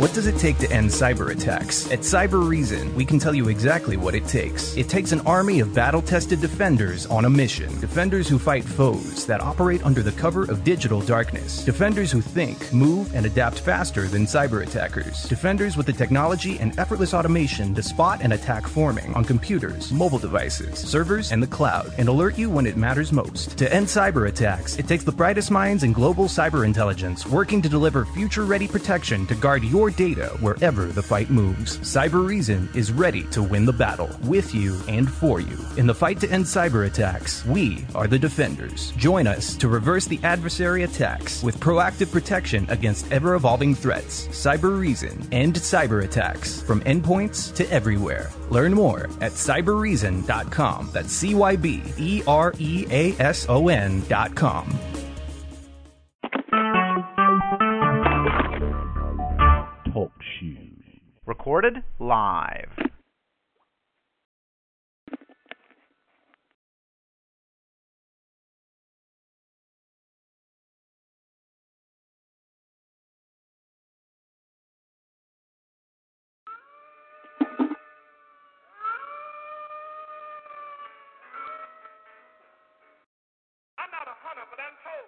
What does it take to end cyber attacks? At Cyber Reason, we can tell you exactly what it takes. It takes an army of battle-tested defenders on a mission. Defenders who fight foes that operate under the cover of digital darkness. Defenders who think, move, and adapt faster than cyber attackers. Defenders with the technology and effortless automation to spot and attack forming on computers, mobile devices, servers, and the cloud, and alert you when it matters most. To end cyber attacks, it takes the brightest minds in global cyber intelligence working to deliver future-ready protection to guard your data wherever the fight moves. Cyber Reason is ready to win the battle, with you and for you. In the fight to end cyber attacks, we are the defenders. Join us to reverse the adversary attacks with proactive protection against ever-evolving threats. Cyber Reason. End cyber attacks from endpoints to everywhere. Learn more at cyberreason.com. That's CYBEREASON.com. Talk shoes. Recorded live. I'm not a hunter, but I'm told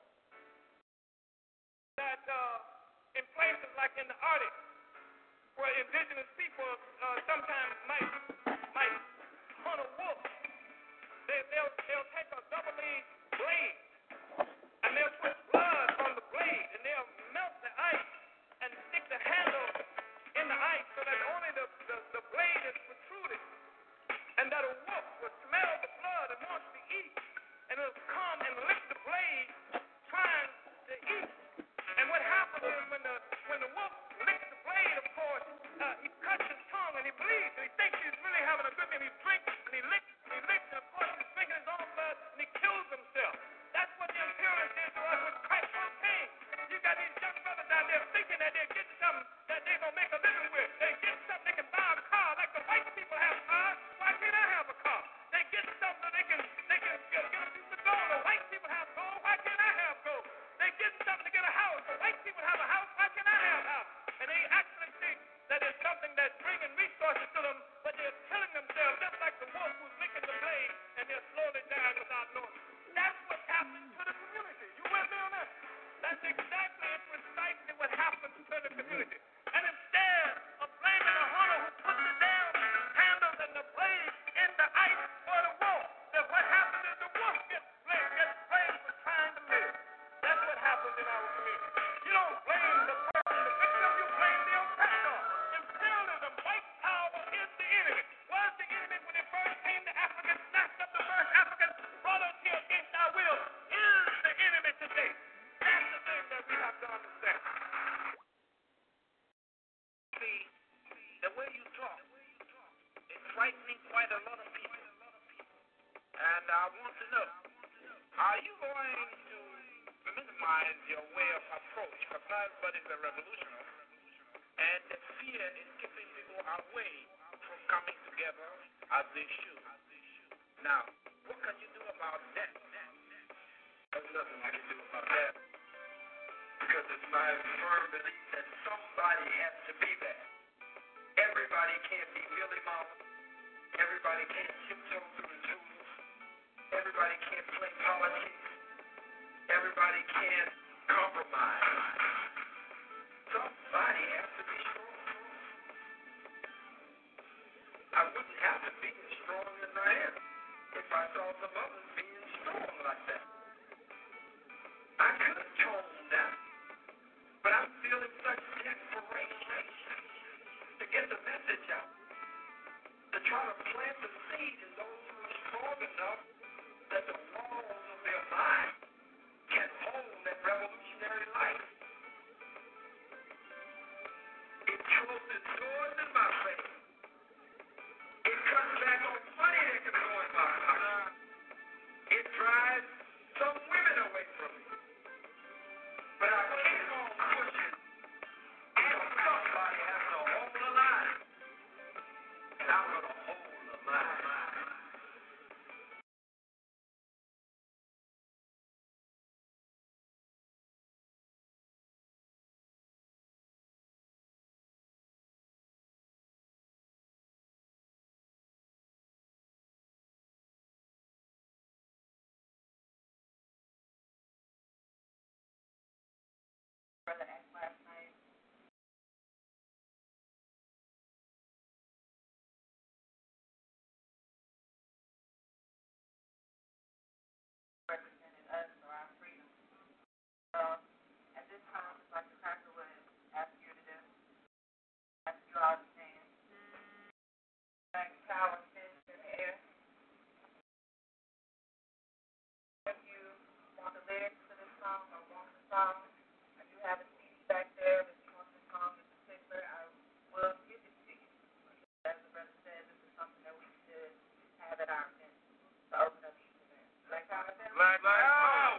that in places like in the Arctic, where indigenous people sometimes might hunt a wolf, they'll take a double-edged blade and they'll put blood on the blade and they'll melt the ice and stick the handle in the ice so that only the blade is protruded, and that a wolf will smell the blood and wants to eat, and it'll come and lick the blade trying to eat. And what happens is when the wolf licks the blade, of course, he cuts his tongue and he bleeds, and he thinks he's really having a good thing. He drinks and he licks, and of course he's drinking his own blood and he kills himself. That's what the imperialists did to us with crack cocaine. You got these young brothers out there thinking that they're getting something that they're going to make a living with. They get something, they can buy a car like the white people have cars. Why can't I have a car? They get something, they can get a piece of gold. The white people have gold. Why can't I have gold? They get something to get a house. The white people have a house. Why can't I have a house? And they actually think that it's something that's bringing resources to them, but they're killing themselves just like the wolf who's licking the blade, and they're slowly dying without knowing. That's what's happening to the community. You with me on that? That's exactly and precisely what happens to the community. And instead of blaming the hunter who puts the damn handles and the blade in the ice for the wolf, then what happens is the wolf gets blamed for trying to live. That's what happens in our community. You don't blame the person, the victim, you blame the oppressor. Imperialism, white power is the enemy. Was the enemy when it first came to Africa, snatched up the first Africans, brought us here against our will, is the enemy today. That's the thing that we have to understand. See, the way you talk is frightening quite a lot of people. And I want to know, are you going to minimize your way of approach? Because everybody's a revolutionary. And the fear is keeping people away from coming together as they should. Now, what can you do about that? There's nothing I can do about that. Because it's my firm belief that somebody has to be there. Everybody can't be Billy Mama. Everybody can't tiptoe through the tulips. Everybody can't play politics. Everybody can't compromise. Somebody has to be strong. I wouldn't have to be as strong as I am if I saw some others being strong like that. I could tone down, but I'm feeling such desperation to get the message out, to try to plant the seed in those who are strong enough that the walls of their mind can hold that revolutionary life. It closes doors in my face. It cuts back on money that can go in my pocket. It drives some women away from me. But I keep on pushing because somebody has to hold the line. And I'm going to hold the line. brother asked last night. Represented us or our freedom. So at this time, it's like the cracker would ask you to do, ask you all to stand. Thank you, power and in the air. If you want the lyrics to this song or want the song, I do have a CD back there. If you want this song in particular, I will give it to you. As the brother said, this is something that we should have at our event to open up each event. Black Power event? Black Power!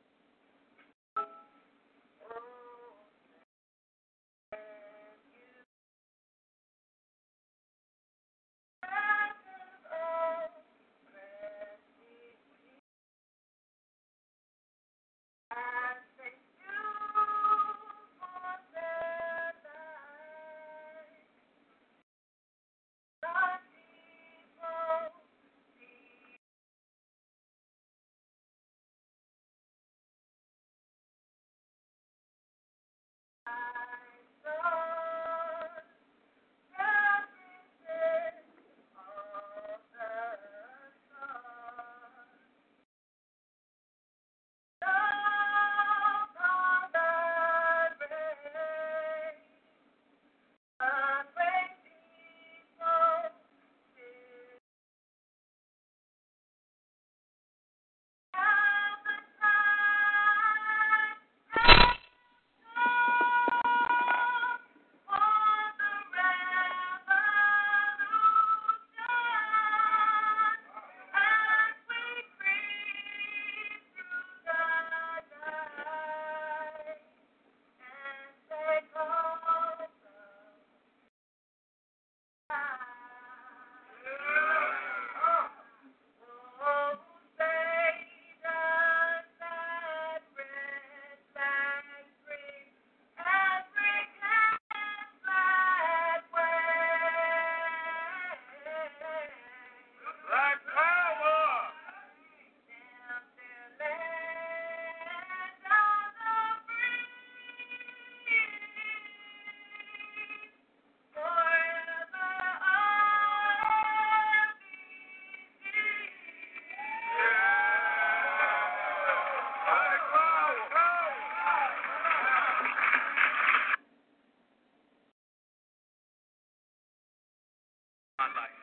My life.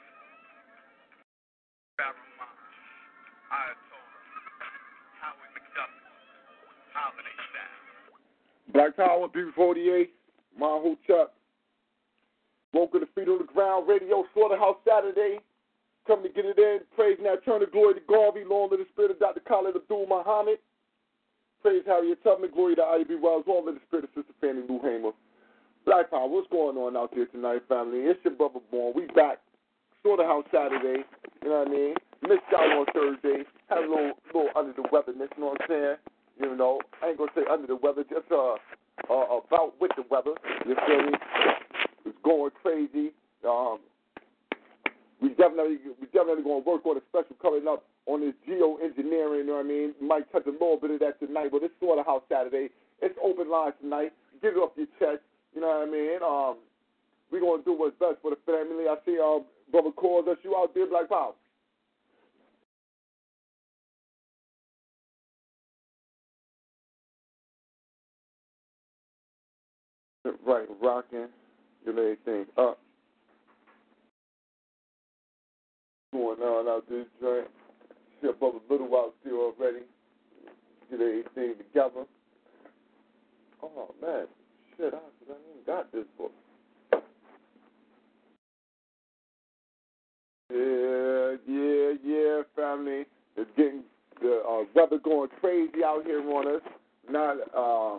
Paramount. Ayatollah. Howard McDuffie. Holiday style. Black Power, B48, Mahu Chuck. Woke the feet on the ground, radio, Slaughterhouse Saturday. Coming to get it in. Praise now, turn the glory to Garvey. Long to the spirit of Dr. Khalid Abdul Muhammad. Praise Harriet Tubman. Glory to Ivy Wells. Long to the spirit of Sister Fannie Lou Hamer. Black Power, what's going on out there tonight, family? It's your brother Born. We back. Slaughterhouse Saturday. You know what I mean? Missed y'all on Thursday. Had a little under the weatherness, you know what I'm saying? You know, I ain't going to say under the weather, just about with the weather. You feel me? It's going crazy. We definitely going to work on a special coming up on this geoengineering, you know what I mean? We might touch a little bit of that tonight, but it's Slaughterhouse Saturday. It's open lines tonight. Get it off your chest, you know what I mean? We're going to do what's best for the family. I see Brother Cores, that's you out there, Black Power. Right, rocking, get everything up. Going on out this joint. See a brother Little out there already. Get everything together. Oh man, shit, I even got this book. Yeah, family. It's getting the weather going crazy out here on us. Not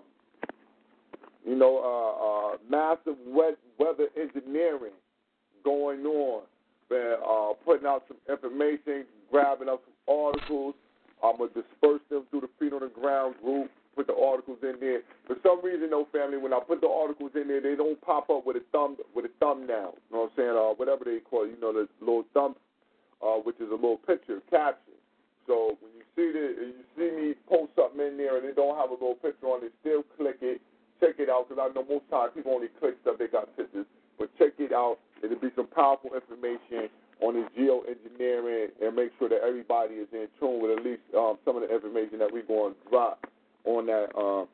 massive weather engineering going on. Been putting out some information, grabbing up some articles. I'm going to disperse them through the Feet on the Ground group, put the articles in there. For some reason, though, family, when I put the articles in there, they don't pop up with a thumbnail. You know what I'm saying? Whatever they call it, the little thumb, which is a little picture, caption. So when you see me post something in there and it don't have a little picture on it, still click it. Check it out, because I know most times people only click stuff they got pictures. But check it out. It'll be some powerful information on the geoengineering, and make sure that everybody is in tune with at least some of the information that we're going to drop on that.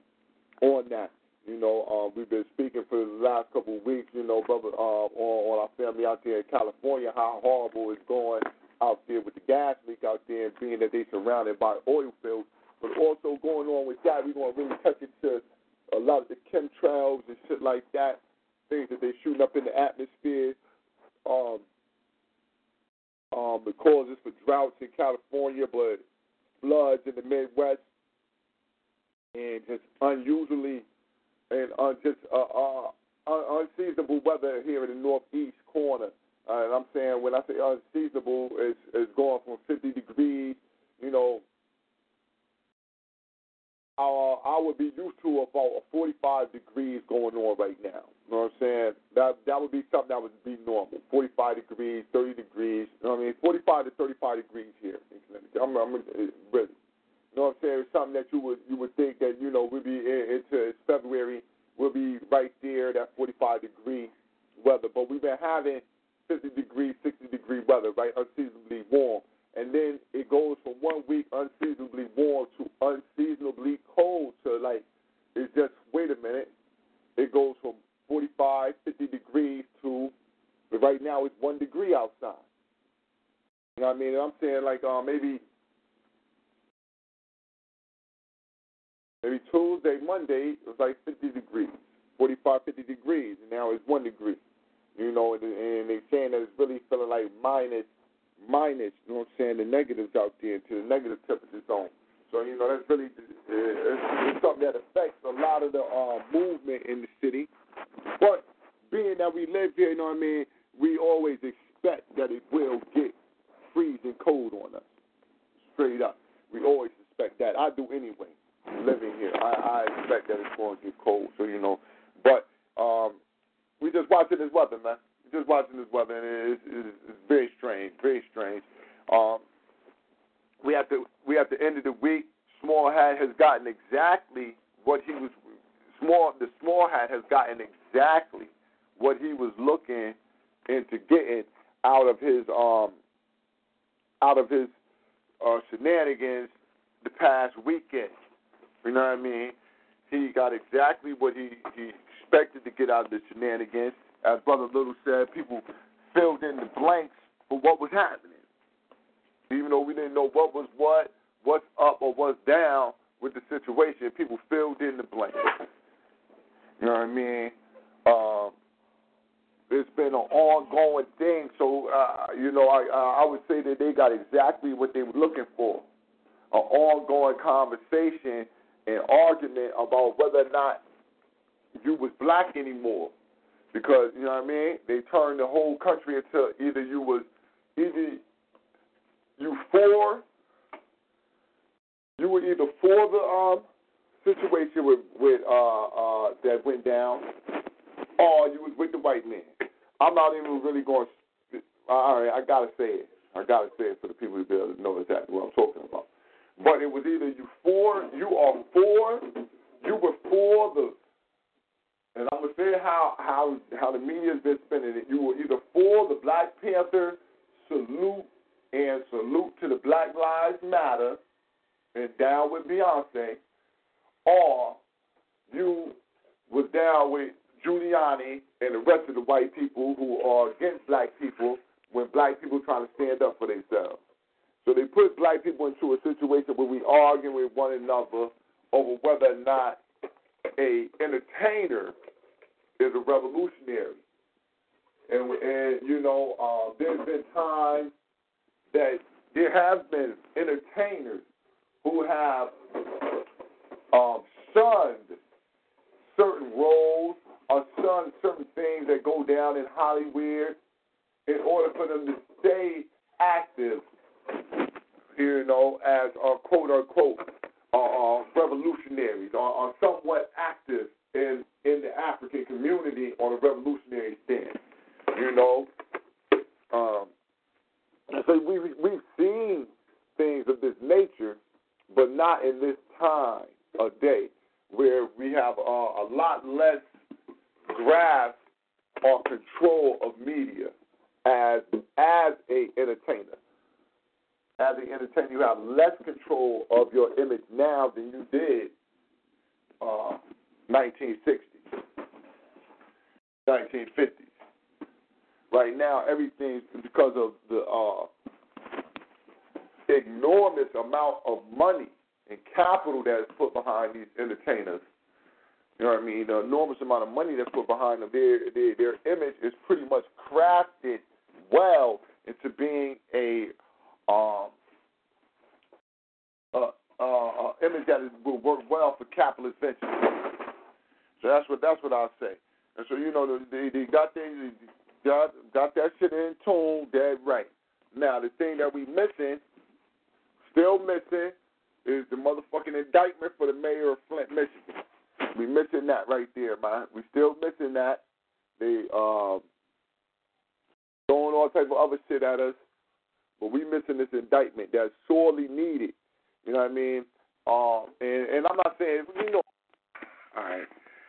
We've been speaking for the last couple of weeks, brother, on our family out there in California, how horrible it's going out there with the gas leak out there, and being that they're surrounded by oil fields. But also going on with that, we're going to really touch into a lot of the chemtrails and shit like that, things that they're shooting up in the atmosphere, the causes for droughts in California, but floods in the Midwest, and just unusually and unseasonable weather here in the northeast corner. And I'm saying, when I say unseasonable, it's going from 50 degrees, I would be used to about 45 degrees going on right now. You know what I'm saying? That would be something that would be normal. 45 degrees, 30 degrees. You know what I mean? 45 to 35 degrees here. I'm really. You know what I'm saying? It's something that you would think that, we'll be into February, we'll be right there, that 45 degree weather. But we've been having 50 degree, 60 degree weather, right? Unseasonably warm. And then it goes from 1 week unseasonably warm to unseasonably cold. So, it's just, wait a minute. It goes from 45, 50 degrees to, right now it's 1 degree outside. You know what I mean? And I'm saying, maybe Tuesday, Monday, it was like 50 degrees, 45, 50 degrees, and now it's 1 degree. And they're saying that it's really feeling like minus, you know what I'm saying, the negatives out there, to the negative temperature zone. So, that's really, it's something that affects a lot of the movement in the city. But being that we live here, we always expect that it will get freezing cold on us, straight up. We always expect that. I do anyway, living here. I expect that it's going to get cold, so, But we're just watching this weather, man. Just watching this weather, and it's very strange, very strange. We at the end of the week, Small Hat has gotten exactly what he was. The Small Hat has gotten exactly what he was looking into getting out of his shenanigans the past weekend. You know what I mean? He got exactly what he expected to get out of the shenanigans. As Brother Little said, people filled in the blanks for what was happening. Even though we didn't know what was what's up or what's down with the situation, people filled in the blanks. You know what I mean? It's been an ongoing thing, so, I would say that they got exactly what they were looking for. An ongoing conversation and argument about whether or not you was black anymore. Because, you know what I mean, they turned the whole country into either you were either for the situation with that went down, or you was with the white man. I'm not even really going to, all right, I got to say it for the people to be able to know exactly what I'm talking about. But it was either you were for the, and I'm going to say how the media has been spinning it. You were either for the Black Panther salute to the Black Lives Matter and down with Beyonce, or you was down with Giuliani and the rest of the white people who are against black people when black people trying to stand up for themselves. So they put black people into a situation where we argue with one another over whether or not a entertainer is a revolutionary. And there's been times that there have been entertainers who have shunned certain roles or shunned certain things that go down in Hollywood in order for them to stay active, as quote-unquote revolutionaries or somewhat active in the African community on a revolutionary stand. So we've seen things of this nature, but not in this time of day where we have a lot less grasp or control of media as a entertainer. As an entertainer, you have less control of your image now than you did 1960s, 1950s. Right now, everything's because of the enormous amount of money and capital that is put behind these entertainers. You know what I mean? The enormous amount of money that's put behind them. Their image is pretty much crafted well into being a image that will work well for capitalist ventures. So that's what I'll say. And so they got that shit in tune, dead right. Now the thing that still missing, is the motherfucking indictment for the mayor of Flint, Michigan. We missing that right there, man. We still missing that. They throwing all type of other shit at us, but we missing this indictment that's sorely needed. You know what I mean? And I'm not saying, all right.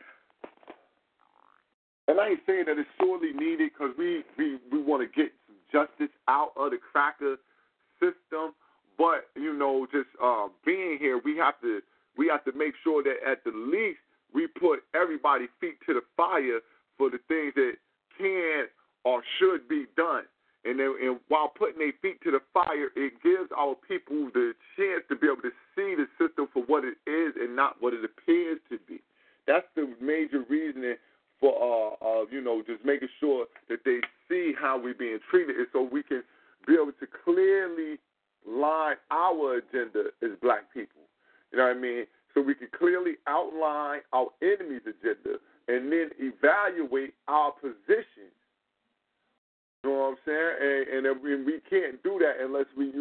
And I ain't saying that it's sorely needed because we want to get some justice out of the cracker system. But just being here, we have to make sure that at the least we put everybody's feet to the fire for the things that can or should be done. And while putting their feet to the fire, it gives our people the chance to be able to see the system for what it is and not what it appears to be. That's the major reasoning for just making sure that they see how we're being treated, and so we can be able to clearly line our agenda as black people. You know what I mean? So we can clearly outline our enemy's agenda and then evaluate our position. You know what I'm saying? And we can't do that unless we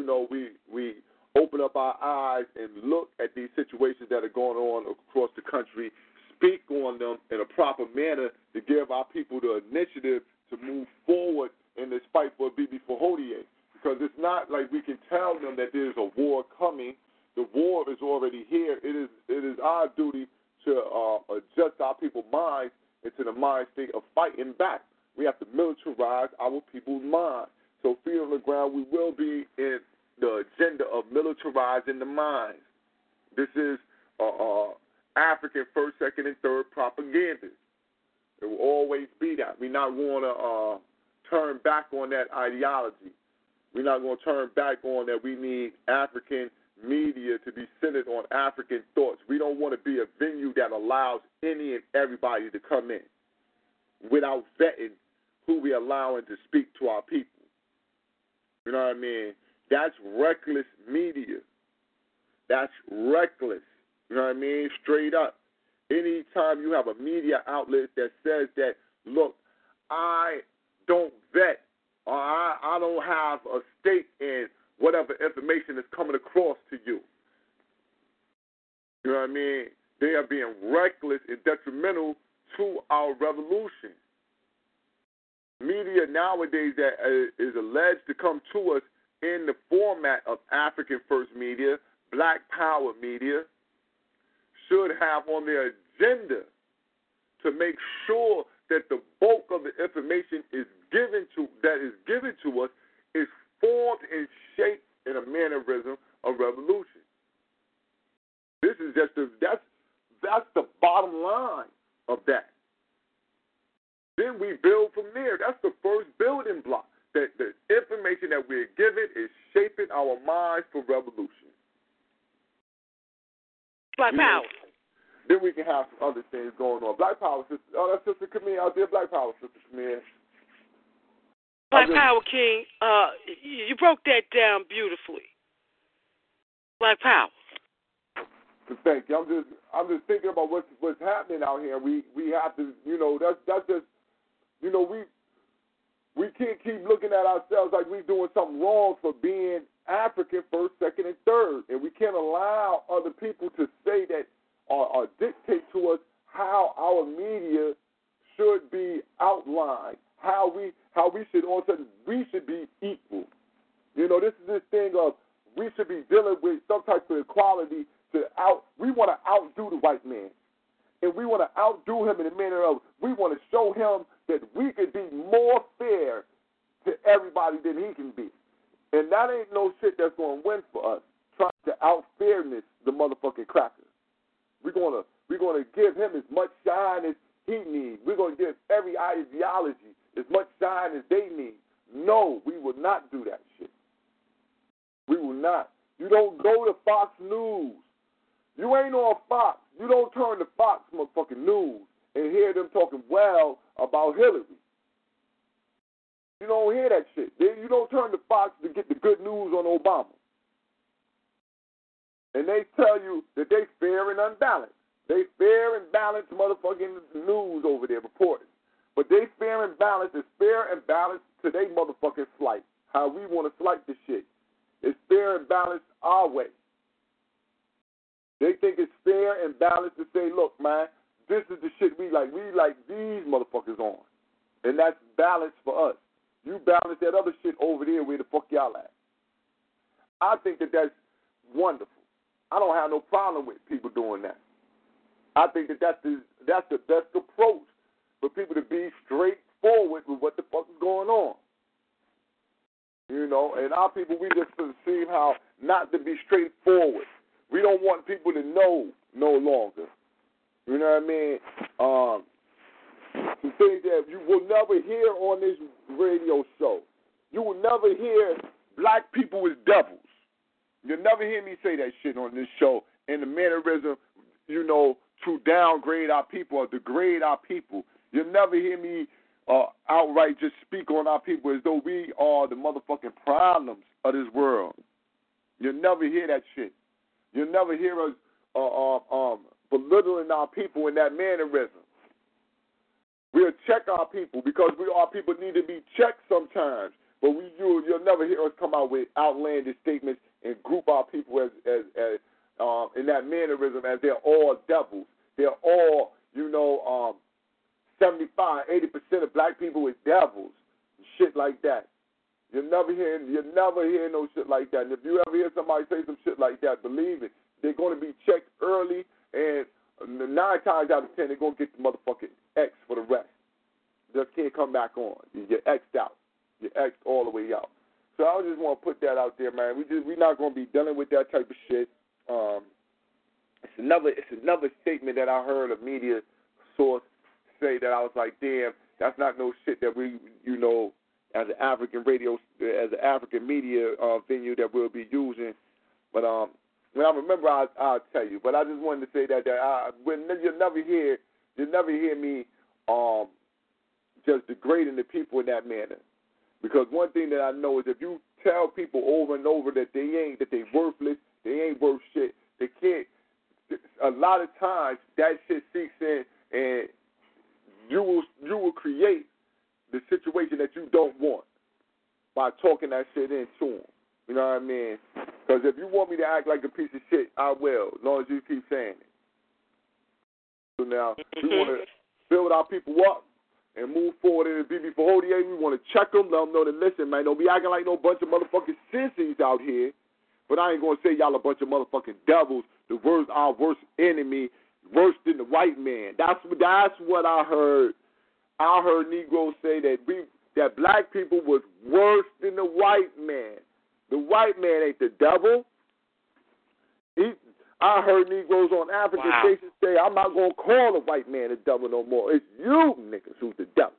open up our eyes and look at these situations that are going on across the country, speak on them in a proper manner to give our people the initiative to move forward in this fight for Bibi Fahodie. Because it's not like we can tell them that there's a war coming. The war is already here. It is our duty to adjust our people's minds into the mind state of fighting back. We have to militarize our people's minds. So feet on the ground, we will be in the agenda of militarizing the minds. This is African first, second, and third propaganda. It will always be that. We're not going to turn back on that ideology. We're not going to turn back on that we need African media to be centered on African thoughts. We don't want to be a venue that allows any and everybody to come in without vetting who we allowing to speak to our people. You know what I mean? That's reckless media. That's reckless. You know what I mean? Straight up. Anytime you have a media outlet that says that, look, I don't vet or I don't have a stake in whatever information is coming across to you. You know what I mean? They are being reckless and detrimental to our revolution. Media nowadays that is alleged to come to us in the format of African First Media, Black Power Media, should have on their agenda to make sure that the bulk of the information is given to us is formed and shaped in a mannerism of revolution. This is just that's the bottom line of that. Then we build from there. That's the first building block. That the information that we're given is shaping our minds for revolution. Black Power. Then we can have some other things going on. Black Power, sister. Oh, that's Sister Camille out there. Black Power, Sister Camille. Black Power King, you broke that down beautifully. Black Power. Thank you. I'm just thinking about what's happening out here. We have to, that's just, we can't keep looking at ourselves like we're doing something wrong for being African first, second, and third, and we can't allow other people to say that or dictate to us how our media should be outlined, how we should all of a sudden we should be equal. This is this thing of we should be dealing with some type of equality we want to outdo the white man. and we want to outdo him in the manner of we want to show him that we can be more fair to everybody than he can be. And that ain't no shit that's going to win for us, trying to out-fairness the motherfucking crackers. We're gonna give him as much shine as he needs. We're going to give every ideology as much shine as they need. No, we will not do that shit. We will not. You don't go to Fox News. You ain't on Fox. You don't turn to Fox motherfucking news and hear them talking well about Hillary. You don't hear that shit. You don't turn to Fox to get the good news on Obama. And they tell you that they fair and unbalanced. They fair and balanced motherfucking news over there reporting. But they fair and balanced is fair and balanced to they motherfucking slight. How we want to slight the shit. It's fair and balanced our way. They think it's fair and balanced to say, look, man, this is the shit we like. We like these motherfuckers on. And that's balanced for us. You balance that other shit over there where the fuck y'all at. I think that that's wonderful. I don't have no problem with people doing that. I think that that's the best approach for people to be straightforward with what the fuck is going on. You know, and our people, we just seem how not to be straightforward. We don't want people to know no longer. You know what I mean? Some things that you will never hear on this radio show. You will never hear black people as devils. You'll never hear me say that shit on this show in the mannerism, you know, to downgrade our people or degrade our people. You'll never hear me outright just speak on our people as though we are the motherfucking problems of this world. You'll never hear that shit. You'll never hear us belittling our people in that mannerism. We'll check our people because our people need to be checked sometimes. But you'll never hear us come out with outlandish statements and group our people as in that mannerism as they're all devils. They're all, 75, 80% of black people is devils, shit like that. You'll never hear no shit like that. And if you ever hear somebody say some shit like that, believe it, they're going to be checked early, and 9 times out of 10, they're going to get the motherfucking X for the rest. Just can't come back on. You're X'd out. You're X'd all the way out. So I just want to put that out there, man. We're not going to be dealing with that type of shit. It's another statement that I heard a media source say that I was like, damn, that's not no shit that we, as an African radio, as an African media venue that we'll be using. But when I remember, I'll tell you. But I just wanted to say that you'll never hear me just degrading the people in that manner. Because one thing that I know is if you tell people over and over that they worthless, they ain't worth shit, they can't. A lot of times that shit seeps in, and you will create the situation that you don't want by talking that shit into them. You know what I mean? Because if you want me to act like a piece of shit, I will, as long as you keep saying it. So now we want to build our people up and move forward in the BB448. We want to check them, let them know that, listen, man, don't be acting like no bunch of motherfucking sissies out here. But I ain't going to say y'all a bunch of motherfucking devils, our worst enemy, worse than the white man. That's what I heard. I heard Negroes say that black people was worse than the white man. The white man ain't the devil. I heard Negroes on African stations say, I'm not going to call the white man the devil no more. It's you niggas who's the devil.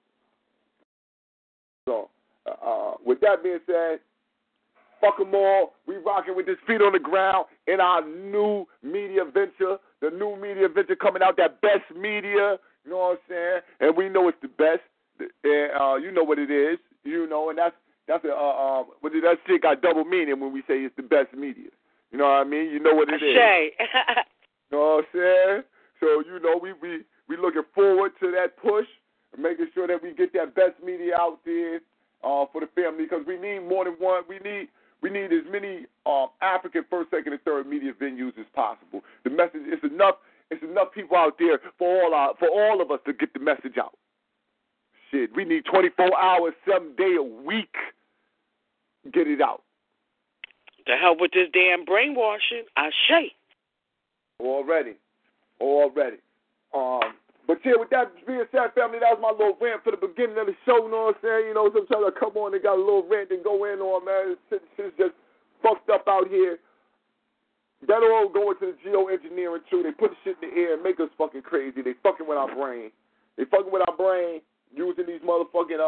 So, with that being said, fuck them all. We rocking with this feet on the ground in our new media venture. The new media venture coming out, that best media. You know what I'm saying? And we know it's the best. And you know what it is. And that's that shit got double meaning when we say it's the best media. You know what I mean? You know what it is. You know what I'm saying? So, we looking forward to that push, making sure that we get that best media out there for the family, because we need more than one. We need as many African first, second, and third media venues as possible. The message it's enough people out there for all of us to get the message out. Shit, we need 24 hours, 7 days a week. Get it out. The hell with this damn brainwashing. Ashe. Already. But yeah, with that being said, family, that was my little rant for the beginning of the show. You know what I'm saying? You know, sometimes I come on and got a little rant and go in on, man. Shit's just fucked up out here. That all go into the geoengineering too. They put the shit in the air and make us fucking crazy. They fucking with our brain. They fucking with our brain using these motherfucking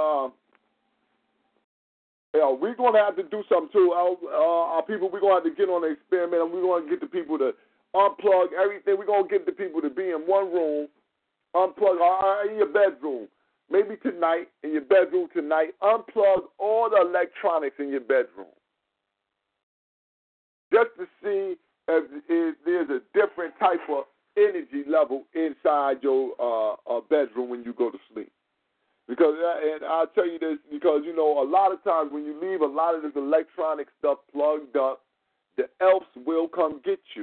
we're gonna have to do something too. Our people, we're gonna have to get on the experiment, and we're gonna get the people to unplug everything. We're gonna get the people to be in one room, unplug in your bedroom. Maybe tonight, in your bedroom tonight, unplug all the electronics in your bedroom. Just to see if there's a different type of energy level inside your bedroom when you go to sleep. Because, and I'll tell you this, because, you know, a lot of times when you leave a lot of this electronic stuff plugged up, the elves will come get you.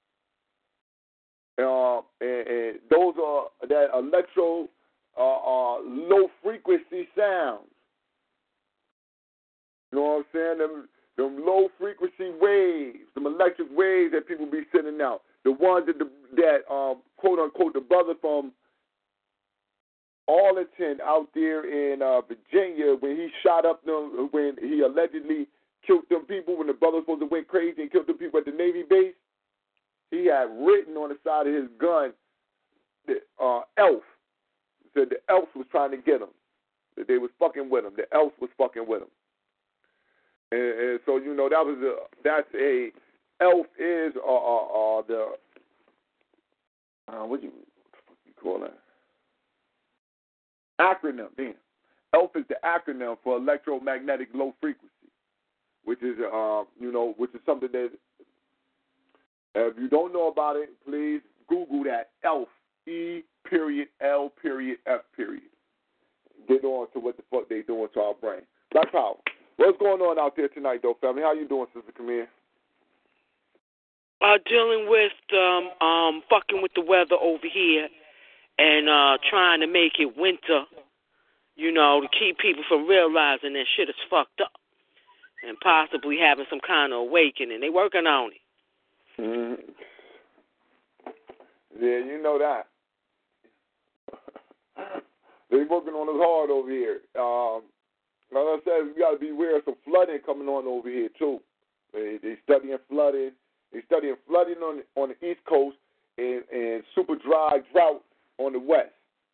And those are that electro low frequency sounds. You know what I'm saying? Them low frequency waves, them electric waves that people be sending out. The ones that quote unquote the brother from Arlington out there in Virginia, when he shot up them, when he allegedly killed them people, when the brother was supposed to went crazy and killed them people at the Navy base, he had written on the side of his gun, the elf. Said the elf was trying to get him. That they was fucking with him. The elf was fucking with him. And so, you know, that's a elf is the what you call that? Acronym, damn. ELF is the acronym for electromagnetic low frequency, which is which is something that if you don't know about it, please Google that ELF, E.L.F. Get on to what the fuck they doing to our brain. Black Power. What's going on out there tonight, though, family? How you doing, Sister Camille? Dealing with fucking with the weather over here and trying to make it winter, you know, to keep people from realizing that shit is fucked up and possibly having some kind of awakening. They working on it. Mm-hmm. Yeah, you know that. They working on us hard over here. Like I said, we got to be aware of some flooding coming on over here, too. They studying flooding. They studying flooding on the East Coast and super dry drought on the West.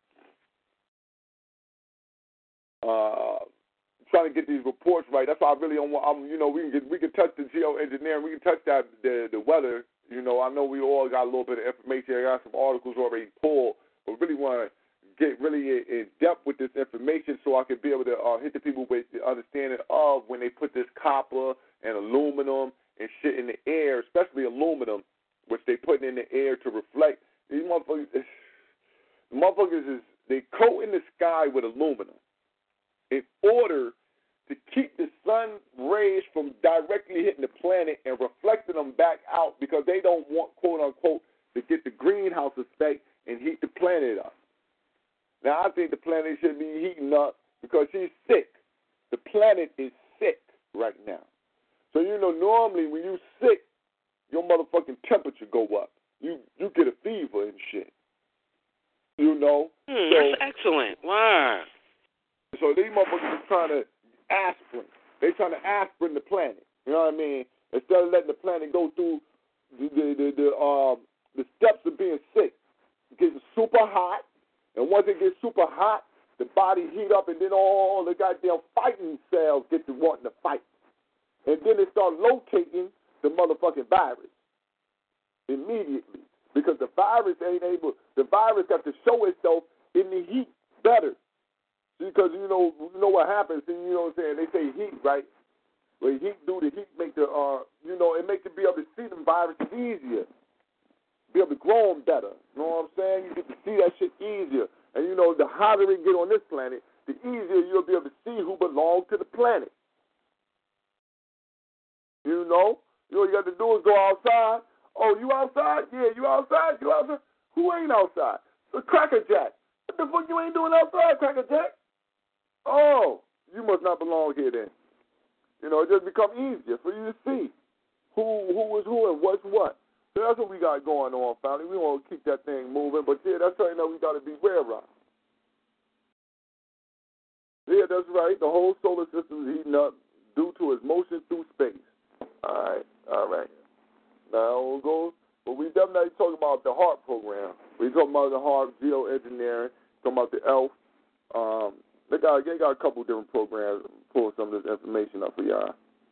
Trying to get these reports right. That's why I really don't want. We can touch the geoengineering. We can touch that the weather. You know, I know we all got a little bit of information. I got some articles already pulled, but really want to get really in depth with this information so I can be able to hit the people with the understanding of when they put this copper and aluminum and shit in the air, especially aluminum, which they putting in the air to reflect. These motherfuckers they coat in the sky with aluminum in order to keep the sun rays from directly hitting the planet and reflecting them back out because they don't want, quote unquote, to get the greenhouse effect and heat the planet up. Now, I think the planet should be heating up because she's sick. The planet is sick right now. So, you know, normally when you're sick, your motherfucking temperature go up. You get a fever and shit. You know? That's excellent. Wow. So these motherfuckers are trying to aspirin. They trying to aspirin the planet. You know what I mean? Instead of letting the planet go through the steps of being sick. It gets super hot. And once it gets super hot, the body heat up, and then all the goddamn fighting cells get to wanting to fight. And then they start locating the motherfucking virus immediately. Because the virus got to show itself in the heat better. Because you know what happens, and you know what I'm saying? They say heat, right? Well, the heat make the, it makes it be able to see the viruses easier. Be able to grow them better. You know what I'm saying? You get to see that shit easier. And, you know, the hotter it get on this planet, the easier you'll be able to see who belongs to the planet. You know? All you got to do is go outside. Oh, you outside? Yeah, you outside? You outside? Who ain't outside? The Cracker Jack. What the fuck you ain't doing outside, Cracker Jack? Oh, you must not belong here then. You know, it just become easier for you to see who is who and what's what. So that's what we got going on, family. We want to keep that thing moving, but yeah, that's something that we got to be aware of. Yeah, that's right. The whole solar system is heating up due to its motion through space. All right. Now we'll go, but we definitely talking about the HARP program. We talking about the HARP geoengineering, talking about the ELF. They got a couple different programs. Pull some of this information up for y'all.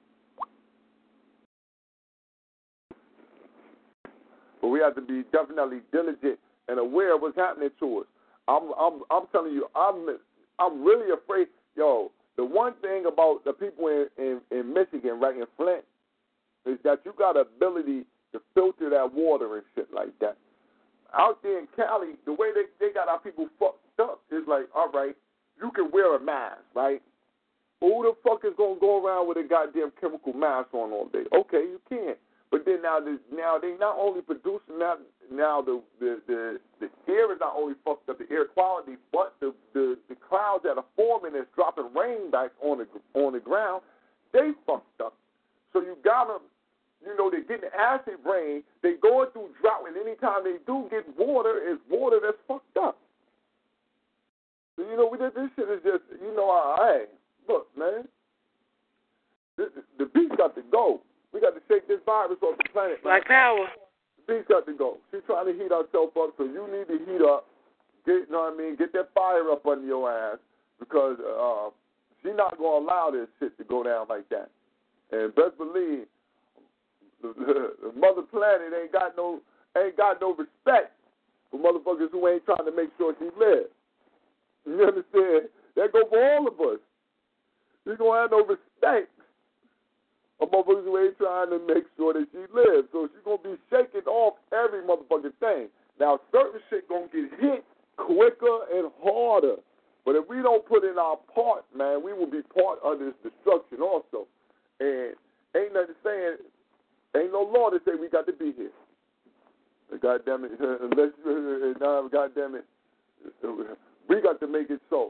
But we have to be definitely diligent and aware of what's happening to us. I'm telling you, I'm really afraid. Yo, the one thing about the people in Michigan, right in Flint, is that you got the ability to filter that water and shit like that. Out there in Cali, the way they got our people fucked up is like, all right, you can wear a mask, right? Who the fuck is gonna go around with a goddamn chemical mask on all day? Okay, you can. But then now they not only producing that, now the air is not only fucked up, the air quality, but the clouds that are forming and dropping rain back on the ground, they fucked up. So you got them, they're getting acid rain, they going through drought, and anytime they do get water, it's water that's fucked up. So, this shit is just, hey, look, man, the beast got to go. We got to shake this virus off the planet. Black power. The beast got to go. She's trying to heat herself up, so you need to heat up. Get that fire up under your ass, because she's not going to allow this shit to go down like that. And best believe, the mother planet ain't got no respect for motherfuckers who ain't trying to make sure she lives. You understand? That go for all of us. She's going to have no respect for motherfuckers who ain't trying to make sure that she lives. So she's going to be shaking off every motherfucking thing. Now, certain shit going to get hit quicker and harder. But if we don't put in our part, man, we will be part of this destruction also. And ain't nothing saying, ain't no law to say we got to be here. God damn it, God damn it, we got to make it so.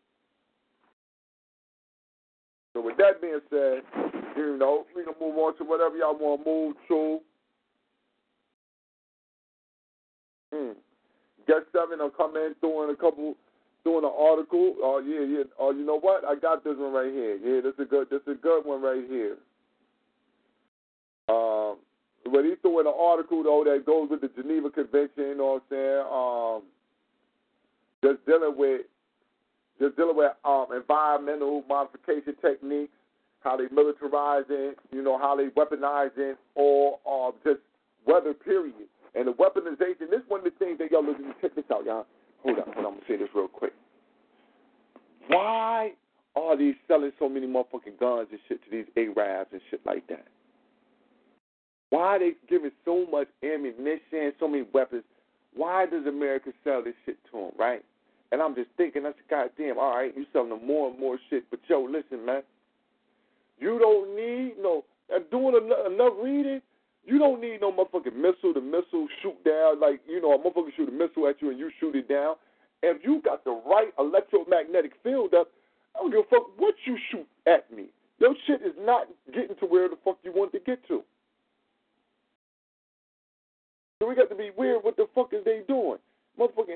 So with that being said, we can move on to whatever y'all want to move to. Guest 7 will come in doing an article. Oh yeah. Oh, you know what? I got this one right here. Yeah, this is a good one right here. But he threw in an article though that goes with the Geneva Convention. You know what I'm saying? Just dealing with environmental modification techniques, how they militarizing, how they weaponizing, or just weather, period. And the weaponization, this is one of the things that y'all listen to. Check this out, y'all. Hold on, I'm going to say this real quick. Why are they selling so many motherfucking guns and shit to these Arabs and shit like that? Why are they giving so much ammunition, so many weapons? Why does America sell this shit to them, right? And I'm just thinking, that's goddamn, all right, you selling them more and more shit. But, yo, listen, man, you don't need doing enough reading, you don't need no motherfucking missile. The missile shoot down, like, a motherfucker shoot a missile at you and you shoot it down. If you got the right electromagnetic field up, I don't give a fuck what you shoot at me. Your shit is not getting to where the fuck you want to get to. So we got to be weird. What the fuck is they doing? Motherfucking,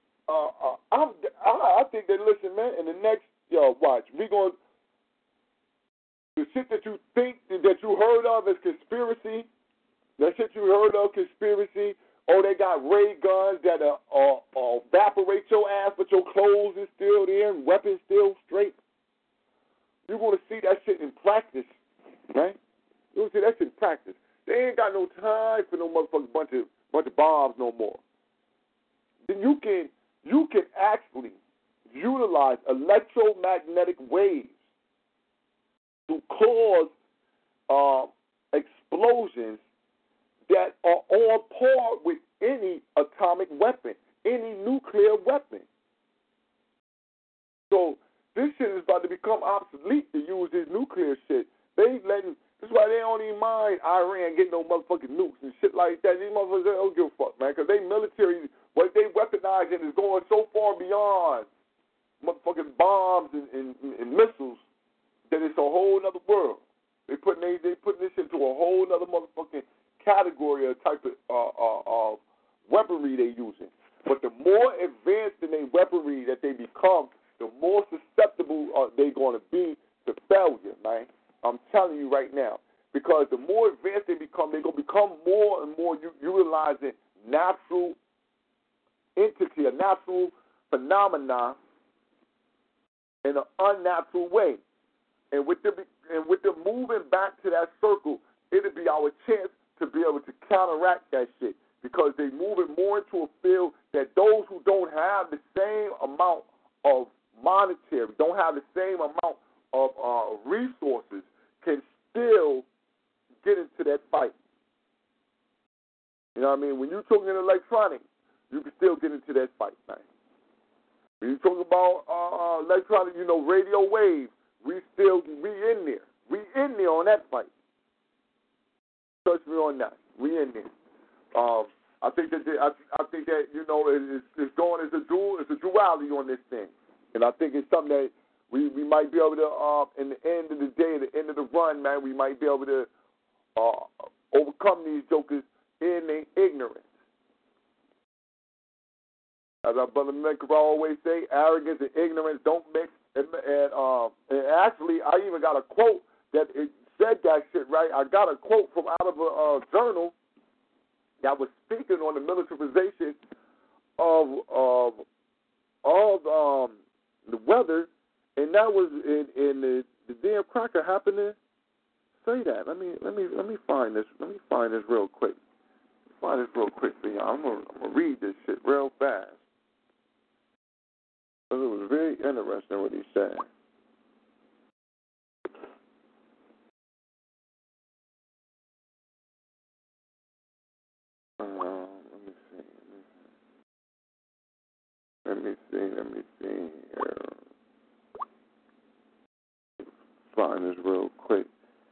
I think that, listen, man, in the next, watch, we going to, the shit that you think that you heard of as conspiracy, that shit you heard of conspiracy, they got ray guns that evaporate your ass, but your clothes is still there and weapons still straight. You're going to see that shit in practice, right? You're going to see that shit in practice. They ain't got no time for no motherfucking bunch of bombs no more. Then you can actually utilize electromagnetic waves to cause explosions that are on par with any atomic weapon, any nuclear weapon. So this shit is about to become obsolete to use this nuclear shit. That's why they don't even mind Iran getting no motherfucking nukes and shit like that. These motherfuckers don't give a fuck, man, because they military, what they weaponizing is going so far beyond motherfucking bombs and missiles that it's a whole other world. They putting this into a whole other motherfucking category or type of weaponry they're using. But the more advanced in their weaponry that they become, the more susceptible they're going to be to failure, man. I'm telling you right now. Because the more advanced they become, they're going to become more and more utilizing natural entity, a natural phenomena in an unnatural way. And with them moving back to that circle, it'll be our chance to be able to counteract that shit. Because they're moving more into a field that those who don't have the same amount of monetary, don't have the same amount of resources, can still get into that fight. You know what I mean? When you're talking electronics, you can still get into that fight, man. When you talk about electronic, radio waves, we in there. We in there on that fight. Trust me on that. We in there. I think that it's going as a duality on this thing, and I think it's something that we might be able to in the end of the day, the end of the run, man, we might be able to overcome these jokers in their ignorance. As our brother Menker always say, arrogance and ignorance don't mix. And actually, I even got a quote that it said that shit right. I got a quote from out of a journal that was speaking on the militarization of the weather, and that was in the damn cracker happened to say that. Let me find this. Let me find this real quick. Find this real quick for you. I'm gonna read this shit real fast. Because it was very interesting what he said. Let me see. Find this real quick.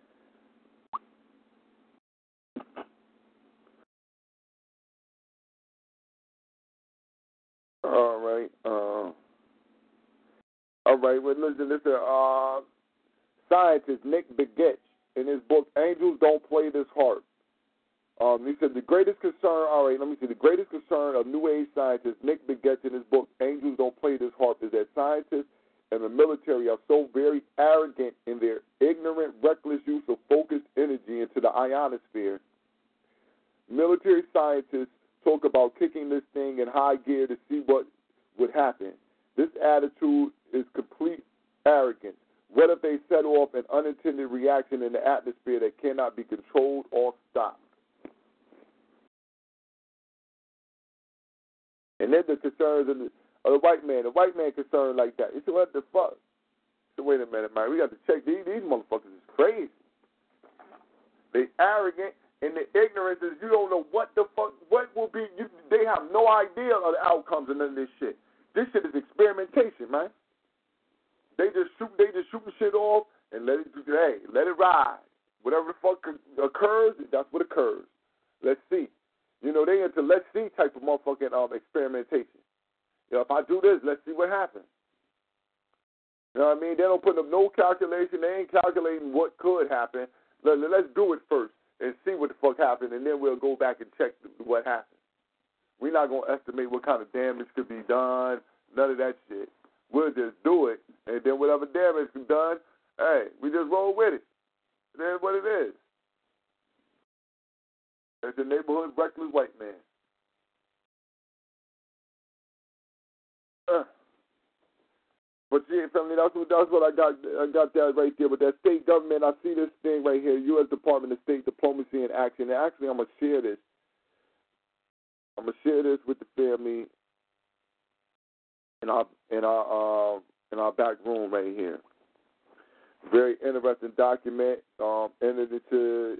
All right. Well, listen. Scientist Nick Begich in his book "Angels Don't Play This Harp." He said the greatest concern. All right, let me see. The greatest concern of New Age scientist Nick Begich in his book "Angels Don't Play This Harp" is that scientists and the military are so very arrogant in their ignorant, reckless use of focused energy into the ionosphere. Military scientists talk about kicking this thing in high gear to see what would happen. This attitude is complete arrogance. What if they set off an unintended reaction in the atmosphere that cannot be controlled or stopped? And then the concerns of the white man. The white man concerned like that. He said, what the fuck? He said, wait a minute, man. We got to check. These motherfuckers is crazy. They arrogant, and the ignorance is you don't know what the fuck, what will be. They have no idea of the outcomes of none of this shit. This shit is experimentation, man. They just shooting shit off and let it ride. Whatever the fuck occurs, that's what occurs. Let's see. They into let's see type of motherfucking experimentation. If I do this, let's see what happens. You know what I mean? They don't put up no calculation. They ain't calculating what could happen. Let's do it first and see what the fuck happened, and then we'll go back and check what happened. We're not going to estimate what kind of damage could be done, none of that shit. We'll just do it, and then whatever damage is done, hey, we just roll with it. That's what it is. It's the neighborhood reckless white man. But yeah, family, that's what I got. I got that right there. But that state government, I see this thing right here, U.S. Department of State Diplomacy in Action. And actually, I'm gonna share this. I'm gonna share this with the family in our back room right here. Very interesting document. Entered into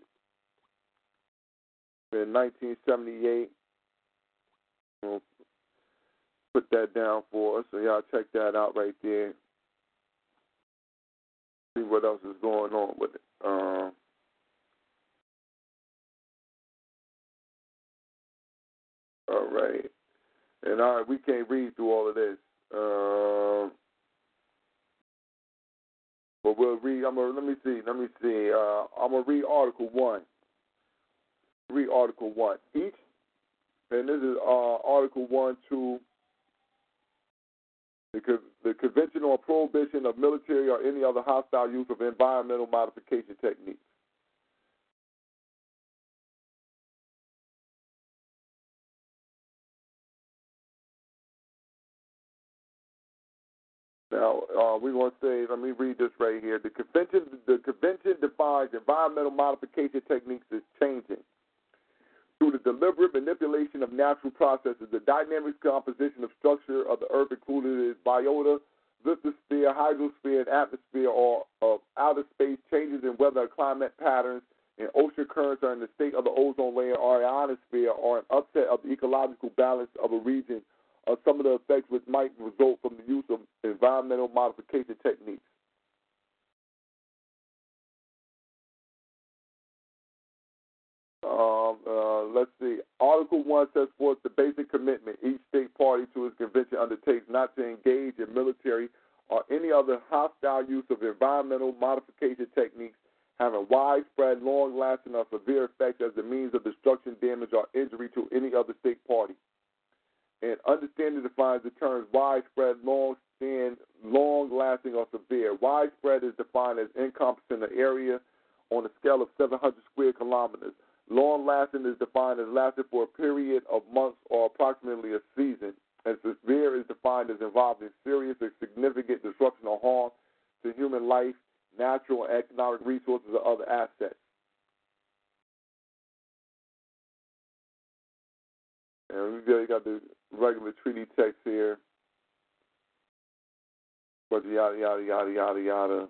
in 1978. We'll put that down for us, so y'all check that out right there. See what else is going on with it. All right. And we can't read through all of this. But we'll read. Let me see. I'm gonna read Article 1. read Article 1 each. And this is Article 1 to the Convention on Prohibition of Military or any other hostile use of environmental modification techniques. Now, we're going to say, let me read this right here. The convention defines environmental modification techniques as changing through the deliberate manipulation of natural processes, the dynamic composition of structure of the earth, including its biota, lithosphere, hydrosphere, and atmosphere, or of outer space, changes in weather and climate patterns, and ocean currents, or in the state of the ozone layer or ionosphere, or an upset of the ecological balance of a region, or some of the effects which might result from the use of environmental modification techniques. Let's see. Article 1 sets forth the basic commitment each state party to its convention undertakes not to engage in military or any other hostile use of environmental modification techniques having widespread, long-lasting, or severe effects as a means of destruction, damage, or injury to any other state party. And understanding defines the terms widespread, long-lasting, or severe. Widespread is defined as encompassing an area on a scale of 700 square kilometers. Long-lasting is defined as lasting for a period of months or approximately a season. And severe is defined as involving serious or significant disruption or harm to human life, natural and economic resources, or other assets. And we got the regular treaty text here. But yada, yada, yada, yada, yada.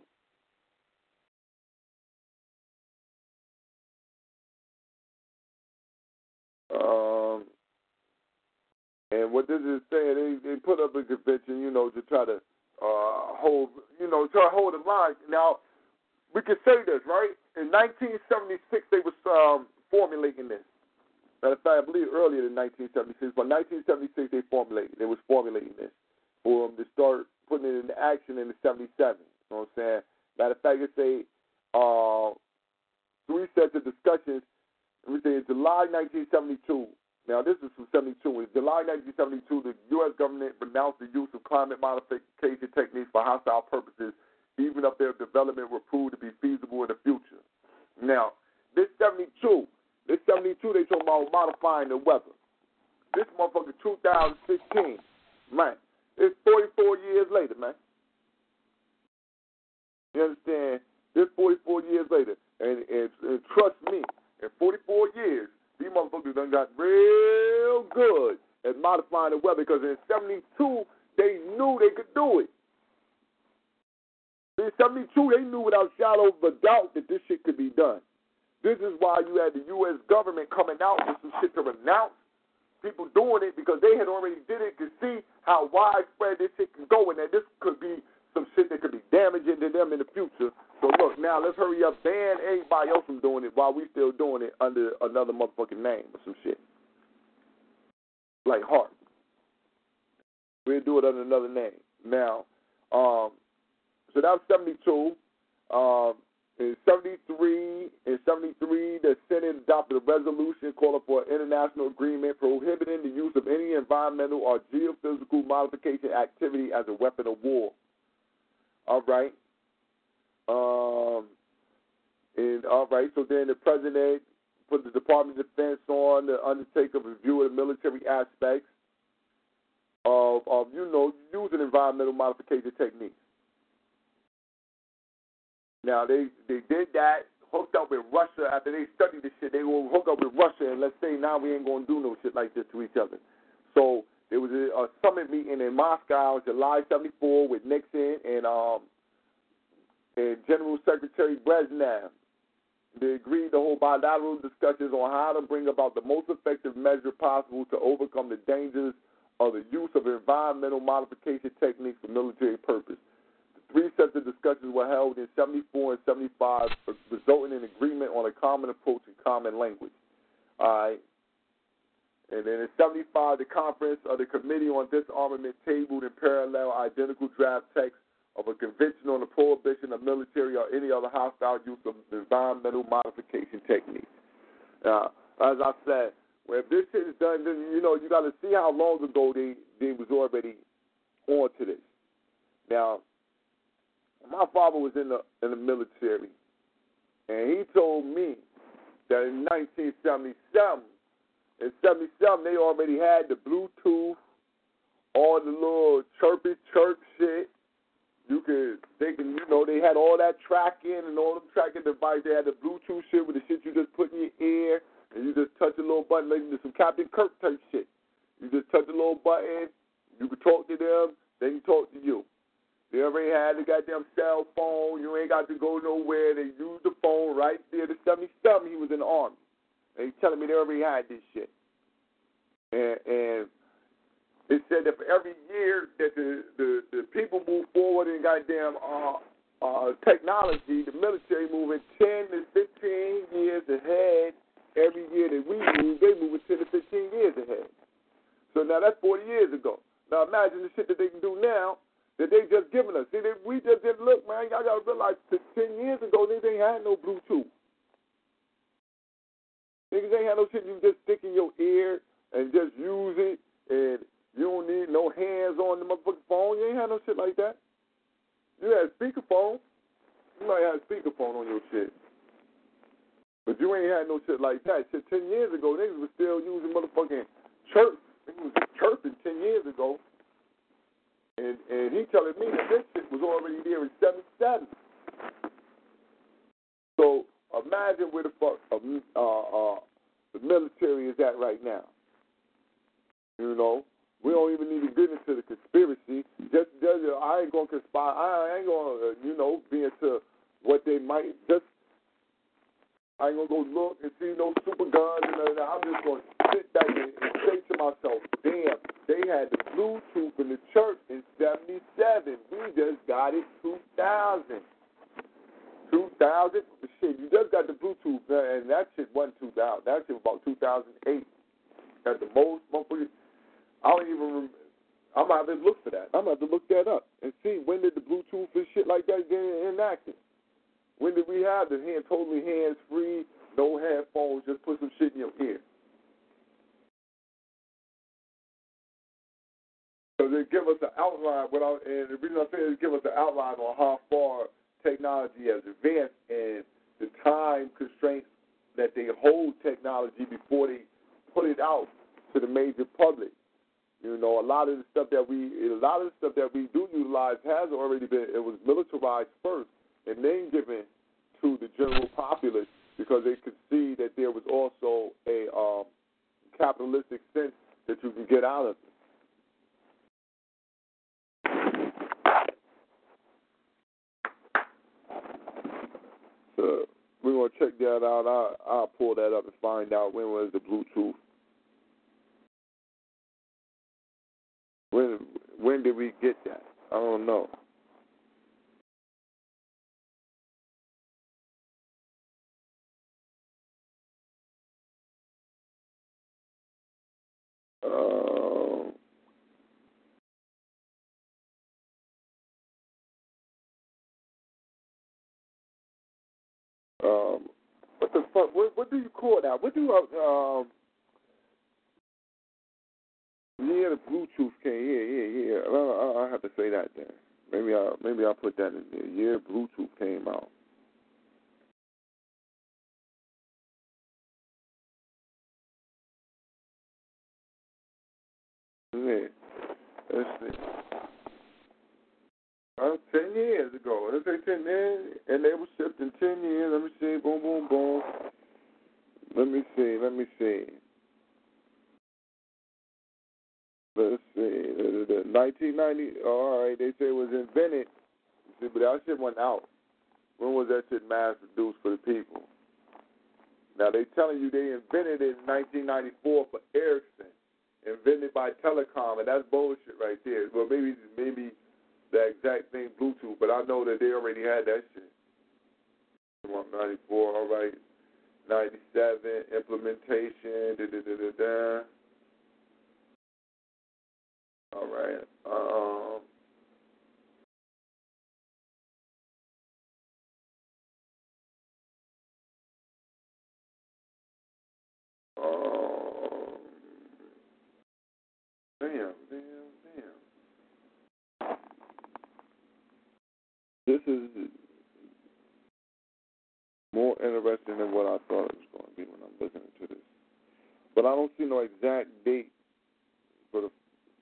And what this is saying, they put up a convention, to try to hold the line. Now, we can say this, right? In 1976, they was formulating this. Matter of fact, I believe earlier than 1976, but 1976 they was formulating this for them to start putting it into action in the 77. You know what I'm saying? Matter of fact, it's a 3 sets of discussions. Let me say in July 1972. Now, this is from 72. In July 1972, the U.S. government renounced the use of climate modification techniques for hostile purposes, even if their development were proved to be feasible in the future. Now, this 72, they talking about modifying the weather. This motherfucker 2016, man, it's 44 years later, man. You understand? This 44 years later, and trust me, in 44 years, these motherfuckers done got real good at modifying the weather because in 72, they knew they could do it. In 72, they knew without a shadow of a doubt that this shit could be done. This is why you had the U.S. government coming out with some shit to renounce people doing it because they had already did it to see how widespread this shit can go and that this could be some shit that could be damaging to them in the future. So look, now let's hurry up, ban everybody else from doing it while we still doing it under another motherfucking name or some shit. Like Hart. We'll do it under another name. Now, so that was 72. In 73, the Senate adopted a resolution calling for an international agreement prohibiting the use of any environmental or geophysical modification activity as a weapon of war. All right. So then the president put the Department of Defense on to undertake a review of the military aspects of using environmental modification techniques. Now, they did that, hooked up with Russia. After they studied this shit, they will hook up with Russia and let's say now we ain't going to do no shit like this to each other. So there was a summit meeting in Moscow, July 74, with Nixon and General Secretary Brezhnev. They agreed to hold bilateral discussions on how to bring about the most effective measure possible to overcome the dangers of the use of environmental modification techniques for military purpose. The 3 sets of discussions were held in 74 and 75, resulting in agreement on a common approach and common language. All right. And then in 75, the conference of the Committee on Disarmament tabled in parallel identical draft text of a convention on the prohibition of military or any other hostile use of environmental modification techniques. as I said, well, if this shit is done, then, you know, you got to see how long ago they was already on to this. Now, my father was in the military, and he told me that in 1977, in 77, they already had the Bluetooth, all the little chirpy chirp shit. They had all that tracking and all them tracking devices. They had the Bluetooth shit with the shit you just put in your ear, and you just touch a little button, like some Captain Kirk type shit. You just touch a little button, you can talk to them, they can talk to you. They already had the goddamn cell phone. You ain't got to go nowhere. They used the phone right there. The 77, he was in the Army. And he's telling me they already had this shit. And it said that for every year that the people move forward in goddamn technology, the military moving 10 to 15 years ahead. Every year that we move, they moving 10 to 15 years ahead. So now that's 40 years ago. Now imagine the shit that they can do now that they just given us. See, we just didn't look, man. Y'all got to realize 10 years ago, niggas ain't had no Bluetooth. Niggas ain't had no shit you just stick in your ear and just use it, and you don't need no hands on the motherfucking phone. You ain't had no shit like that. You had speakerphone. You might have speakerphone on your shit. But you ain't had no shit like that. Shit, 10 years ago, niggas was still using motherfucking chirp. Niggas was chirping 10 years ago. And he telling me that this shit was already there in 77. So imagine where the fuck the military is at right now. You know, we don't even need to get into the conspiracy. I ain't gonna conspire. I ain't gonna be into what they might just. I ain't gonna go look and see no super guns and that. I'm just gonna sit back and say to myself, damn, they had the Bluetooth in the church in 77. We just got it 2000. 2000? Shit, you just got the Bluetooth, and that shit wasn't 2000. That shit was about 2008. At the most, motherfucker. I don't even remember. I'm going to have to look for that. I'm going to have to look that up and see when did the Bluetooth and shit like that get enacted. When did we have the totally hands-free, no headphones, just put some shit in your ear? So they give us an outline, and the reason I say is give us an outline on how far technology has advanced and the time constraints that they hold technology before they put it out to the major public. You know, a lot of the stuff that we do utilize has already been, it was militarized first and then given to the general populace because they could see that there was also a capitalistic sense that you can get out of it. So we're going to check that out. I'll pull that up and find out when was the Bluetooth. When did we get that? I don't know. What the fuck? What do you call that? What do the Bluetooth came. Yeah. I have to say that then. Maybe I'll put that in there. Yeah, Bluetooth came out. Yeah. Let's see. 10 years ago. Let's say 10 years, and they were shipped in 10 years. Let me see. Boom, boom, boom. Let me see. Let's see. 1990. All right. They say it was invented. See, but that shit went out. When was that shit mass produced for the people? Now they telling you they invented it in 1994 for Ericsson, invented by Telecom, and that's bullshit right there. Well, maybe the exact thing Bluetooth, but I know that they already had that shit. 94, all right. 97 implementation. All right. Damn. This is more interesting than what I thought it was going to be when I'm looking into this. But I don't see no exact date for the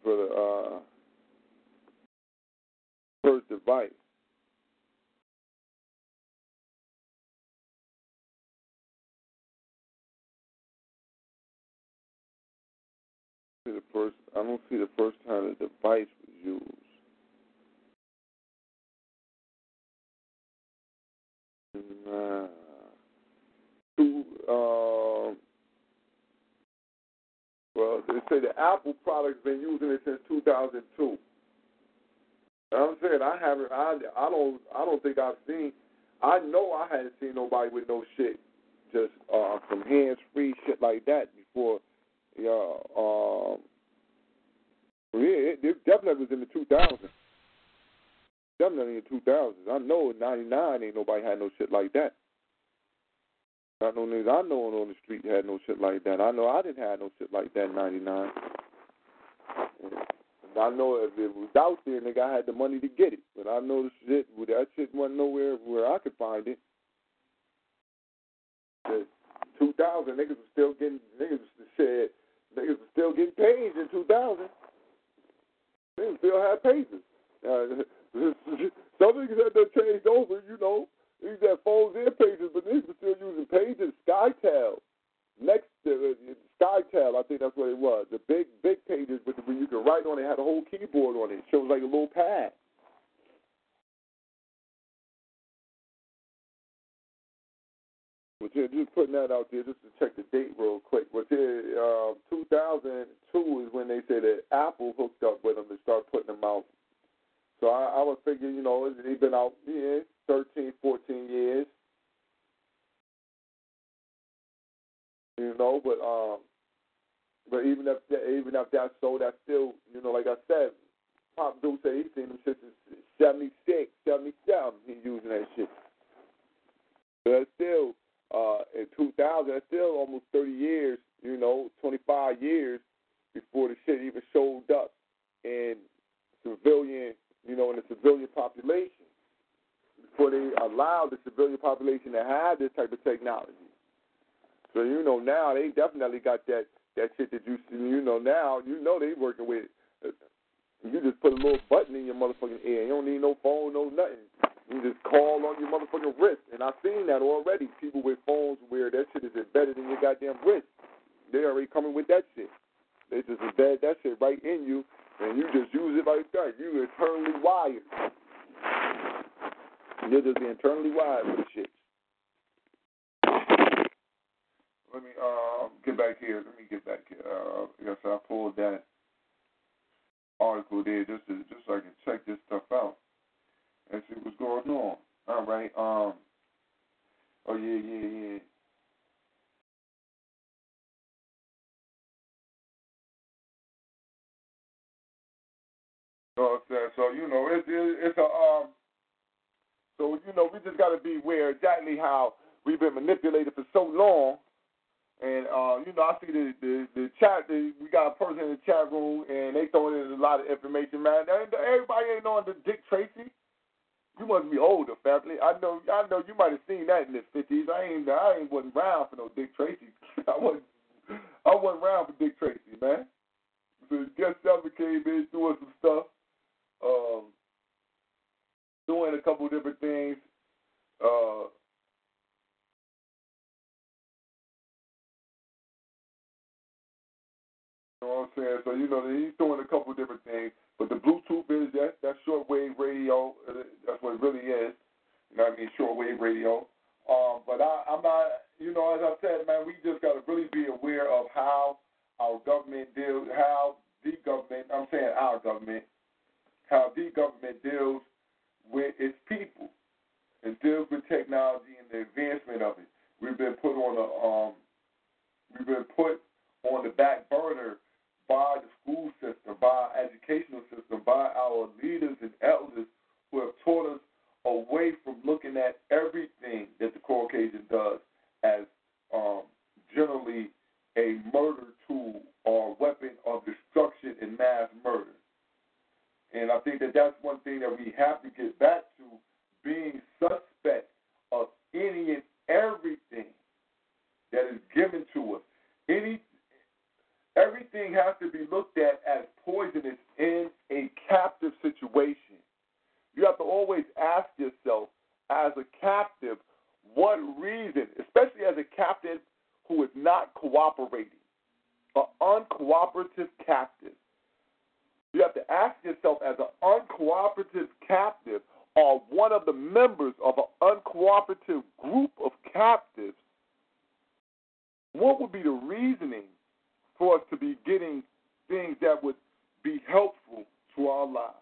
first device. I don't see the first time the device was used. Nah. Well, they say the Apple product's been using it since 2002. I'm saying I don't think I've seen. I know I hadn't seen nobody with no shit, just some hands-free shit like that before. Yeah, it definitely was in the 2000s. Definitely in the 2000s. I know in '99 ain't nobody had no shit like that. Not no niggas I know on the street had no shit like that. I know I didn't have no shit like that in '99. I know if it was out there, nigga, I had the money to get it. But I know that shit wasn't nowhere where I could find it. The 2000, niggas was still getting pages in 2000. Niggas still had pages. Some niggas had that changed over, you know. These had phones and pages, but niggas were still using pages. SkyTel. SkyTel, I think that's what it was. The big pages where you could write on it, had a whole keyboard on it. It shows like a little pad. But yeah, just putting that out there just to check the date real quick. But yeah, 2002 is when they said that Apple hooked up with them to start putting them out. So I would figure, you know, they've been out 13, 14 years. You know, but even if that's so, that's still, you know, like I said, Pop Dude said he's seen them shit since 76, 77. He's using that shit. But that's still, in 2000, that's still almost 30 years, you know, 25 years before the shit even showed up in civilian, you know, in the civilian population. Before they allowed the civilian population to have this type of technology. So, you know, now they definitely got that shit that you see, you know, now, you know they working with, you just put a little button in your motherfucking ear. You don't need no phone, no nothing. You just call on your motherfucking wrist. And I've seen that already. People with phones where that shit is embedded in your goddamn wrist. They already coming with that shit. They just embed that shit right in you, and you just use it like that. You internally wired. You're just internally wired for the shit. Let me get back here. Yes, I pulled that article there just so I can check this stuff out and see what's going on. All right. Oh yeah. So you know it's a so you know we just got to be aware exactly how we've been manipulated for so long. And, you know, I see the chat, we got a person in the chat room, and they throwing in a lot of information, man. Everybody ain't on the Dick Tracy. You must be older, family. I know you might have seen that in the 50s. I wasn't around for no Dick Tracy. I wasn't around for Dick Tracy, man. So Guest Seven came in doing some stuff, doing a couple different things. You know what I'm saying? So, you know, he's doing a couple different things. But the Bluetooth is that's shortwave radio. That's what it really is. You know what I mean? Shortwave radio. But I'm not, you know, as I said, man, we just got to really be aware of how our government deals, how the government, I'm saying our government, how the government deals with its people. It deals with technology and the advancement of it. We've been put on the back burner by the school system, by our educational system, by our leaders and elders who have taught us away from looking at everything that the Caucasian does as generally a murder tool or weapon of destruction and mass murder. And I think that that's one thing that we have to get back to, being suspect of any and everything that is given to us. Everything has to be looked at as poisonous in a captive situation. You have to always ask yourself, as a captive, what reason, especially as a captive who is not cooperating, an uncooperative captive. You have to ask yourself, as an uncooperative captive or one of the members of an uncooperative group of captives, what would be the reasoning for us to be getting things that would be helpful to our lives?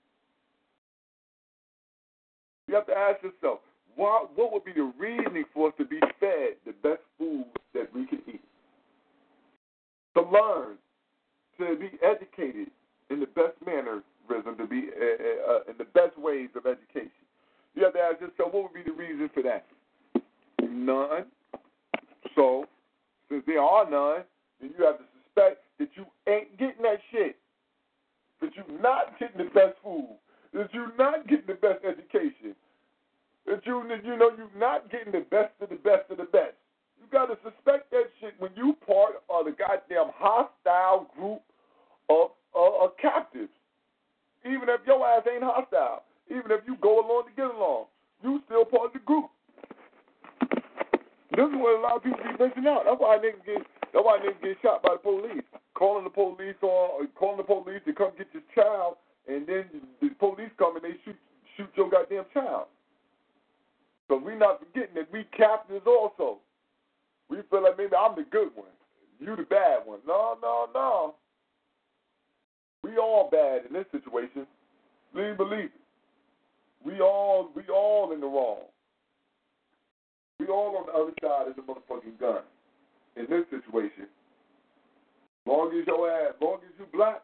You have to ask yourself, what would be the reasoning for us to be fed the best food that we can eat? To learn, to be educated in the best mannerism, to be in the best ways of education. You have to ask yourself, what would be the reason for that? None. So, since there are none, then you have to suspect that you ain't getting that shit, that you're not getting the best food, that you're not getting the best education, that you're not getting the best of the best of the best. You got to suspect that shit when you part of the goddamn hostile group of captives. Even if your ass ain't hostile, even if you go along to get along, you still part of the group. This is what a lot of people be missing out. That's why niggas get shot by the police. Calling the police to come get your child, and then the police come and they shoot your goddamn child. So we not forgetting that we captives also. We feel like maybe I'm the good one, you the bad one. No. We all bad in this situation. Please believe it. We all in the wrong. We all on the other side of the motherfucking gun in this situation. Long as you black,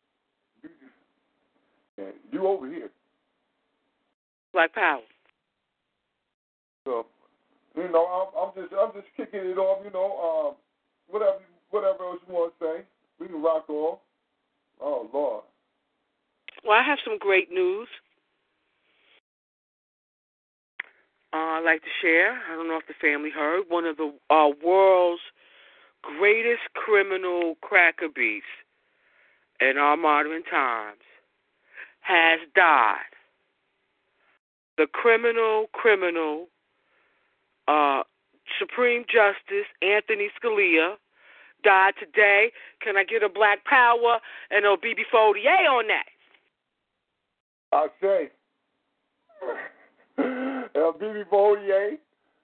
you over here. Black power. So, I'm just kicking it off. Whatever else you want to say, we can rock off. Oh Lord. Well, I have some great news. I'd like to share. I don't know if the family heard. One of the world's greatest criminal cracker beasts in our modern times has died. The criminal Supreme Justice Anthony Scalia died today. Can I get a Black Power and a BB-48 on that? I say, BB-48,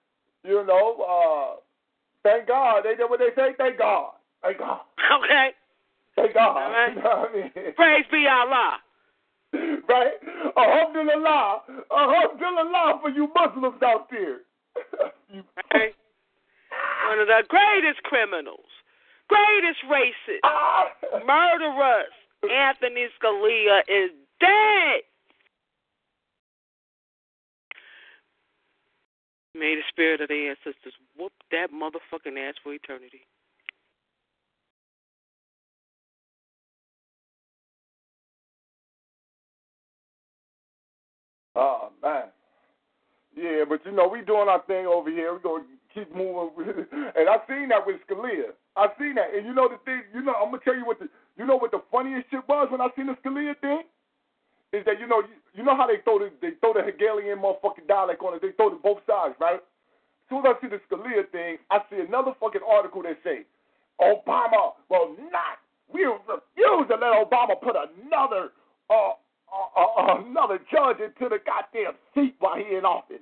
thank God. They did what they say. Thank God. Thank God. Okay. Thank God. All right. You know what I mean? Praise be Allah. Right? Alhamdulillah. Alhamdulillah for you Muslims out there. Okay. One of the greatest criminals, greatest racists, murderers, Anthony Scalia is dead. May the spirit of the ancestors whoop that motherfucking ass for eternity. Oh, man. Yeah, but we doing our thing over here. We're going to keep moving. And I seen that with Scalia. I seen that. And the thing, I'm going to tell you what the funniest shit was when I seen the Scalia thing? Is that, you know how they throw the Hegelian motherfucking dialect on it. They throw it both sides, right? As soon as I see the Scalia thing, I see another fucking article that say, Obama will not. We refuse to let Obama put another judge into the goddamn seat while he in office.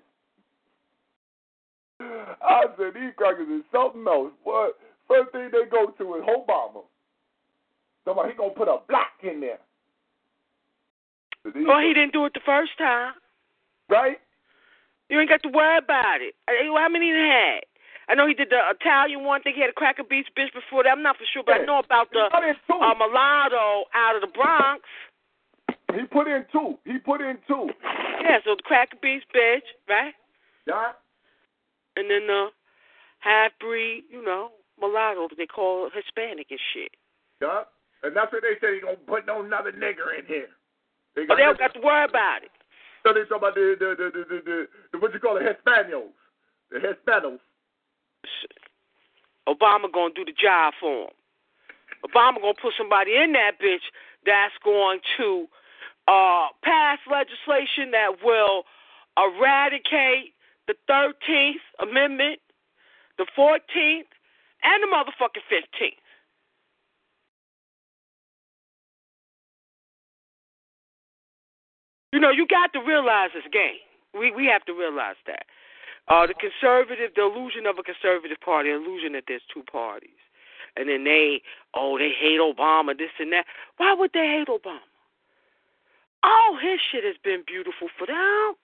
I said, these crackers is something else. What? First thing they go to is Obama. Somebody, he gonna put a black in there. Well, he didn't do it the first time. Right? You ain't got to worry about it. How many he had? I know he did the Italian one. I think he had a Cracker Beach bitch before that. I'm not for sure, but I know about the mulatto out of the Bronx. He put in two. Yeah, so the Cracker Beach bitch, right? Yeah. And then the half-breed, mulatto they call Hispanic and shit. Yeah, and that's what they say. They gonna put no another nigger in here. They don't got to worry about it. So they talk about the what you call it, Hispanos, the Hispanos. Obama gonna do the job for him. Obama gonna put somebody in that bitch that's going to pass legislation that will eradicate the 13th Amendment, the 14th, and the motherfucking 15th. You know, you got to realize this game. We have to realize that. The illusion of a conservative party, the illusion that there's two parties. And then they hate Obama, this and that. Why would they hate Obama? All his shit has been beautiful for them.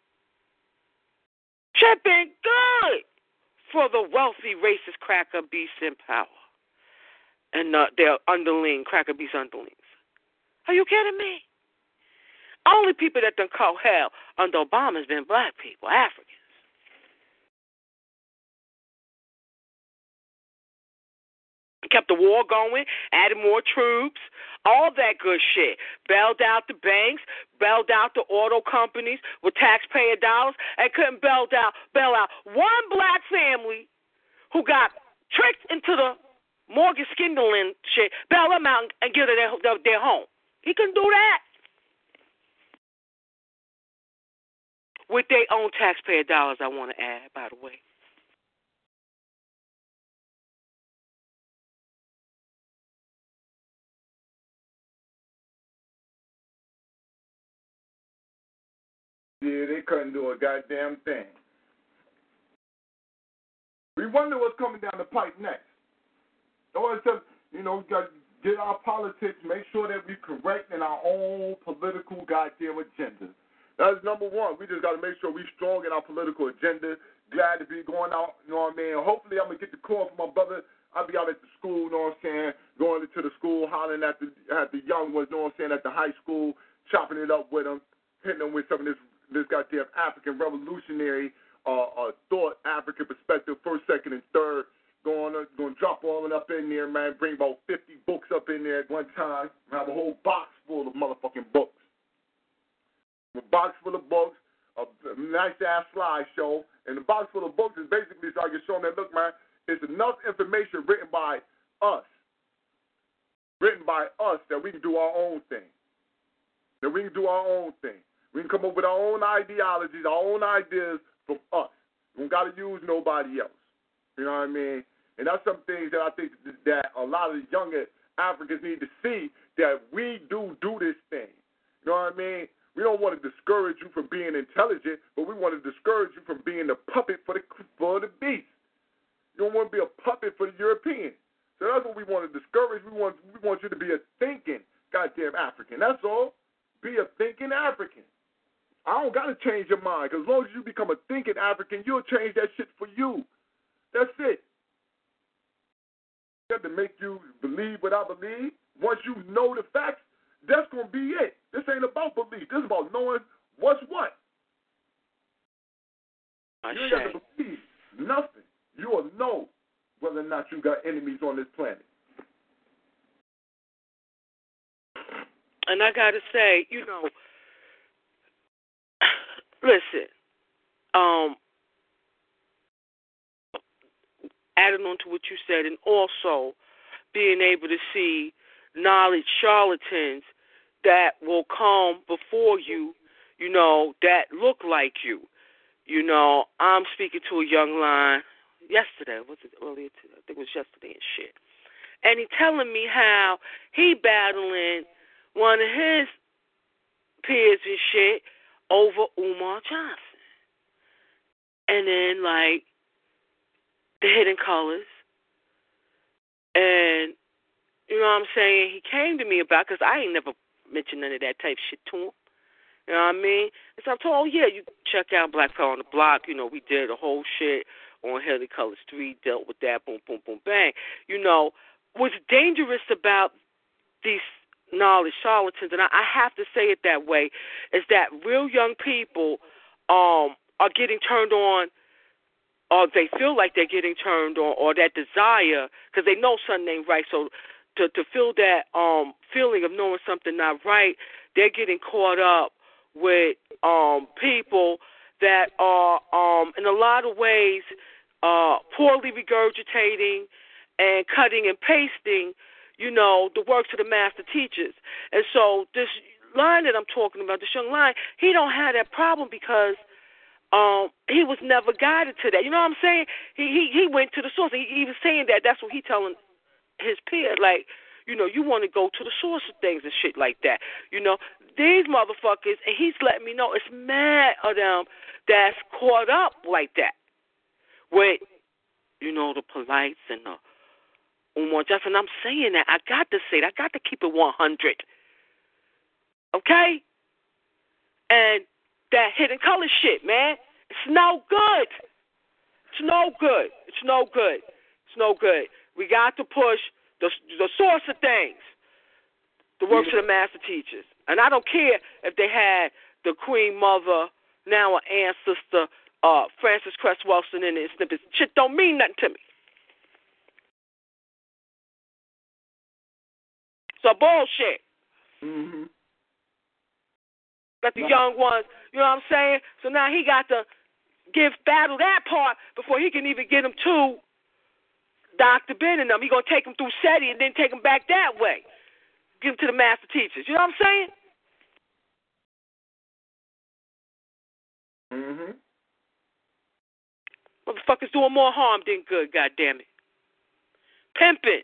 Shit been good for the wealthy, racist cracker beasts in power. And their cracker beast underlings. Are you kidding me? Only people that done caught hell under Obama has been black people, Africans. Kept the war going, added more troops, all that good shit. Bailed out the banks, bailed out the auto companies with taxpayer dollars, and couldn't bail out one black family who got tricked into the mortgage swindling shit, bail them out and give them their home. He couldn't do that. With their own taxpayer dollars, I want to add, by the way. Yeah, they couldn't do a goddamn thing. We wonder what's coming down the pipe next. We got to get our politics, make sure that we're correct in our own political goddamn agenda. That's number one. We just got to make sure we're strong in our political agenda. Glad to be going out, you know what I mean? Hopefully I'm going to get the call from my brother. I'll be out at the school, you know what I'm saying, going into the school, hollering at the young ones, you know what I'm saying, at the high school, chopping it up with them, hitting them with some of this goddamn African revolutionary thought, African perspective, first, second, and third. Going to drop all it up in there, man. Bring about 50 books up in there at one time. Have a whole box full of motherfucking books. A box full of books, a nice-ass slideshow. And the box full of books is basically so I can show them that, look, man, it's enough information written by us that we can do our own thing. We can come up with our own ideologies, our own ideas from us. We don't got to use nobody else. You know what I mean? And that's some things that I think that a lot of the younger Africans need to see, that we do this thing. You know what I mean? We don't want to discourage you from being intelligent, but we want to discourage you from being a puppet for the beast. You don't want to be a puppet for the European. So that's what we want to discourage. We want you to be a thinking goddamn African. That's all. Be a thinking African. I don't got to change your mind, because as long as you become a thinking African, you'll change that shit for you. That's it. Got to make you believe what I believe. Once you know the facts, that's going to be it. This ain't about belief. This is about knowing what's what. You ain't got to believe nothing. You will know whether or not you got enemies on this planet. And I got to say, listen, adding on to what you said, and also being able to see knowledge charlatans that will come before you, that look like you. I'm speaking to a young line yesterday. Was it earlier? I think it was yesterday and shit. And he telling me how he battling one of his peers and shit over Umar Johnson. And then, like, the Hidden Colors. And, you know what I'm saying, he came to me about, because I ain't never mentioned none of that type shit to him. You know what I mean? And so I told him, you check out Black Power on the Block. We did a whole shit on Hidden Colors 3, dealt with that, boom, boom, boom, bang. What's dangerous about these knowledge charlatans, and I have to say it that way, is that real young people are getting turned on or they feel like they're getting turned on, or that desire, because they know something ain't right. So to feel that feeling of knowing something not right, they're getting caught up with people that are in a lot of ways poorly regurgitating and cutting and pasting, the works of the master teachers. And so this line that I'm talking about, this young lion, he don't have that problem because he was never guided to that. You know what I'm saying? He went to the source. He was saying that. That's what he telling his peer. Like, you want to go to the source of things and shit like that. These motherfuckers, and he's letting me know it's mad of them that's caught up like that with, the polites and the just. And I'm saying that. I got to say that. I got to keep it 100. Okay? And that hidden color shit, man. It's no good. It's no good. It's no good. It's no good. We got to push the source of things, the works of the master teachers. And I don't care if they had the Queen Mother, now an ancestor, Frances Cress Welsing in it. Snippets. Shit don't mean nothing to me. So bullshit. Mm-hmm. Got the young ones, you know what I'm saying? So now he got to battle that part before he can even get them to Dr. Ben and them. He going to take them through SETI and then take them back that way. Give them to the master teachers. You know what I'm saying? Mm-hmm. Motherfuckers doing more harm than good, goddammit. Pimping.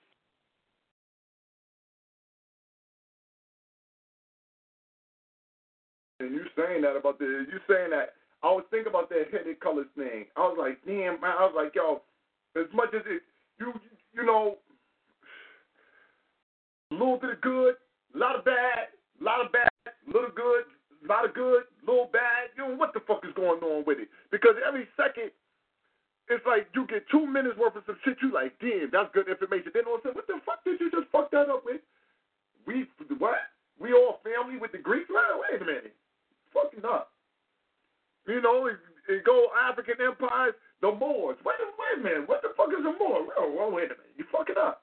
And you saying that I was thinking about that headed colors thing. I was like, damn, man. I was like, yo, as much as it, you know, a little bit of good, a lot of bad, little good, a lot of good, little bad. What the fuck is going on with it? Because every second, it's like you get 2 minutes worth of some shit. You like, damn, that's good information. Then all of a sudden, what the fuck did you just fuck that up with? What? We all family with the Greeks? Wait a minute. Fucking up. It go African empires, the Moors. Wait a minute. What the fuck is a Moor? Oh, wait a minute. You fucking up.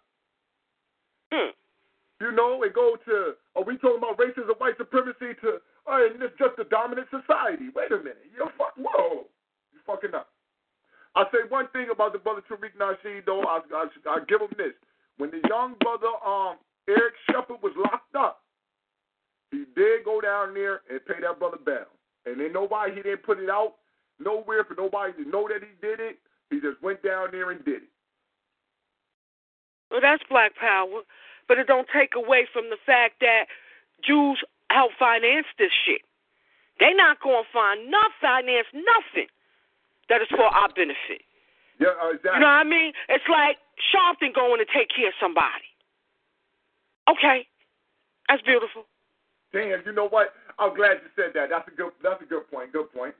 It go to, are we talking about racism, white supremacy to, and it's just a dominant society. Wait a minute. Whoa. You fucking up. I'll say one thing about the brother Tariq Nasheed, though. I'll give him this. When the young brother Eric Shepard was locked up, he did go down there and pay that brother bail. And then he didn't put it out nowhere for nobody to know that he did it. He just went down there and did it. Well, that's black power. But it don't take away from the fact that Jews help finance this shit. They not going to finance nothing that is for our benefit. Yeah, exactly. You know what I mean? It's like Sharpton going to take care of somebody. Okay. That's beautiful. Damn, you know what? I'm glad you said that. That's a good point. Good point,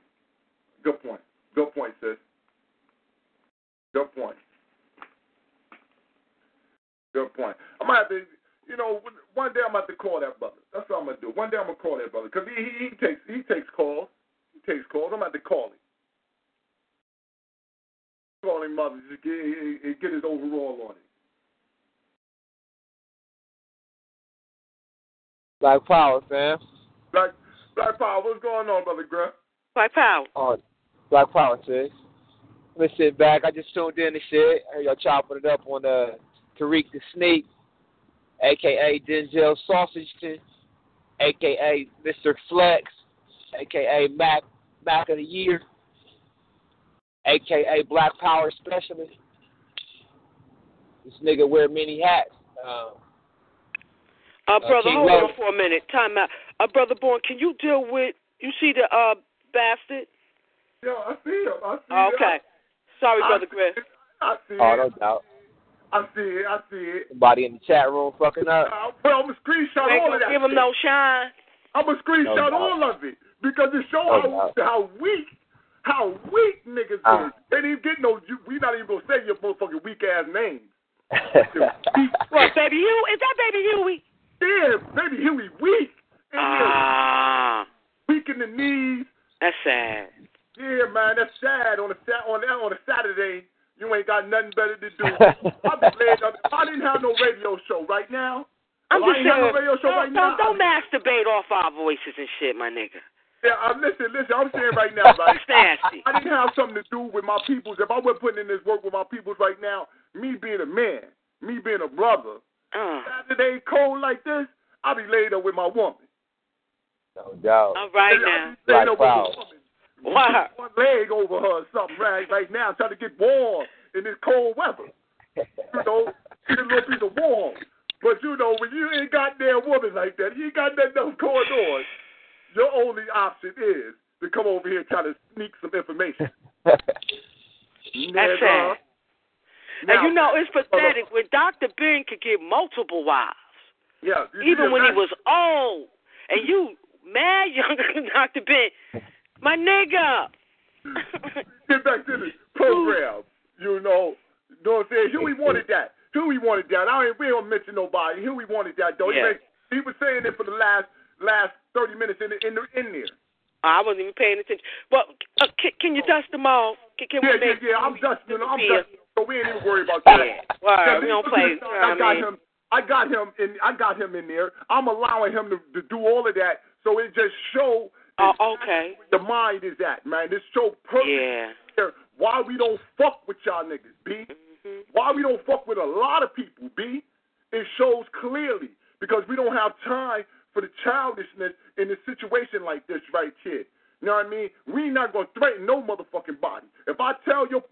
sis. Good point. I'm gonna have to, one day I'm gonna have to call that brother. That's what I'm gonna do. One day I'm gonna call that brother because he takes calls. I'm gonna have to call him. Call him mother, just get his overall on it. Black Power, fam. Black Power, what's going on, brother Griff? Black Power. Oh, Black Power, sis. Let me sit back. I just tuned in and shit. I heard y'all chopping it up on Tariq the Sneak, a.k.a. Denzel Sausageton, a.k.a. Mr. Flex, a.k.a. Mac of the Year, a.k.a. Black Power Specialist. This nigga wear many hats. Brother, hold on for a minute. Time out. Brother Born, can you deal with, you see the bastard? Yeah, I see him. Okay. Sorry, Brother Griff. I see Oh, it. no doubt. I see it. Somebody in the chat room fucking up. Well, I'm going to screenshot all of that. Give him no shine. I'm going to screenshot all of it because it shows how weak niggas is. They didn't even get we not even going to say your motherfucking weak-ass names. What, Baby Huey? Is that Baby Huey? Yeah, Baby Huey weak. Weak in the knees. That's sad. Yeah, man, that's sad. On a Saturday, you ain't got nothing better to do. I'll be glad if I didn't have no radio show right now. I'm just saying, no radio show right now, don't masturbate off our voices and shit, my nigga. Yeah, listen. I'm saying right now, right? It's nasty. I didn't have something to do with my peoples. If I wasn't putting in this work with my peoples right now, me being a man, me being a brother, Saturday cold like this, I'll be laid up with my woman. No doubt. All right now. Laid up with a woman. Wow. One leg over her or something right now, trying to get warm in this cold weather. You know, get a little piece of warm. But you know, when you ain't got there a woman like that, you ain't got nothing else going on. Your only option is to come over here and try to sneak some information. That's sad. And you know, it's pathetic when Dr. Ben could get multiple wives. Yeah. Even when he was old. And you mad younger than Dr. Ben. My nigga. Get back to the program. You know what I'm saying? Huey wanted that. We don't mention nobody. Huey wanted that, though. Yeah. He was saying it for the last 30 minutes in there. I wasn't even paying attention. Well, can you dust them off? Yeah. I'm dusting. So we ain't even worried about that. Yeah. Well, we don't play. I got him in there. I'm allowing him to do all of that. So it just shows okay. where the mind is at, man. This show perfect why we don't fuck with y'all niggas, B. Mm-hmm. Why we don't fuck with a lot of people, B. It shows clearly because we don't have time for the childishness in a situation like this right here. You know what I mean? We not gonna threaten no motherfucking body. If I tell you,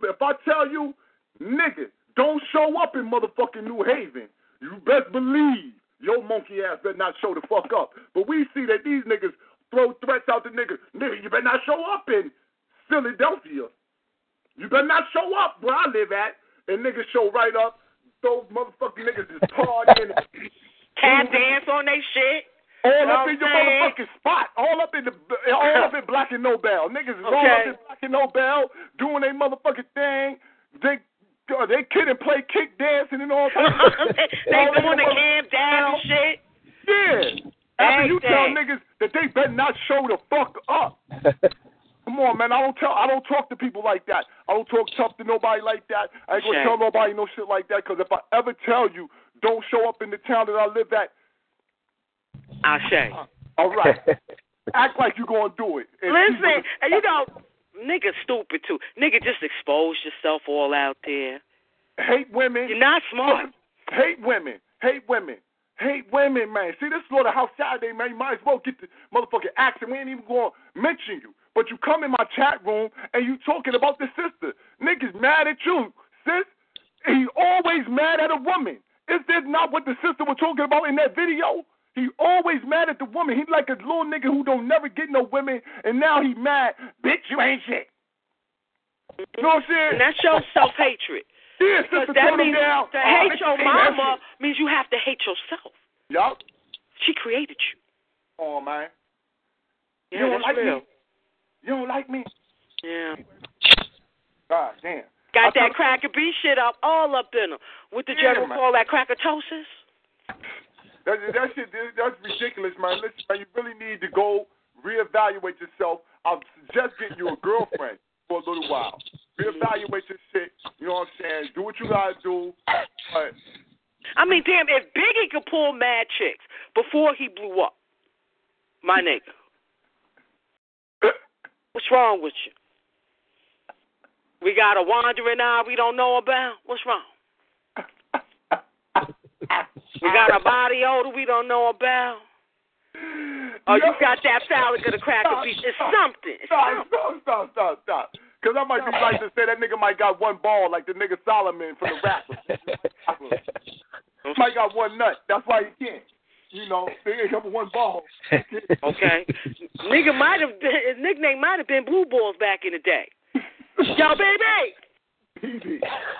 nigga, don't show up in motherfucking New Haven, you best believe your monkey ass better not show the fuck up. But we see that these niggas throw threats out to niggas. Nigga, you better not show up in Philadelphia. You better not show up where I live at. And niggas show right up. Those motherfucking niggas is partying. Tap dance on they shit. All up in your motherfucking spot. All up in Black and Nobel. Niggas is all up in Black and Nobel doing their motherfucking thing. They kid and play kick dancing and all that. They doing the Cam down and shit. Yeah. After you tell niggas that they better not show the fuck up. Come on, man. I don't talk to people like that. I don't talk tough to nobody like that. I ain't gonna tell nobody no shit like that. Because if I ever tell you, don't show up in the town that I live at. Ashe. All right. Act like you gonna do it. Listen, and you know, nigga stupid too. Nigga just expose yourself all out there. Hate women. You're not smart. Hate women, man. See, this Slaughterhouse Saturday, man. You might as well get the motherfucking action. We ain't even gonna mention you. But you come in my chat room and you talking about the sister. Niggas mad at you, sis. He always mad at a woman. Is this not what the sister was talking about in that video? He always mad at the woman. He like a little nigga who don't never get no women, and now he mad. Bitch, you ain't shit. You know what I'm saying? And that shows self-hatred. Yeah, sister, that means to hate your mama means you have to hate yourself. Yup. She created you. Oh, man. Yeah, you don't like real. me? You don't like me? Yeah. God damn. Got that cracker B shit up, all up in them. What the general call that crackatosis? That shit, that's ridiculous, man. Listen, man, you really need to go reevaluate yourself. I'll suggest getting you a girlfriend for a little while. Reevaluate your shit. You know what I'm saying? Do what you gotta do. But I mean, damn, if Biggie could pull mad chicks before he blew up, my nigga, what's wrong with you? We got a wandering eye we don't know about? What's wrong? We got a body odor we don't know about? Oh, you got that phallic of the cracker beef. It's something. Stop. Because I might be right to say that nigga might got one ball like the nigga Solomon from the rapper. Might got one nut. That's why he can't. You know, he ain't got one ball. Okay. Nigga might have been, his nickname might have been Blue Balls back in the day. Yo, baby! Easy.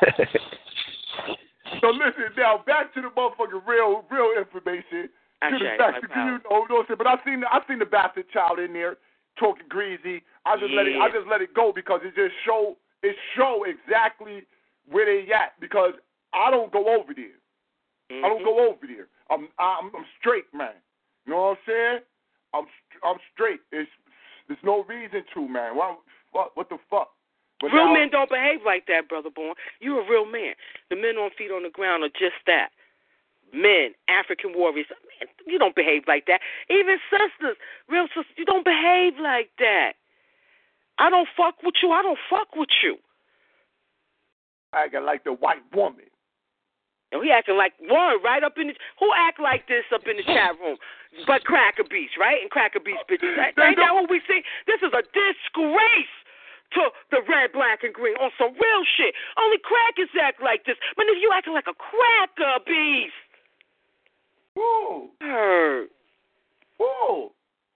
So listen, now back to the motherfucking real information. But I seen the bastard child in there talking greasy. I just let it go because it just show exactly where they at because I don't go over there. Mm-hmm. I don't go over there. I'm straight, man. You know what I'm saying? I'm straight. There's no reason to, man. Well, fuck? What the fuck? But real men don't behave like that, Brother Born. You're a real man. The men on feet on the ground are just that. Men, African warriors. Man, you don't behave like that. Even sisters, real sisters, you don't behave like that. I don't fuck with you. I don't fuck with you. Acting like the white woman. And we acting like one right up in the. Who act like this up in the chat room? But Cracker Beach, right? And Cracker Beach bitches. Ain't that what we see? This is a disgrace to the red, black, and green on some real shit. Only crackers act like this. But if you acting like a Cracker Beast. Whoa. Hurt. Whoa.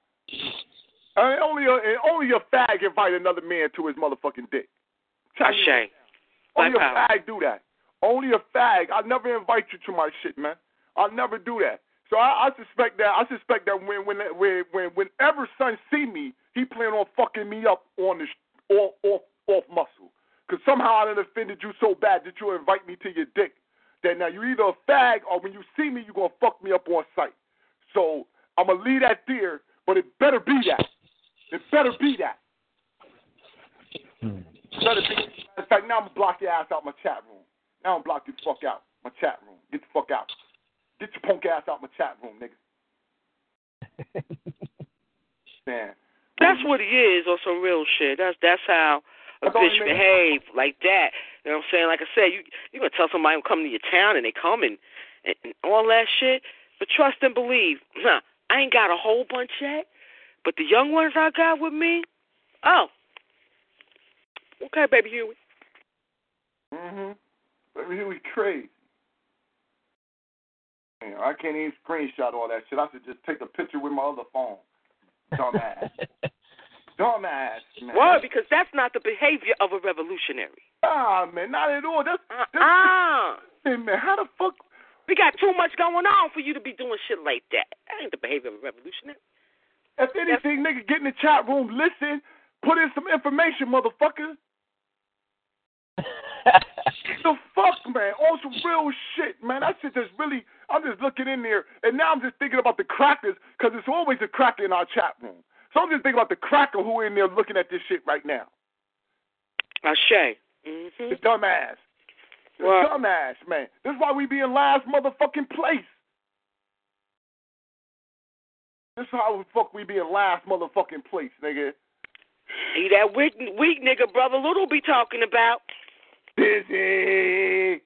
Only a fag invite another man to his motherfucking dick. Ashay. Only a fag do that. Only a fag. I'll never invite you to my shit, man. I'll never do that. So I suspect that. Whenever son see me, he plan on fucking me up on the off muscle. Cause somehow I done offended you so bad that you invite me to your dick. That now you either a fag or when you see me, you gonna fuck me up on sight. So I'm gonna leave that there, but it better be that. It better be that. Better be. In fact, now I'm gonna block your ass out my chat room. Now I'm gonna block you the fuck out my chat room. Get the fuck out. Get your punk ass out my chat room, nigga. Man. That's what he is, or some real shit. That's how a bitch behave like that. You know what I'm saying? Like I said, you gonna tell somebody to come to your town and they come and all that shit. But trust and believe. Nah, I ain't got a whole bunch yet, but the young ones I got with me, oh, okay, baby Huey. Baby Huey crazy. Man, I can't even screenshot all that shit. I should just take a picture with my other phone. Dumbass. Dumbass, man. Why? Because that's not the behavior of a revolutionary. Ah, man, not at all. That's hey, man, how the fuck? We got too much going on for you to be doing shit like that. That ain't the behavior of a revolutionary. If anything, nigga, get in the chat room, listen, put in some information, motherfucker. The fuck, man? On some real shit, man. That shit just really, I'm just looking in there, and now I'm just thinking about the crackers, because there's always a cracker in our chat room. So I'm just thinking about the cracker who in there looking at this shit right now. Ashay. The dumbass. The dumbass, man. This is why we be in last motherfucking place. This is how the fuck we be in last motherfucking place, nigga. See that weak nigga Brother Little be talking about. Busy.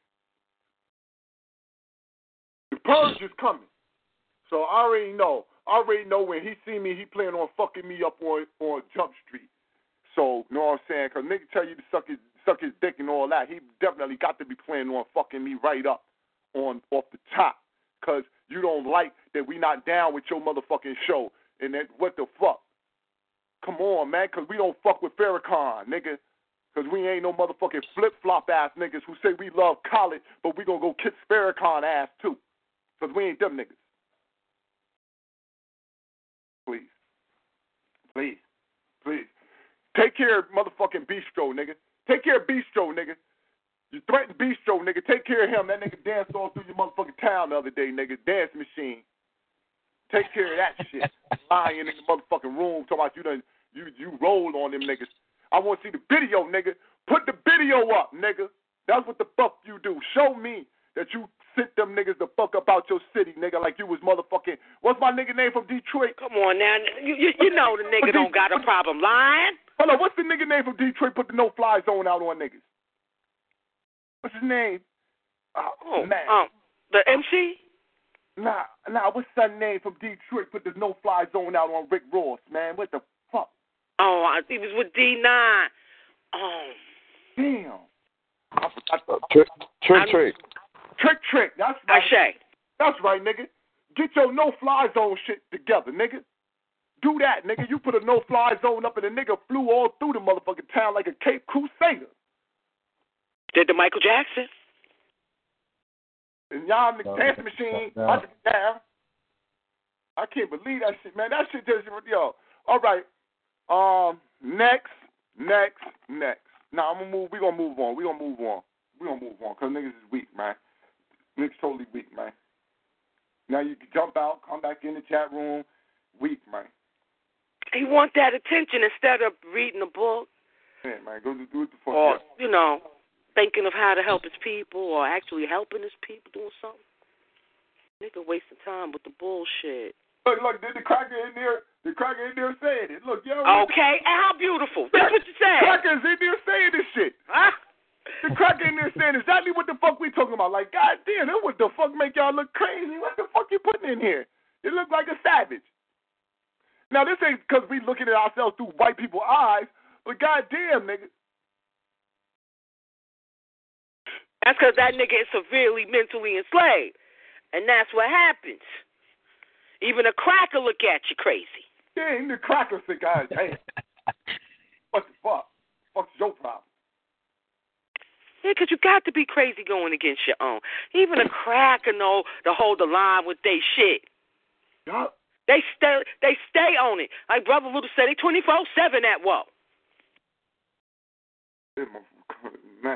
The purge is coming. So I already know. When he see me, he planning on fucking me up on Jump Street. So, you know what I'm saying? Because nigga tell you to suck his dick and all that. He definitely got to be planning on fucking me right up off the top. Because you don't like that we not down with your motherfucking show. And that, what the fuck? Come on, man, because we don't fuck with Farrakhan, nigga. Because we ain't no motherfucking flip-flop ass niggas who say we love college, but we gonna go kick Farrakhan ass too. Because we ain't them niggas. Please. Take care of motherfucking Bistro, nigga. Take care of Bistro, nigga. You threatened Bistro, nigga. Take care of him. That nigga danced all through your motherfucking town the other day, nigga. Dance machine. Take care of that shit. Lying in the motherfucking room talking about you rolled on them niggas. I want to see the video, nigga. Put the video up, nigga. That's what the fuck you do. Show me that you sent them niggas the fuck up out your city, nigga, like you was motherfucking. What's my nigga name from Detroit? Come on now. You know the nigga don't got a problem lying. Hold on, what's the nigga name from Detroit put the no-fly zone out on niggas? What's his name? Oh man. The MC? Nah, what's that name from Detroit put the no-fly zone out on Rick Ross, man? What the fuck? Oh, I think it was with D9. Oh. Damn. I forgot Trick. That's right. Ashay. That's right, nigga. Get your no-fly zone shit together, nigga. Do that, nigga. You put a no-fly zone up and the nigga flew all through the motherfucking town like a Cape Crusader. Did the Michael Jackson? And y'all the dance machine, down. I can't believe that shit, man. That shit just, yo. All right. Next. Now we're gonna move on. We're gonna move on. Because niggas is weak, man. Niggas totally weak, man. Now you can jump out, come back in the chat room. Weak, man. He want that attention instead of reading a book. Yeah, man, go do what the fuck. Or, thinking of how to help his people or actually helping his people doing something. Nigga wasting time with the bullshit. Look, the cracker in there saying it. Look, yo. Okay, and how beautiful. That's what you said. The cracker's in there saying this shit. Huh? The cracker in there saying exactly what the fuck we talking about. Like, goddamn, what the fuck make y'all look crazy? What the fuck you putting in here? You look like a savage. Now, this ain't because we looking at ourselves through white people's eyes, but goddamn, nigga. That's because that nigga is severely mentally enslaved. And that's what happens. Even a cracker look at you crazy. Yeah, even the cracker say, God damn. What the fuck? What's your problem? Yeah, because you got to be crazy going against your own. Even a cracker know to hold the line with they shit. Yup. They stay on it. Like Brother Little said, they 24/7 at whoa. Man.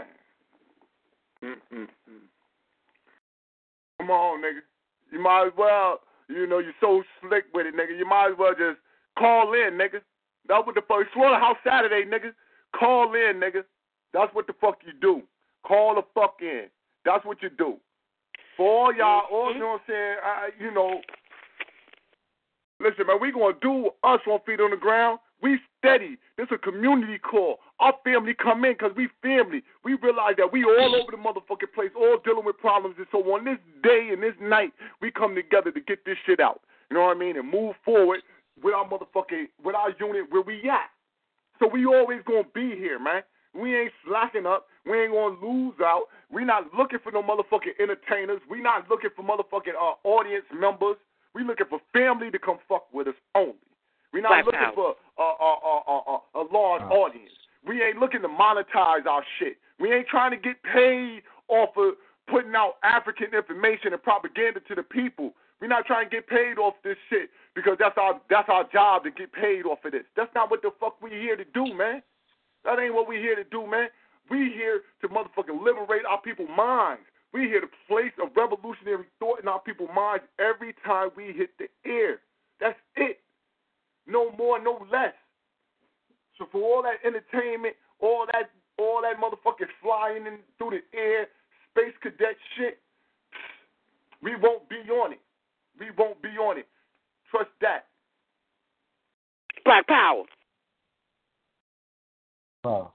Come on, nigga. You might as well, you're so slick with it, nigga. You might as well just call in, nigga. That's what the fuck. Slaughterhouse Saturday, nigga. Call in, nigga. That's what the fuck you do. Call the fuck in. That's what you do. For all y'all, you know what I'm saying? Listen, man, we going to do us on Feet on the Ground. We steady. This is a community call. Our family come in because we family. We realize that we all over the motherfucking place, all dealing with problems. And so on this day and this night, we come together to get this shit out. You know what I mean? And move forward with our unit where we at. So we always going to be here, man. We ain't slacking up. We ain't going to lose out. We not looking for no motherfucking entertainers. We not looking for motherfucking audience members. We looking for family to come fuck with us only. We not looking for a large audience. We ain't looking to monetize our shit. We ain't trying to get paid off of putting out African information and propaganda to the people. We're not trying to get paid off this shit because that's our job to get paid off of this. That's not what the fuck we here to do, man. That ain't what we here to do, man. We here to motherfucking liberate our people's minds. We here to place a revolutionary thought in our people's minds every time we hit the air. That's it. No more, no less. So for all that entertainment, all that motherfucking flying in through the air, space cadet shit, we won't be on it. We won't be on it. Trust that. Black Power. Wow.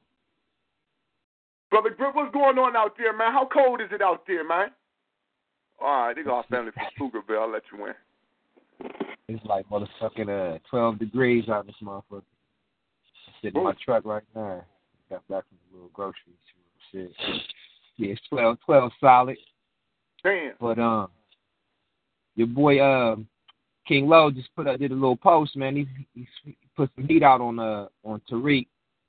Brother Grip, what's going on out there, man? How cold is it out there, man? All right, they got our family from Pflugerville. I'll let you in. It's like motherfucking 12 degrees out this motherfucker. I'm sitting in my truck right now. Got back from the little grocery shit. Yeah, it's 12 solid. Damn. But your boy King Low just did a little post, man. He put some heat out on Tariq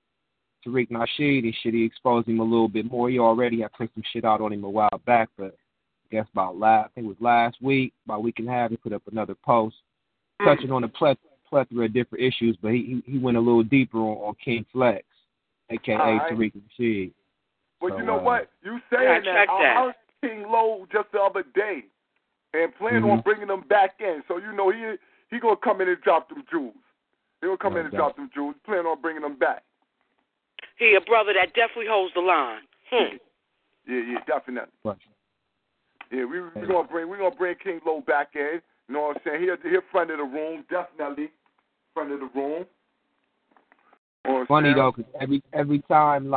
Nasheed and shit. He exposed him a little bit more. He already had put some shit out on him a while back, but I guess about last week, about a week and a half, he put up another post touching on a plethora of different issues, but he went a little deeper on King Flex, a.k.a. Tariq Nasheed. But you know what? You saying that. I heard King Low just the other day and plan on bringing them back in. So, you know, he going to come in and drop them jewels. He going to come in and drop them jewels. Plan on bringing them back. He a brother that definitely holds the line. Yeah, definitely. Right. Yeah, we're gonna bring King Low back in. You know what I'm saying? He a friend of the room, definitely friend of the room. Funny though, because every time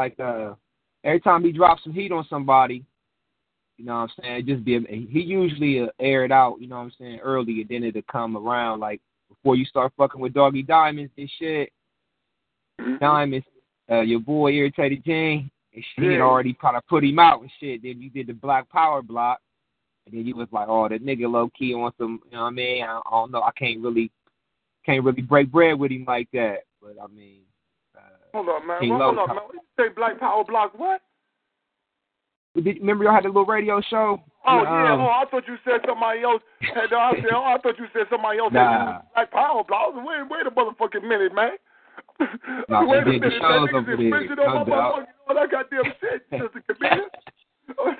he drops some heat on somebody, you know what I'm saying? He usually air it out, you know what I'm saying, early, and then it'll come around like before you start fucking with Doggy Diamonds and shit. Diamonds. Your boy Irritated Gene, and she had already kind of put him out and shit. Then you did the Black Power block, and then you was like, oh, that nigga low key on some, you know what I mean? I don't know. I can't really break bread with him like that. But I mean, hold on, man. Hold on, man. What you say, Black Power block? What? Remember y'all had a little radio show? Oh yeah. I thought you said somebody else. I thought you said somebody else had Black Power block. Wait a motherfucking minute, man. No, wait a minute, minute, the that nigga's infringing on my motherfucking all that goddamn shit, Mr. Comedian.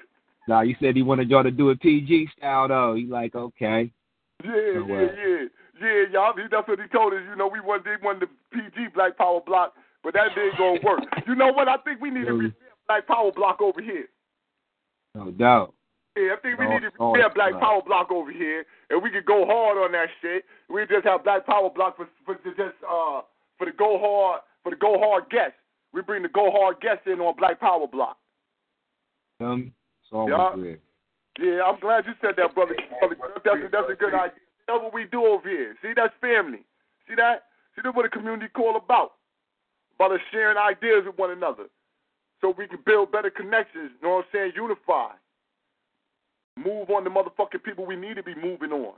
You said he wanted y'all to do it PG style, though. He like, okay. Yeah. Yeah, y'all. That's what he told us. You know, we wanted the PG Black Power block, but that didn't gonna work. You know what? I think we need to repair Black Power block over here. No doubt. Yeah, I think we need to repair Black Power block over here, and we could go hard on that shit. We just have Black Power block for the go hard guests. We bring the go hard guests in on Black Power block. It's always good. Yeah, I'm glad you said that, brother. That's a good idea. That's what we do over here. See, that's family. See that? See, that's what a community call about us sharing ideas with one another so we can build better connections, you know what I'm saying, unify. Move on the motherfucking people we need to be moving on.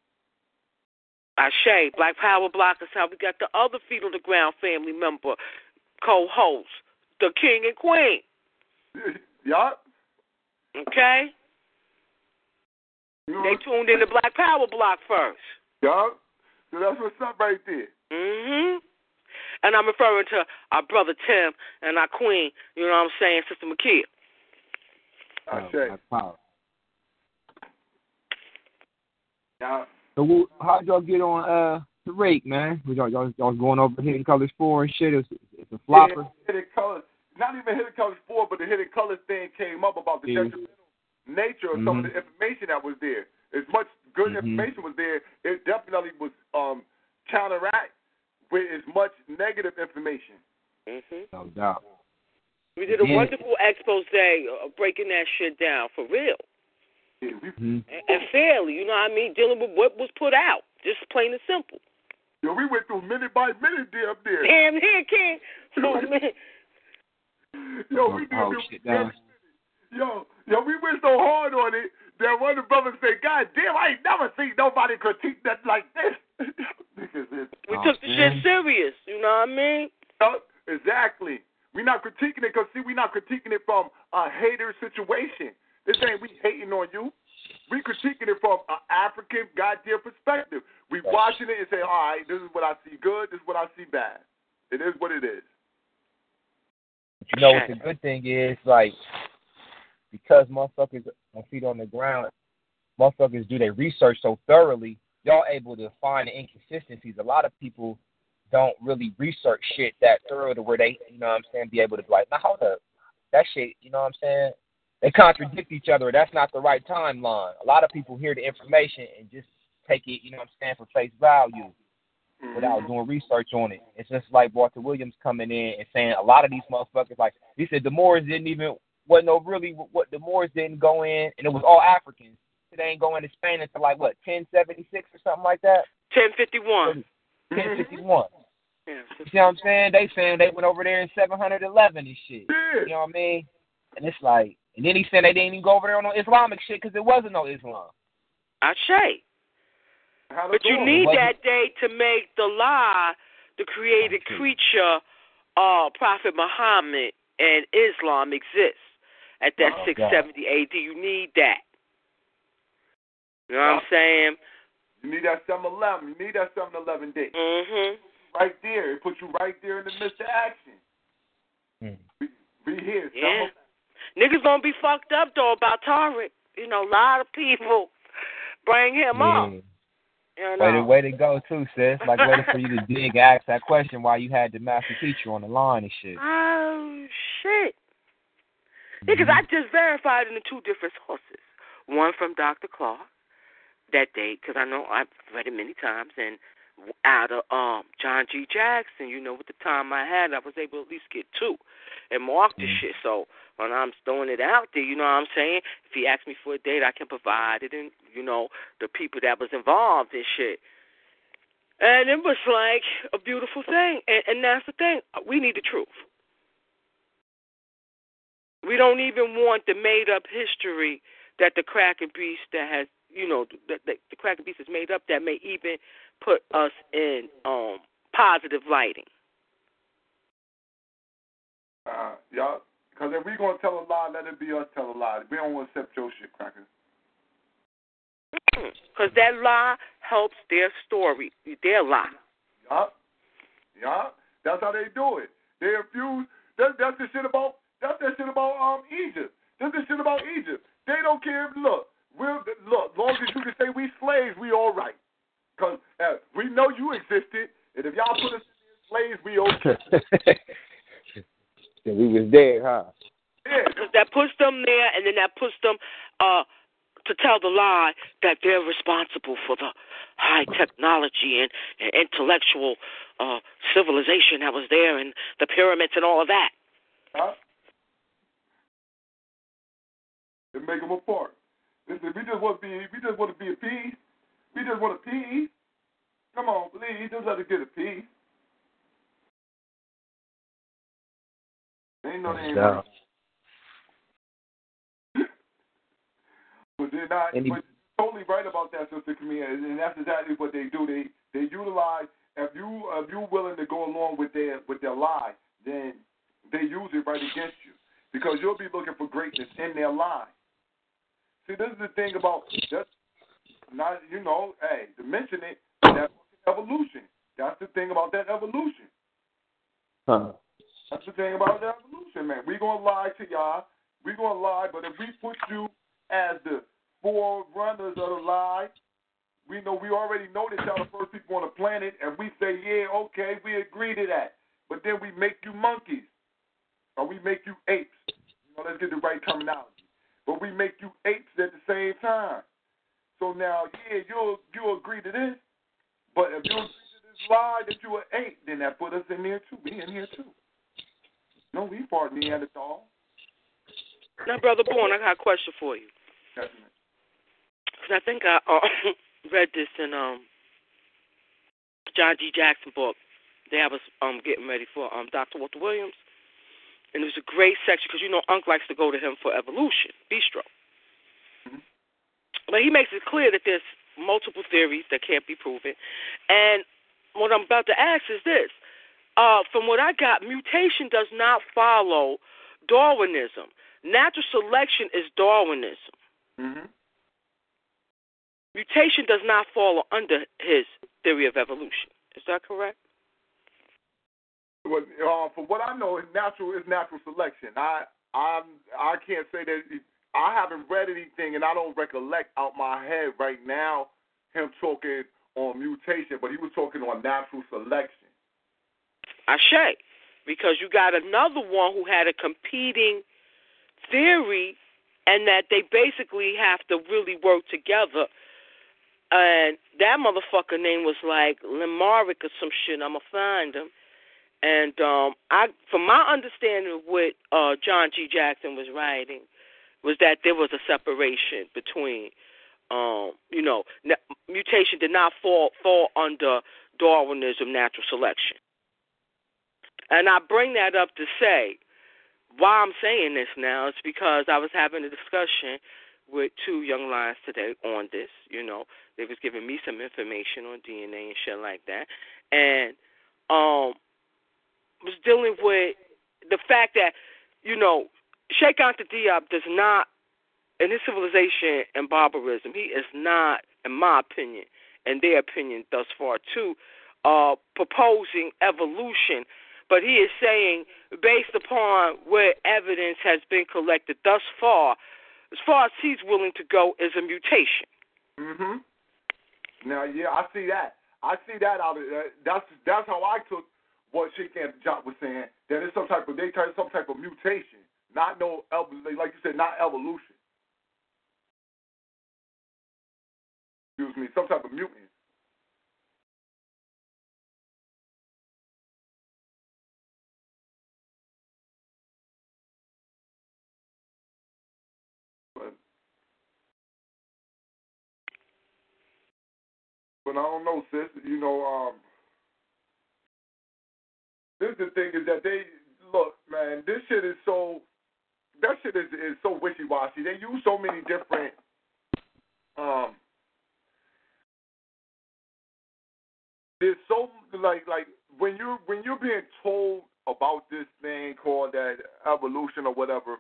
Ashe, Black Power Block is how we got the other feet on the ground family member, co-host, the king and queen. Yup. Okay? They tuned in to Black Power Block first. Yup. So that's what's up right there. Mm-hmm. And I'm referring to our brother Tim and our queen, you know what I'm saying, Sister Makia. Ashe. Yeah. So how'd y'all get on the rate, man? Y'all going over Hidden Colors 4 and shit? It's a flopper. Yeah, Hidden Colors, not even Hidden Colors 4, but the Hidden Colors thing came up about the detrimental nature of some of the information that was there. As much good information was there, it definitely was counteract with as much negative information. No doubt. We did a wonderful expose breaking that shit down for real. Yeah, and fairly, you know what I mean? Dealing with what was put out, just plain and simple. Yo, we went through minute by minute there. Damn, here, King. Yo, we did we went so hard on it that one of the brothers said, God damn, I ain't never seen nobody critique that like this. We took the shit serious, you know what I mean? Exactly. We're not critiquing it because, see, we're not critiquing it from a hater situation. This ain't we hating on you. We critiquing it from an African goddamn perspective. We watching it and say, all right, this is what I see good, this is what I see bad. It is what it is. You know what the good thing is, like, because motherfuckers on feet on the ground, motherfuckers do their research so thoroughly, y'all able to find the inconsistencies. A lot of people don't really research shit that thorough to where they, you know what I'm saying, be able to be like, now hold up, that shit, you know what I'm saying? They contradict each other. That's not the right timeline. A lot of people hear the information and just take it, you know what I'm saying, for face value without doing research on it. It's just like Walter Williams coming in and saying a lot of these motherfuckers, like he said, the Moors wasn't no really what the Moors didn't go in, and it was all Africans. They ain't going to Spain until like what, 1076 or something like that? 1051. 1051. Yeah, you see what I'm saying? They saying they went over there in 711 and shit. Yeah. You know what I mean? And it's like, and then he said they didn't even go over there on no Islamic shit because there wasn't no Islam. Ashe. But you need that day to make the law, the created creature, Prophet Muhammad and Islam exist at that 670 AD. You need that. You know what I'm saying? You need that 711. You need that 711 day. Right there. It puts you right there in the midst of action. Be here. Yeah. Niggas gonna be fucked up though about Tariq. You know, a lot of people bring him up. You know? Way to go too, sis. Like waiting for you to dig, ask that question while you had the master teacher on the line and shit. Oh shit! Because I just verified in the two different sources. One from Dr. Clark that date, because I know I've read it many times, and out of John G. Jackson. You know, with the time I had, I was able to at least get two and mark the shit. So when I'm throwing it out there, you know what I'm saying? If he asks me for a date, I can provide it, and, you know, the people that was involved in shit. And it was like a beautiful thing. And that's the thing. We need the truth. We don't even want the made-up history that the Kraken Beast that has, you know, the Kraken Beast is made up that may even put us in positive lighting. Yeah, because if we're going to tell a lie, let it be us tell a lie. We don't want to accept your shit, Cracker. Because that lie helps their story, their lie. Yeah. That's how they do it. They refuse. That's the shit about Egypt. That's the shit about Egypt. They don't care. Look, as long as you can say we slaves, we all right. Because was dead, huh? Yeah. Because that puts them there, and then that puts them to tell the lie that they're responsible for the high technology and intellectual civilization that was there, and the pyramids and all of that. Huh? They make them apart. Listen, we just want to be a piece. We just want a piece. Come on, please, just let us get a piece. They ain't no they ain't right. But they're not. But you're totally right about that, Sister Camille, and that's exactly what they do. They utilize. If you're willing to go along with their lie, then they use it right against you because you'll be looking for greatness in their lie. See, this is the thing about just not, hey, to mention it, that's evolution. That's the thing about that evolution. Huh. That's the thing about that evolution, man. We're going to lie to y'all. We're going to lie, but if we put you as the forerunners of the lie, we already know that y'all the first people on the planet, and we say, yeah, okay, we agree to that. But then we make you monkeys, or we make you apes. Let's get the right terminology. But we make you apes at the same time. So now, yeah, you'll agree to this, but if you agree to this lie that you're an ape, then that put us in there too. We in here too. No, we part Neanderthal. Now, Brother Bourne, I got a question for you. Definitely. Because I think I read this in John G. Jackson book. I was getting ready for Dr. Walter Williams. And it was a great section because, Unc likes to go to him for evolution, Bistro. Mm-hmm. But he makes it clear that there's multiple theories that can't be proven. And what I'm about to ask is this. From what I got, mutation does not follow Darwinism. Natural selection is Darwinism. Mm-hmm. Mutation does not fall under his theory of evolution. Is that correct? Well, from what I know, it's natural selection. I can't say that I haven't read anything, and I don't recollect out my head right now him talking on mutation, but he was talking on natural selection. Ashe, because you got another one who had a competing theory, and that they basically have to really work together. And that motherfucker name was like Lemaric or some shit. I'm gonna find him. And from my understanding of what John G. Jackson was writing, was that there was a separation between, mutation did not fall under Darwinism, natural selection. And I bring that up to say, why I'm saying this now is because I was having a discussion with two young lions today on this. They was giving me some information on DNA and shit like that. And was dealing with the fact that, Sheikh Anta Diop does not, in his civilization and barbarism, he is not, in my opinion, and their opinion thus far too, proposing evolution. But he is saying, based upon where evidence has been collected thus far as he's willing to go, is a mutation. Mm-hmm. Now, yeah, I see that. Out of that's how I took what Sheikh Anta Diop was saying. That it's some type of mutation, not no like you said, not evolution. Excuse me, some type of mutant. But I don't know, sis. This is the thing is that they look, man. This shit is so. That shit is so wishy-washy. They use so many different. There's so like when you're being told about this thing called that evolution or whatever.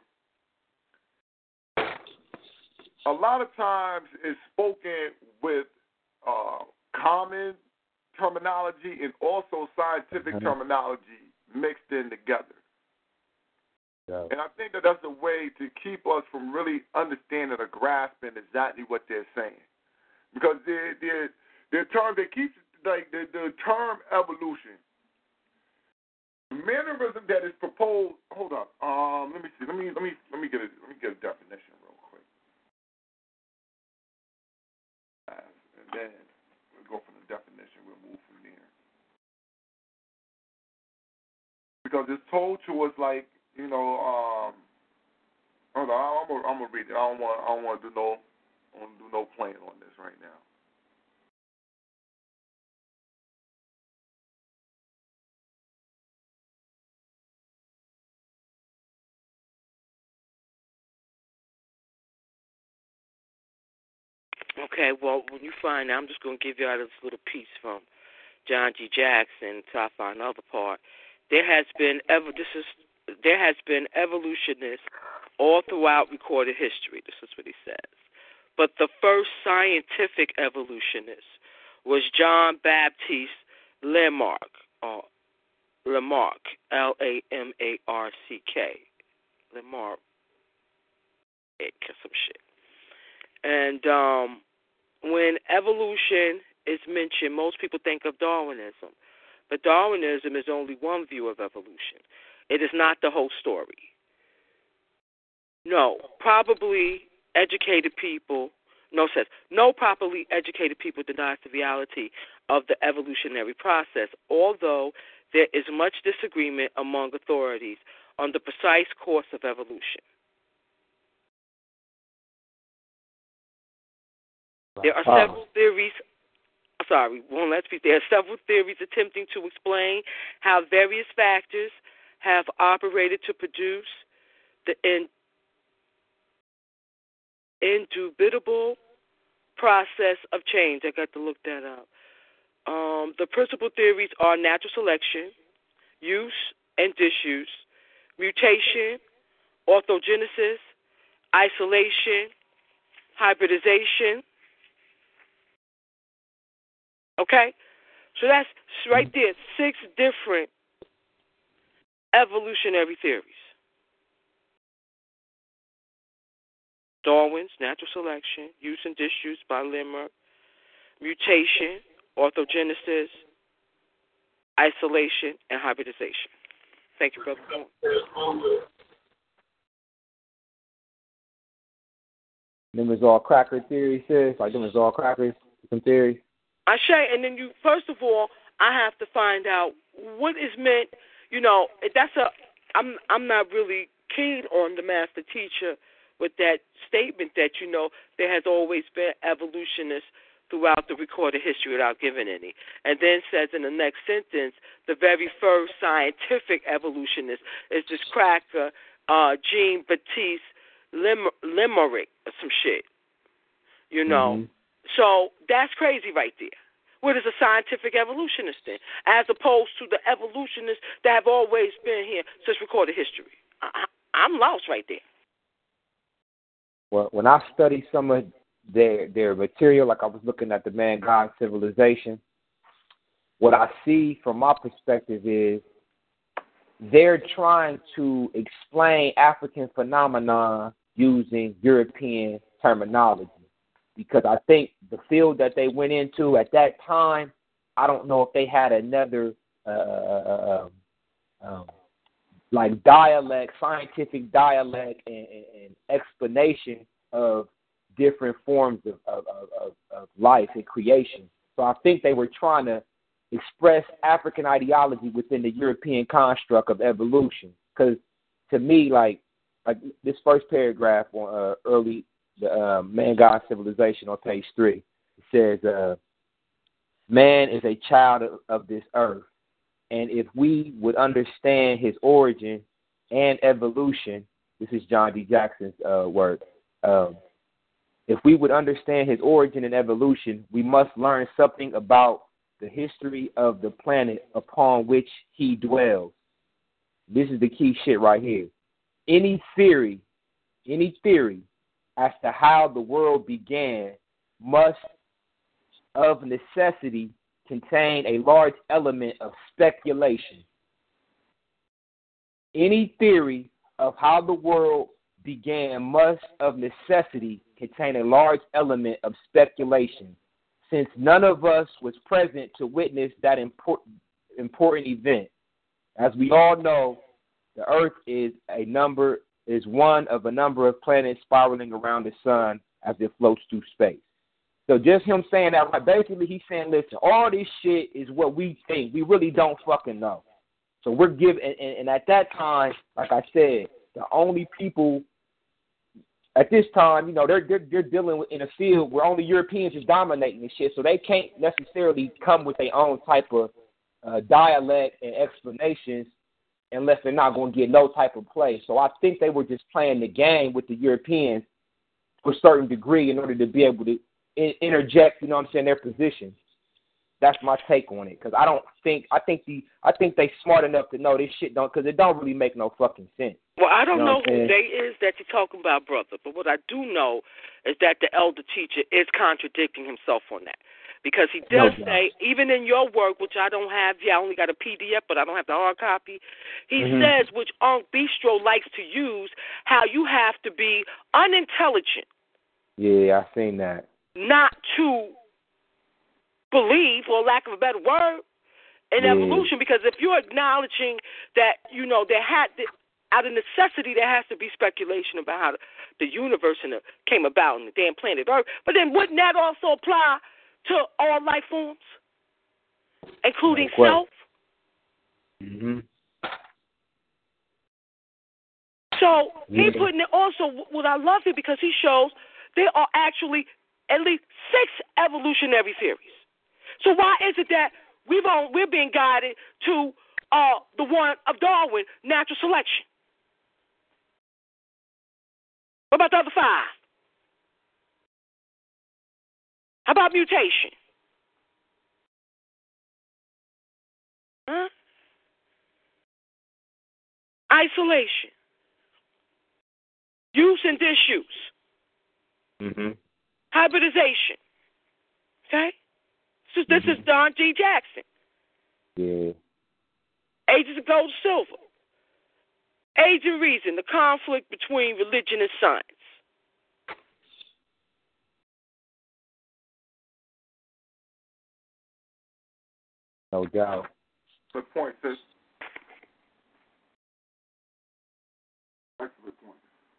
A lot of times it's spoken with common terminology and also scientific terminology mixed in together. Yeah. And I think that that's a way to keep us from really understanding or grasping exactly what they're saying. Because their term, they keep, like, the term evolution The mannerism that is proposed. Hold up. Let me see. Let me get a definition real quick. And then we'll go from the definition. We'll move from there. Because it's told to us like, hold on, I'm gonna read it. I don't want to do no playing on this right now. Okay, well, when you find out, I'm just going to give you out this little piece from John G. Jackson until I find another part. There has been evolutionists all throughout recorded history. This is what he says. But the first scientific evolutionist was John Baptiste Lamarck, or Lamarck, Lamarck, Lamarck, some shit. And when evolution is mentioned, most people think of Darwinism. But Darwinism is only one view of evolution. It is not the whole story. No properly educated people denies the reality of the evolutionary process, although there is much disagreement among authorities on the precise course of evolution. There are several theories. One last piece. There are several theories attempting to explain how various factors have operated to produce the indubitable process of change. I got to look that up. The principal theories are natural selection, use and disuse, mutation, orthogenesis, isolation, hybridization. Okay? So that's right there, 6 different evolutionary theories. Darwin's natural selection, use and disuse by Lamarck, mutation, orthogenesis, isolation, and hybridization. Thank you, Brother. Them is all cracker theory, sis. Like them is all crackers, some theories. I say, and then first of all, I have to find out what is meant. I'm not really keen on the master teacher with that statement that, there has always been evolutionists throughout the recorded history without giving any. And then says in the next sentence, the very first scientific evolutionist is this cracker, Jean Baptiste Lamarck, or some shit. Mm-hmm. So that's crazy right there. What is a scientific evolutionist then? As opposed to the evolutionists that have always been here since recorded history. I'm lost right there. Well, when I study some of their material, like I was looking at the Man-God Civilization, what I see from my perspective is they're trying to explain African phenomena using European terminology. Because I think the field that they went into at that time, I don't know if they had another like dialect, scientific dialect and explanation of different forms of life and creation. So I think they were trying to express African ideology within the European construct of evolution. Because to me, like this first paragraph on the Man-God Civilization on page 3, it says, man is a child of this earth. And if we would understand his origin and evolution, this is John D. Jackson's word. If we would understand his origin and evolution, we must learn something about the history of the planet upon which he dwells. This is the key shit right here. Any theory as to how the world began must, of necessity, contain a large element of speculation. Any theory of how the world began must, of necessity, contain a large element of speculation, since none of us was present to witness that important event. As we all know, the Earth is one of a number of planets spiraling around the sun as it floats through space. So just him saying that, like, basically he's saying, listen, all this shit is what we think. We really don't fucking know. So we're giving, and at that time, like I said, the only people at this time, you know, they're dealing with in a field where only Europeans is dominating and shit. So they can't necessarily come with their own type of dialect and explanations unless they're not going to get no type of play. So I think they were just playing the game with the Europeans to a certain degree in order to be able to interject, you know what I'm saying, their positions. That's my take on it, because I think they smart enough to know this shit don't, because it don't really make no fucking sense. Well, I don't you know who they is that you're talking about, brother, but what I do know is that the elder teacher is contradicting himself on that. Because he does say, even in your work, which I don't have yet, I only got a PDF, but I don't have the hard copy, he says, which Unc Bistro likes to use, how you have to be unintelligent. Yeah, I seen that. Not to believe, for lack of a better word, in evolution, because if you're acknowledging that, you know, out of necessity, there has to be speculation about how the universe came about and the damn planet Earth. But then wouldn't that also apply to all life forms, including self? Mm-hmm. So he putting it also, what I love it, because he shows there are actually at least 6 evolutionary theories. So why is it that we're being guided to the one of Darwin, natural selection? What about the other 5? How about mutation? Huh? Isolation. Use and disuse. Mm-hmm. Hybridization. Okay? So this is Don G. Jackson. Yeah. Ages of Gold and Silver. Age and Reason, the conflict between religion and science. No doubt. Good point, sis. Excellent point.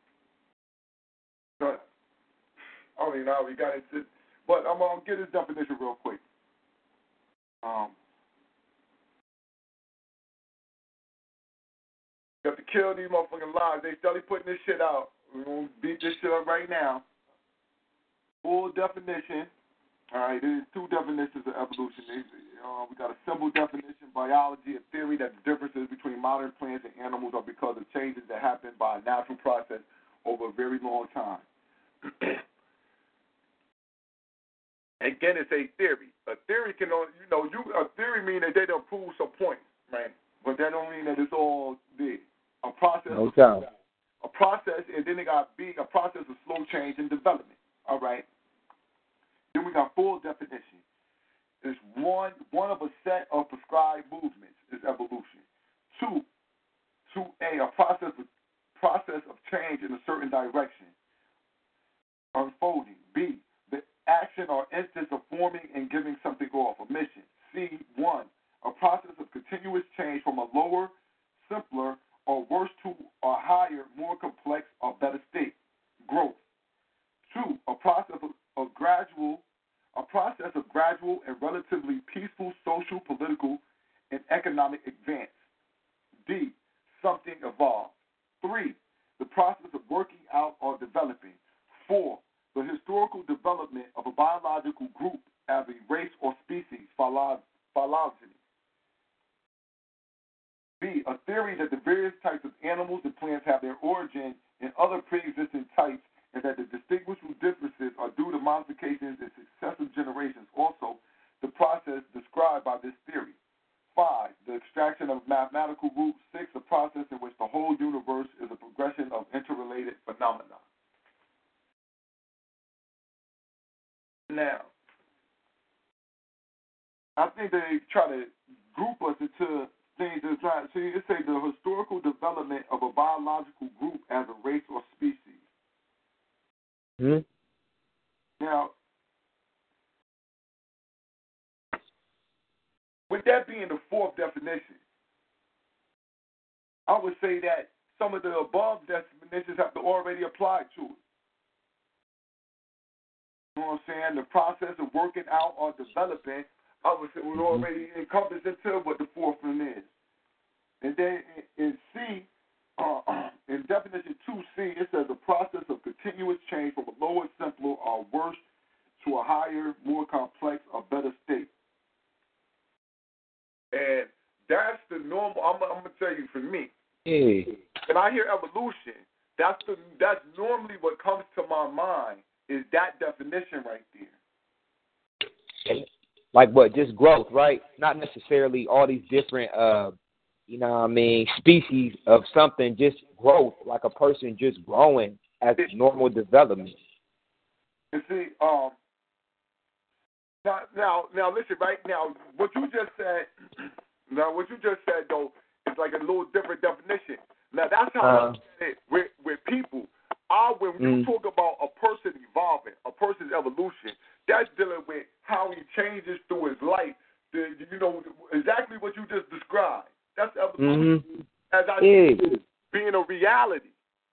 So, I don't even know how we got into it, but I'm going to get his definition real quick. You have to kill these motherfucking lies. They steady putting this shit out. We're going to beat this shit up right now. Full definition. All right, there's 2 definitions of evolution. We got a simple definition, biology, a theory that the differences between modern plants and animals are because of changes that happen by a natural process over a very long time. Again, it's a theory. A theory can only, a theory means that they don't prove some points, right? But that don't mean that it's all there. A process. No doubt. A process, and then they got B, a process of slow change and development. All right. Then we got full definition. It's one of a set of prescribed movements is evolution. 2A, a process of change in a certain direction, unfolding. B, the action or instance of forming and giving something off, a mission. C1, a process of continuous change from a lower, simpler, or worse to a higher, more complex or better state, growth. 2, a process of gradual and relatively peaceful social, political, and economic advance. D, something evolved. 3, the process of working out or developing. 4, the historical development of a biological group as a race or species, phylogeny. B, a theory that the various types of animals and plants have their origin in other pre-existing types and that the distinguishable differences are due to modifications in successive generations. Also, the process described by this theory. 5, the extraction of mathematical roots. 6, a process in which the whole universe is a progression of interrelated phenomena. Now, I think they try to group us into things that try. See, it say the historical development of a biological group as a race or species. Now, with that being the 4th definition, I would say that some of the above definitions have to already apply to it. You know what I'm saying? The process of working out or developing, I would say, would already encompass into what the fourth one is. And then in C, in definition 2C, it says a process of continuous change from a lower, simpler, or worse to a higher, more complex, or better state. And that's the normal. I'm gonna tell you, for me, when I hear evolution, that's normally what comes to my mind is that definition right there. Like what? Just growth, right? Not necessarily all these different, species of something. Just growth, like a person just growing as normal development. And see, now, listen, right now, what you just said though is like a little different definition. Now that's how I say it with people. When you talk about a person evolving, a person's evolution, that's dealing with how he changes through his life. Exactly what you just described. That's evolution. As I said, being a reality.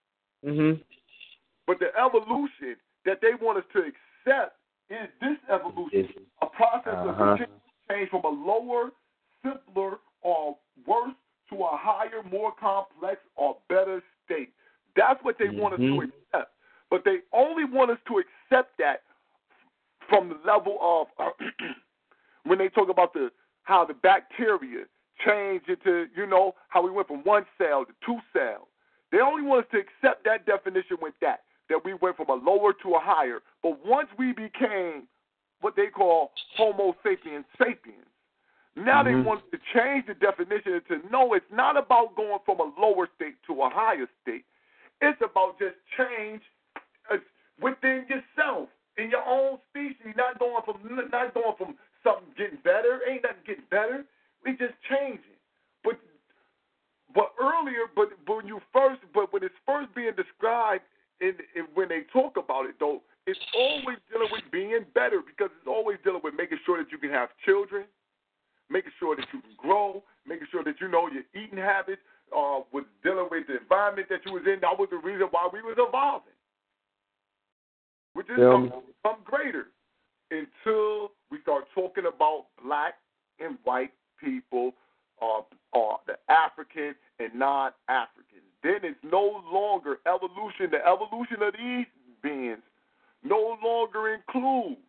But the evolution that they want us to accept is this evolution, a process of continuous change from a lower, simpler, or worse to a higher, more complex, or better state. That's what they want us to accept. But they only want us to accept that from the level of when they talk about how the bacteria change into, how we went from one cell to two cells. They only want us to accept that definition with that we went from a lower to a higher. But once we became what they call Homo sapiens sapiens, now they want to change the definition to no, it's not about going from a lower state to a higher state. It's about just change within yourself, in your own species, not going from something getting better. Ain't nothing getting better. We just changing. But earlier, but when it's first being described, when they talk about it though, it's always dealing with being better because it's always dealing with making sure that you can have children, making sure that you can grow, making sure that you know your eating habits, with dealing with the environment that you was in. That was the reason why we was evolving, which is something greater until we start talking about black and white people, the African and non-Africans. Then it's no longer evolution. The evolution of these beings no longer includes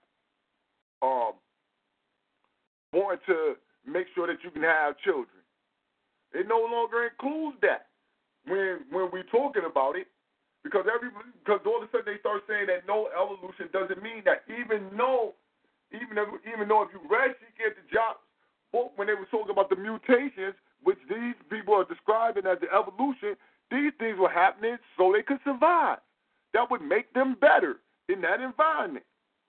wanting to make sure that you can have children. It no longer includes that when we're talking about it, because all of a sudden they start saying that no, evolution doesn't mean that. Even though if you read Sheikh Job's book when they were talking about the mutations, which these people are describing as the evolution, these things were happening so they could survive. That would make them better in that environment.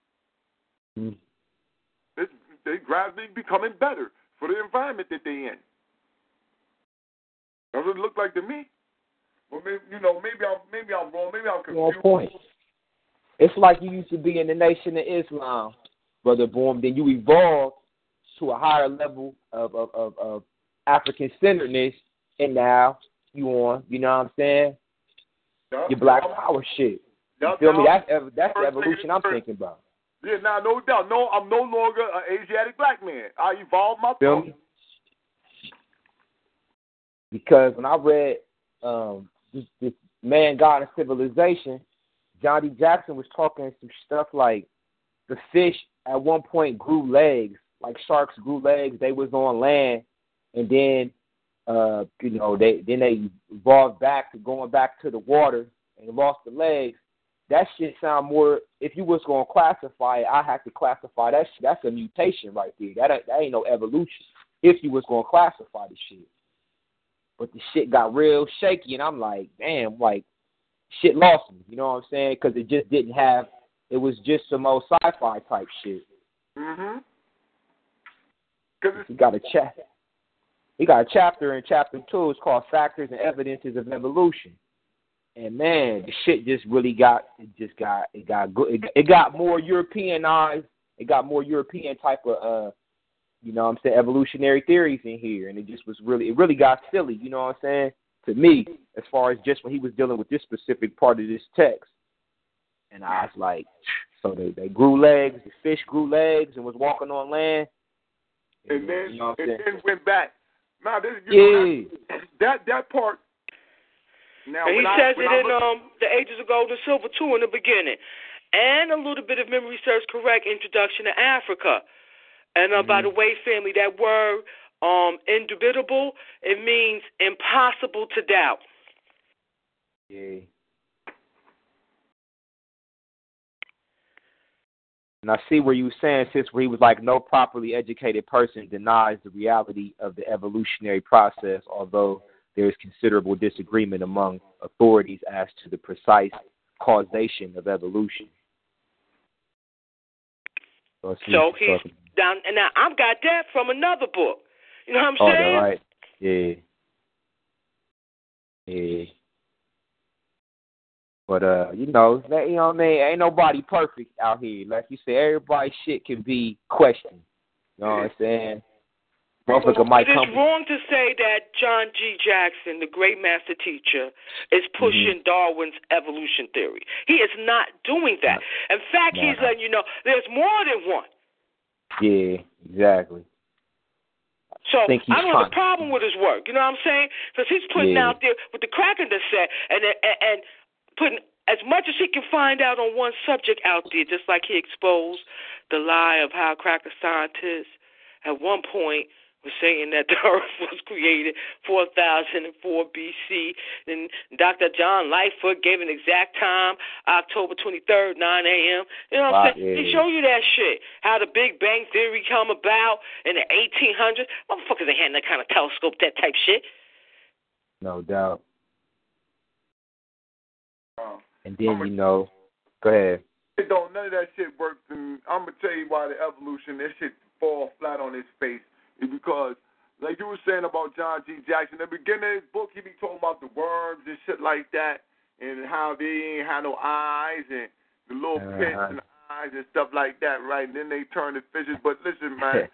They gradually becoming better for the environment that they're in. That's what it looked like to me. Well, maybe I'm wrong. Maybe I'm confused. One point. It's like you used to be in the Nation of Islam, Brother Boom. Then you evolved to a higher level of African-centeredness, and now you on, you know what I'm saying? Your Black Power shit. You feel me? That's the evolution I'm thinking about. Yeah, now no doubt. No, I'm no longer an Asiatic black man. I evolved my thought. Because when I read this Man, God, and Civilization, John D. Jackson was talking some stuff like the fish at one point grew legs, like sharks grew legs. They was on land, and then they evolved back to going back to the water and lost the legs. That shit sound more. If you was gonna classify it, I have to classify that shit. That's a mutation right there. That ain't no evolution. If you was gonna classify the shit, but the shit got real shaky, and I'm like, damn, like shit lost me. You know what I'm saying? Because it just didn't have. It was just some old sci-fi type shit. He got a chapter. He got a chapter in chapter 2. It's called Factors and Evidences of Evolution. And man, the shit just really got good. It got more Europeanized. It got more European type of you know what I'm saying, evolutionary theories in here. And it really got silly, you know what I'm saying, to me, as far as just when he was dealing with this specific part of this text. And I was like, so they grew legs, the fish grew legs and was walking on land. And then, you know and then went back. Now, this, that part. Now, and he says it in The Ages of Gold and Silver, too, in the beginning. And a little bit of memory serves correct, Introduction to Africa. And by the way, family, that word, indubitable, it means impossible to doubt. Yeah. And I see where you were saying, sis, where he was like, no properly educated person denies the reality of the evolutionary process, although there is considerable disagreement among authorities as to the precise causation of evolution. So he's down, and now I've got that from another book. You know what I'm saying? Oh, right. Yeah. Yeah. But you know what I mean? Ain't nobody perfect out here. Like you said, everybody's shit can be questioned. You know what I'm saying? It is wrong to say that John G. Jackson, the great master teacher, is pushing Darwin's evolution theory. He is not doing that. In fact, he's letting you know there's more than one. Yeah, exactly. So I don't have a problem with his work. You know what I'm saying? Because he's putting out there with the Kraken set and putting as much as he can find out on one subject out there, just like he exposed the lie of how cracker scientists at one point was saying that the earth was created 4004 BC. And Dr. John Lightfoot gave an exact time, October 23rd, 9 a.m. You know what I'm saying? He showed you that shit, how the Big Bang Theory come about in the 1800s. Motherfuckers ain't had that kind of telescope, that type shit. No doubt. And then, go ahead. None of that shit works. And I'm going to tell you why the evolution, that shit fall flat on its face. Is because, like you were saying about John G. Jackson, in the beginning of his book, he be talking about the worms and shit like that, and how they ain't had no eyes, and the little pits in the eyes and stuff like that, right? And then they turn to fishes. But listen, man,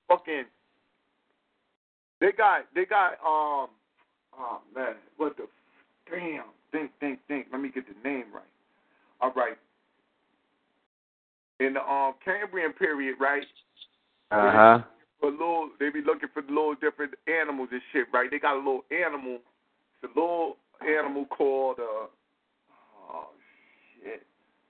they got, oh, man, what the, damn, think. Let me get the name right. All right. In the Cambrian period, right? They be looking for little different animals and shit, right? They got a little animal. It's a little animal called, oh, shit.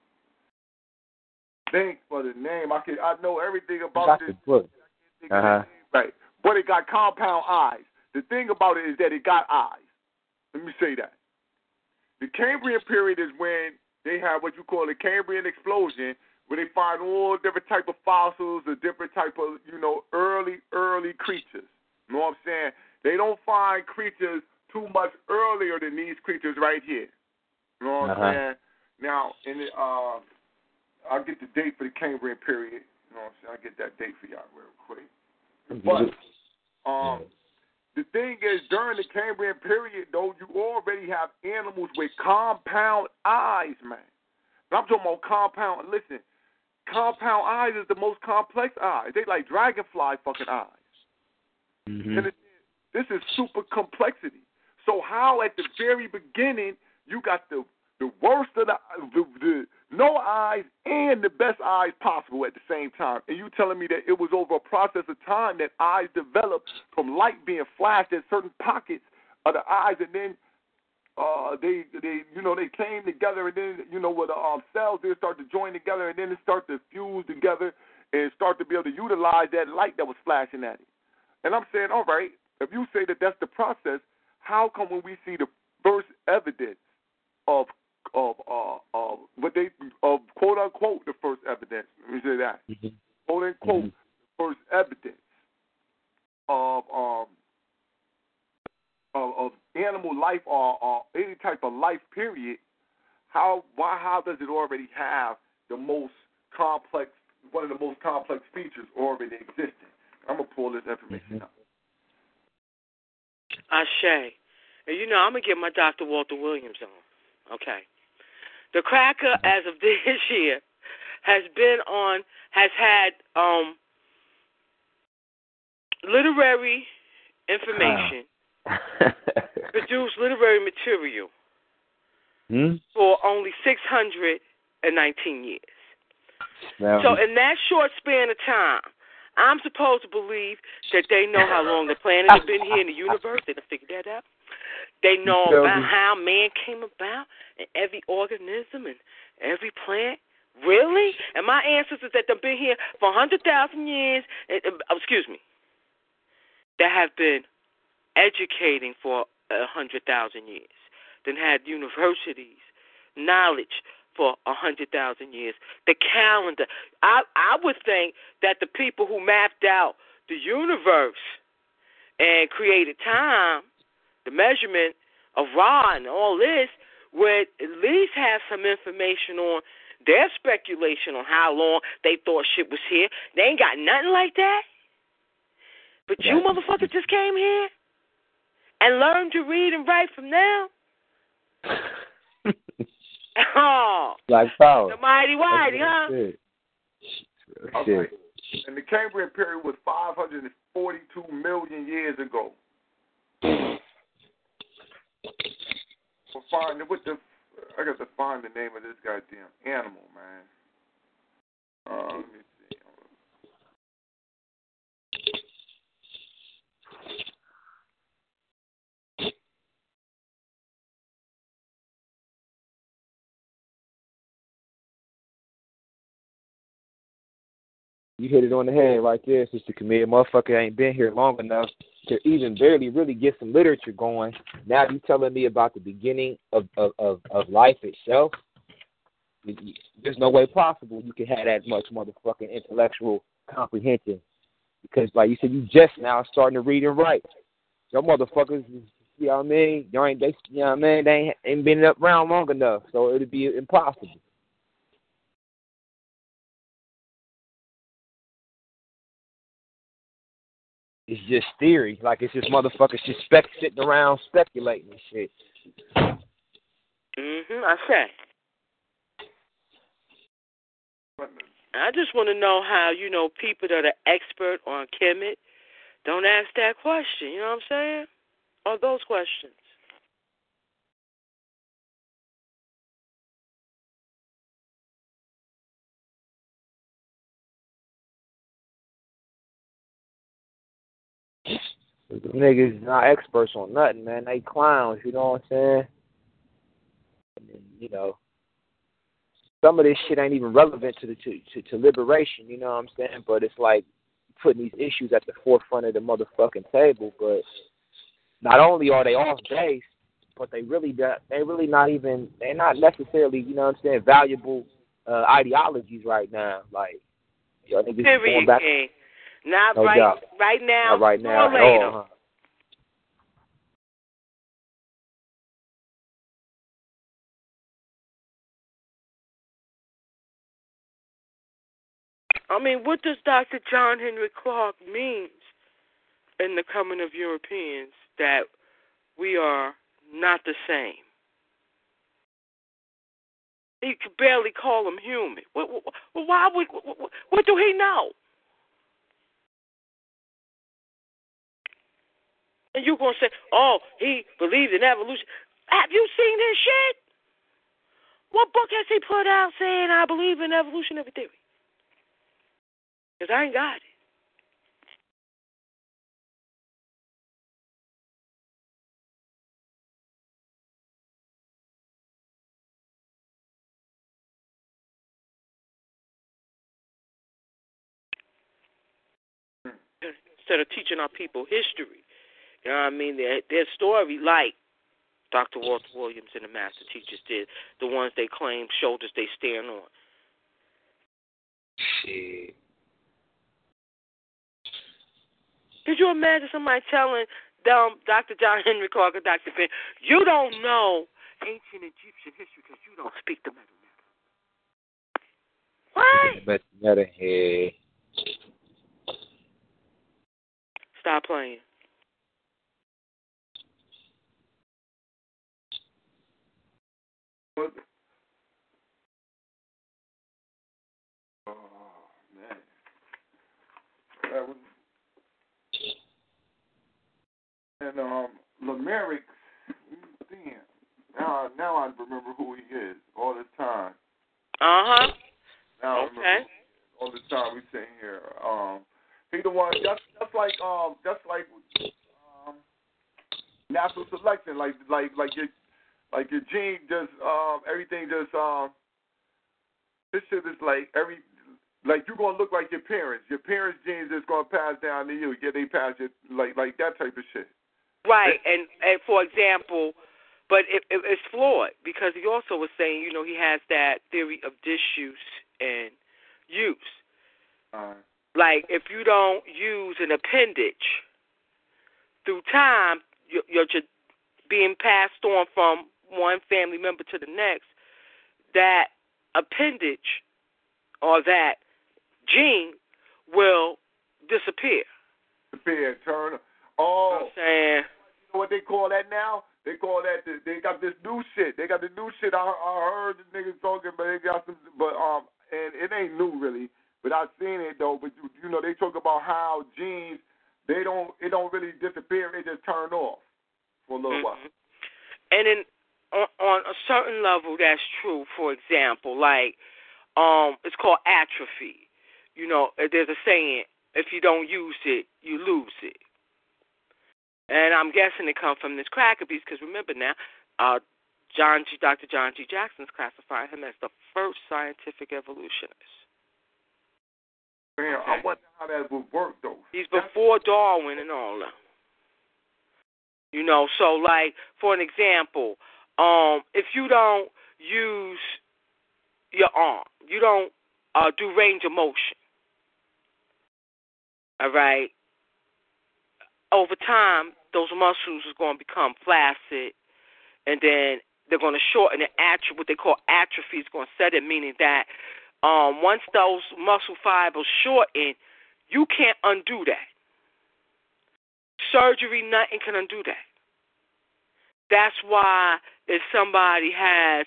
Think for the name. I know everything about this. Book. Right. But it got compound eyes. The thing about it is that it got eyes. Let me say that. The Cambrian period is when they have what you call a Cambrian explosion, where they find all different type of fossils or different type of, early creatures. You know what I'm saying? They don't find creatures too much earlier than these creatures right here. You know what I'm saying? Now, I'll get the date for the Cambrian period. You know what I'm saying? I'll get that date for y'all real quick. But the thing is, during the Cambrian period, though, you already have animals with compound eyes, man. And I'm talking about compound. Listen, compound eyes is the most complex eyes. They like dragonfly fucking eyes. And this is super complexity. So how at the very beginning you got the worst of the no eyes and the best eyes possible at the same time, and you telling me that it was over a process of time that eyes developed from light being flashed at certain pockets of the eyes, and then they came together, and then with the cells they start to join together, and then it start to fuse together and start to be able to utilize that light that was flashing at it. And I'm saying, all right, if you say that that's the process, how come when we see the first evidence of quote unquote the first evidence? Let me say that quote unquote the first evidence of animal life or any type of life period. How does it already have one of the most complex features already existing? I'm gonna pull this information up. Ashe. And I'm gonna get my Dr. Walter Williams on. Okay. The cracker, as of this year, has had literary information, produce literary material for only 619 years. So in that short span of time, I'm supposed to believe that they know how long the planet has been here in the universe. They done figured that out. They know about how man came about and every organism and every plant. Really? And my ancestors that have been here for 100,000 years, excuse me, that have been educating for 100,000 years, then had universities, knowledge for 100,000 years. The calendar. I would think that the people who mapped out the universe and created time, the measurement of Ra and all this, would at least have some information on their speculation on how long they thought shit was here. They ain't got nothing like that. But you motherfuckers just came here and learned to read and write from now. Oh, Black power. The mighty whitey, huh? Shit. Okay. And the Cambrian period was 542 million years ago. I got to find the name of this goddamn animal, man. Let me see. You hit it on the head right there, Sister Camille. Motherfucker ain't been here long enough to even barely really get some literature going. Now you telling me about the beginning of life itself? There's no way possible you can have that much motherfucking intellectual comprehension. Because, like you said, you just now starting to read and write. Your motherfuckers, you know what I mean? They ain't been up around long enough, so it'd be impossible. It's just theory. Like, it's just motherfuckers just sitting around speculating and shit. I say. I just want to know how, people that are expert on Kemet don't ask that question. You know what I'm saying? Or those questions. The niggas not experts on nothing, man. They clowns, you know what I'm saying? And then, some of this shit ain't even relevant to liberation, you know what I'm saying? But it's like putting these issues at the forefront of the motherfucking table. But not only are they off base, but they're not necessarily, you know what I'm saying, valuable ideologies right now. Like, y'all niggas going back. Not no right doubt. Right now. Not right now or later. all, huh? I mean, what does Dr. John Henry Clark mean in the coming of Europeans that we are not the same? He could barely call him human. What do he know? And you're going to say, oh, he believed in evolution. Have you seen his shit? What book has he put out saying I believe in evolutionary theory? Because I ain't got it. Instead of teaching our people history, you know what I mean? Their story, like Dr. Walter Williams and the Master Teachers did, the ones they claim shoulders they stand on. Shit. Could you imagine somebody telling Dr. John Henry Clark or Dr. Ben, you don't know ancient Egyptian history because you don't speak the Medu Neter? What? Hey. Stop playing. Oh, man. That was Now, okay. All the time we sitting here. He the one. That's like natural selection. Like your gene just everything just this shit is like you're gonna look like your parents. Your parents' genes is gonna pass down to you. Yeah, they pass it like that type of shit. Right, and for example, but it's flawed because he also was saying, he has that theory of disuse and use. Like if you don't use an appendage through time, you're just being passed on from one family member to the next. That appendage or that gene will disappear. Turn. Oh, I'm saying. You know what they call that now? They call that they got this new shit. They got the new shit. I heard the niggas talking, but they got some. But and it ain't new really. But I've seen it though. But they talk about how genes it don't really disappear. It just turn off for a little while. And then on a certain level, that's true. For example, like it's called atrophy. There's a saying: if you don't use it, you lose it. And I'm guessing it comes from this cracker piece because remember now, Dr. John G. Jackson's classified him as the first scientific evolutionist. Man, okay. I wonder how that would work though. He's before Darwin and all that. So like for an example, if you don't use your arm, you don't do range of motion. All right. Over time, those muscles are going to become flaccid, and then they're going to shorten. And what they call atrophy is going to set in, meaning that once those muscle fibers shorten, you can't undo that. Surgery, nothing can undo that. That's why if somebody has,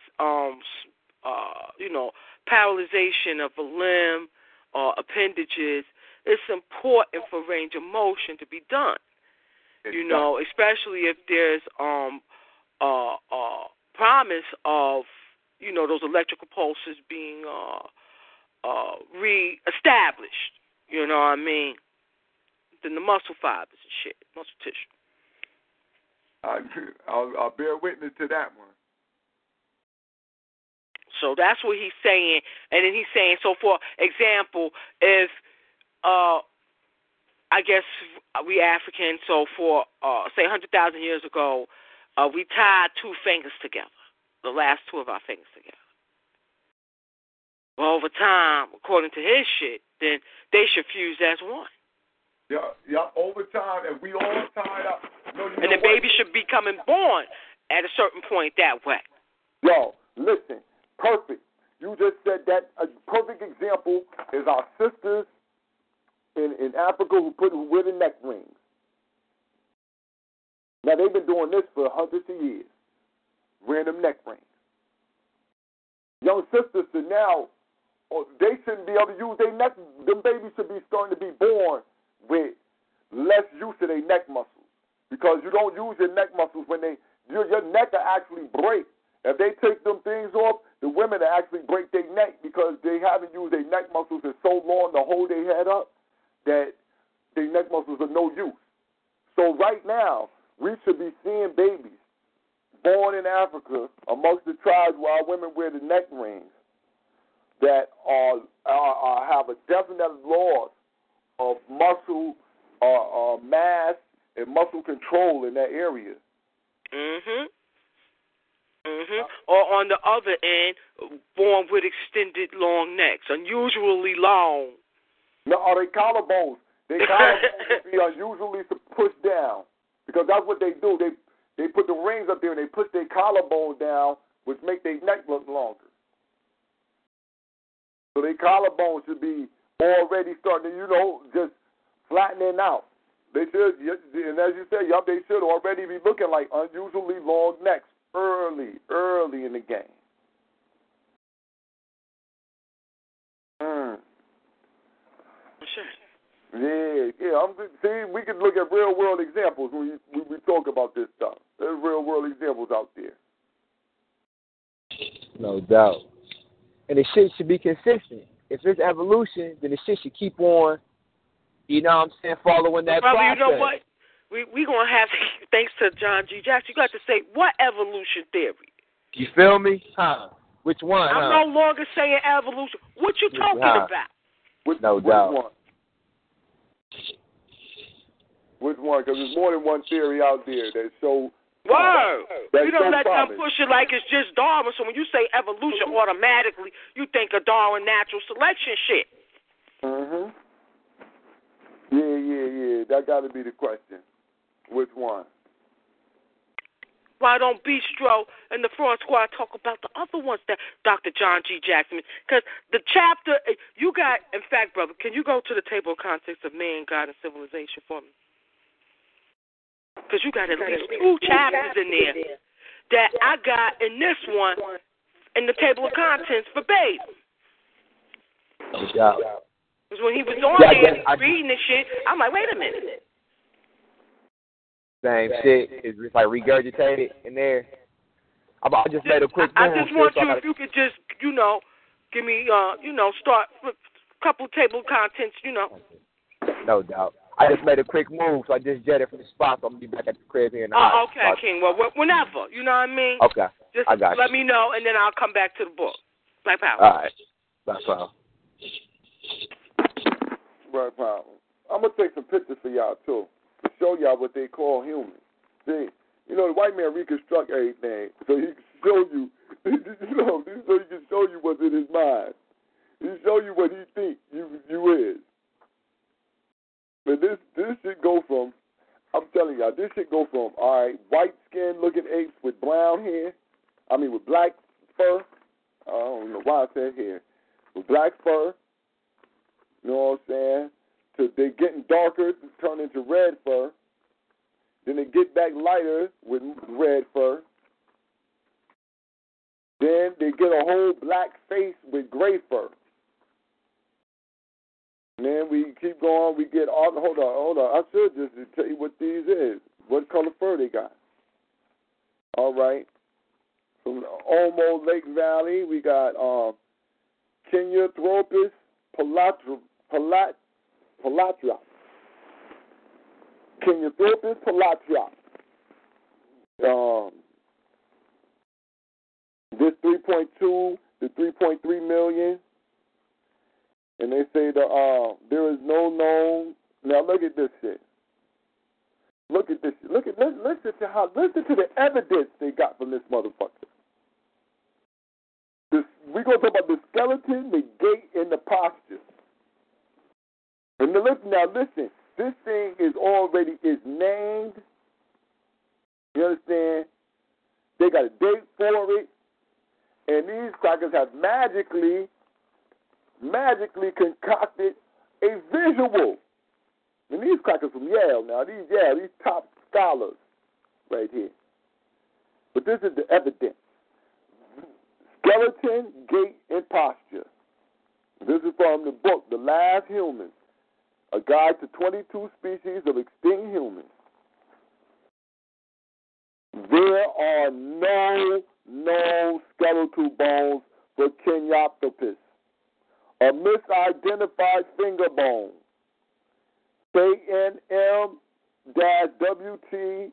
paralyzation of a limb or appendages, it's important for range of motion to be done. Especially if there's promise of, those electrical pulses being reestablished. You know what I mean? Then the muscle fibers and shit, muscle tissue. I'll bear witness to that one. So that's what he's saying. And then he's saying, so for example, if I guess we Africans, so for, say, 100,000 years ago, we tied two fingers together, the last two of our fingers together. Well, over time, according to his shit, then they should fuse as one. Yeah, over time, and we all tied up. And the baby should be coming born at a certain point that way. Yo, listen, perfect. You just said that. A perfect example is our sisters in Africa who wear the neck rings. Now, they've been doing this for hundreds of years, wearing them neck rings. Young sisters should now, they shouldn't be able to use their neck. Them babies should be starting to be born with less use of their neck muscles because you don't use your neck muscles when your neck will actually break. If they take them things off, the women will actually break their neck because they haven't used their neck muscles in so long to hold their head up that their neck muscles are no use. So right now, we should be seeing babies born in Africa amongst the tribes where our women wear the neck rings that have a definite loss of muscle mass and muscle control in that area. Or on the other end, born with extended long necks, unusually long. No, or they collarbones. They collarbones be unusually pushed down because that's what they do. They put the rings up there and they push their collarbone down, which make their neck look longer. So their collarbone should be already starting to, just flattening out. They should, and as you said, they should already be looking like unusually long necks early in the game. Sure. Yeah. See, we can look at real world examples when we talk about this stuff. There's real world examples out there. No doubt. And the shit should be consistent. If it's evolution, then the shit should keep on, you know what I'm saying, following that Brother, process. you know what? We going to have, thanks to John G. Jackson, you got to say, what evolution theory? You feel me? Huh? Which one, I'm no longer saying evolution. What you talking about? No doubt. Which one? Because there's more than one theory out there that show. Word. You don't let them promise. push it like it's just Darwin. So when you say evolution, automatically you think of Darwin natural selection shit. Mhm. Yeah. That got to be the question. Which one? Why don't Bistro and the Fraud Squad talk about the other ones that Dr. John G. Jackson? Because the chapter, you got, in fact, brother, can you go to the table of contents of man, God, and civilization for me? Because you got at least 2 chapters in there that I got in this one in the table of contents verbatim. No doubt. Because when he was on there reading this shit, I'm like, wait a minute. Same shit. It's just like regurgitated in there. I just made a quick move. I just want you, if you could just, give me, start with a couple table of contents, No doubt. I just made a quick move, so I just jetted from the spot, so I'm going to be back at the crib here in the house. Okay, King. Well, whenever, you know what I mean? Okay. Just I got you. let me know, and then I'll come back to the book. Black Power. All right. Black Power. Black Power. I'm going to take some pictures for y'all, too, to show y'all what they call humans. See, the white man reconstruct everything, so he can show you, so he can show you what's in his mind. He show you what he thinks you is. But this should go from, I'm telling y'all, this should go from, all right, white skin looking apes with brown hair, with black fur. I don't know why I said hair. With black fur, you know what I'm saying? To they getting darker, turn into red fur. Then they get back lighter with red fur. Then they get a whole black face with gray fur. And then we keep going. We get all. Hold on. I should just tell you what these is. What color fur they got? All right. From the Omo Lake Valley, we got Kenyathropus palatra. Kenyathropus palatra. This 3.2 to 3.3 million. And they say there is no known. Now look at this shit. Look at this. Listen to the evidence they got from this motherfucker. We're gonna talk about the skeleton, the gait, and the posture. And listen. This thing is named. You understand? They got a date for it, and these crackers have magically concocted a visual. And these crackers from Yale now, these top scholars right here. But this is the evidence. Skeleton, gait, and posture. This is from the book, The Last Human, a guide to 22 species of extinct humans. There are no known skeletal bones for Kenyathropus, a misidentified finger bone. KNM-WT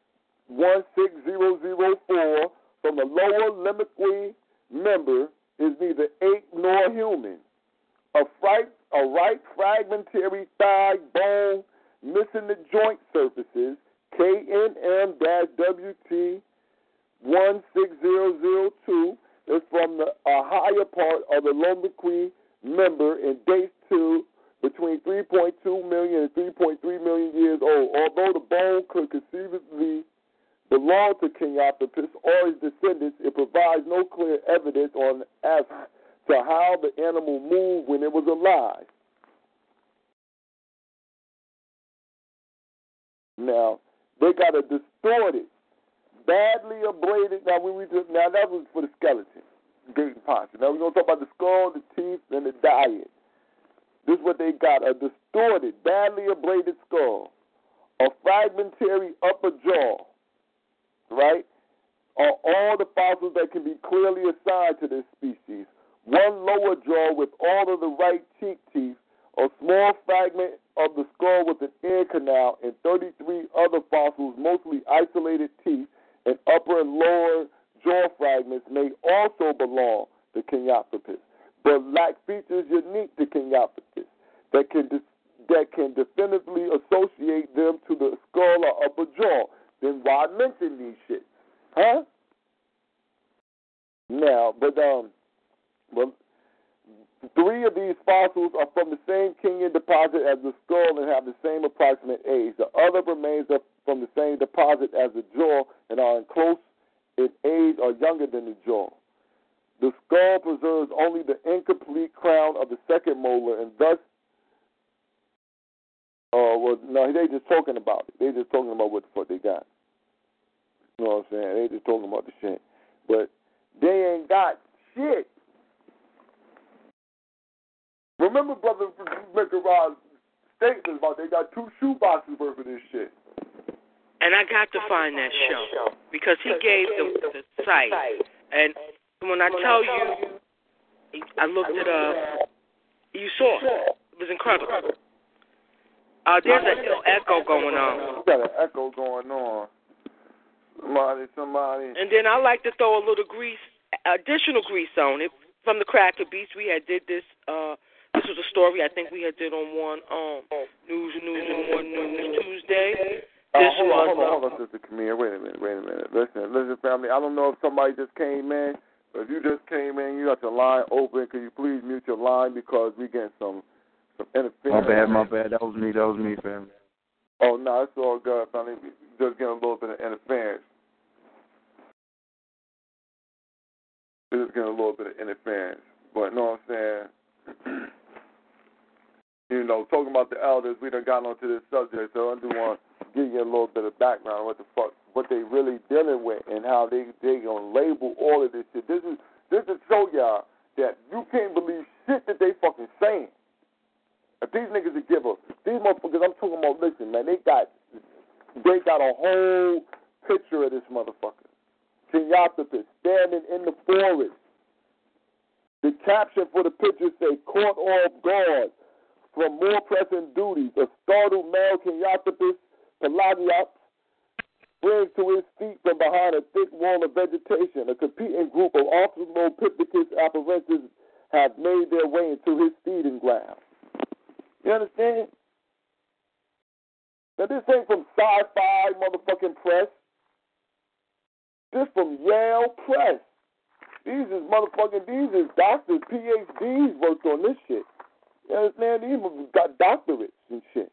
16004 from the lower limbic member is neither ape nor human. A right fragmentary thigh bone missing the joint surfaces, KNM-WT 16002, is from the higher part of the lombic member and dates to between 3.2 million and 3.3 million years old. Although the bone could conceivably belong to Kenyathropus or his descendants, it provides no clear evidence as to how the animal moved when it was alive. Now, they got a distorted, badly abraded. Now that was for the skeleton, gait and posture. Now we're going to talk about the skull, the teeth, and the diet. This is what they got: a distorted, badly abraded skull, a fragmentary upper jaw, right? Are all the fossils that can be clearly assigned to this species, one lower jaw with all of the right cheek teeth, a small fragment of the skull with an ear canal, and 33 other fossils, mostly isolated teeth, and upper and lower jaw fragments may also belong to Kenyathropus, but lack features unique to Kenyathropus that can definitively associate them to the skull or upper jaw. Then why mention these shit? Huh? Now, but well, 3 of these fossils are from the same Kenyan deposit as the skull and have the same approximate age. The other remains are from the same deposit as the jaw and are in close in age or younger than the jaw. The skull preserves only the incomplete crown of the second molar, and thus, they just talking about it. They just talking about what the fuck they got. You know what I'm saying? They just talking about the shit. But they ain't got shit. Remember Brother Mikarod's statement about they got 2 shoe boxes worth of this shit. And I got to find that show because he gave the site. And when I tell you, I looked it up. You saw it. It was incredible. There's a little echo going on. You got an echo going on. Somebody. And then I like to throw a little additional grease on it. From the Cracker Beats, we had did this. This was a story I think we had did on one News and More News Tuesday. Hold on, Sister Camille. Wait a minute. Listen, family. I don't know if somebody just came in, but if you just came in, you got your line open. Could you please mute your line because we getting some interference. My bad. That was me, family. Oh, no, it's all good, family. Just getting a little bit of interference. But, you know what I'm saying? Talking about the elders, we done got onto this subject, so I do want to give you a little bit of background on what they really dealing with and how they gonna label all of this shit. This is to show y'all that you can't believe shit that they fucking saying. If these niggas would give these motherfuckers, I'm talking about, listen, man, they got a whole picture of this motherfucker. Kenyathropus standing in the forest. The caption for the picture say, caught off guard from more pressing duties. A startled male Kenyathropus pelagiops springs to his feet from behind a thick wall of vegetation. A competing group of Australopithecus afarensis have made their way into his feeding ground. You understand? Now, this ain't from Sci-Fi motherfucking Press. This from Yale Press. These is doctors, PhDs worked on this shit. You understand? These got doctorates and shit.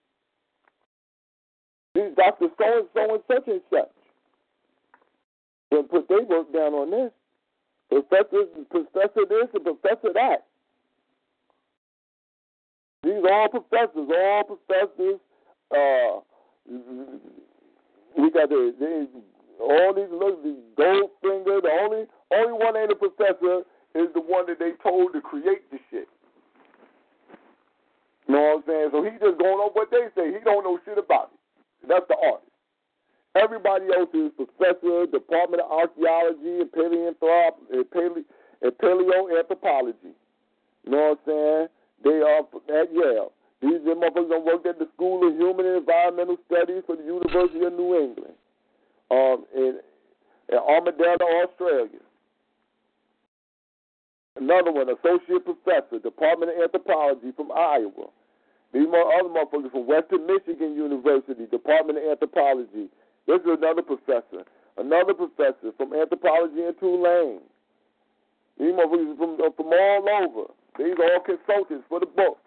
These doctors so-and-so and such and such. But put their work down on this. Professor this and professor that. These are all professors. We got all these Goldfinger. The only one ain't a professor is the one that they told to create the shit. You know what I'm saying? So he just going on what they say. He don't know shit about it. That's the artist. Everybody else is professor, Department of Archaeology and Paleoanthropology. You know what I'm saying? They are at Yale. These motherfuckers worked at the School of Human and Environmental Studies for the University of New England in Armadillo, Australia. Another one, associate professor, Department of Anthropology from Iowa. These other motherfuckers from Western Michigan University, Department of Anthropology. This is another professor from anthropology in Tulane. These motherfuckers from all over. These are all consultants for the book.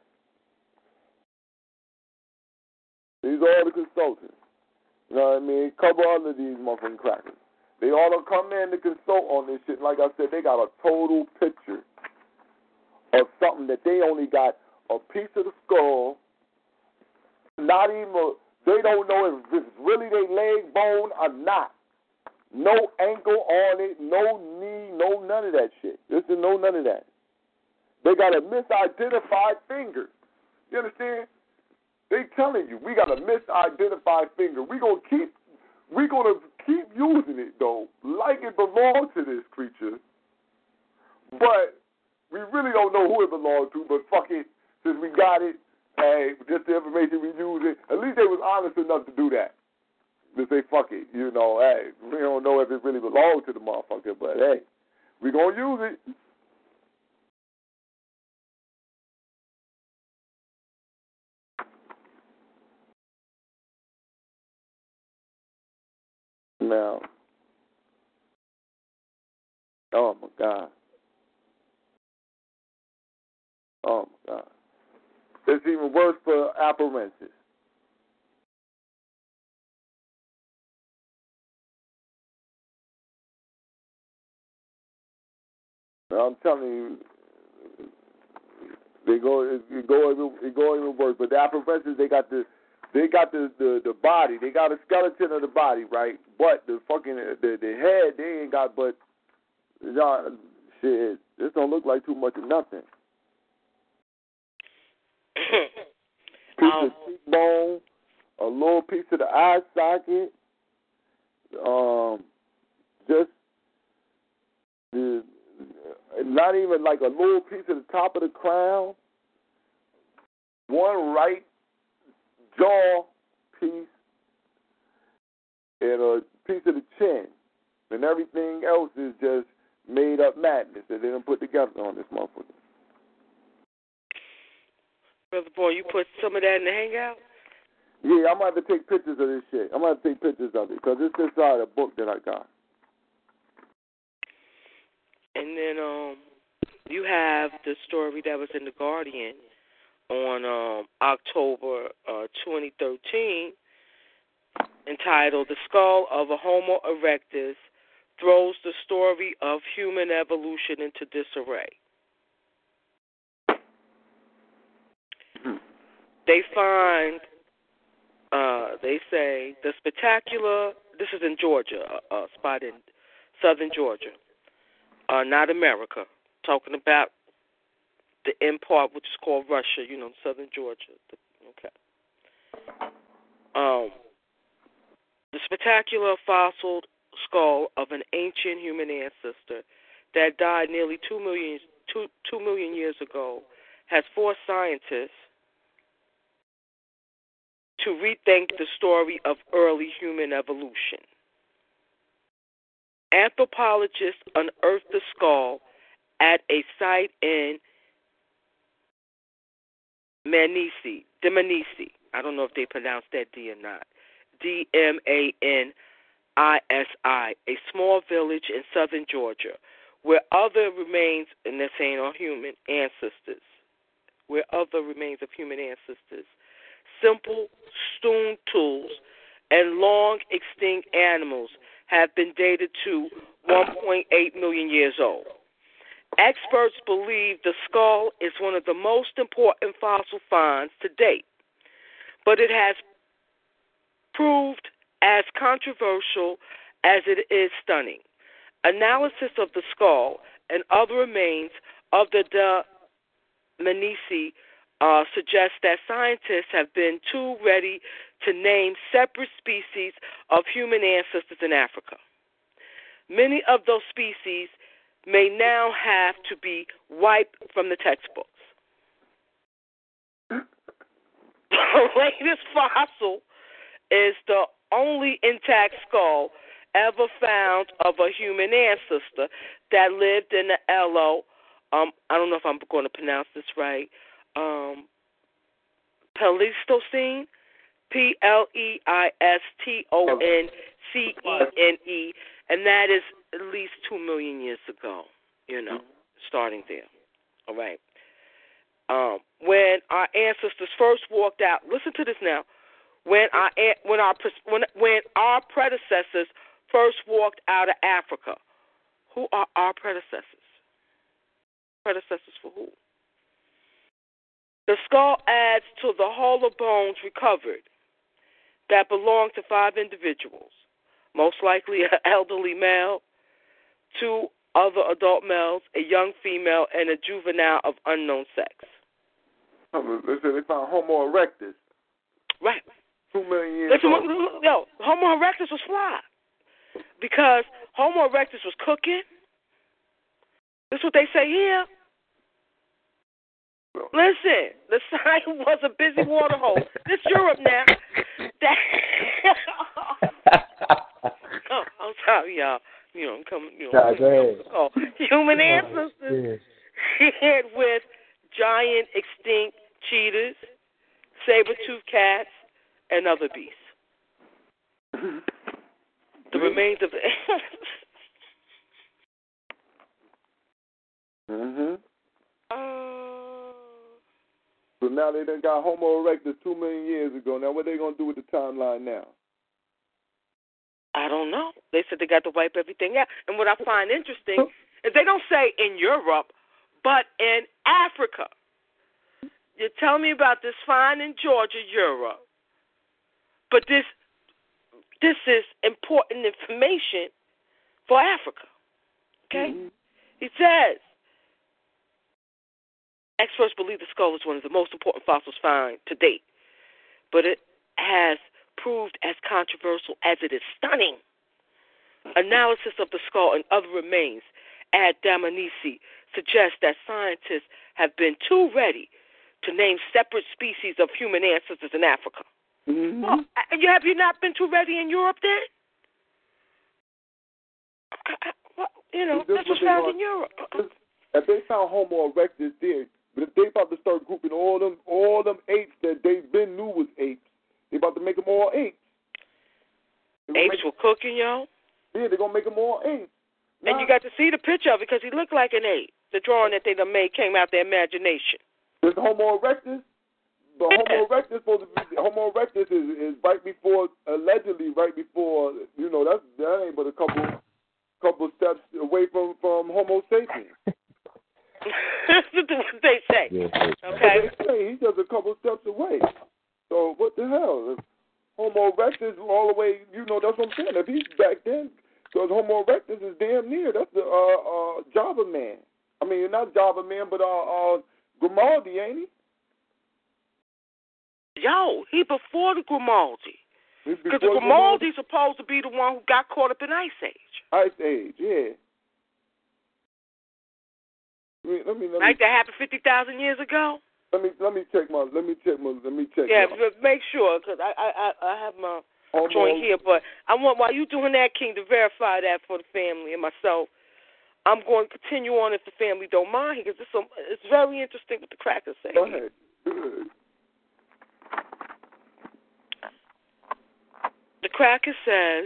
These are all the consultants. You know what I mean? Cover all of these motherfucking crackers. They all don't come in to consult on this shit. Like I said, they got a total picture of something that they only got a piece of the skull. Not even they don't know if it's really their leg bone or not. No ankle on it, no knee, no none of that shit. None of that. They got a misidentified finger. You understand? They telling you we got a misidentified finger. We're gonna keep using it though, like it belongs to this creature. But we really don't know who it belonged to, but fuck it. Since we got it, hey, just the information we use it. At least they was honest enough to do that. To say fuck it, you know, hey, we don't know if it really belonged to the motherfucker, but hey, we gonna use it. Now, oh my God. Oh my God. It's even worse for apparatus. I'm telling you, it go even worse. But the apparatus, they got the body, they got a skeleton of the body, right? But the fucking the head, they ain't got but shit. This don't look like too much of nothing. Piece of cheekbone, a little piece of the eye socket, just the. Not even like a little piece of the top of the crown, one right jaw piece, and a piece of the chin, and everything else is just made up madness that they done put together on this motherfucker. Brother Boy, you put some of that in the hangout? Yeah, I'm going to have to take pictures of this shit. I'm going to take pictures of it because it's inside a book that I got. And then you have the story that was in The Guardian on October 2013 entitled The Skull of a Homo erectus Throws the Story of Human Evolution into Disarray. They find, they say, the spectacular, this is in Georgia, a spot in southern Georgia. Not America, talking about the end part, which is called Russia, you know, southern Georgia. Okay. The spectacular fossil skull of an ancient human ancestor that died nearly 2 million years ago has forced scientists to rethink the story of early human evolution. Anthropologists unearthed the skull at a site in Dmanisi. I don't know if they pronounce that D or not. Dmanisi, a small village in southern Georgia, where other remains, and they're saying are human ancestors, where other remains of human ancestors, simple stone tools, and long extinct animals have been dated to 1.8 million years old. Experts believe the skull is one of the most important fossil finds to date, but it has proved as controversial as it is stunning. Analysis of the skull and other remains of the Dmanisi suggests that scientists have been too ready to name separate species of human ancestors in Africa. Many of those species may now have to be wiped from the textbooks. The latest fossil is the only intact skull ever found of a human ancestor that lived in the Elo, I don't know if I'm going to pronounce this right, Pleistocene, Pleistocene, and that is at least 2 million years ago, you know, starting there. All right. When our ancestors first walked out, listen to this now. When our predecessors first walked out of Africa, who are our predecessors? Predecessors for who? The skull adds to the hollow bones recovered that belong to 5 individuals, most likely an elderly male, 2 other adult males, a young female, and a juvenile of unknown sex. They found Homo erectus. Right. 2 million years old. Yo, Homo erectus was fly. Because Homo erectus was cooking. This is what they say here. Listen, the sign was a busy water hole. This Europe now. That oh, I'm sorry, y'all. I'm coming. Nah, go ahead. Human ancestors shared with giant extinct cheetahs, saber-toothed cats, and other beasts. The remains of So now they done got Homo erectus 2 million years ago. Now what they gonna do with the timeline now? I don't know. They said they got to wipe everything out. And what I find interesting is they don't say in Europe, but in Africa. You tell me about this find in Georgia, Europe. But this is important information for Africa. Okay? Mm-hmm. He says, experts believe the skull is one of the most important fossils found to date, but it has proved as controversial as it is stunning. Analysis of the skull and other remains at Dmanisi suggests that scientists have been too ready to name separate species of human ancestors in Africa. Mm-hmm. Well, have you not been too ready in Europe then? This was found in Europe. If they found Homo erectus there, but if they about to start grouping all them apes that they been knew was apes, they about to make them all apes. Apes were cooking, yo. Yeah, they're gonna make them all apes. And you got to see the picture of it because he looked like an ape. The drawing that they done made came out their imagination. This Homo erectus, Homo erectus Homo erectus is right before, allegedly right before, that ain't but a couple steps away from Homo sapiens. That's what they say. Okay. They say he's just a couple steps away. So what the hell? If Homo erectus all the way, that's what I'm saying. If he's back then, because Homo erectus is damn near. That's the Java man. I mean, not Java man, but Grimaldi, ain't he? Yo, he before the Grimaldi. Because the Grimaldi's supposed to be the one who got caught up in Ice Age. Ice Age, yeah. Let me like that happened 50,000 years ago. Let me check. Yeah, make sure because I have my joint here, but I want while you doing that, King, to verify that for the family and myself. I'm going to continue on if the family don't mind because it's very interesting what the crackers say. Go ahead. The cracker says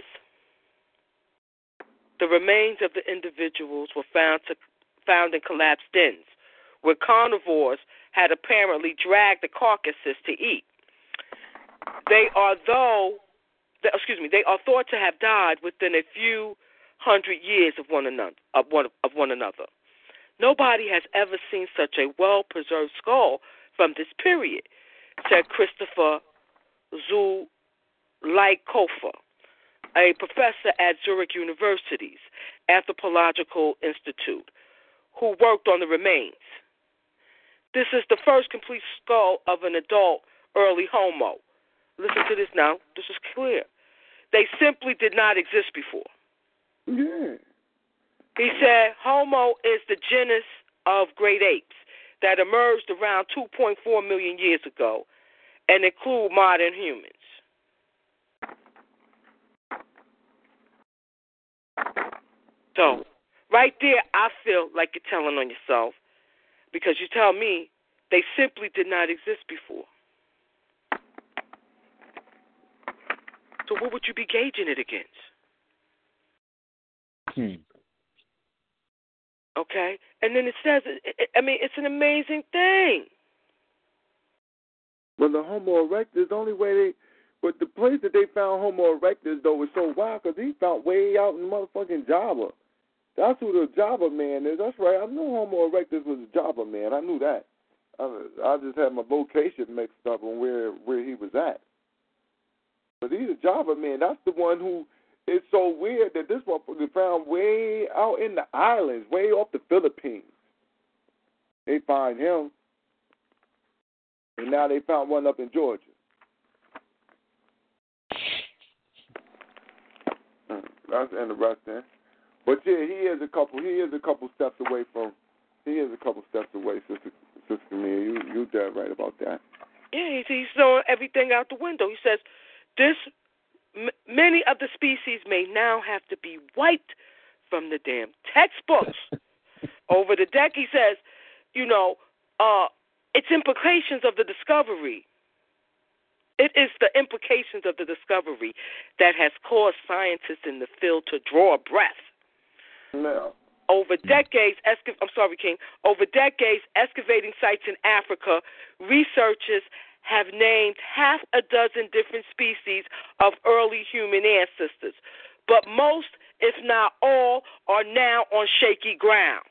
the remains of the individuals were found in collapsed dens, where carnivores had apparently dragged the carcasses to eat. They are thought to have died within a few hundred years of one another. Nobody has ever seen such a well-preserved skull from this period, said Christopher Zulaikofer, a professor at Zurich University's Anthropological Institute, who worked on the remains. This is the first complete skull of an adult early Homo. Listen to this now. This is clear. They simply did not exist before. Yeah. He said Homo is the genus of great apes that emerged around 2.4 million years ago and include modern humans. So, right there, I feel like you're telling on yourself because you tell me they simply did not exist before. So what would you be gauging it against? Okay? And then it says, it's an amazing thing. Well, the Homo erectus, the only way but the place that they found Homo erectus, though, was so wild because he found way out in motherfucking Java. That's who the Java man is. That's right. I knew Homo erectus was a Java man. I knew that. I just had my vocation mixed up on where he was at. But he's a Java man. That's the one who is so weird that this one was found way out in the islands, way off the Philippines. They find him. And now they found one up in Georgia. That's interesting. But yeah, he is a couple steps away from He is a couple steps away, Sister Camille. You dead right about that. Yeah, he's throwing everything out the window. He says, many of the species may now have to be wiped from the damn textbooks. Over the deck, he says, it's implications of the discovery. It is the implications of the discovery that has caused scientists in the field to draw a breath. No. Over decades, excavating sites in Africa, researchers have named half a dozen different species of early human ancestors. But most, if not all, are now on shaky ground.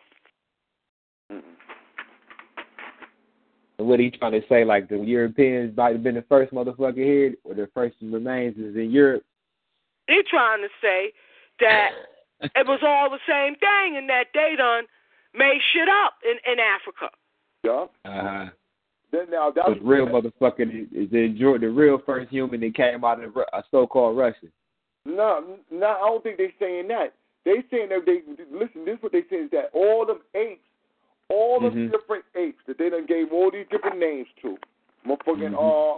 And what he trying to say, like the Europeans might have been the first motherfucker here, or the first remains is in Europe? He trying to say that it was all the same thing, and that they done made shit up in Africa. Yeah. Then now that's the real motherfucker is the real first human that came out of a so-called Russia. No, I don't think they're saying that. They saying that listen. This is what they saying is that all them apes. All the different apes that they done gave all these different names to. Motherfucking,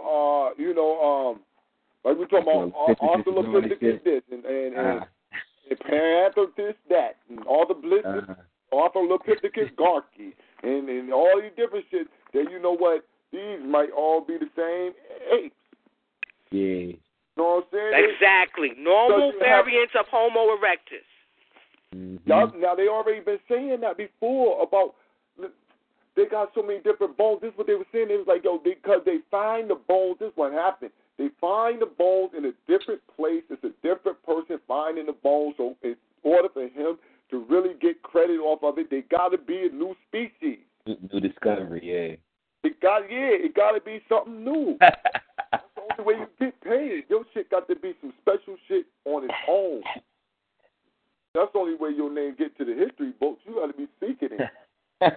like we talking about Australopithecus this and Panther this, that, and all the blizzards, Australopithecus garki, and all these different shit that you know what, these might all be the same apes. Yeah. You know what I'm saying? Exactly. Normal variants of Homo erectus. Now, they already been saying that before about they got so many different bones. This is what they were saying. It was like, because they find the bones, this is what happened. They find the bones in a different place. It's a different person finding the bones. So in order for him to really get credit off of it, they got to be a new species. New discovery, yeah. It got to be something new. That's the only way you get paid. Your shit got to be some special shit on its own. That's the only way your name get to the history books. You got to be seeking it.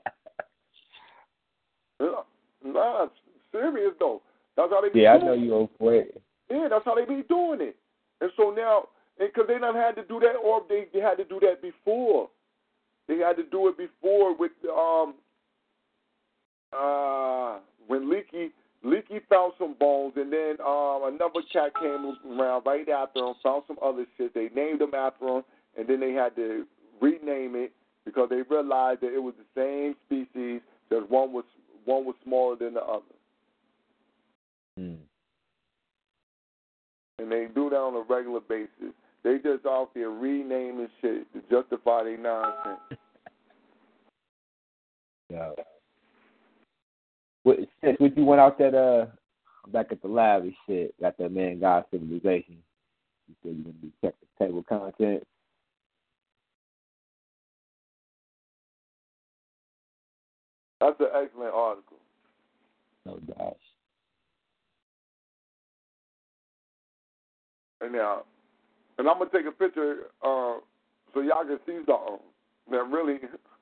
Nah, serious though. That's how they be doing it. I know you old for it. Yeah, that's how they be doing it. And so now, because they done had to do that, or they had to do that before. They had to do it before with when Leakey found some bones, and then another cat came around right after him, found some other shit. They named them after him, and then they had to rename it because they realized that it was the same species. Just one was smaller than the other. And they do that on a regular basis. They just out there renaming shit to justify their nonsense. Yeah. Since you went out that back at the lab and shit, got that man God civilization. You said you gonna be check the table content. That's an excellent article. No gosh. And I'm gonna take a picture so y'all can see something that really.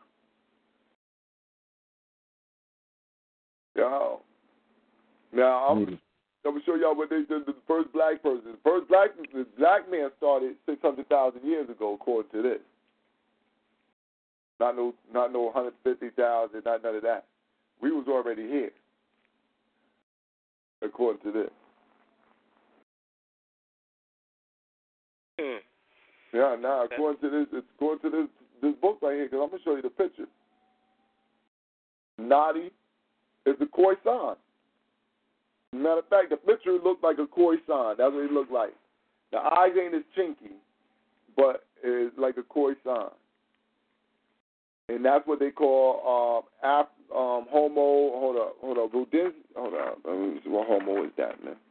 Yeah. Now I'm gonna show y'all what they did to the first black person. The first black man started 600,000 years ago, according to this. Not no 150,000, not none of that. We was already here, according to this. Yeah, now according to this book right here, because I'm gonna show you the picture. Nadi is the Khoisan. Matter of fact, the picture looked like a Khoisan. That's what it looked like. The eyes ain't as chinky, but it's like a Khoisan. And that's what they call Homo. Hold up. Hold on. What Homo is that, man?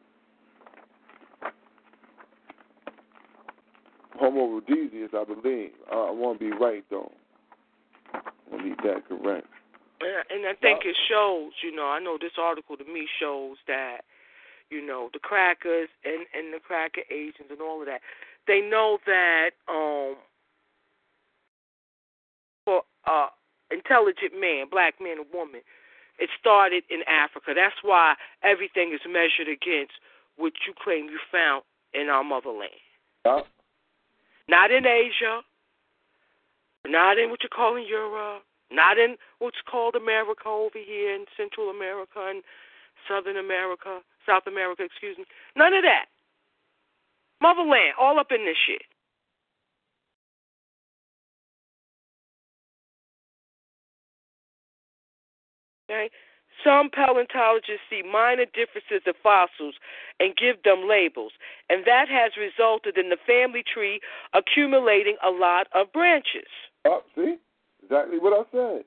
Homo rhodesius, I believe. I want to be right though. I want to be that correct. And I think it shows. I know this article to me shows that, the crackers and the cracker agents and all of that, they know that for intelligent man, black man or woman, it started in Africa. That's why everything is measured against what you claim you found in our motherland. Yeah. Not in Asia, not in what you're calling Europe, Not in what's called America over here in Central America and South America, excuse me. None of that. Motherland, all up in this shit. Okay? Some paleontologists see minor differences in fossils and give them labels, and that has resulted in the family tree accumulating a lot of branches. Oh, see? Exactly what I said.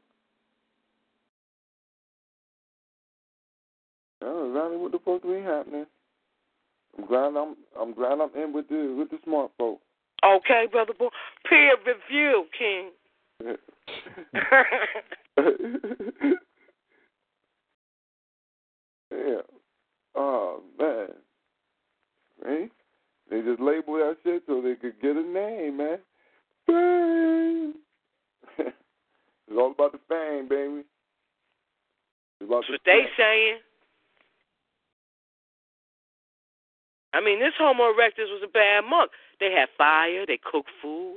That's exactly what the fuck be happening. I'm glad I'm in with the smart folk. Okay, brother boy. Peer review, King. Yeah. Oh man. Right? They just label that shit so they could get a name, man. Fame. It's all about the fame, baby. It's about That's what they saying. I mean, this Homo erectus was a bad monk. They had fire. They cooked food.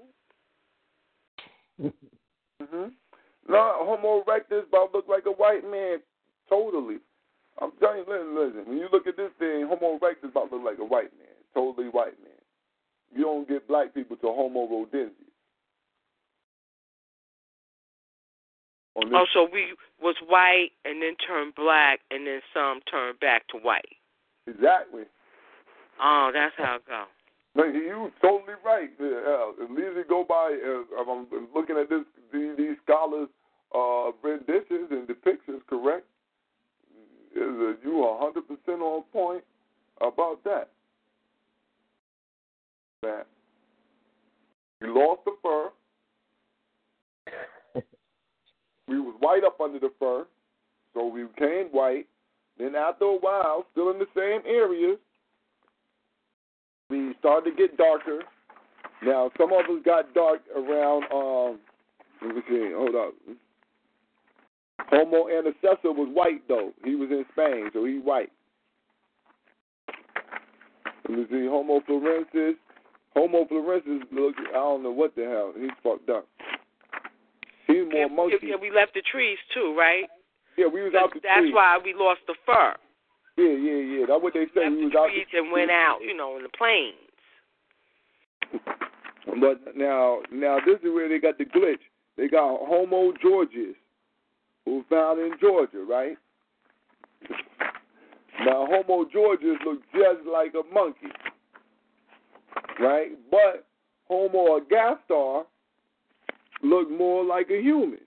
Mm-hmm. No, Homo erectus about to look like a white man. Totally. I'm telling you, listen. When you look at this thing, Homo erectus about to look like a white man. Totally white man. You don't get black people to Homo rhodensis. Oh, so we was white and then turned black and then some turned back to white. Exactly. Oh, that's how it goes. No, you totally right. At least it go by. I'm looking at these scholars' renditions and depictions. Correct? You are 100% on point about that. That we lost the fur. We was white up under the fur, so we became white. Then after a while, still in the same areas, we started to get darker. Now, some of us got dark around, let me see, hold up. Homo antecessor was white, though. He was in Spain, so he's white. Let me see, Homo florensis. Homo florensis, look, I don't know what the hell. He's fucked up. He's more monkey. Yeah, we left the trees, too, right? Yeah, we was out the trees. That's why we lost the fur. Yeah. That's what they say. We was out the trees and went out, in the plains. But now this is where they got the glitch. They got Homo Georgius, who was found in Georgia, right? Now Homo Georgius looked just like a monkey, right? But Homo ergaster looked more like a human.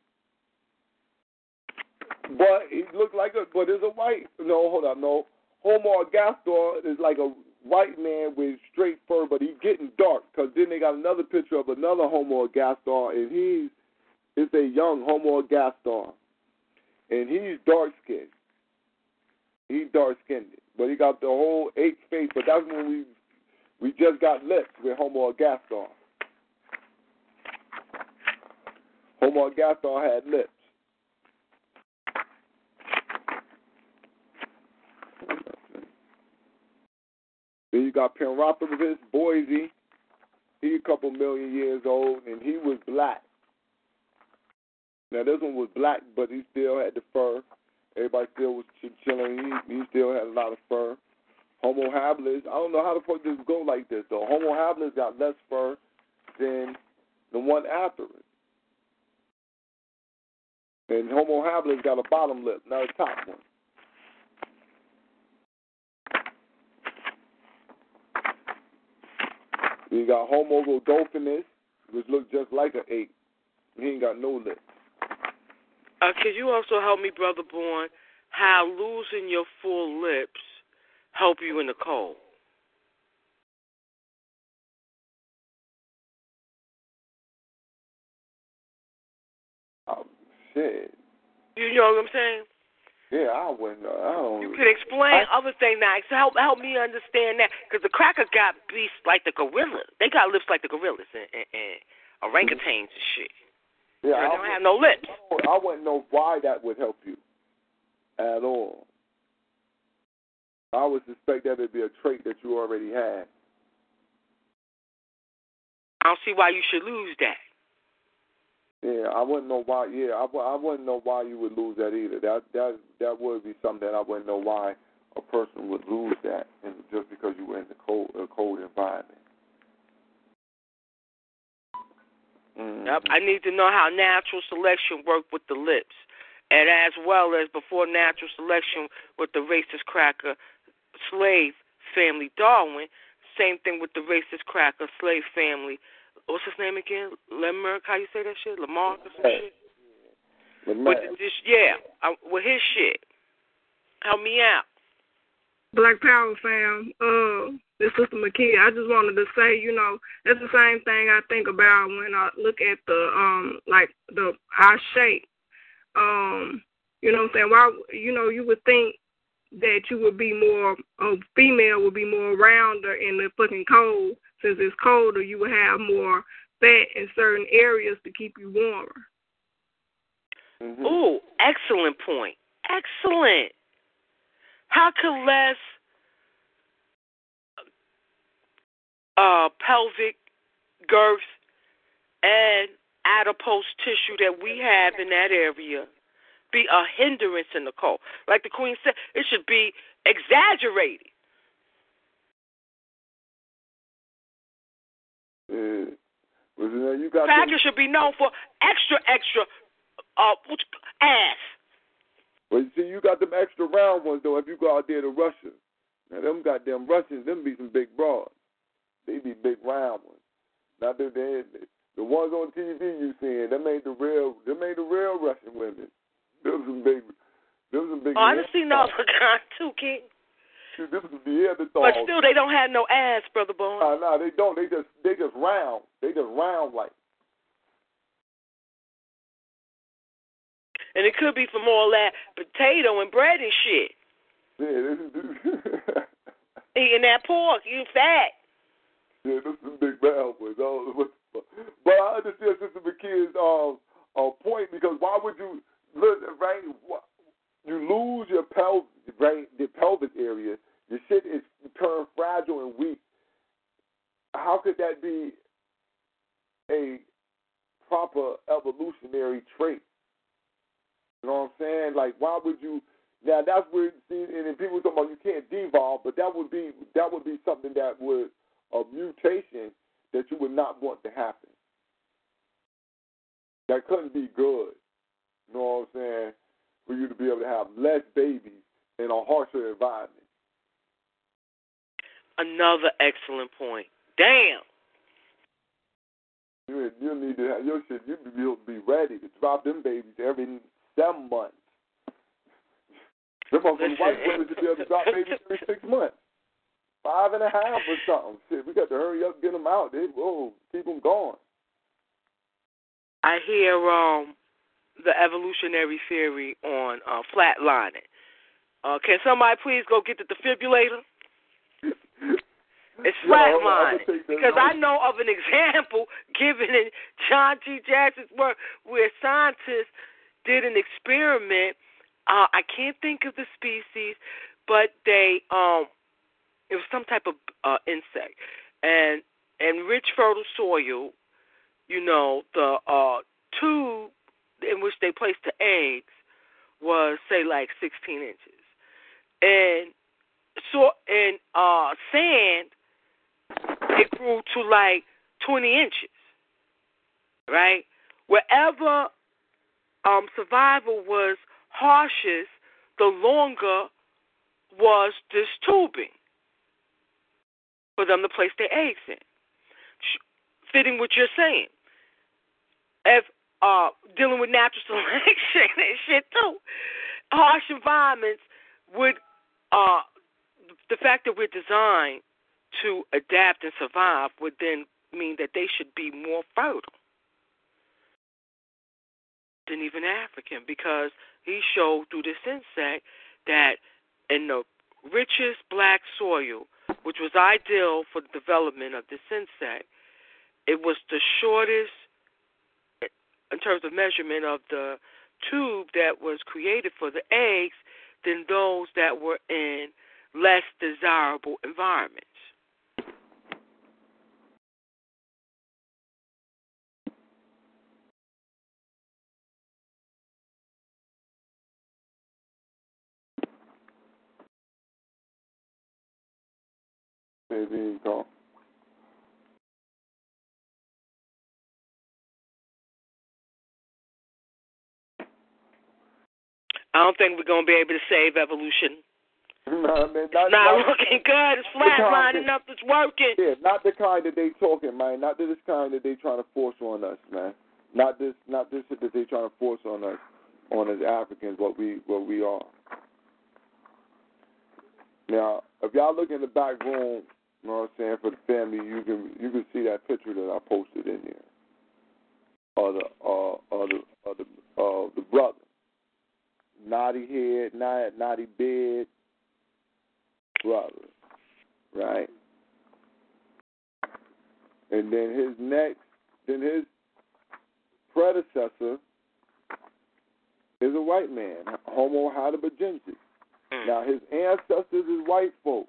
But he looked like but it's a white. No, hold on, no. Homo ergaster is like a white man with straight fur, but he's getting dark because then they got another picture of another Homo ergaster, and it's a young Homo ergaster, and he's dark skinned. He's dark skinned, but he got the whole ape face. But that's when we just got lips with Homo ergaster. Homo ergaster had lips. Then you got Penropolis Boise. He a couple million years old, and he was black. Now this one was black, but he still had the fur. Everybody still was chilling. He still had a lot of fur. Homo habilis, I don't know how the fuck this go like this though. Homo habilis got less fur than the one after it. And Homo habilis got a bottom lip, not a top one. You got Homo rhodophinus, which looks just like an ape. He ain't got no lips. Could you also help me, Brother Born, how losing your full lips help you in the cold? Oh, shit. You know what I'm saying? Yeah, I wouldn't know. I don't. You can explain other things now. So help me understand that. Because the crackers got beasts like the gorilla. They got lips like the gorillas and orangutans and shit. Yeah, they don't have no lips. I wouldn't know why that would help you at all. I would suspect that it'd be a trait that you already had. I don't see why you should lose that. Yeah, I wouldn't know why. Yeah, I wouldn't know why you would lose that either. That would be something that I wouldn't know why a person would lose that, and just because you were in the cold environment. Yep. I need to know how natural selection worked with the lips, and as well as before natural selection with the racist cracker slave family Darwin. Same thing with the racist cracker slave family. What's his name again? Lamarck? How you say that shit? Lamarck or some shit? With with his shit. Help me out. Black Power fam, this Sister McKee, I just wanted to say, that's the same thing I think about when I look at our shape. You know what I'm saying? Why, you would think that you would be more, a female would be more rounder in the fucking cold. Since it's colder, you would have more fat in certain areas to keep you warmer. Mm-hmm. Ooh, excellent point. Excellent. How could less pelvic girth and adipose tissue that we have in that area be a hindrance in the cold? Like the Queen said, it should be exaggerated. Crackers should be known for extra ass. Well, you see, you got them extra round ones, though, if you go out there to Russia. Now, them goddamn Russians, them be some big broads. They be big round ones. Not the ones on TV you seeing, them ain't the real Russian women. Them some big Oh, I done seen those kind too, King. This is the Neanderthals. But still, they don't have no ass, Brother Bones. No, they don't. They just round. They just round like. And it could be for more of that potato and bread and shit. Yeah, eating that pork, you fat. Yeah, this is big round ones. But I understand Sister McKee's point, because why would you right? You lose your the pelvic area. Your shit is turned fragile and weak. How could that be a proper evolutionary trait? You know what I'm saying? Like, why would you? Now that's where, see, and then people talk about you can't devolve, but that would be something that would a mutation that you would not want to happen. That couldn't be good. You know what I'm saying? For you to be able to have less babies in a harsher environment. Another excellent point. Damn. You need to have your shit. You be ready to drop them babies every 7 months. Them white women should be able to drop babies every 6 months, 5.5 or something. Shit, we got to hurry up, get them out. Keep them going. I hear the evolutionary theory on flatlining. Can somebody please go get the defibrillator? It's flatlining. Because I know of an example given in John G. Jackson's work where scientists did an experiment. I can't think of the species, but it was some type of insect. And in rich, fertile soil, the tube in which they placed the eggs was, say, like 16 inches. And so in sand, it grew to like 20 inches, right? Wherever survival was harshest, the longer was this tubing for them to place their eggs in. Fitting what you're saying. If dealing with natural selection and shit too, harsh environments would, the fact that we're designed to adapt and survive would then mean that they should be more fertile than even African, because he showed through this insect that in the richest black soil, which was ideal for the development of this insect, it was the shortest in terms of measurement of the tube that was created for the eggs than those that were in less desirable environments. Maybe he called. I don't think we're going to be able to save evolution. No, man, not looking good. It's flatlining up. It's working. Yeah, not the kind that they talking, man. Not this kind that they trying to force on us, man. Not this shit that they trying to force on us, on as Africans, what we are. Now, if y'all look in the back room, you know what I'm saying, for the family, you can see that picture that I posted in there of the brother, naughty head, naughty bed brother, right? And then his predecessor is a white man, Homo heidelbergensis. Now, his ancestors is white folk.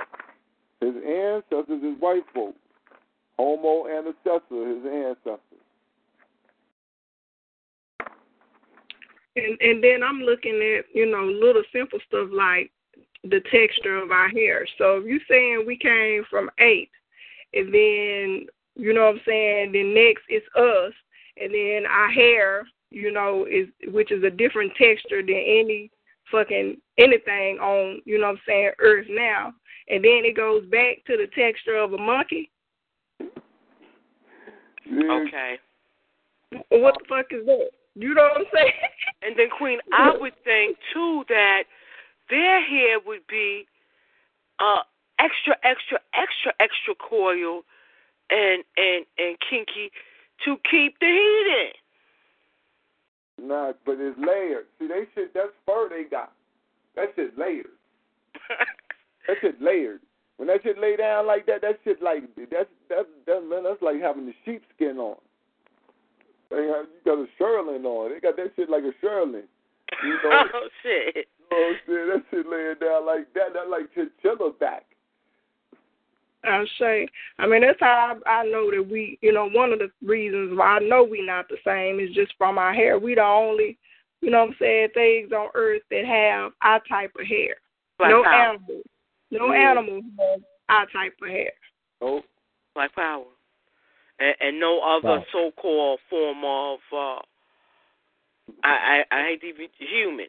Homo ancestor, his ancestors. And then I'm looking at, little simple stuff like the texture of our hair. So if you're saying we came from 8, and then, you know what I'm saying, then next it's us, and then our hair, which is a different texture than any fucking anything on, Earth now. And then it goes back to the texture of a monkey. Okay. What the fuck is that? You know what I'm saying? And then, Queen, I would think, too, that their hair would be extra coiled and kinky to keep the heat in. Nah, but it's layered. See, that's fur they got. That shit's layered. That shit layered. When that shit lay down like that, that shit like, that's like having the sheepskin on. You got a shearling on. They got that shit like a shearling. Oh, shit. You know what I'm saying? That shit laying down like that. That's like chinchilla back. I'll say. I mean, that's how I know that we, one of the reasons why I know we not the same is just from our hair. We the only, things on Earth that have our type of hair. Black no power. animals. No animals have our type of hair. Oh. Black power. And no other so-called form of, I hate to be human,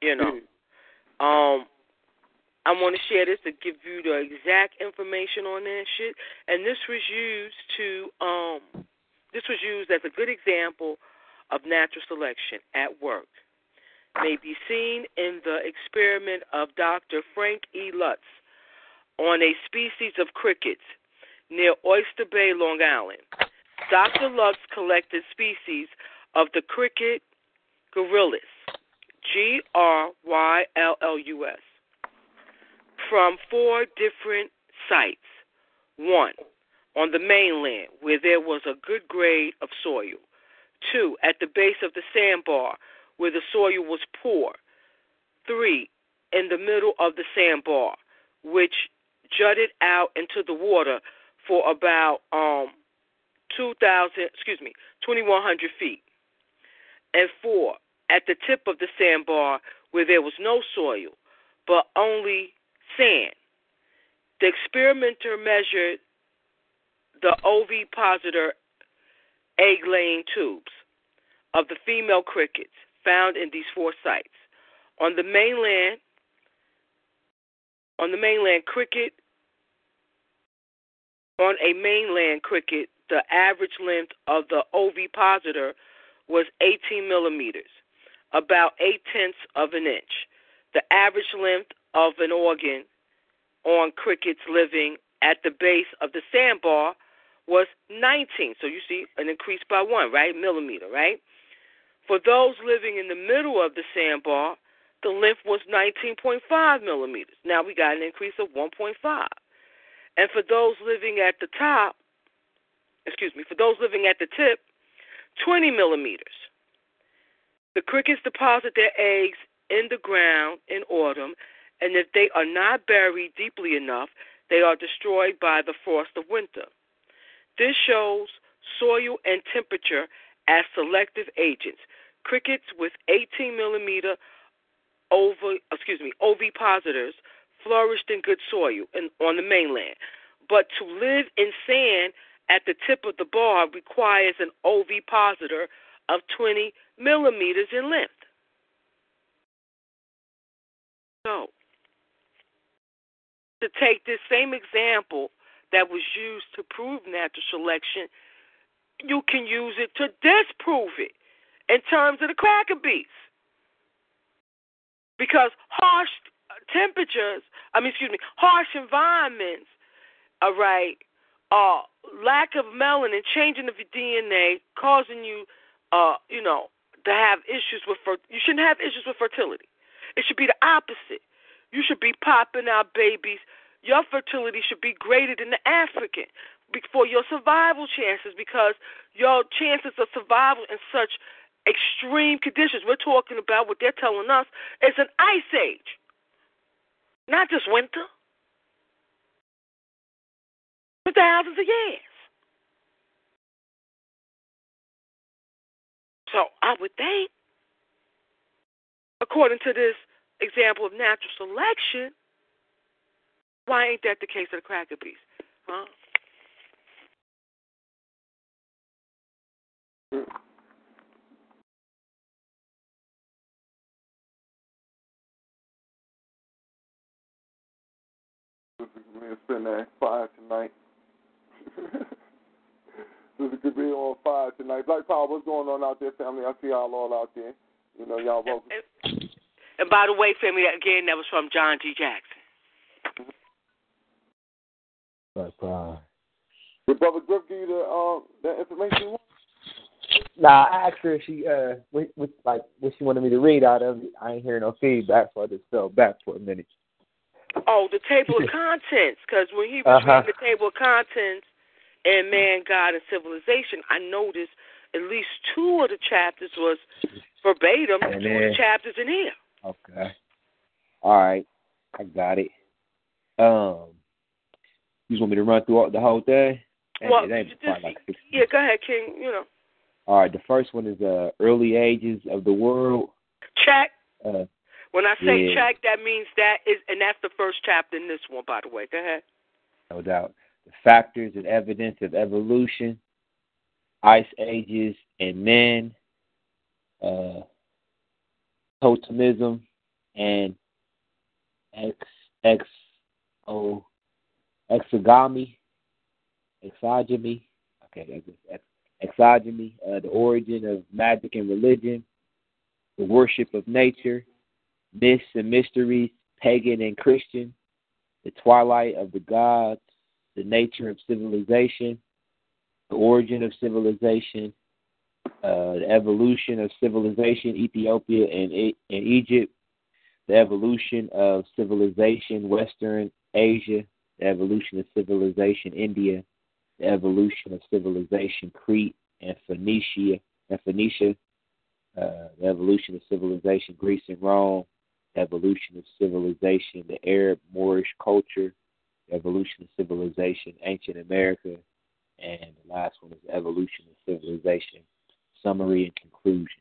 I want to share this to give you the exact information on that shit. And this was used as a good example of natural selection at work. May be seen in the experiment of Dr. Frank E. Lutz on a species of crickets near Oyster Bay, Long Island. Dr. Lutz collected species of the cricket Gryllus, Gryllus, from 4 different sites. 1, on the mainland, where there was a good grade of soil. 2, at the base of the sandbar, where the soil was poor. 3, in the middle of the sandbar, which jutted out into the water for about 2,100 feet. And 4, at the tip of the sandbar, where there was no soil, but only sand. The experimenter measured the ovipositor egg-laying tubes of the female crickets found in these 4 sites. On the mainland cricket, the average length of the ovipositor was 18 millimeters, about 0.8 of an inch. The average length of an organ on crickets living at the base of the sandbar was 19. So you see an increase by 1, right? Millimeter, right? For those living in the middle of the sandbar, the length was 19.5 millimeters. Now we got an increase of 1.5. And for those living at the tip, 20 millimeters. The crickets deposit their eggs in the ground in autumn, and if they are not buried deeply enough, they are destroyed by the frost of winter. This shows soil and temperature as selective agents. Crickets with 18 millimeter ovipositors flourished in good soil on the mainland, But to live in sand at the tip of the bar requires an ovipositor of 20 millimeters in length. So, to take this same example that was used to prove natural selection, you can use it to disprove it in terms of the cracker beats. Because harsh harsh environments, all right, lack of melanin, changing of your DNA, causing you, to have issues with you shouldn't have issues with fertility. It should be the opposite. You should be popping out babies. Your fertility should be greater than the African for your survival chances, because your chances of survival in such extreme conditions, we're talking about what they're telling us, is an ice age, not just winter, for thousands of years. So I would think, according to this example of natural selection, why ain't that the case of the cracker beast? Huh? We'll spend that fire tonight. Sister could be on fire tonight. Black Power, what's going on out there, family? I see y'all all out there. You know, y'all welcome. And by the way, family, again, that was from John G. Jackson. Black Power. Did Brother Griff give you the information? Nah, I asked her if she what she wanted me to read out of it. I ain't hearing no feedback, so I just fell back for a minute. Oh, the table of contents, because when he was reading the table of contents in Man, God, and Civilization, I noticed at least two of the chapters was verbatim, two of the chapters in here. Okay. All right. I got it. You just want me to run through the whole thing? Well, yeah, go ahead, King, All right, the first one is Early Ages of the World. Check. When I say check, that means that is, and that's the first chapter in this one, by the way. Go ahead. No doubt. The Factors and Evidence of Evolution, Ice Ages and Men, Totemism, and exogamy. Okay, exogamy, the origin of magic and religion, the worship of nature, myths and mysteries, pagan and Christian, the twilight of the gods, the nature of civilization, the origin of civilization, the evolution of civilization, Ethiopia and Egypt, the evolution of civilization, Western Asia, the evolution of civilization, India, the evolution of civilization, Crete and Phoenicia, the evolution of civilization, Greece and Rome, the evolution of civilization, the Arab Moorish culture, the evolution of civilization, ancient America, and the last one is the evolution of civilization, summary and conclusion.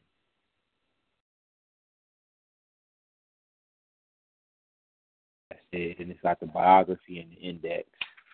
That's it, and it's got the biography and the index.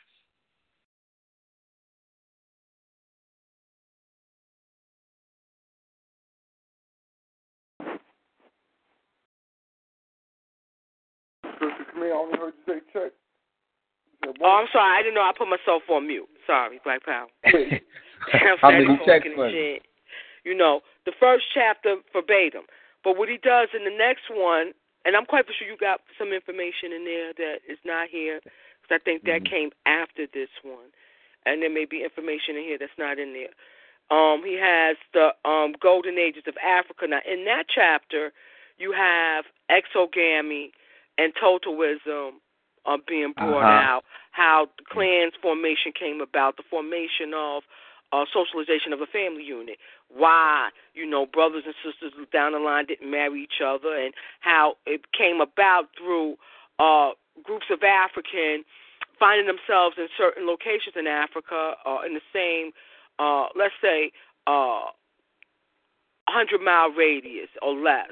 I only heard you say check. Oh, I'm sorry. I didn't know I put myself on mute. Sorry, Black Power. How many checks for you? The first chapter verbatim. But what he does in the next one, and I'm quite sure you got some information in there that is not here, because I think that came after this one. And there may be information in here that's not in there. He has the Golden Ages of Africa. Now, in that chapter, you have exogamy and totemism being brought out, how the clan's formation came about, the formation of socialization of a family unit, why, brothers and sisters down the line didn't marry each other, and how it came about through groups of African finding themselves in certain locations in Africa in the same, let's say, 100-mile radius or less.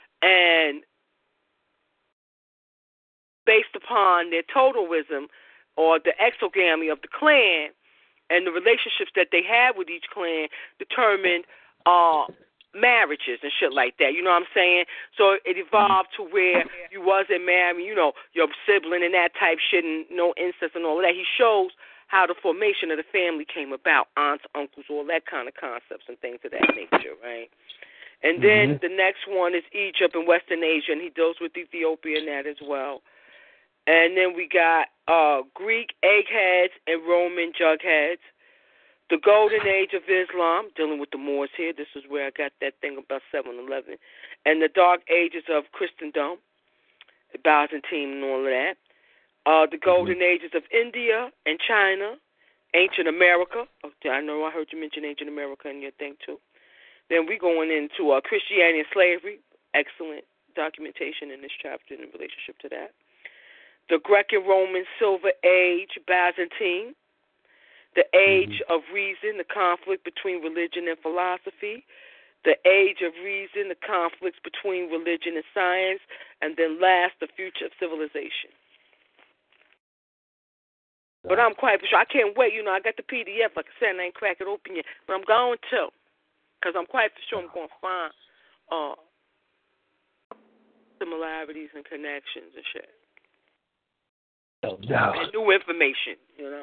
And based upon their totemism, or the exogamy of the clan and the relationships that they had with each clan determined marriages and shit like that. You know what I'm saying? So it evolved to where you wasn't marrying, your sibling and that type shit and no incest and all of that. He shows how the formation of the family came about, aunts, uncles, all that kind of concepts and things of that nature, right? And then the next one is Egypt and Western Asia, and he deals with Ethiopia and that as well. And then we got Greek eggheads and Roman jugheads. The Golden Age of Islam, dealing with the Moors here. This is where I got that thing about 7-Eleven. And the Dark Ages of Christendom, Byzantine and all of that. The Golden Ages of India and China, Ancient America. Okay, I know I heard you mention Ancient America in your thing too. Then we going into Christianity and slavery. Excellent documentation in this chapter in relationship to that. The Greco-Roman Silver Age, Byzantine. The Age of Reason, the conflict between religion and philosophy. The Age of Reason, the conflicts between religion and science. And then last, the future of civilization. But I'm quite sure. I can't wait. I got the PDF. Like I said, I ain't crack it open yet. But I'm going to. Because I'm quite sure I'm going to find similarities and connections and shit. Oh, no. And new information,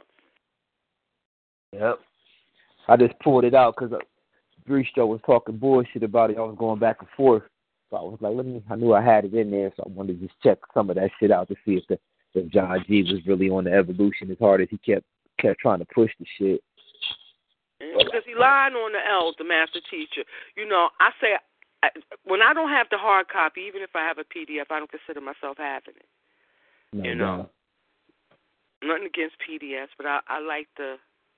Yep. I just pulled it out because Breestro was talking bullshit about it. I was going back and forth. So I was like, I knew I had it in there, so I wanted to just check some of that shit out to see if John G was really on the evolution as hard as he kept trying to push the shit. Because he lied on the L, the master teacher. I say, when I don't have the hard copy, even if I have a PDF, I don't consider myself having it. No. Nothing against PDFs, but I like the...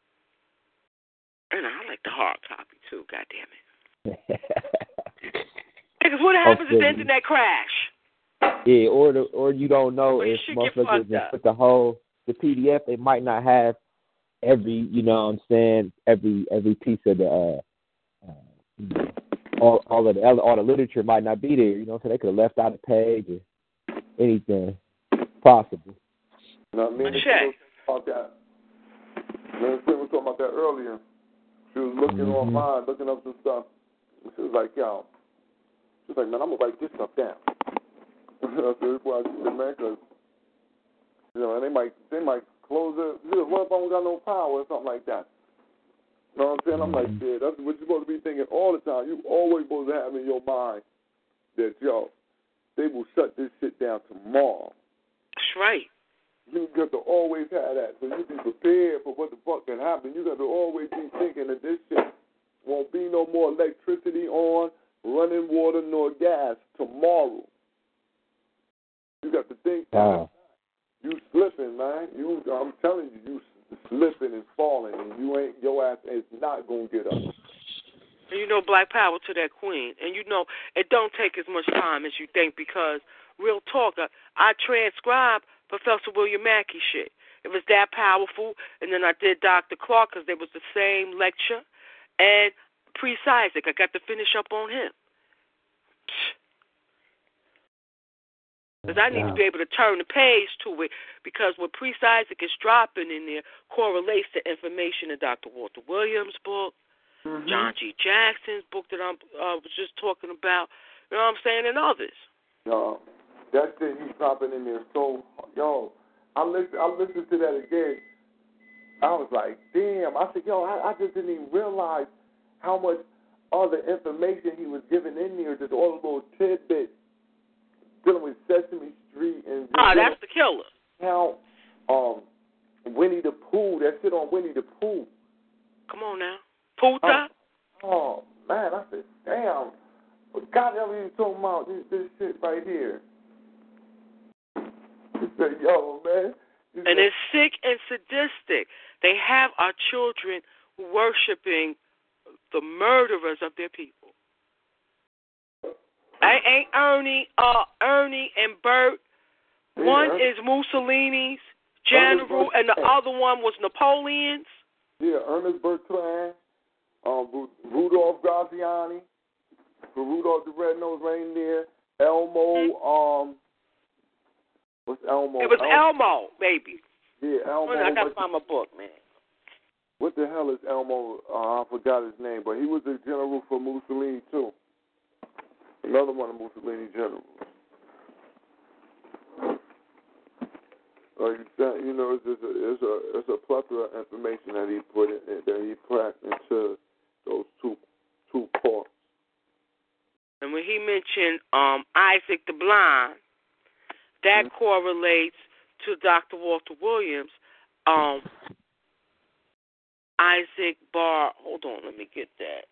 And I like the hard copy, too, goddamn it. Because what happens if the internet crash? Yeah, or you don't know if motherfuckers just put the PDF, they might not have every, every piece of the, all the literature might not be there, so they could have left out a page or anything possible. No, me and Nicole talked about that. Me and Nicole was talking about that earlier. She was looking online, looking up some stuff. And she was like, man, I'm going to write this stuff down. I said, before I said, man, because, and they might close it. What if I don't got no power or something like that? You know what I'm saying? I'm like, yeah, that's what you're supposed to be thinking all the time. You always supposed to have in your mind that, they will shut this shit down tomorrow. That's right. You got to always have that, so you be prepared for what the fuck can happen. You got to always be thinking that this shit won't be no more electricity on, running water, nor gas tomorrow. You got to think that. You slipping, man. I'm telling you, you slipping and falling, and your ass is not gonna get up. And black power to that queen. And it don't take as much time as you think, because real talk, I transcribe Professor William Mackey shit. It was that powerful. And then I did Dr. Clark because there was the same lecture. And Priest Isaac, I got to finish up on him. Because I need to be able to turn the page to it, because what Priest Isaac is dropping in there correlates to information in Dr. Walter Williams' book, John G. Jackson's book that I was just talking about, you know what I'm saying, and others. That thing he's dropping in there, so, I listened to that again. I was like, damn. I said, I just didn't even realize how much other information he was giving in there, just all the little tidbits dealing with Sesame Street and that's the killer. How Winnie the Pooh, that shit on Winnie the Pooh. Come on now. Pooh-ta? Oh, man, I said, damn. God, I was talking about this shit right here. He said, man. And it's sick and sadistic. They have our children worshiping the murderers of their people. Ain't Ernie and Bert. One is Mussolini's general, and the other one was Napoleon's. Yeah, Ernest Bertrand, Rudolph Graziani, Rudolph the Red-Nosed Reindeer, Elmo, what's Elmo? It was Elmo, baby. Yeah, Elmo. I gotta find my book, man. What the hell is Elmo? I forgot his name, but he was a general for Mussolini too. Another one of Mussolini's generals. Like you know, it's a plethora of information that he put in, that he packed into those two parts. And when he mentioned Isaac the Blind, that correlates to Dr. Walter Williams. Isaac Barr. Hold on, let me get that.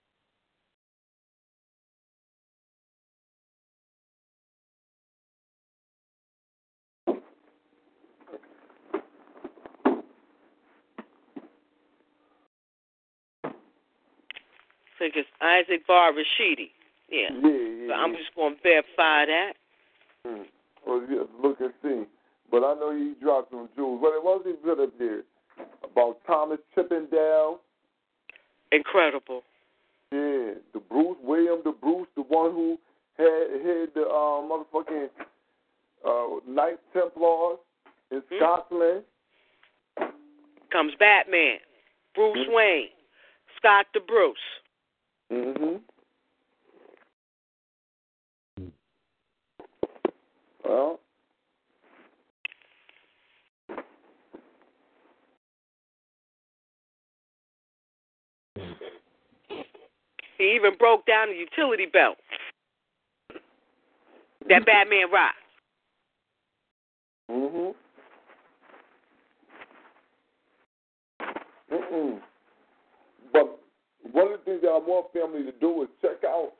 I think it's Isaac Barr Rashidi. Yeah. So I'm just going to verify that. Well, yeah, look and see. But I know he dropped some jewels. But it wasn't good up there. About Thomas Chippendale. Incredible. Yeah. The William the Bruce, the one who had the motherfucking Knights Templars in Scotland. Comes Batman. Bruce Wayne. Scott the Bruce. Well, he even broke down the utility belt that Batman rocked. But one of the things that I want family to do is check out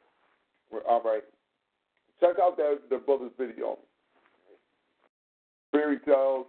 their brother's video. Fairy Tales,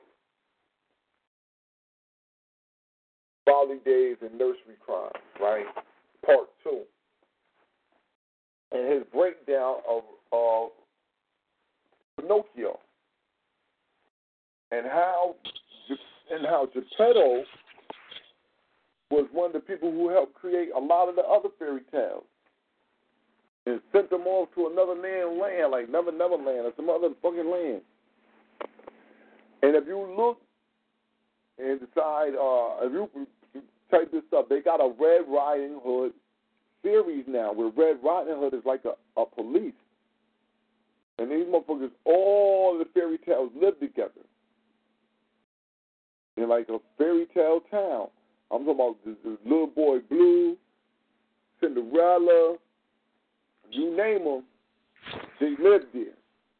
Folly Days, and Nursery Crimes, right? Part 2. And his breakdown of Pinocchio. And how Geppetto was one of the people who helped create a lot of the other fairy tales and sent them off to another land like Neverland or some other fucking land. And if you look and decide, if you type this up, they got a Red Riding Hood series now where Red Riding Hood is like a police. And these motherfuckers, all the fairy tales live together in like a fairy tale town. I'm talking about the Little Boy Blue, Cinderella, you name them, they live there.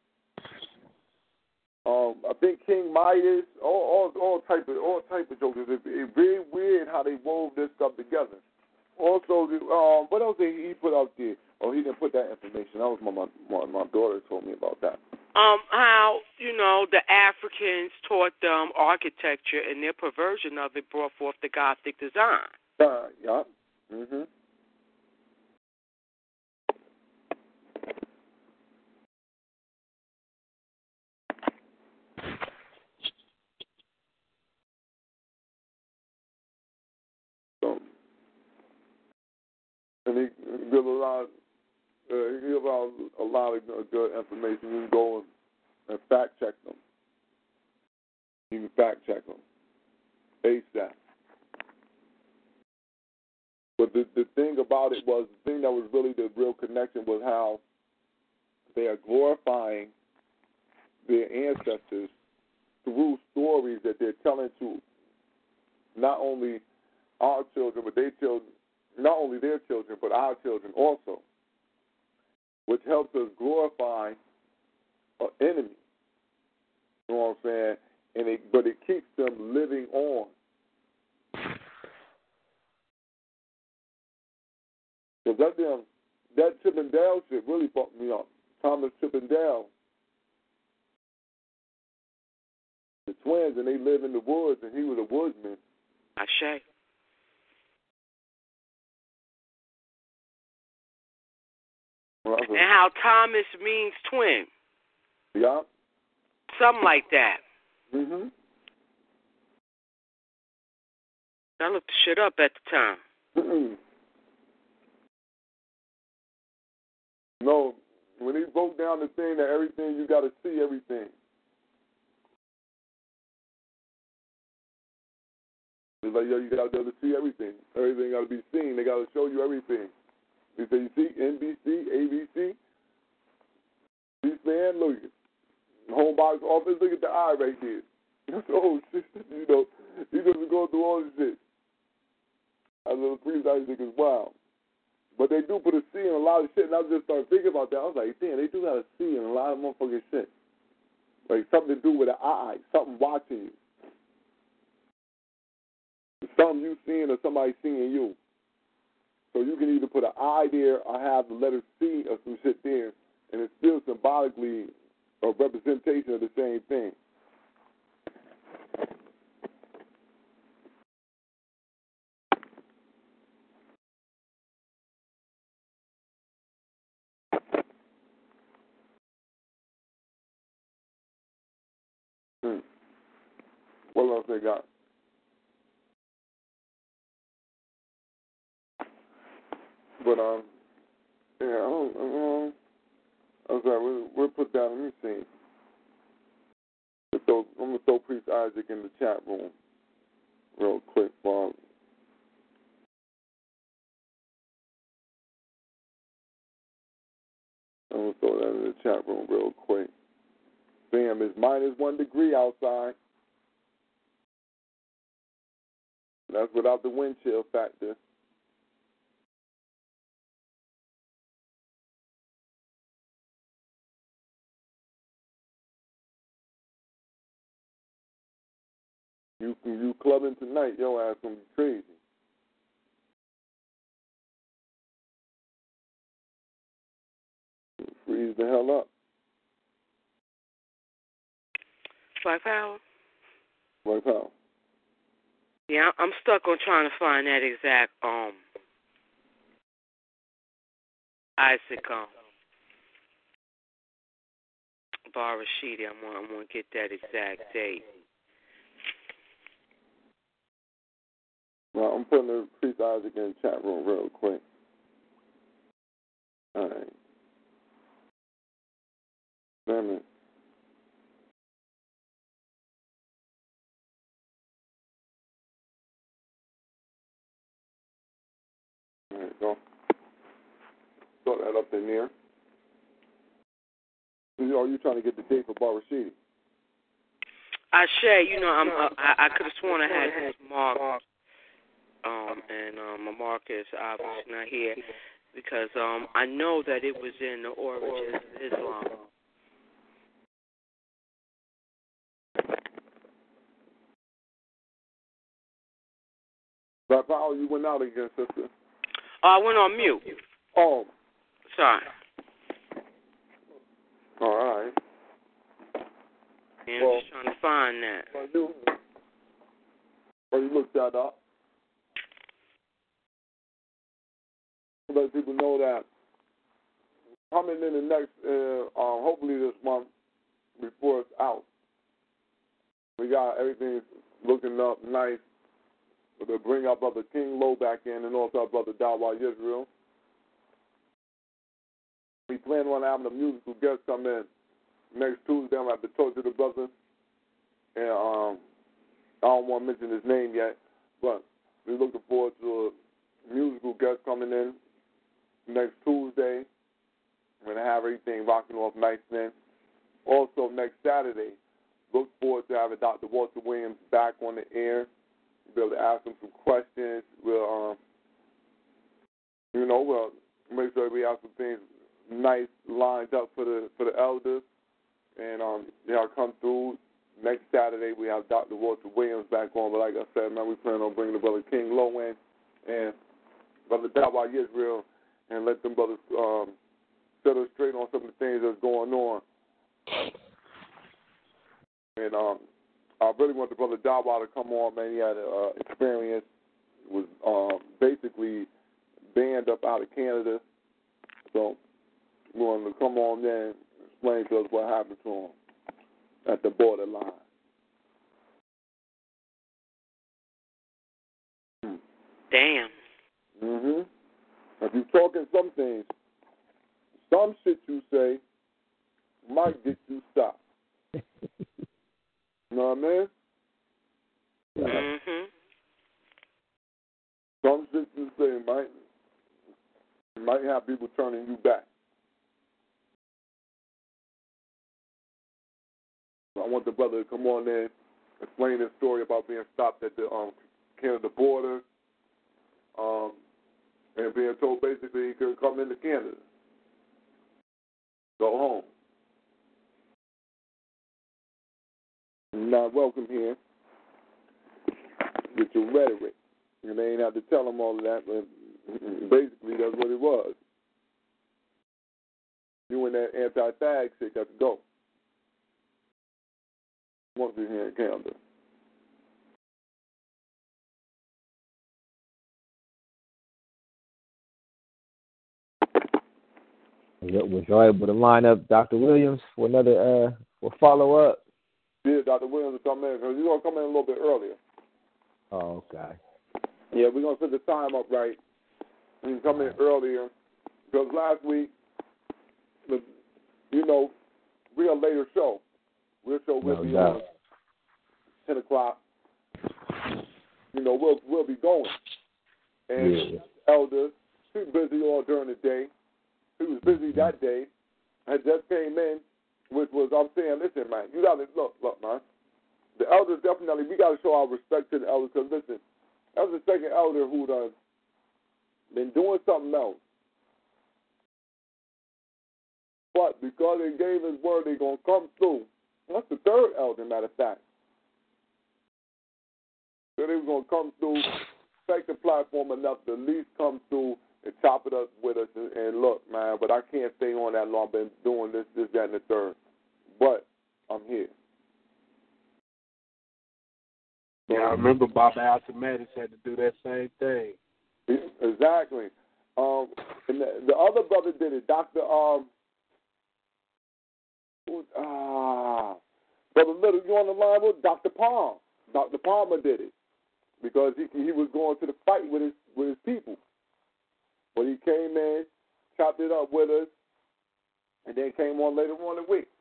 I think King Midas, all type of jokers. It's very weird how they wove this stuff together. Also, what else did he put out there? Oh, he didn't put that information. That was my daughter told me about that. How the Africans taught them architecture, and their perversion of it brought forth the Gothic design. Yeah. And he give a lot of good information. You can go and fact check them. You can fact check them ASAP. But the thing about it was, the thing that was really the real connection was how they are glorifying their ancestors through stories that they're telling to not only our children, but not only their children, but our children also, which helps us glorify an enemy. You know what I'm saying? But it keeps them living on. Because that Chippendale shit really fucked me up. Thomas Chippendale, the twins, and they live in the woods, and he was a woodsman. Ashe. And how Thomas means twin. Yeah. Something like that. I looked the shit up at the time. No, when he broke down the thing that everything, you got to see everything. It's like, yo, you got to be able to see everything. Everything got to be seen. They got to show you everything. You say, you see, NBC, ABC, C-SPAN, look at home box office, look at the eye right there. Oh, shit, you know, he doesn't go through all this shit. I little Priest Isaac is wild. But they do put a C in a lot of shit, and I just started thinking about that. I was like, damn, they do got a C in a lot of motherfucking shit. Like something to do with an eye, something watching you. Something you seeing or somebody seeing you. So you can either put an I there or have the letter C or some shit there, and it's still symbolically a representation of the same thing. What else they got? But yeah, I'm sorry. We'll put down. Let me see. So I'm gonna throw Priest Isaac in the chat room real quick, Bob. I'm gonna throw that in the chat room real quick. Bam, it's -1 degree outside. That's without the wind chill factor. You clubbing tonight, your ass gonna be crazy. Freeze the hell up. Black Power? Black Power. Yeah, I'm stuck on trying to find that exact Isaac Bar Rashidi. I'm gonna get that exact date. Well, I'm putting the Priest Isaac in the chat room real quick. All right. Damn it. All right, go. Throw that up in there. Are you trying to get the date for Bar Rashidi? Shay, I could have sworn I had this marked, and my marker is obviously not here because I know that it was in the Origins of Islam. Black Power, you went out again, sister. Oh, I went on mute. Oh. Sorry. All right. Yeah, I'm just trying to find that. You looked that up. Let people know that coming in the next, hopefully this month before it's out, we got everything looking up nice. We'll bring our brother King Low back in and also our brother Dawa Israel. We plan on having a musical guest come in next Tuesday. I'm going to have to talk to the brother. And I don't want to mention his name yet, but we're looking forward to a musical guest coming in next Tuesday. We're going to have everything rocking off nice then. Also, next Saturday, look forward to having Dr. Walter Williams back on the air. We'll be able to ask him some questions. We'll make sure we have some things nice lined up for the elders. And they'll come through. Next Saturday, we have Dr. Walter Williams back on. But like I said, man, we plan on bringing the brother King Low in and brother Dawa Israel and let them brothers set us straight on some of the things that's going on. And I really want the brother Dawa to come on, man. He had an experience, was basically banned up out of Canada. So we want him to come on there and explain to us what happened to him at the borderline. Damn. Mm-hmm. If you're talking some things, some shit you say might get you stopped. You know what I mean? Mm-hmm. Some systems say it might have people turning you back. So I want the brother to come on there, explain his story about being stopped at the Canada border, and being told basically he could come into Canada, go home. Not welcome here with your rhetoric. And they ain't have to tell him all of that, but basically that's what it was. You and that anti-fag shit got to go. Once you're here in Canada. Was y'all able to line up Dr. Williams for another for follow-up? Yeah, Dr. Williams will come in, because he's going to come in a little bit earlier. Oh, okay. Yeah, we're going to set the time up right. He can come in earlier, because last week, we're a later show. We'll be on 10 o'clock. We'll be going. And Elder, he's busy all during the day. He was busy that day. I just came in, which was, I'm saying, listen, man, you got to, look, man. The elders definitely, we got to show our respect to the elders, because, listen, that was the second elder who done been doing something else. But because they gave his word, they're going to come through. That's the third elder, matter of fact. So they were going to come through, take the platform enough to at least come through and chop it up with us. And look, man, but I can't stay on that long. I've been doing this, that, and the third. But I'm here. Yeah, I remember Baba Alcimatis had to do that same thing. Exactly. And the other brother did it, Dr. Brother Little, you on the line with Dr. Palm. Dr. Palmer did it because he was going to the fight with his people. But he came in, chopped it up with us, and then came on later on in the week.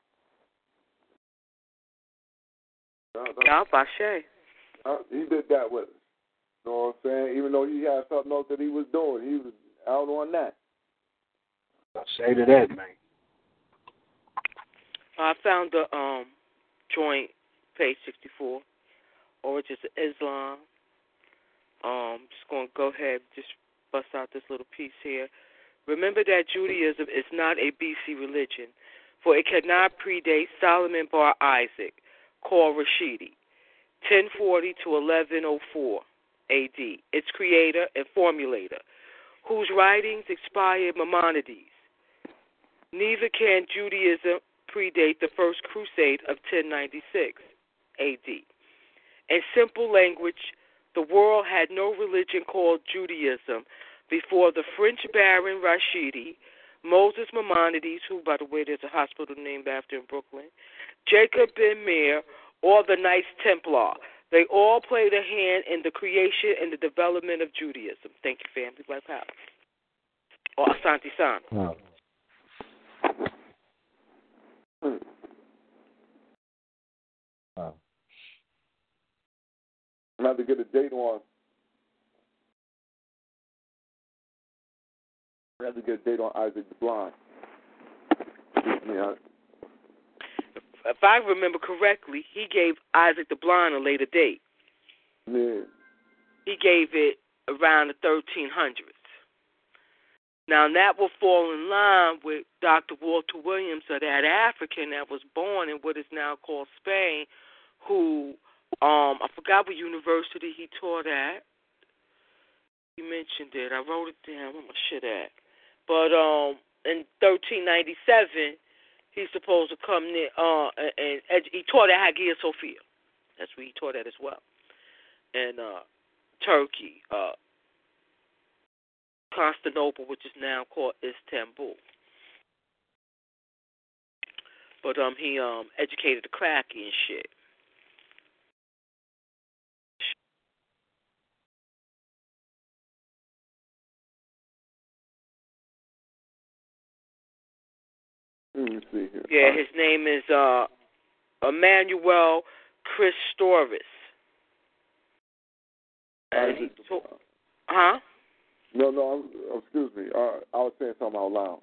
He did that with us. You know what I'm saying? Even though he had something else that he was doing, he was out on that. I'll say to that, man. I found the joint, page 64, Origins of Islam. Just going to go ahead and just bust out this little piece here. Remember that Judaism is not a BC religion, for it cannot predate Solomon bar Isaac, called Rashidi, 1040 to 1104 AD, its creator and formulator, whose writings inspired Maimonides. Neither can Judaism predate the First Crusade of 1096 AD. In simple language, the world had no religion called Judaism before the French Baron Rashidi, Moses Maimonides, who, by the way, there's a hospital named after in Brooklyn, Jacob Ben Meir, or the Knights Templar. They all played a hand in the creation and the development of Judaism. Thank you, family. Black Power. Or Asante San. Wow. Wow. I'm going to have to get a date on. I have to get a date on Isaac the Blind. Yeah. If I remember correctly, he gave Isaac the Blind a later date. Yeah. He gave it around the 1300s. Now, that will fall in line with Dr. Walter Williams, or that African that was born in what is now called Spain, who, I forgot what university he taught at. He mentioned it. I wrote it down. Where my shit at? But in 1397, he's supposed to come near, and he taught at Hagia Sophia. That's where he taught at as well. And Turkey, Constantinople, which is now called Istanbul. But he educated the cracky and shit. Let me see here. Yeah, his name is Emmanuel Christoris. And Huh? No, excuse me. I was saying something out loud.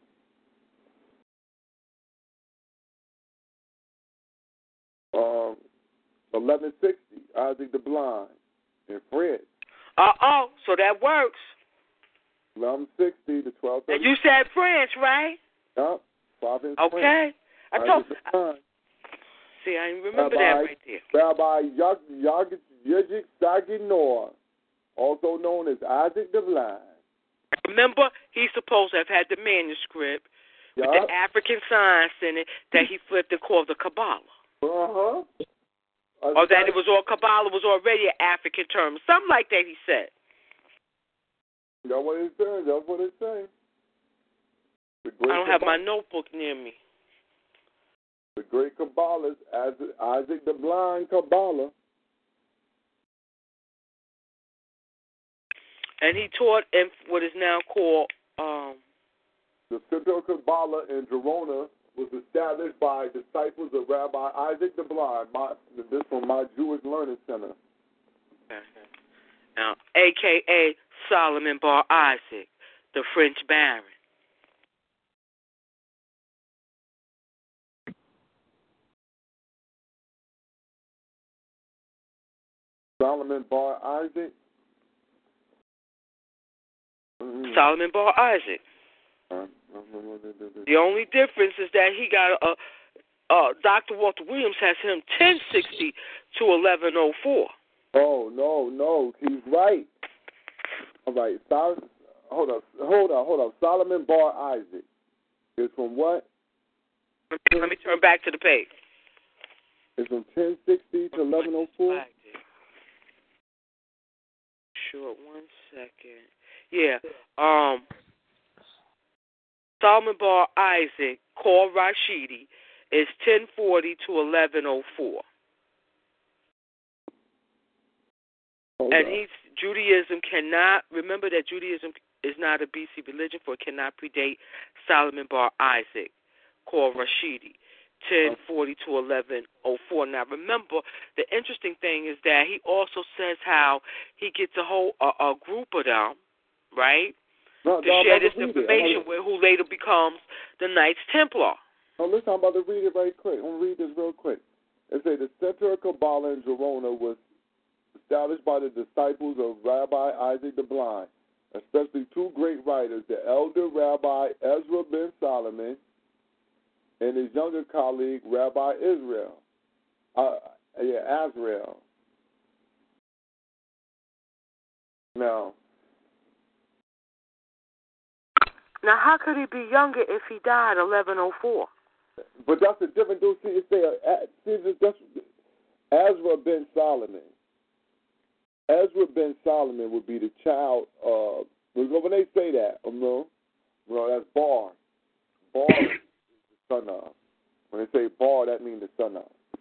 Um, 1160, Isaac the Blind in French. So that works. 1160 to 1230. And you said French, right? Yep, 5 in Okay. French. I told. See, I remember that right there. Rabbi Yajik Saginor, also known as Isaac the Blind. Remember, he's supposed to have had the manuscript with the African signs in it that he flipped and called the Kabbalah. Uh-huh. Or that it was all Kabbalah was already an African term. Something like that he said. That's what it says. That's what it says. I don't have my notebook near me. The great Kabbalist, Isaac the Blind Kabbalah. And he taught in what is now called... The Center of Kabbalah in Gerona was established by disciples of Rabbi Isaac the Blind. This from my Jewish Learning Center. Now, a.k.a. Solomon Bar Isaac, the French Baron. Solomon Bar Isaac? Solomon Bar Isaac. The only difference is that he got Dr. Walter Williams has him 1060 to 1104. Oh, no, he's right. All right, hold up. Solomon Bar Isaac is from what? Let me turn back to the page. It's from 1060 to 1104? Sure, 1 second. Yeah, Solomon Bar Isaac, called Rashidi, is 1040 to 1104. And Judaism cannot, remember that Judaism is not a BC religion, for it cannot predate Solomon Bar Isaac, called Rashidi, 1040 to 1104. Now remember, the interesting thing is that he also says how he gets a group of them, right? To share this information with who later becomes the Knights Templar. Oh, listen, I'm about to read it right quick. I'm going to read this real quick. It says the Center of Kabbalah in Gerona was established by the disciples of Rabbi Isaac the Blind, especially two great writers, the elder Rabbi Ezra ben Solomon and his younger colleague, Rabbi Azrael. Now, how could he be younger if he died 1104? But that's a different dude. That's Ezra ben Solomon. Ezra ben Solomon would be the child of, when they say that, that's Bar. Bar is the son of. When they say Bar, that means the son of.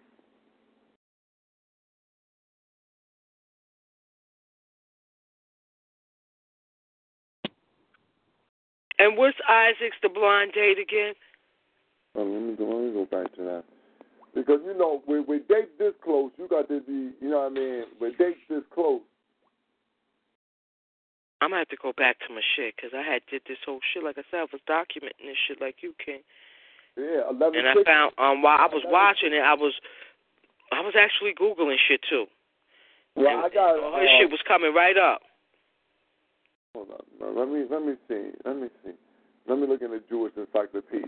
And what's Isaac's the blind date again? Let me go back to that. Because, with dates this close, you got to be, with dates this close. I'm going to have to go back to my shit, because I did this whole shit. Like I said, I was documenting this shit like you can. Yeah, 11. And I found, while I was watching it, I was actually Googling shit, too. Well, I got... all this shit was coming right up. Hold on. Let me see. Let me look in the Jewish Encyclopedia.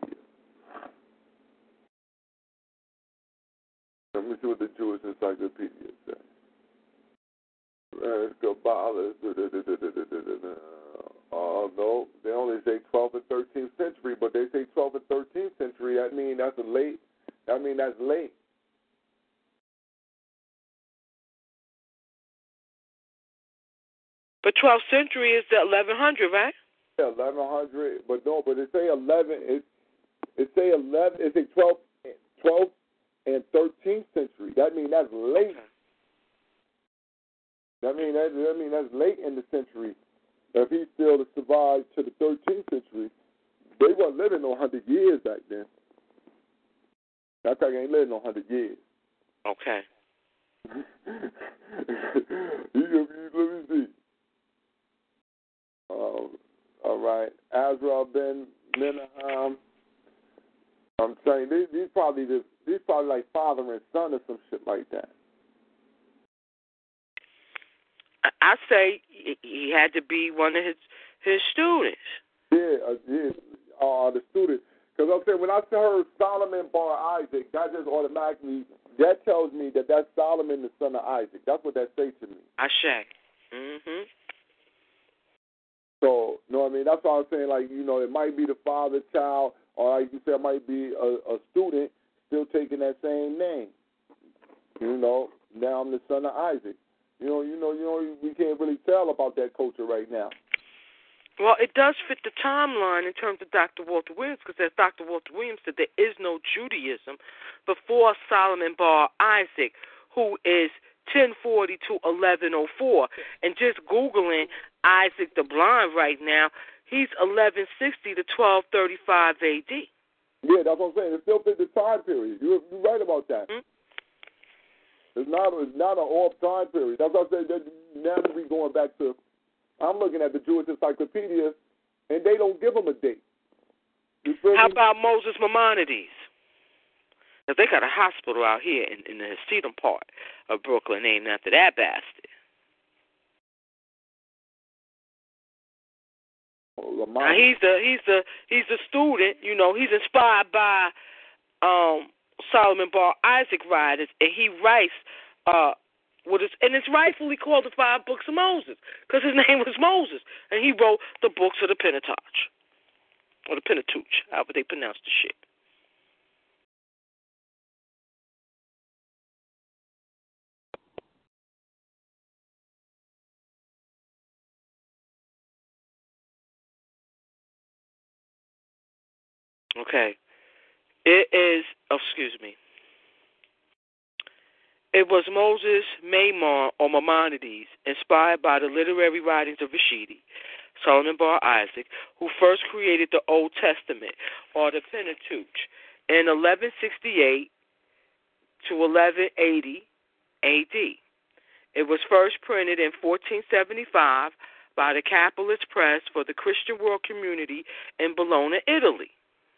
Let me see what the Jewish Encyclopedia says. Kabbalah. No, they only say 12th and 13th century, but they say 12th and 13th century. That means that's late. But 12th century is the 1100, right? Yeah, 1100. But it say 11. It say 11. It say 12th and 13th century. That means that's late. Okay. That means that's late in the century. If he still survived to the 13th century, they weren't living no 100 years back then. That guy ain't living no 100 years. Okay. Let me see. All right. Azrael ben Menahem. I'm saying these probably like father and son or some shit like that. I say he had to be one of his students. Yeah, the student. Because I'm saying when I heard Solomon bar Isaac, that just automatically tells me that that's Solomon, the son of Isaac. That's what that says to me. Ashe. Mhm. So, you know what I mean? That's why I'm saying, like, it might be the father, child, or like you said, it might be a student still taking that same name. Now I'm the son of Isaac. We can't really tell about that culture right now. Well, it does fit the timeline in terms of Dr. Walter Williams, because as Dr. Walter Williams said, there is no Judaism before Solomon bar Isaac, who is 1040 to 1104. And just Googling Isaac the Blind right now, he's 1160 to 1235 AD. Yeah, that's what I'm saying. It still fits the time period. You're right about that. Mm-hmm. It's not an off time period. That's what I said. Now that we're going back to, I'm looking at the Jewish Encyclopedia, and they don't give them a date. How about Moses Maimonides? Now, they got a hospital out here in the Hasidim part of Brooklyn named after that bastard. Now, he's the student. He's inspired by Solomon bar Isaac writers, and he writes and it's rightfully called the 5 Books of Moses because his name was Moses, and he wrote the books of the Pentateuch, or the Pentateuch, however they pronounce the shit. Okay. It was Moses Maimon or Maimonides, inspired by the literary writings of Rashidi, Solomon bar Isaac, who first created the Old Testament, or the Pentateuch, in 1168 to 1180 AD. It was first printed in 1475 by the Capitalist Press for the Christian World Community in Bologna, Italy.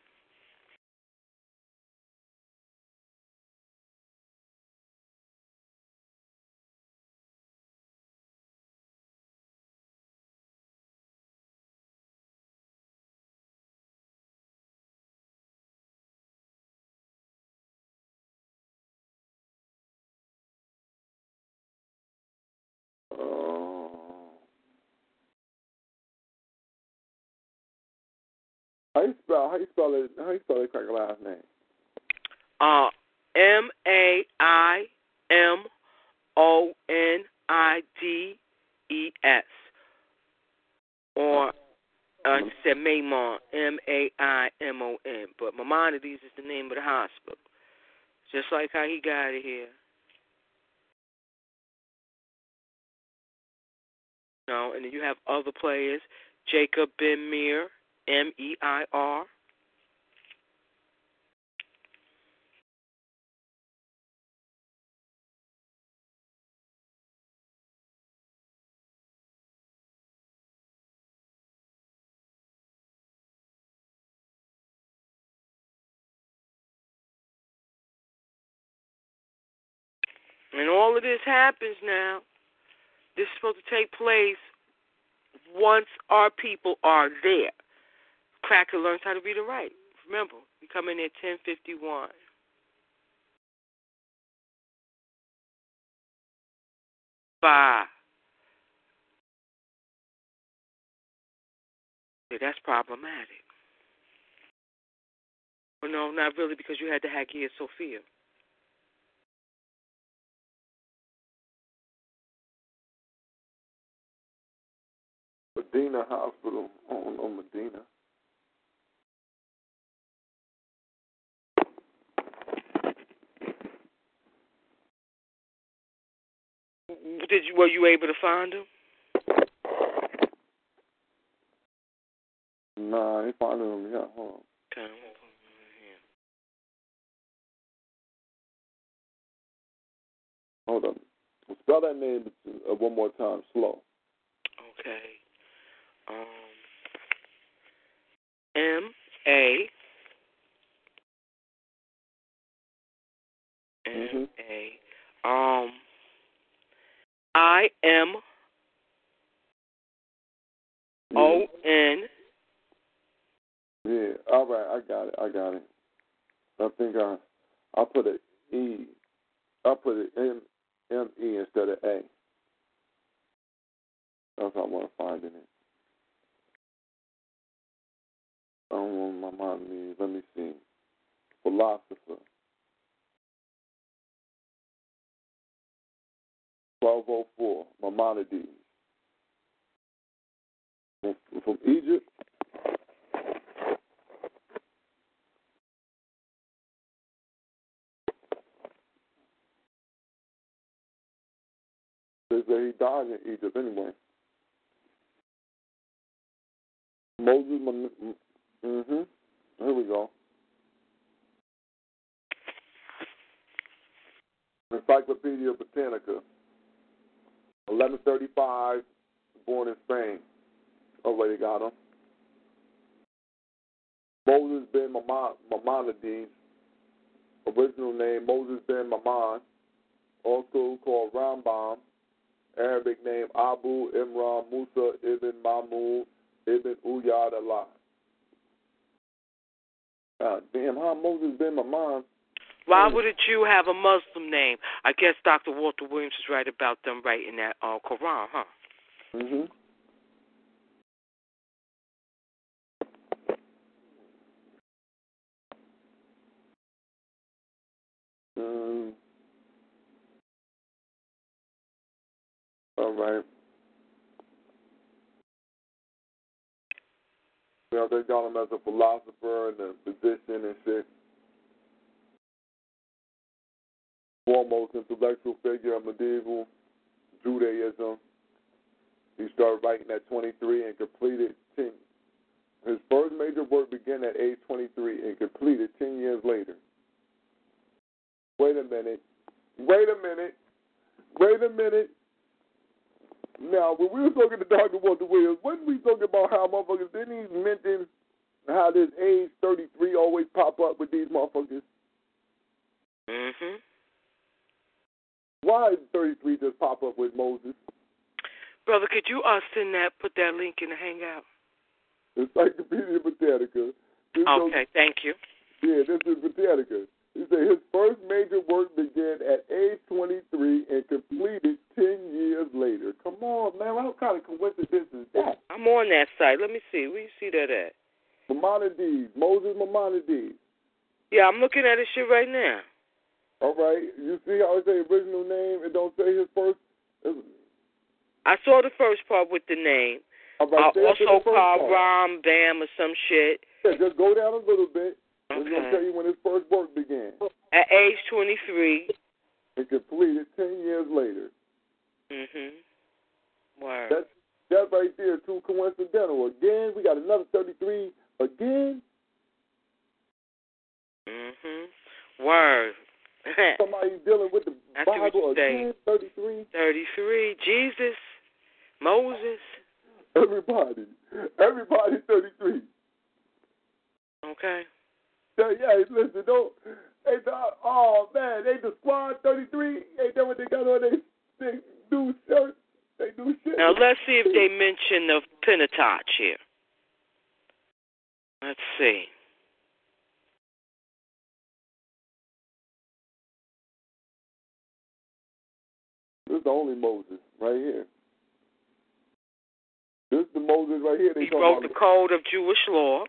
How you spell it? How you spell that cracker last name? Maimonides, or you said Maimon, Maimon, but Maimonides is the name of the hospital, just like how he got it here. And then you have other players, Jacob Ben Meir, Meir. And all of this happens now. This is supposed to take place once our people are there. Cracker learns how to read and write. Remember, we come in at 10:51. Bye. Yeah, that's problematic. Well, no, not really, because you had the Hagia Sophia. Medina Hospital on Medina. Were you able to find him? Nah, I ain't finding him yet. Hold on. Okay. Hold on. Spell that name one more time, slow. Okay. M-A. Mm-hmm. M-A. I-M-O-N. Yeah. All right. I got it. I think I put an E. I put an M-E instead of A. That's what I want to find in it. I don't know what my mind means. Let me see. Philosopher. 1204. Maimonides. From Egypt. They say he died in Egypt anyway. Moses. Mm-hmm. Here we go. Encyclopedia Britannica. 1135. Born in Spain. Already got him. Moses ben Maimonides. Original name Moses ben Maimon. Also called Rambam. Arabic name Abu Imran Musa ibn Mahmud ibn Uyyad Allah. Damn, how Moses ben Maimon? Why would a Jew have a Muslim name? I guess Dr. Walter Williams is right about them writing that Quran, huh? Mm-hmm. All right. You know, they got him as a philosopher and a physician and shit. Foremost intellectual figure of medieval Judaism. He started writing at 23 and completed 10. His first major work began at age 23 and completed 10 years later. Wait a minute. Now, when we were talking to Dr. Walter Williams, wasn't we talking about how motherfuckers didn't even mention how this age 33 always pop up with these motherfuckers? Mm-hmm. Why did 33 just pop up with Moses? Brother, could you put that link in the Hangout? Encyclopedia Britannica. Okay, thank you. Yeah, this is Britannica. He said his first major work began at age 23 and completed 10 years later. Come on, man. What kind of coincidence is that? I'm on that site. Let me see. Where you see that at? Maimonides. Moses Maimonides. Yeah, I'm looking at his shit right now. All right. You see how it say original name? It don't say his first. I saw the first part with the name. All right, also called Ram Bam or some shit. Yeah, just go down a little bit. Okay. It's going to tell you when his first work began. At age 23. And completed 10 years later. Mm-hmm. Word. That right there, too coincidental. Again, we got another 33 again. Mm-hmm. Word. Somebody dealing with the That's Bible again, 33. 33. Jesus. Moses. Everybody 33. Okay. Yeah, listen, don't. Oh, man, they the squad 33. Ain't that what they got on they do shirts? They do shit. Now, let's see if they mention the Pentateuch here. Let's see. This is the only Moses right here. This is the Moses right here. He wrote the Code of Jewish Law.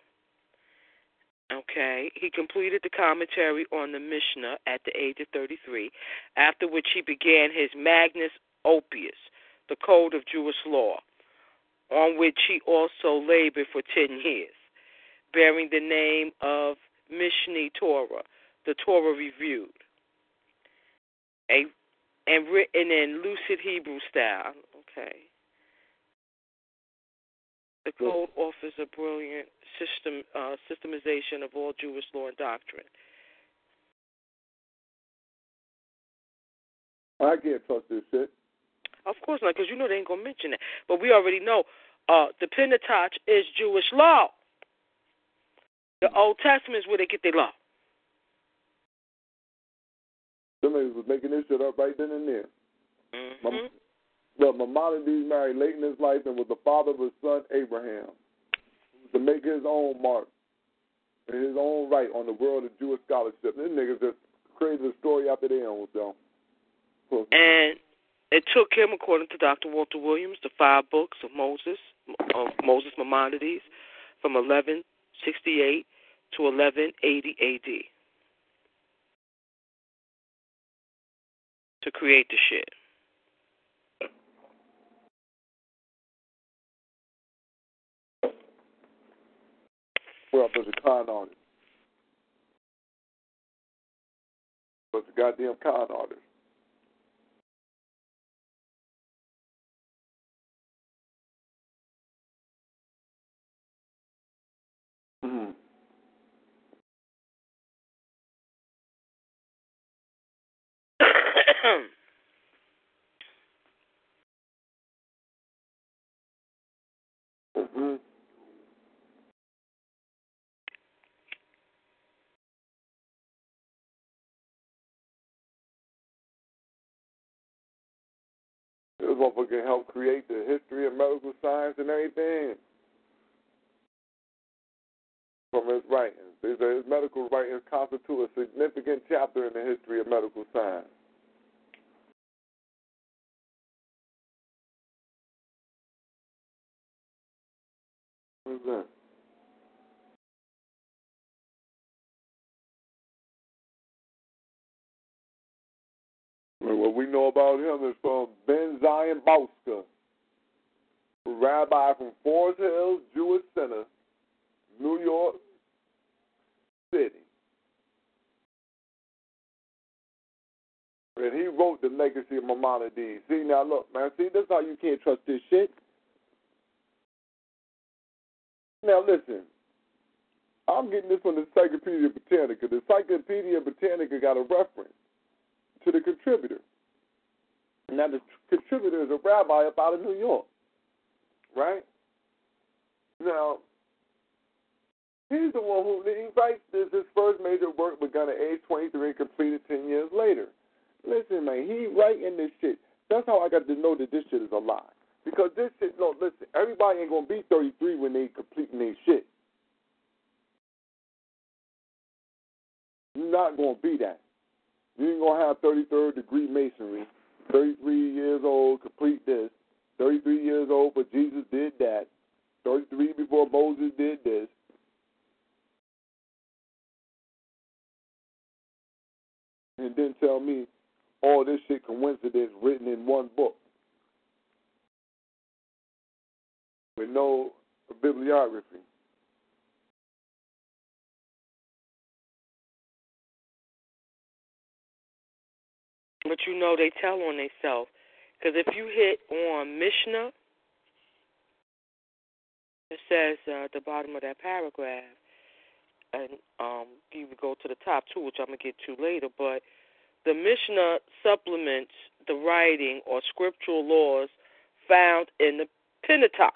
Okay. He completed the commentary on the Mishnah at the age of 33, after which he began his Magnus Opus, the Code of Jewish Law, on which he also labored for 10 years, bearing the name of Mishneh Torah, the Torah Reviewed, and written in lucid Hebrew style. Okay. The code offers a brilliant systemization of all Jewish law and doctrine. I can't trust this shit. Of course not, because you know they ain't going to mention that. But we already know the Pentateuch is Jewish law. The Old Testament is where they get their law. Somebody was making this shit up right then and there. Mm-hmm. But Maimonides married late in his life and was the father of his son Abraham, to make his own mark in his own right on the world of Jewish scholarship. These niggas just created a story after their own self. And it took him, according to Dr. Walter Williams, the 5 books of Moses Maimonides, from 1168 to 1180 A.D. to create the shit. Well, there's a con artist. But the goddamn con artist. Mm-hmm. Mm-hmm. This motherfucker helped create the history of medical science and everything from his writings. His medical writings constitute a significant chapter in the history of medical science. What is that? What we know about him is from Ben Zion Bauska, rabbi from Forest Hills Jewish Center, New York City. And he wrote The Legacy of Maimonides. See, now look, man, see, this is how you can't trust this shit. Now listen, I'm getting this from the Encyclopedia Britannica. The Encyclopedia Britannica got a reference to the contributor. Now the contributor is a rabbi up out of New York, right? Now, he's the one who he writes this. His first major work begun at age 23 and completed 10 years later. Listen, man, he writing this shit. That's how I got to know that this shit is a lie. Because this shit, no, listen, everybody ain't going to be 33 when they completing their shit. You're not going to be that. You ain't going to have 33rd degree masonry, 33 years old, complete this, 33 years old, but Jesus did that, 33 before Moses did this. And then tell me all this shit coincidence written in one book with no bibliography. But you know they tell on themselves. Because if you hit on Mishnah, it says at the bottom of that paragraph, and you would go to the top too, which I'm going to get to later, but the Mishnah supplements the writing or scriptural laws found in the Pentateuch.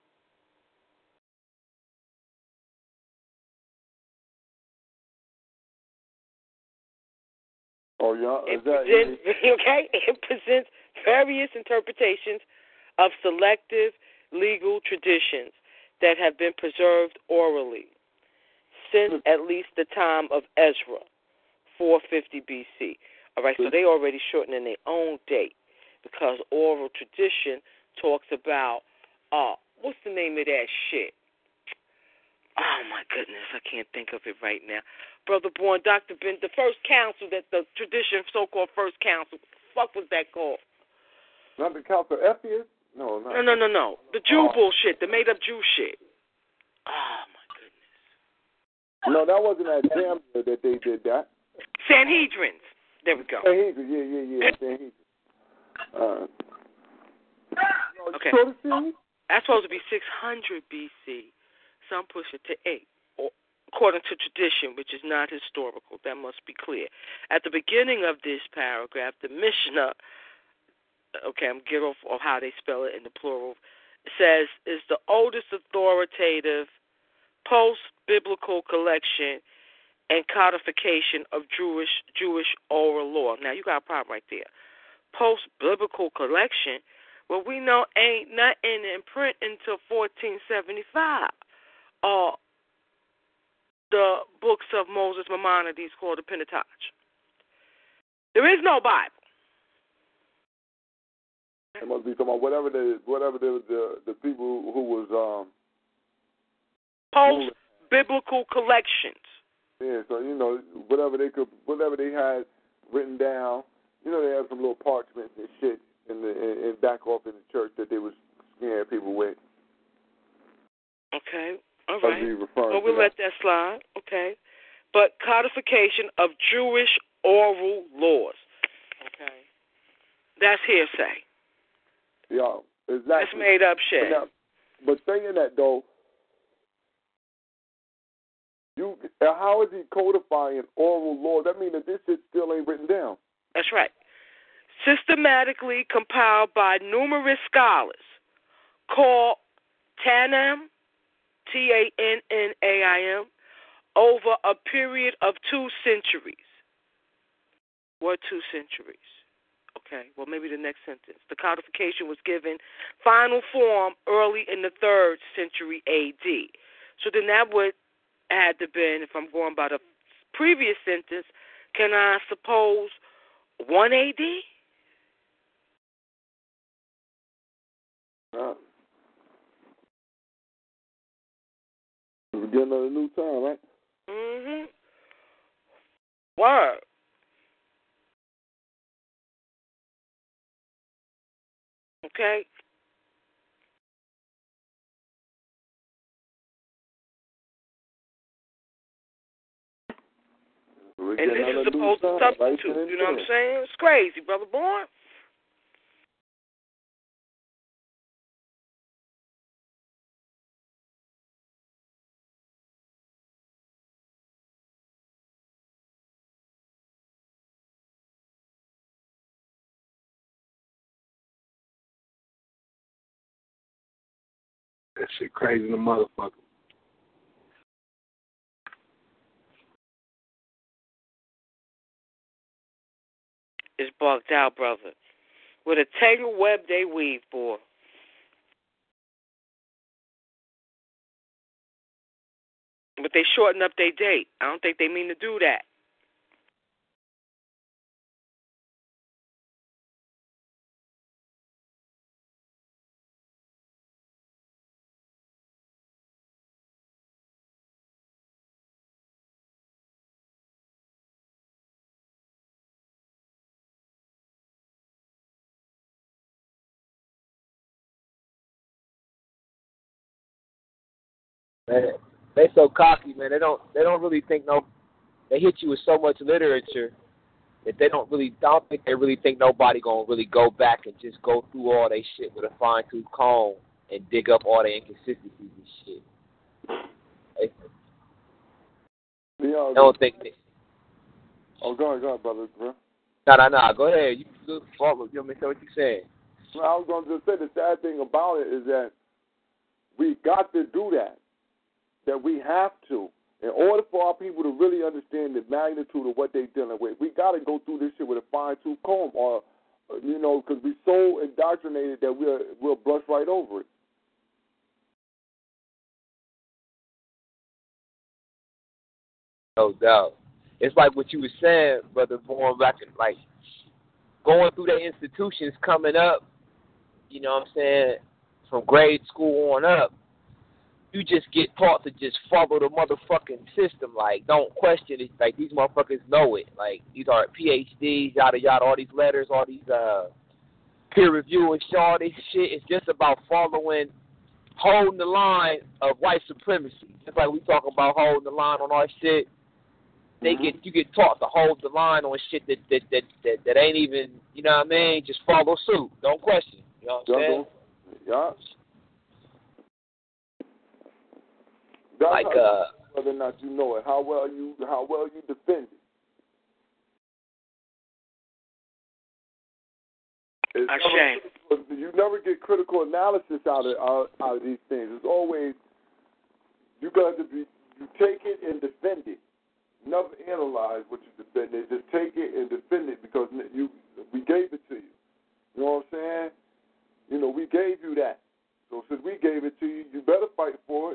Oh, yeah? It presents various interpretations of selective legal traditions that have been preserved orally since at least the time of Ezra, 450 B.C. All right, so they already shortening their own date because oral tradition talks about, what's the name of that shit? Oh, my goodness, I can't think of it right now. Brother Born, Dr. Ben, the first council, that the tradition, so-called first council, what the fuck was that called? Not the Council of Ephesus? No. The Jew bullshit, the made-up Jew shit. Oh, my goodness. No, that wasn't at Zambia that they did that. Sanhedrins. There we go. Sanhedrin, yeah. Sanhedrin. Okay. That's supposed to be 600 B.C. Some push it to 8, according to tradition, which is not historical. That must be clear. At the beginning of this paragraph, the Mishnah, okay, I'm getting off of how they spell it in the plural. says is the oldest authoritative post-biblical collection and codification of Jewish oral law. Now you got a problem right there. Post-biblical collection, well, we know ain't nothing in print until 1475. The books of Moses Maimonides called the Pentateuch. There is no Bible. It must be talking about whatever the people who was post-biblical collections. Yeah, so whatever they had written down, they had some little parchments and shit in back off in the church that they was scaring people with. Okay, all right. Well, we'll let that slide. Okay, but codification of Jewish oral laws. Okay, that's hearsay. Yeah, exactly. That's made up shit. But saying that though, how is he codifying oral law? That means that this shit still ain't written down. That's right. Systematically compiled by numerous scholars called Tannaim, Tannaim, over a period of 2 centuries. What 2 centuries? Okay, well, maybe the next sentence. The codification was given final form early in the 3rd century A.D. So then that would had to been, if I'm going by the previous sentence, can I suppose 1 A.D.? We're getting on a new time, right? Mm-hmm. Word. Okay. And this is supposed to substitute. You know what I'm saying? It's crazy, brother boy. That shit crazy, the motherfucker. It's bugged out, brother. With a tangled web they weave, boy. But they shorten up their date. I don't think they mean to do that. Man, they so cocky, man. They don't really think they hit you with so much literature that I don't think they really think nobody gonna really go back and just go through all they shit with a fine tooth comb and dig up all the inconsistencies and shit. I don't think they. Oh, go ahead, brother. Bro. No. Go ahead. You want me to say what you saying? Well, I was going to just say the sad thing about it is that we got to do that. That we have to. In order for our people to really understand the magnitude of what they're dealing with, we got to go through this shit with a fine-tooth comb, or because we're so indoctrinated that we'll brush right over it. No doubt. It's like what you were saying, brother, going back and like going through the institutions coming up, you know what I'm saying, from grade school on up, you just get taught to just follow the motherfucking system. Like, don't question it. Like, these motherfuckers know it. Like, these are PhDs, yada, yada, all these letters, all these peer review and all this shit. It's just about holding the line of white supremacy. Just like we talk about holding the line on our shit. You get taught to hold the line on shit that ain't even, you know what I mean? Just follow suit. Don't question. You know what I'm saying? Yeah. Like whether or not you know it, how well you defend it. You never get critical analysis out of these things. It's always you got to be. You take it and defend it. Never analyze what you defend it. Just take it and defend it because we gave it to you. You know what I'm saying? You know, we gave you that. So since we gave it to you, you better fight for it.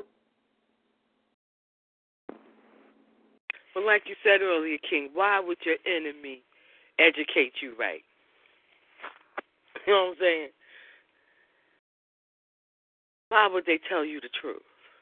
Well, like you said earlier, King, why would your enemy educate you right? You know what I'm saying? Why would they tell you the truth?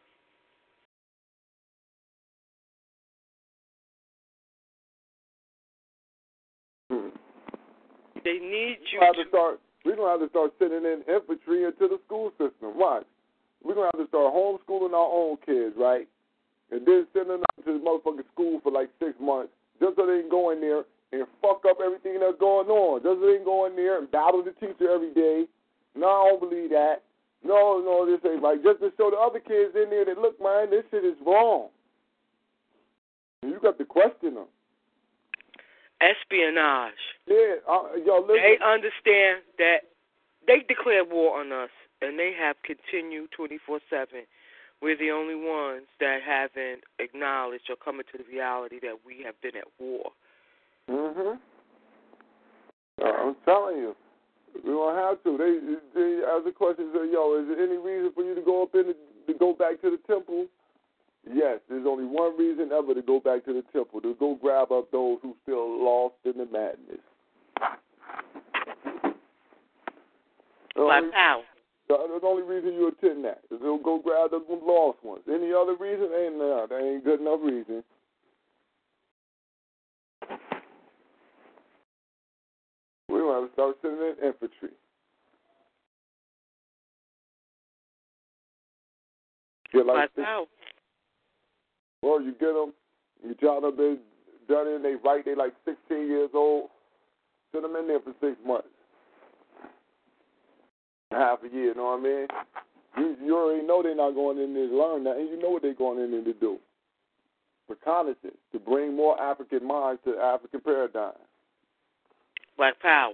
They need you we're going to have to start sending in infantry into the school system. Why? We're going to have to start homeschooling our own kids, right? And then sending them to the motherfucking school for like 6 months just so they can go in there and fuck up everything that's going on. Just so they can go in there and battle the teacher every day. No, I don't believe that. No, this ain't right. Just to show the other kids in there that, look, man, this shit is wrong. And you got to question them. Espionage. Yeah, listen. They understand that they declared war on us, and they have continued 24/7. We're the only ones that haven't acknowledged or come into the reality that we have been at war. I'm telling you, we don't have to. They ask the question, say, is there any reason for you to go go back to the temple? Yes, there's only one reason ever to go back to the temple, to go grab up those who still lost in the madness. Black power. That's the only reason you attend that, is to go grab the lost ones. Any other reason? That ain't good enough reason. We're going to have to start sending in infantry. Black power. Well, you get them, you tell them they've done it, they like 16 years old, send them in there for 6 months. Half a year, you know what I mean? You already know they're not going in there to learn that, and you know what they're going in there to do. Reconnaissance, to bring more African minds to African paradigm. Black power.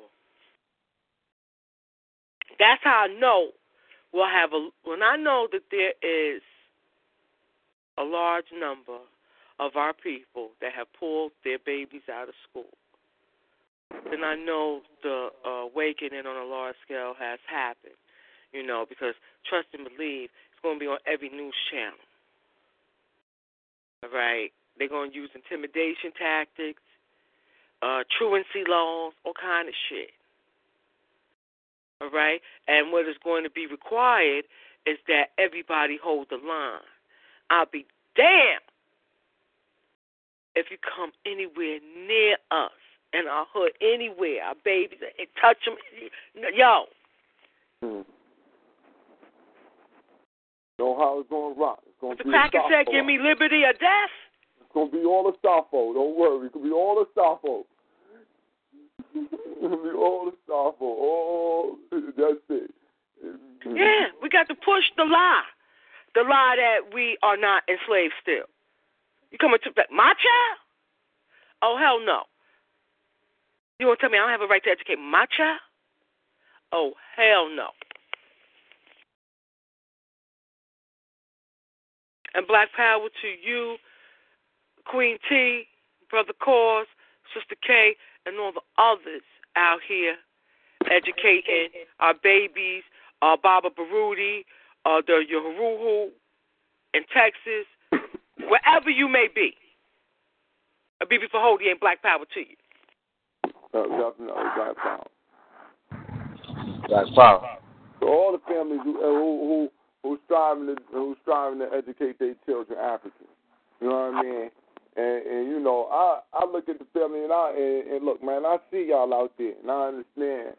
That's how I know when I know that there is a large number of our people that have pulled their babies out of school, then I know the awakening on a large scale has happened, because trust and believe, it's going to be on every news channel. All right? They're going to use intimidation tactics, truancy laws, all kind of shit. All right? And what is going to be required is that everybody hold the line. I'll be damned if you come anywhere near us in our hood, anywhere, our babies, and touch them. Yo. Know how it's going to rock. It's going to be the cracker said, give me liberty or death. It's going to be all the Staffo. Don't worry. It's going to be all the Staffo. It's going to be all the Staffo. Oh, that's it. Yeah, we got to push the lie. The lie that we are not enslaved still. You coming to my child? Oh, hell no. You want to tell me I don't have a right to educate my child? Oh, hell no. And black power to you, Queen T, Brother Cause, Sister K, and all the others out here educating our babies, Baba Baruti, the Yoruhu in Texas, wherever you may be. A BB for Hody and black power to you. Definitely black power. Black power. So all the families who's striving to educate their children African. You know what I mean? And you know, I look at the family and look, man, I see y'all out there, and I understand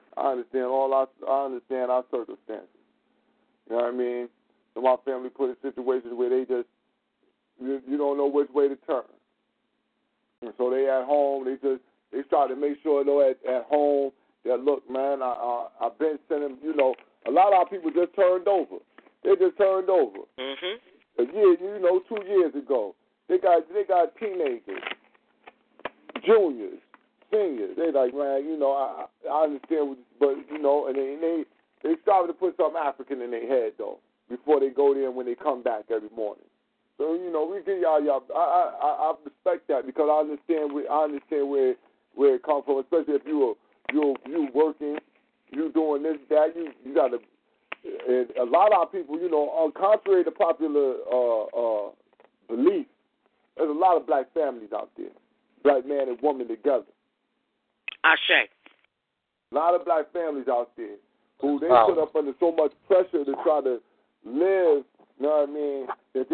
our circumstances. You know what I mean? So my family put in situations where they just you don't know which way to turn. And so they at home, they try to make sure at home that look, man, I've been sending, you know, a lot of our people just turned over. They just turned over. Mm-hmm. A year, 2 years ago. They got teenagers, juniors, seniors. They like, man, I understand, but and they started to put something African in their head though before they go there and when they come back every morning. So we give y'all. I respect that because I understand where it comes from, especially if you working, you doing this, that. You got to. And a lot of people, contrary to popular belief, there's a lot of black families out there, black man and woman together. Ashe. A lot of black families out there who they put up under so much pressure to try to live. You know what I mean? That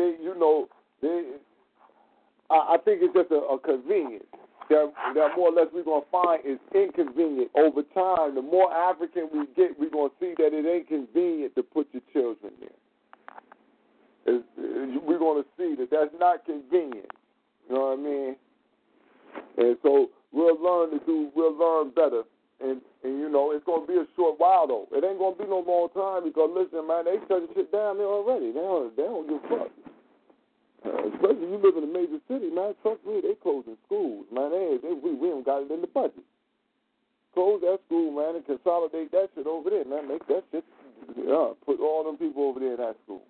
I think it's just a convenience. That more or less we're going to find is inconvenient. Over time, the more African we get, we're going to see that it ain't convenient to put your children there. We're going to see that that's not convenient. You know what I mean? And so we'll learn better. And it's going to be a short while, though. It ain't going to be no long time because, listen, man, they shutting shit down there already. They don't give a fuck. Especially you live in a major city, man. Trust me, they closing schools, man. We haven't got it in the budget. Close that school, man, and consolidate that shit over there, man. Make that shit, put all them people over there in that school.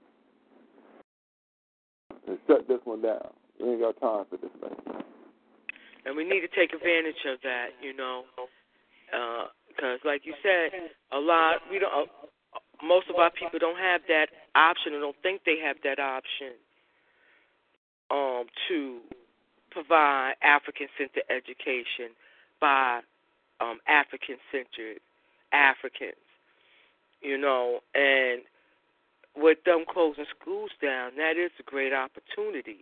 And shut this one down. We ain't got time for this thing. And we need to take advantage of that, because like you said, most of our people don't have that option or don't think they have that option. To provide African-centered education by African-centered Africans, and with them closing schools down, that is a great opportunity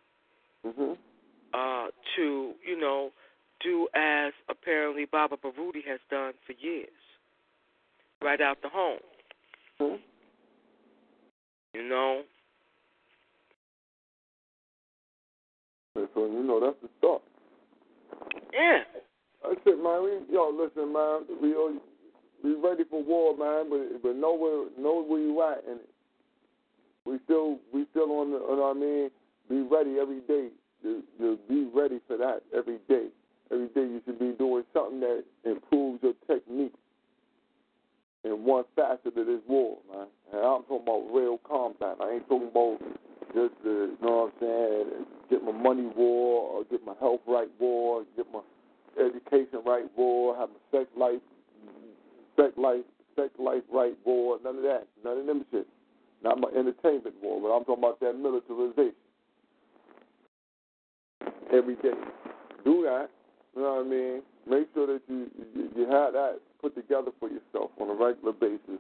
to, do as apparently Baba Baruti has done for years, right out the home. So, that's the start. Yeah. That's it, man. Listen, man. We ready for war, man, but know where you at, and we still on the, you know what I mean? Be ready every day. To be ready for that every day. Every day you should be doing something that improves your technique in one facet of this war, man. And I'm talking about real combat. I ain't talking about just you know what I'm saying, get my money war, or get my health right war, get my education right war, have my sex life right war, none of that. None of them shit. Not my entertainment war, but I'm talking about that militarization. Every day. Do that, you know what I mean? Make sure that you have that put together for yourself on a regular basis.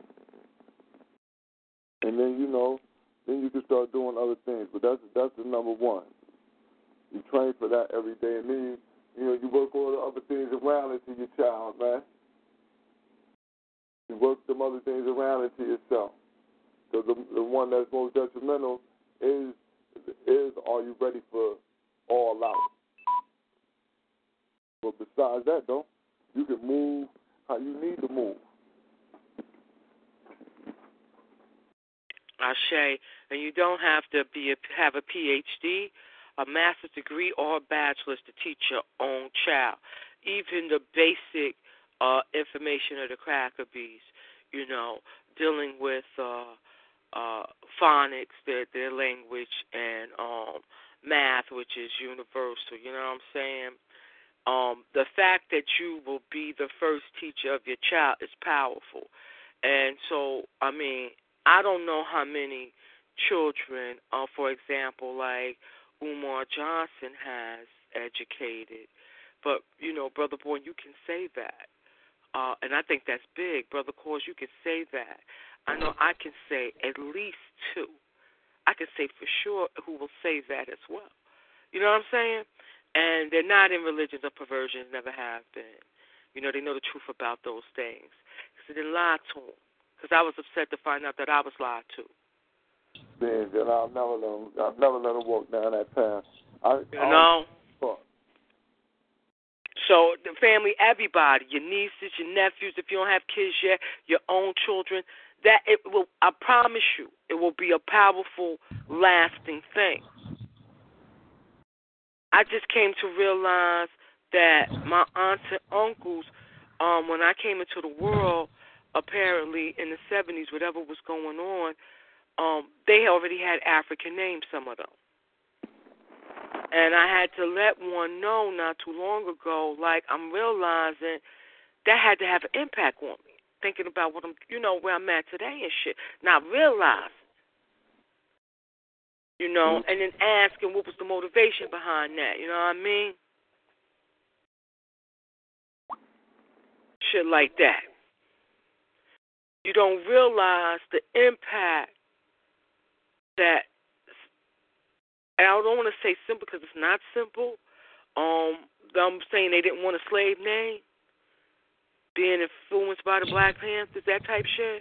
And then, then you can start doing other things. But that's the number one. You train for that every day. And then, you work all the other things around into your child, man. You work some other things around into yourself. Because the one that's most detrimental is are you ready for all out? But besides that, though, you can move how you need to move. Ashe, and you don't have to have a PhD, a master's degree, or a bachelor's to teach your own child. Even the basic information of the Crackerbees, dealing with phonics, their language, and math, which is universal. You know what I'm saying? The fact that you will be the first teacher of your child is powerful. And so, I don't know how many children, for example, like Umar Johnson has educated. But, Brother Bourne, you can say that. And I think that's big. Brother Cause, you can say that. I know I can say at least two. I can say for sure who will say that as well. You know what I'm saying? And they're not in religions or perversions, never have been. They know the truth about those things. Because they didn't lie to them. Because I was upset to find out that I was lied to. Man, I'll never let them walk down that path. So the family, everybody, your nieces, your nephews, if you don't have kids yet, your own children, that it will. I promise you, it will be a powerful, lasting thing. I just came to realize that my aunts and uncles, when I came into the world, apparently in the 70s, whatever was going on, they already had African names, some of them. And I had to let one know not too long ago, like I'm realizing that had to have an impact on me. Thinking about what I'm, where I'm at today and shit. Not realizing, and then asking what was the motivation behind that. You know what I mean? Shit like that. You don't realize the impact that, and I don't want to say simple because it's not simple. I'm saying they didn't want a slave name, being influenced by the Black Panthers, that type shit.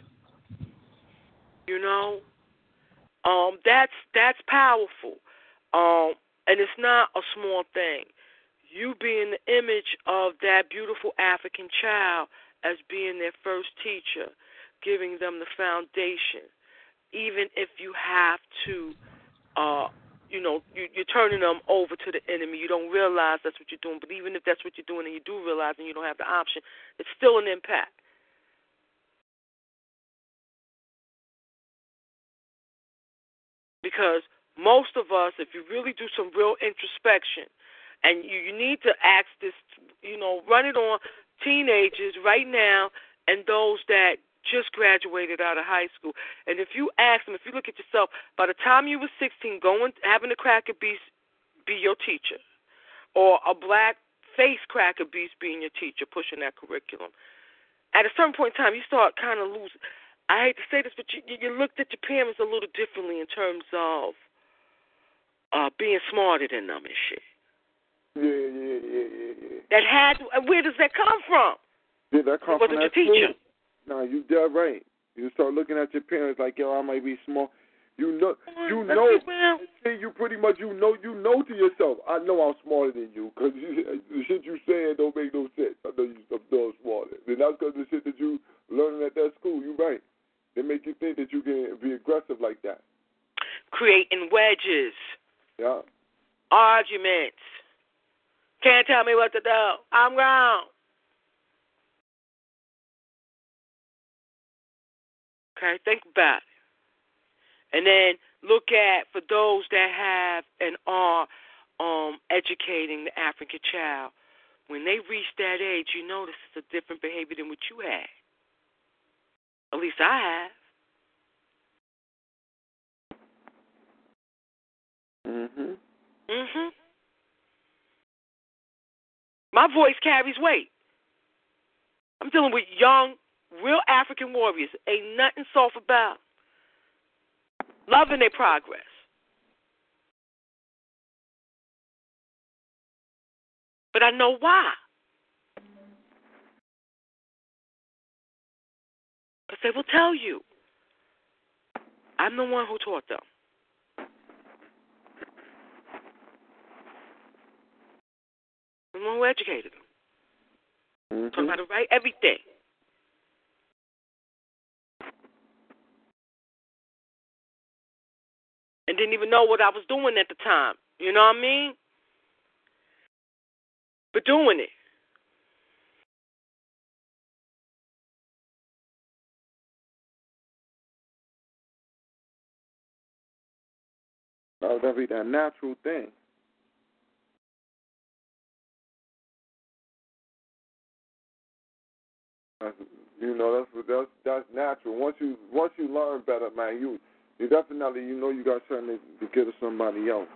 That's powerful. And it's not a small thing. You being the image of that beautiful African child as being their first teacher, giving them the foundation, even if you have to, you're turning them over to the enemy. You don't realize that's what you're doing, but even if that's what you're doing and you do realize and you don't have the option, it's still an impact. Because most of us, if you really do some real introspection, and you need to ask this, run it on teenagers right now and those that just graduated out of high school. And if you ask them, if you look at yourself, by the time you were 16, having a cracker be your teacher, or a black face cracker beast being your teacher, pushing that curriculum, at a certain point in time, you start kind of losing. I hate to say this, but you looked at your parents a little differently in terms of being smarter than them and shit. Yeah. Where does that come from? Yeah, that comes from your teacher. No, you dead right. You start looking at your parents like, yo, I might be small. You know. You pretty much, you know to yourself, I know I'm smarter than you, because the shit you saying don't make no sense. I know you're smarter. And that's because the shit that you learning at that school, you right. They make you think that you can be aggressive like that. Creating wedges. Yeah. Arguments. Can't tell me what to do. I'm wrong. Okay, think about it. And then look at, for those that have and are educating the African child, when they reach that age, you notice it's a different behavior than what you had. At least I have. Mhm. My voice carries weight. I'm dealing with young, real African warriors. Ain't nothing soft about. Loving their progress. But I know why. Because they will tell you. I'm the one who taught them. I'm the one who educated them. Taught them how to write everything. And didn't even know what I was doing at the time. You know what I mean? But doing it. That'd be that natural thing. That's natural. Once you learn better, man, you definitely you got something to give to somebody else.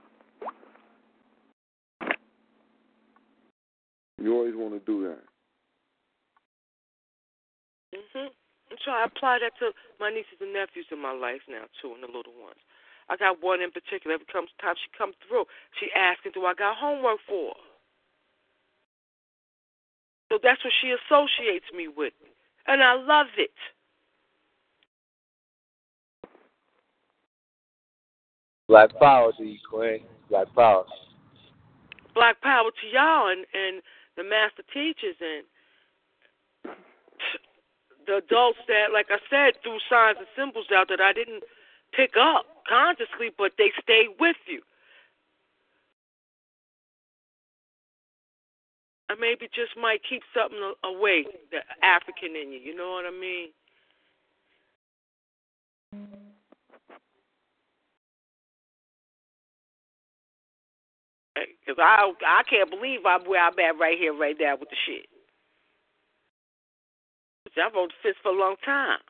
You always want to do that. So I apply that to my nieces and nephews in my life now too, and the little ones. I got one in particular. Every time she comes through, she asking, "Do I got homework for her?" So that's what she associates me with, and I love it. Black power to you, Queen. Black power. Black power to y'all and the master teachers and the adults that, like I said, threw signs and symbols out that I didn't pick up consciously, but they stayed with you. or maybe just might keep something away, the African in you. You know what I mean? Because I can't believe I'm where I'm at right here, right now with the shit. I wrote the fist for a long time.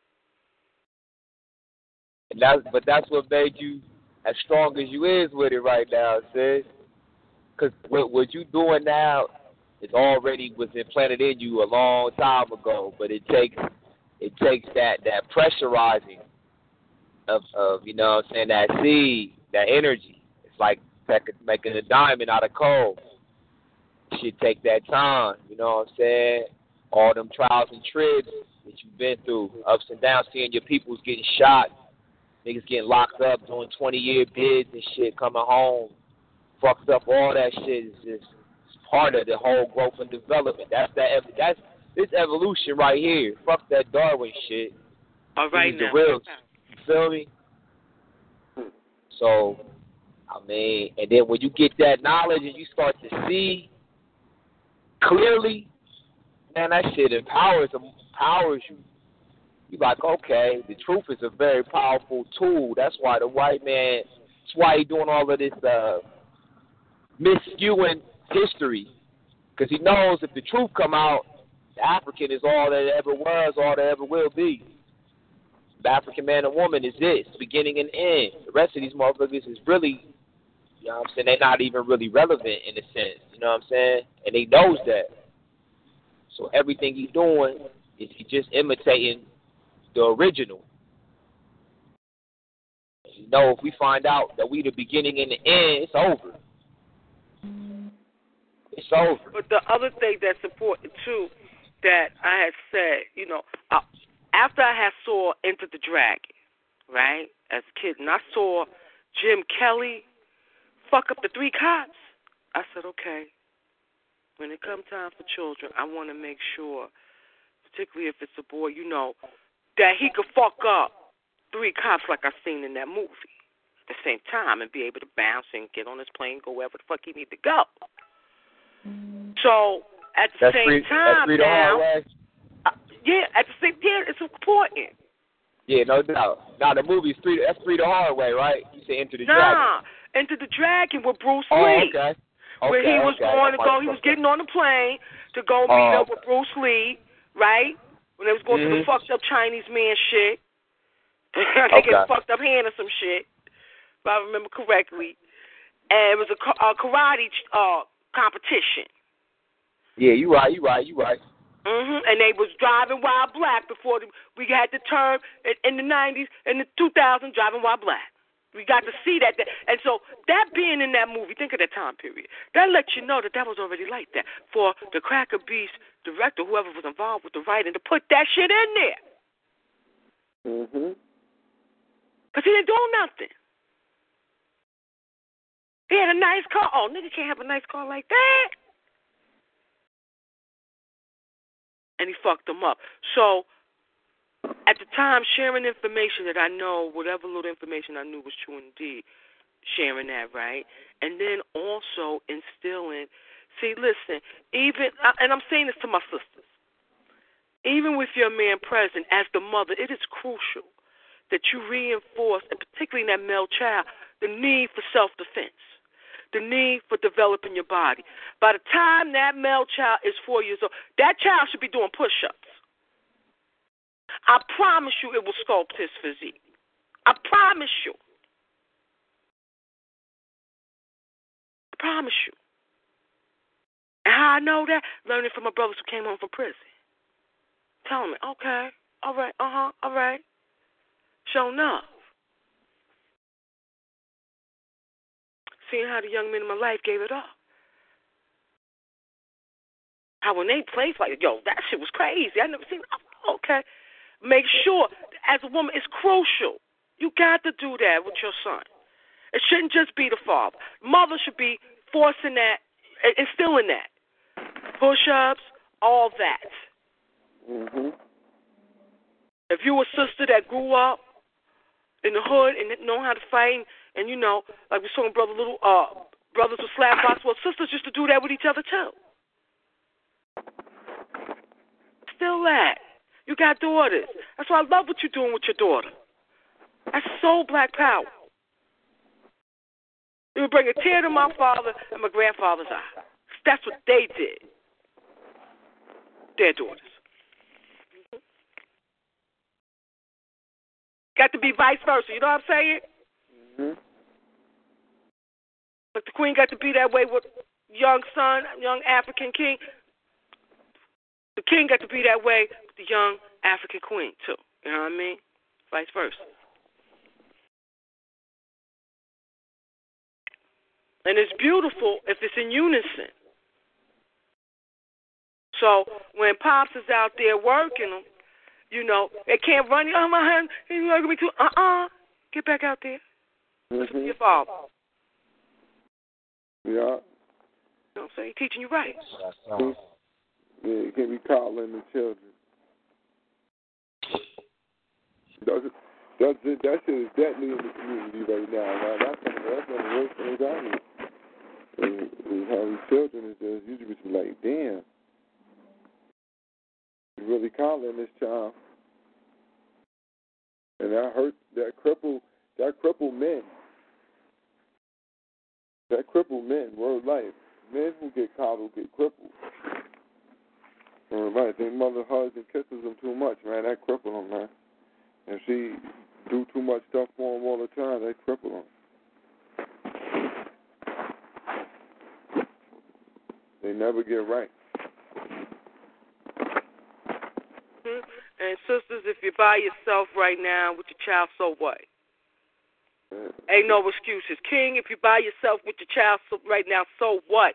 But that's what made you as strong as you is with it right now, sis. Because what you doing now is already was implanted in you a long time ago. But it takes that pressurizing of you know what I'm saying, that seed, that energy. It's like making a diamond out of coal. It should take that time, you know what I'm saying? All them trials and tribs that you've been through, ups and downs, seeing your peoples getting shot, niggas getting locked up, doing 20-year bids and shit, coming home, fucked up, all that shit is just part of the whole growth and development. That's this evolution right here. Fuck that Darwin shit. All right, now. The real, you feel me? So, I mean, and then when you get that knowledge and you start to see clearly, man, that shit empowers you. You like, okay, the truth is a very powerful tool. That's why the white man, that's why he doing all of this misskewing history. Because he knows if the truth come out, the African is all that it ever was, all that ever will be. The African man and woman is this, beginning and end. The rest of these motherfuckers is really, you know what I'm saying, they're not even really relevant in a sense. You know what I'm saying? And he knows that. So everything he's doing is he just imitating the original. You know, if we find out that we the beginning and the end, it's over. It's over. But the other thing that's important, too, that I had said, you know, after I had saw Enter the Dragon, right, as a kid, and I saw Jim Kelly fuck up the 3 cops, I said, okay, when it comes time for children, I want to make sure, particularly if it's a boy, you know, that he could fuck up 3 cops like I seen in that movie at the same time and be able to bounce and get on his plane, go wherever the fuck he need to go. So at the same time now, yeah, at the same time, it's important. Yeah, no doubt. Now the movie's that's Free the Hard Way, right? You say Enter the Dragon. Nah, Enter the Dragon with Bruce Lee. Okay. Where he was going to go, he was getting on the plane to go meet up with Bruce Lee, right? When they was going through the fucked up Chinese man shit. They get fucked up hand or some shit, if I remember correctly. And it was a karate competition. Yeah, you right. And they was driving while black before we had the term in the 90s and the 2000s, driving while black. We got to see that. And so that being in that movie, think of that time period. That lets you know that was already like that. For the Cracker Beast director, whoever was involved with the writing, to put that shit in there. Because he didn't do nothing. He had a nice car. Oh, nigga can't have a nice car like that. And he fucked them up. So, at the time, sharing information that I know, whatever little information I knew was true indeed, sharing that, right? And then also instilling, see, listen, even, and I'm saying this to my sisters, even with your man present, as the mother, it is crucial that you reinforce, and particularly in that male child, the need for self-defense, the need for developing your body. By the time that male child is 4 years old, that child should be doing push-ups. I promise you it will sculpt his physique. I promise you. I promise you. And how I know that? Learning from my brothers who came home from prison. Telling me, okay, all right, all right. Sure enough. Seeing how the young men in my life gave it up. How when they played like, yo, that shit was crazy. I never seen it. Okay. Make sure, as a woman, it's crucial. You got to do that with your son. It shouldn't just be the father. Mother should be forcing that, instilling that. Push-ups, all that. If you a sister that grew up in the hood and didn't know how to fight, and you know, like we saw in brothers with slap box, well, sisters used to do that with each other too. all that. You got daughters. That's why I love what you're doing with your daughter. That's so black power. It would bring a tear to my father and my grandfather's eye. That's what they did. Their daughters. Got to be vice versa. You know what I'm saying? Mm-hmm. But the queen got to be that way with young son, young African king. The king got to be that way with the young African queen, too. You know what I mean? Vice versa. And it's beautiful if it's in unison. So when Pops is out there working, you know, they can't run. Oh, my hand, he's working me too. Get back out there. Listen to your father. Yeah. You know what I'm saying? He's teaching you right. Yeah, you can't be coddling the children. That shit is deadly in the community right now. Man. That's one of the worst things out here. Is how these children is just usually be like, damn, you really coddling this child, and that hurt. That crippled men. That crippled men. Word life. Men who get coddled get crippled. Right, their mother hugs and kisses them too much, man. That cripple them, man. If she do too much stuff for them all the time, they cripple them. They never get right. Mm-hmm. And sisters, if you're by yourself right now with your child, so what? Ain't no excuses. King, if you're by yourself with your child right now, so what?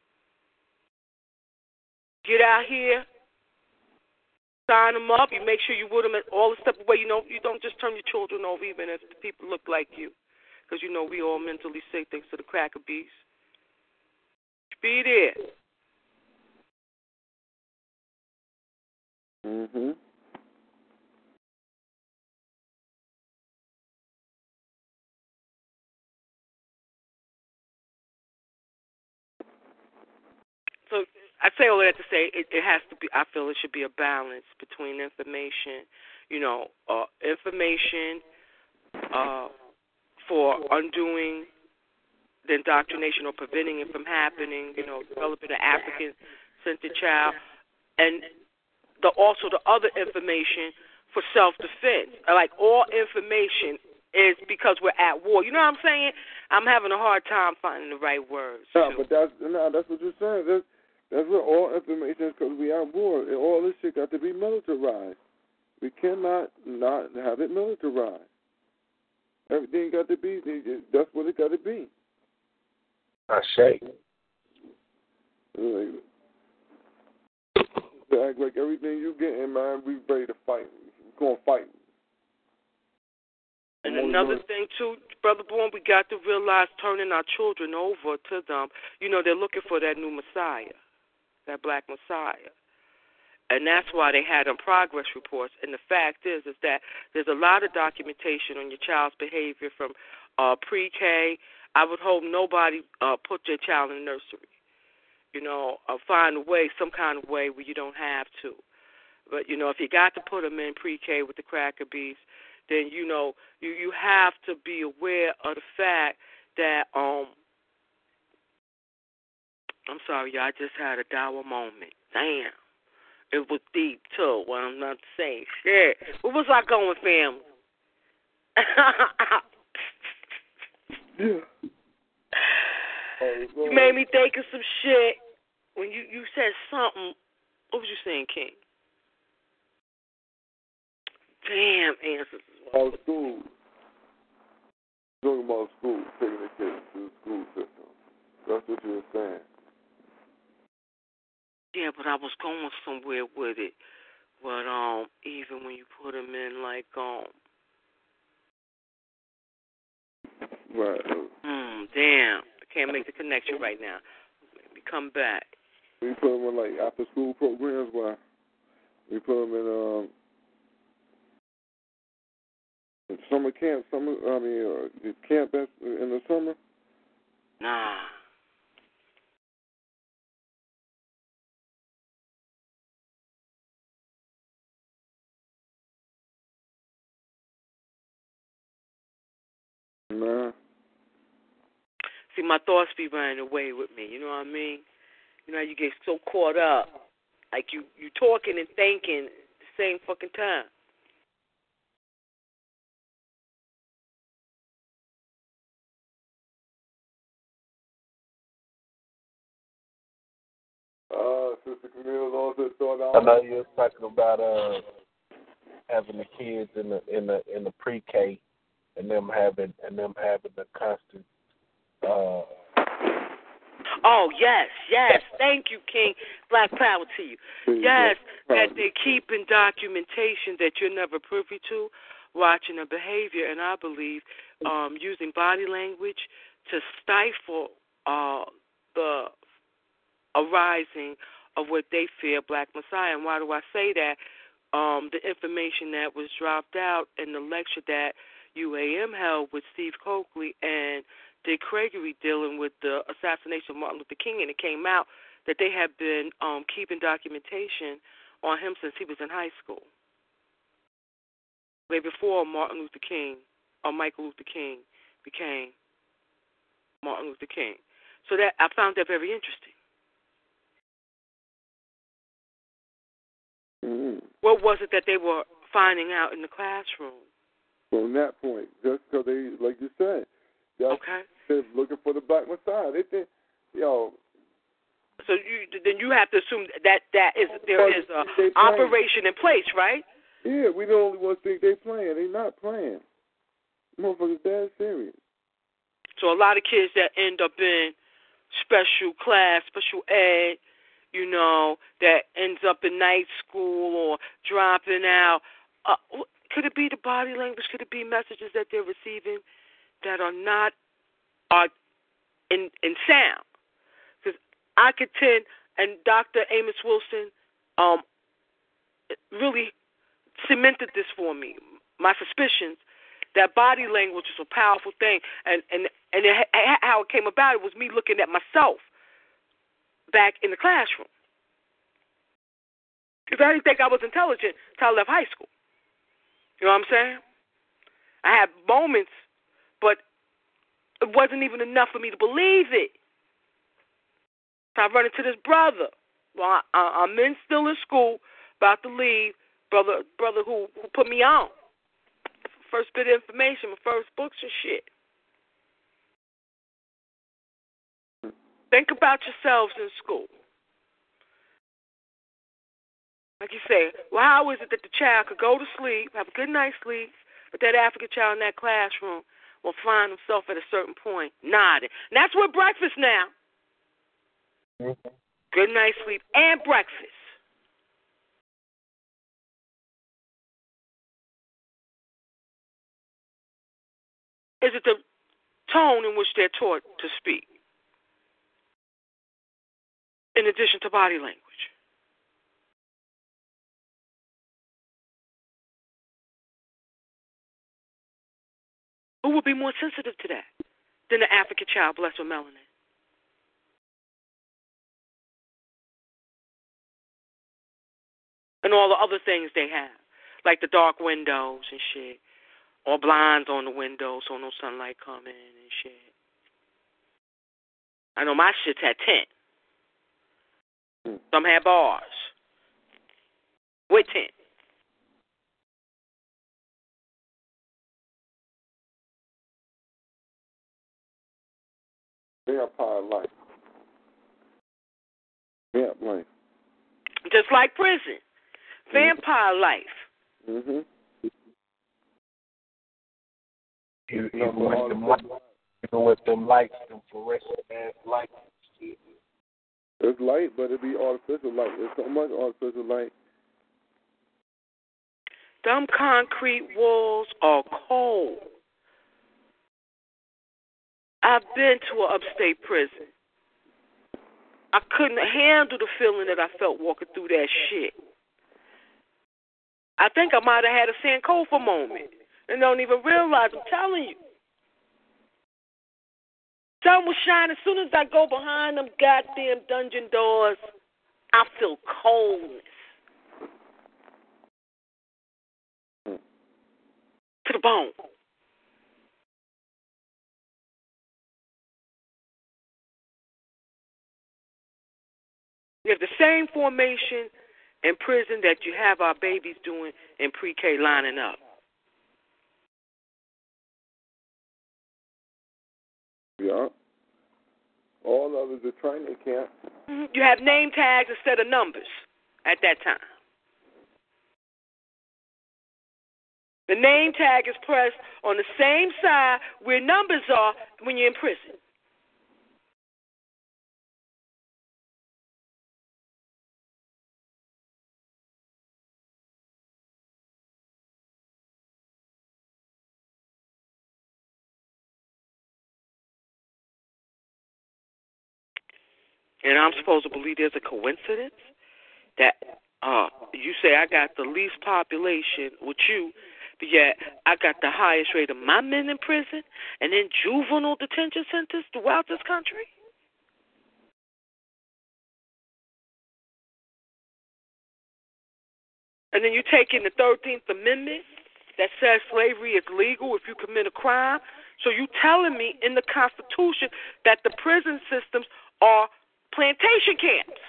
Get out here. Sign them up. You make sure you with them all the step away. You know, you don't just turn your children over even if the people look like you. Because, you know, we all mentally sick thanks to the cracker beast. Be there. Mm-hmm. So I say all that to say it has to be, I feel it should be a balance between information, information for undoing the indoctrination or preventing it from happening, developing an African-centered child, and also the other information for self-defense. Like all information is because we're at war. You know what I'm saying? I'm having a hard time finding the right words. No, but that's what you're saying. That's what all information is because we are at war. And all this shit got to be militarized. We cannot not have it militarized. Everything got to be, that's what it got to be. I say. Act like everything you get in, man, we ready to fight. We're going to fight. And another thing, too, Brother Bourne, we got to realize turning our children over to them, they're looking for that new Messiah, that black Messiah. And that's why they had them progress reports. And the fact is that there's a lot of documentation on your child's behavior from pre-K. I would hope nobody put their child in the nursery. Find a way, some kind of way where you don't have to. But, if you got to put them in pre-K with the cracker beast, then, you have to be aware of the fact that, I'm sorry, y'all, I just had a dour moment. Damn. It was deep, too, when I'm not saying shit. Where was I going, family? You made me think of some shit when you said something. What was you saying, King? Damn, answers. About school. Talking about school, taking the kids to the school system. That's what you were saying. Yeah, but I was going somewhere with it. But even when you put them in, like, Right. Damn. I can't make the connection right now. Let me come back. We put them in, like, after-school programs where we put them in summer camp, camp in the summer? Nah. Nah. See, my thoughts be running away with me. You know what I mean? You know, you get so caught up, like you talking and thinking at the same fucking time. Sister Camille also thought I know you was talking about having the kids in the pre-K and them having the constant. Oh, yes. Thank you, King. Black power to you. Yes, that they keep in documentation that you're never privy to, watching the behavior, and I believe using body language to stifle the arising of what they fear Black Messiah. And why do I say that? The information that was dropped out in the lecture that UAM held with Steve Coakley and Dick Gregory dealing with the assassination of Martin Luther King, and it came out that they had been keeping documentation on him since he was in high school, way before Martin Luther King or Michael Luther King became Martin Luther King. So that I found that very interesting. Mm-hmm. What was it that they were finding out in the classroom? From that point, just because they, like you said, okay, they're looking for the Black Messiah. They think, yo. So you have to assume that there is a operation in place, right? Yeah, we the only ones think they playing. They not playing. Motherfuckers dead serious. So a lot of kids that end up in special class, special ed, you know, that ends up in night school or dropping out. Could it be the body language? Could it be messages that they're receiving that are not in sound? Because I contend, and Dr. Amos Wilson really cemented this for me, my suspicions, that body language is a powerful thing. And how it came about, it was me looking at myself back in the classroom. Because I didn't think I was intelligent until I left high school. You know what I'm saying? I had moments, but it wasn't even enough for me to believe it. So I run into this brother. Well, I'm still in school, about to leave. Brother who put me on. First bit of information, my first books and shit. Think about yourselves in school. Like you say, well, how is it that the child could go to sleep, have a good night's sleep, but that African child in that classroom will find himself at a certain point nodding? And that's with breakfast now. Mm-hmm. Good night's sleep and breakfast. Is it the tone in which they're taught to speak, in addition to body language? Who would be more sensitive to that than the African child blessed with melanin? And all the other things they have, like the dark windows and shit, or blinds on the windows so no sunlight come in and shit. I know my shit's had tint. Some had bars with tint. Vampire life. Vamp life. Just like prison. Vampire life. Mm-hmm. Even with them lights, them fluorescent ass lights. It's light, but it be artificial light. There's so much artificial light. Them concrete walls are cold. I've been to an upstate prison. I couldn't handle the feeling that I felt walking through that shit. I think I might have had a Sankofa moment and don't even realize. I'm telling you. Sun was shining. As soon as I go behind them goddamn dungeon doors, I feel coldness. To the bone. same formation in prison that you have our babies doing in pre-K, lining up. Yeah. All of it is a training camp. Mm-hmm. You have name tags instead of numbers at that time. The name tag is pressed on the same side where numbers are when you're in prison. And I'm supposed to believe there's a coincidence that you say I got the least population with you, but yet I got the highest rate of my men in prison and in juvenile detention centers throughout this country? And then you take in the 13th Amendment that says slavery is legal if you commit a crime. So you telling me in the Constitution that the prison systems are plantation camps.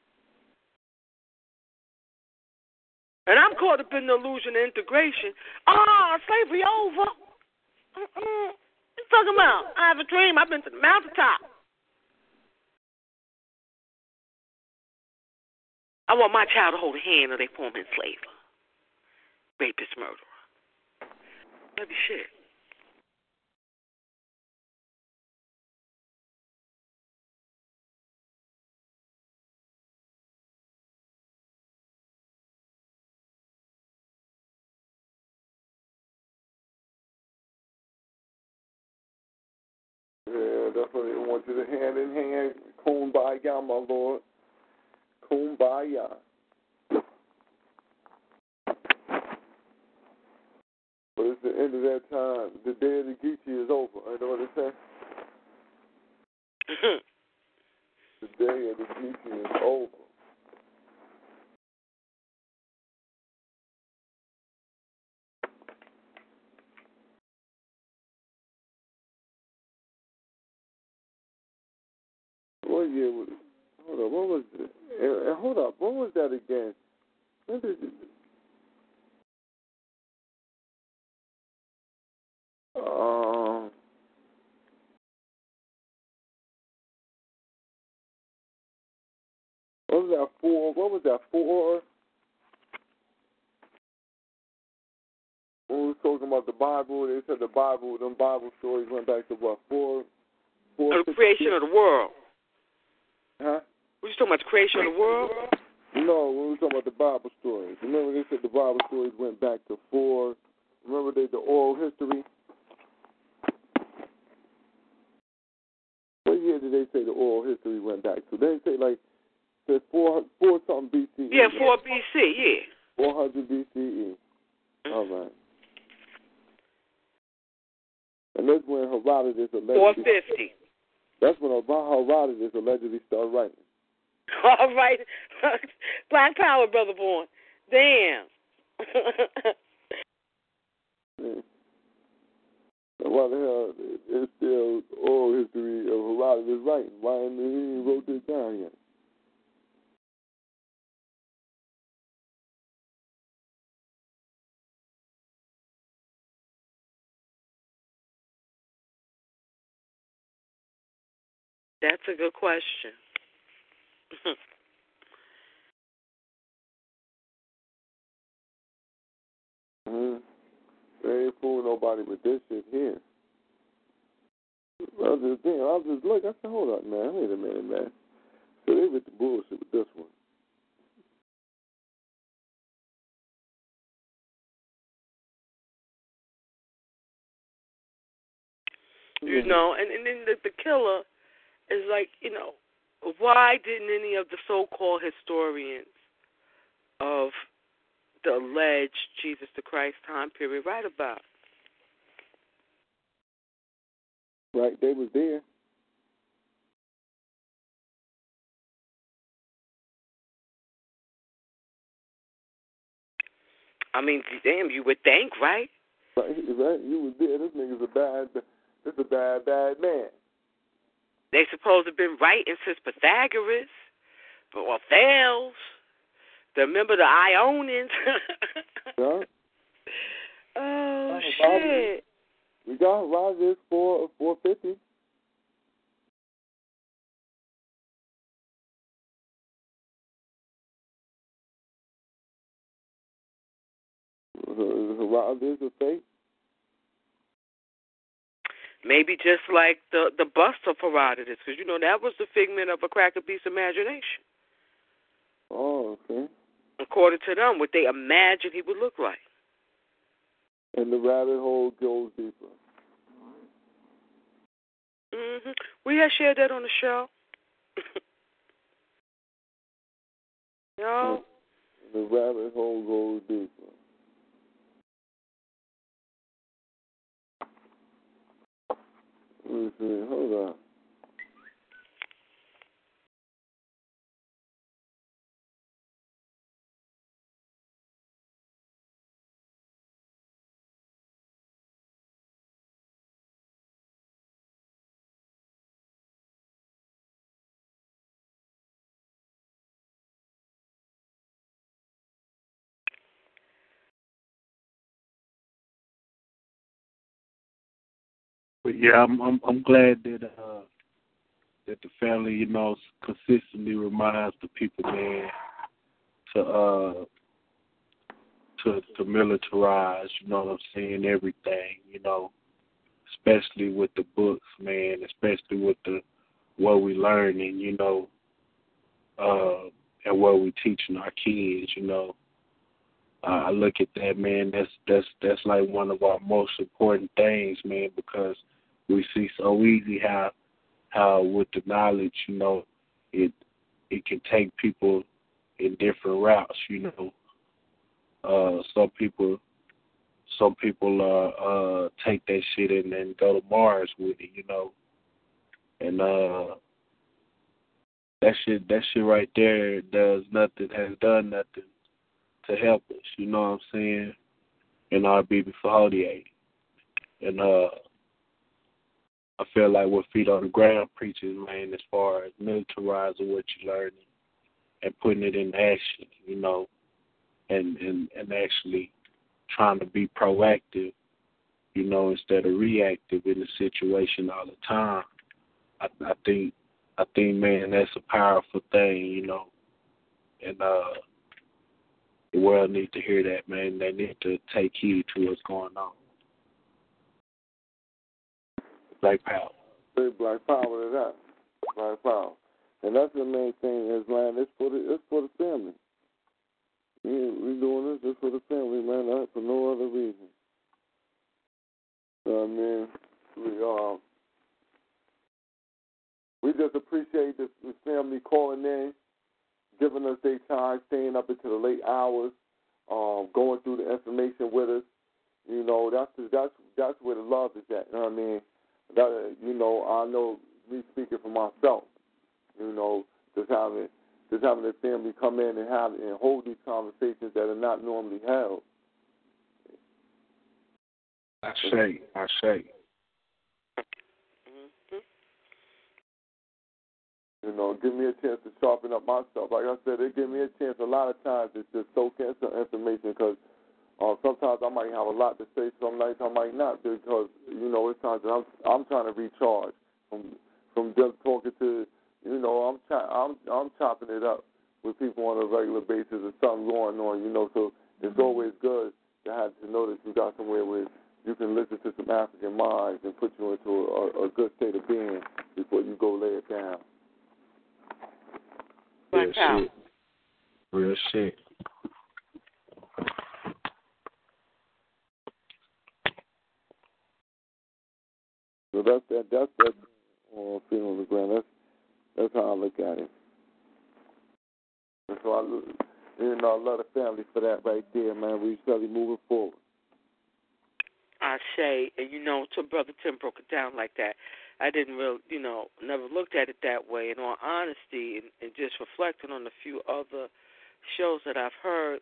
And I'm caught up in the illusion of integration. Slavery over. What you talking about? I have a dream. I've been to the mountaintop. I want my child to hold a hand or they form enslaver. Rapist, murderer. That'd be shit. Yeah, that's what they want you to hand in hand. Kumbaya, my Lord. Kumbaya. But it's the end of that time. The day of the Geechee is over. You know what they say? The day of the Geechee is over. What year was it? Hold up, what was it? Hold up, what was that again? When did it? What was that for? What was that for? When we were talking about the Bible, they said them Bible stories went back to what, The creation of the world. Huh? Were you talking about the creation of the world? No, we were talking about the Bible stories. Remember they said the Bible stories went back to 4. Remember the oral history? What year did they say the oral history went back to? They say like said 4 something BCE. Yeah, 4 BC, yeah. 400 BCE. All right. And that's when Herodotus allegedly... 450. That's when Herodotus allegedly started writing. All right. Black power, Brother Born. Damn. Yeah. Why the hell is still oral history of Herodotus writing? Why he wrote this down yet? That's a good question. They ain't fooling nobody with this shit here. I was just look. I said, hold up, man. Wait a minute, man. So they with the bullshit with this one. You know, and then the killer is like, why didn't any of the so-called historians of the alleged Jesus the Christ time period write about? Right, they was there. I mean, damn, you would think, right? Right, you was there. This nigga's a bad man. They supposed to have been writing since Pythagoras. or Thales. Remember the Ionians? Yeah. Oh Roger, shit! we got Rogers for 450. Rogers a fake. Maybe just like the bust of Herodotus, because that was the figment of a cracker beast's imagination. Oh, okay. According to them, what they imagined he would look like. And the rabbit hole goes deeper. We had shared that on the show. No. The rabbit hole goes deeper. Let me see. Hold on. But yeah, I'm glad that the family, consistently reminds the people, man, to militarize, what I'm saying, everything, especially with the books, man, especially with what we learning, and what we teaching our kids. I look at that, man. That's like one of our most important things, man, because we see so easy how with the knowledge, it can take people in different routes. Some people take that shit and then go to Mars with it, and that shit right there has done nothing to help us, you know what I'm saying? In our BB48. And I feel like what Feet on the Ground preaches, man, as far as militarizing what you're learning and putting it in action, and actually trying to be proactive, instead of reactive in the situation all the time. I think, man, that's a powerful thing, and the world needs to hear that, man. They need to take heed to what's going on. Black power. Say black power to that. Black power. And that's the main thing is, man, it's for the family. We doing this just for the family, man, not for no other reason. So, I mean, we just appreciate this family calling in, giving us their time, staying up into the late hours, going through the information with us. That's where the love is at. You know what I mean? I know me speaking for myself. Just having the family come in and hold these conversations that are not normally held. I say. Give me a chance to sharpen up myself. Like I said, they give me a chance a lot of times to just soak in some information because sometimes I might have a lot to say, some nights I might not because, it's times that I'm trying to recharge from just talking to, I'm chopping it up with people on a regular basis. There's something going on, so it's always good to know that you got somewhere where you can listen to some African minds and put you into a good state of being before you go lay it down. Real shit. So that's that feeling on the ground. That's how I look at it. And so I love the family for that right there, man. We steadily moving forward. I say, and till Brother Tim broke it down like that, I didn't really, never looked at it that way. In all honesty, and just reflecting on a few other shows that I've heard,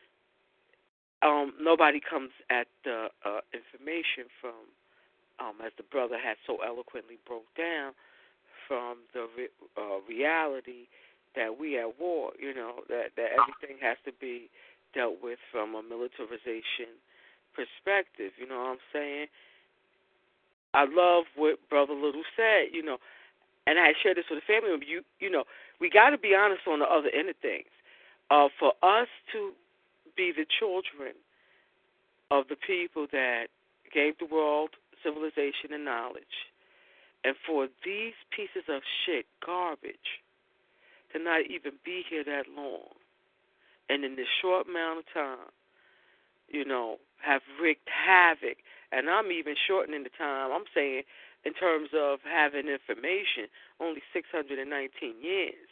nobody comes at the information from, as the brother had so eloquently broke down, from the reality that we at war, that everything has to be dealt with from a militarization perspective. You know what I'm saying? I love what Brother Little said, and I shared this with a family member. We got to be honest on the other end of things. For us to be the children of the people that gave the world civilization and knowledge, and for these pieces of shit, garbage, to not even be here that long, and in this short amount of time, have wreaked havoc. And I'm even shortening the time. I'm saying in terms of having information, only 619 years,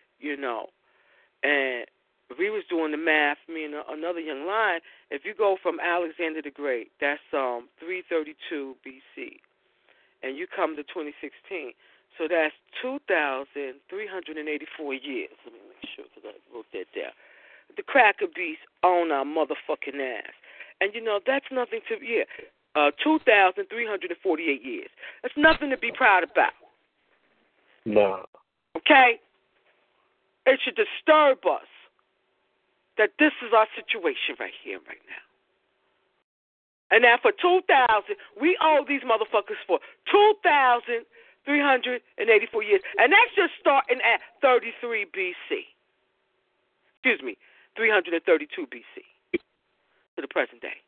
And we was doing the math, me and another young lion. If you go from Alexander the Great, that's 332 BC, and you come to 2016, so that's 2,384 years. Let me make sure because I wrote that down. The cracker beast on our motherfucking ass. And, that's nothing to, 2,348 years. That's nothing to be proud about. No. Okay? It should disturb us that this is our situation right here and right now. And now for 2,000, we owe these motherfuckers for 2,384 years. And that's just starting at 33 BC. Excuse me, 332 BC to the present day.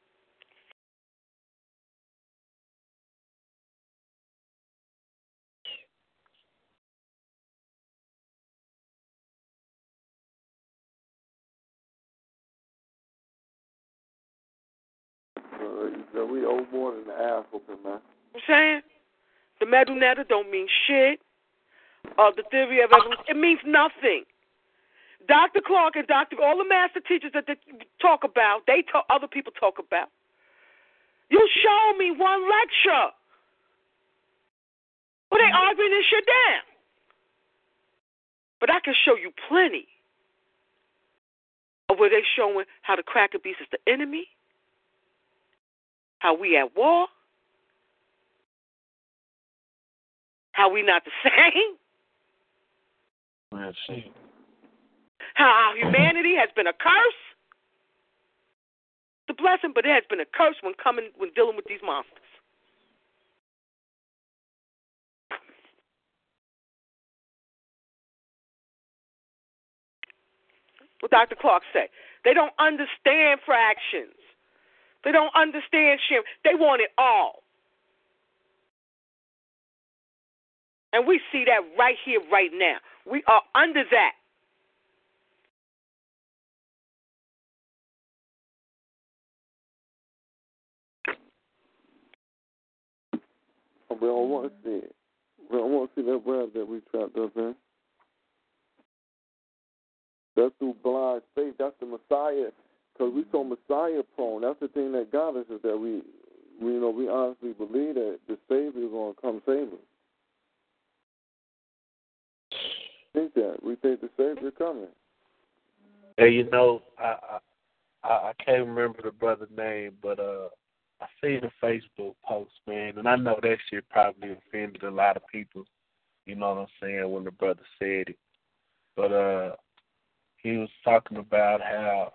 We owe more than the ass whooping, man. I'm saying? The metal netta don't mean shit. The theory of evolution, it means nothing. Dr. Clark and all the master teachers that they talk about, other people talk about. You show me one lecture where they arguing this shit down. But I can show you plenty of where they showing how the cracker beast is the enemy, how we at war, how we not the same. Let's see. How our humanity has been a curse. It's a blessing, but it has been a curse when dealing with these monsters. What Dr. Clark said. They don't understand fractions. They don't understand sharing. They want it all. And we see that right here, right now. We are under that. We don't want to see it. We don't want to see that web that we trapped up in. That's through blind faith. That's the Messiah. Because we so Messiah prone. That's the thing that got us, is that we honestly believe that the Savior is going to come save us. Think that. We think the Savior coming. Hey, I can't remember the brother's name, but I seen a Facebook post, man, and I know that shit probably offended a lot of people, you know what I'm saying, when the brother said it. But he was talking about how,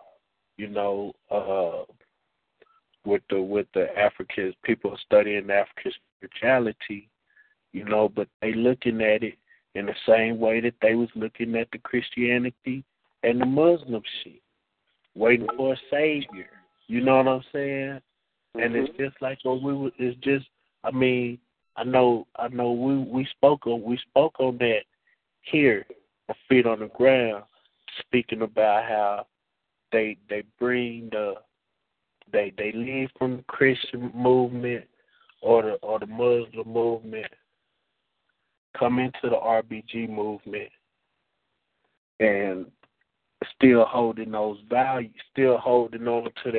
with the Africans, people studying African spirituality, but they looking at it in the same way that they was looking at the Christianity and the Muslim shit, waiting for a savior. You know what I'm saying? Mm-hmm. And it's just like I know we spoke on that here, a feet on the ground, speaking about how they bring they leave from the Christian movement or the Muslim movement, come into the RBG movement, and still holding those values, still holding on to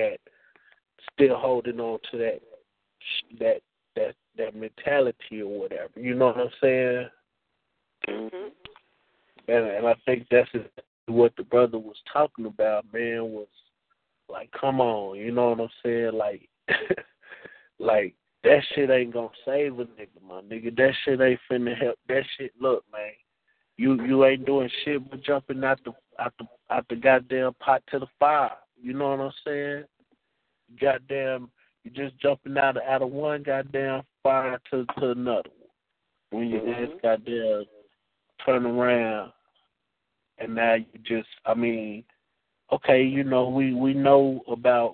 that mentality or whatever. You know what I'm saying? Mm-hmm. And I think that's what the brother was talking about, man, was like, come on, you know what I'm saying? Like, like that shit ain't gonna save a nigga, my nigga. That shit ain't finna help. That shit, look, man, You ain't doing shit but jumping out the goddamn pot to the fire. You know what I'm saying? Goddamn, you just jumping out of one goddamn fire to another one. When you just goddamn turn around, and now you just, I mean, okay, you know, we know about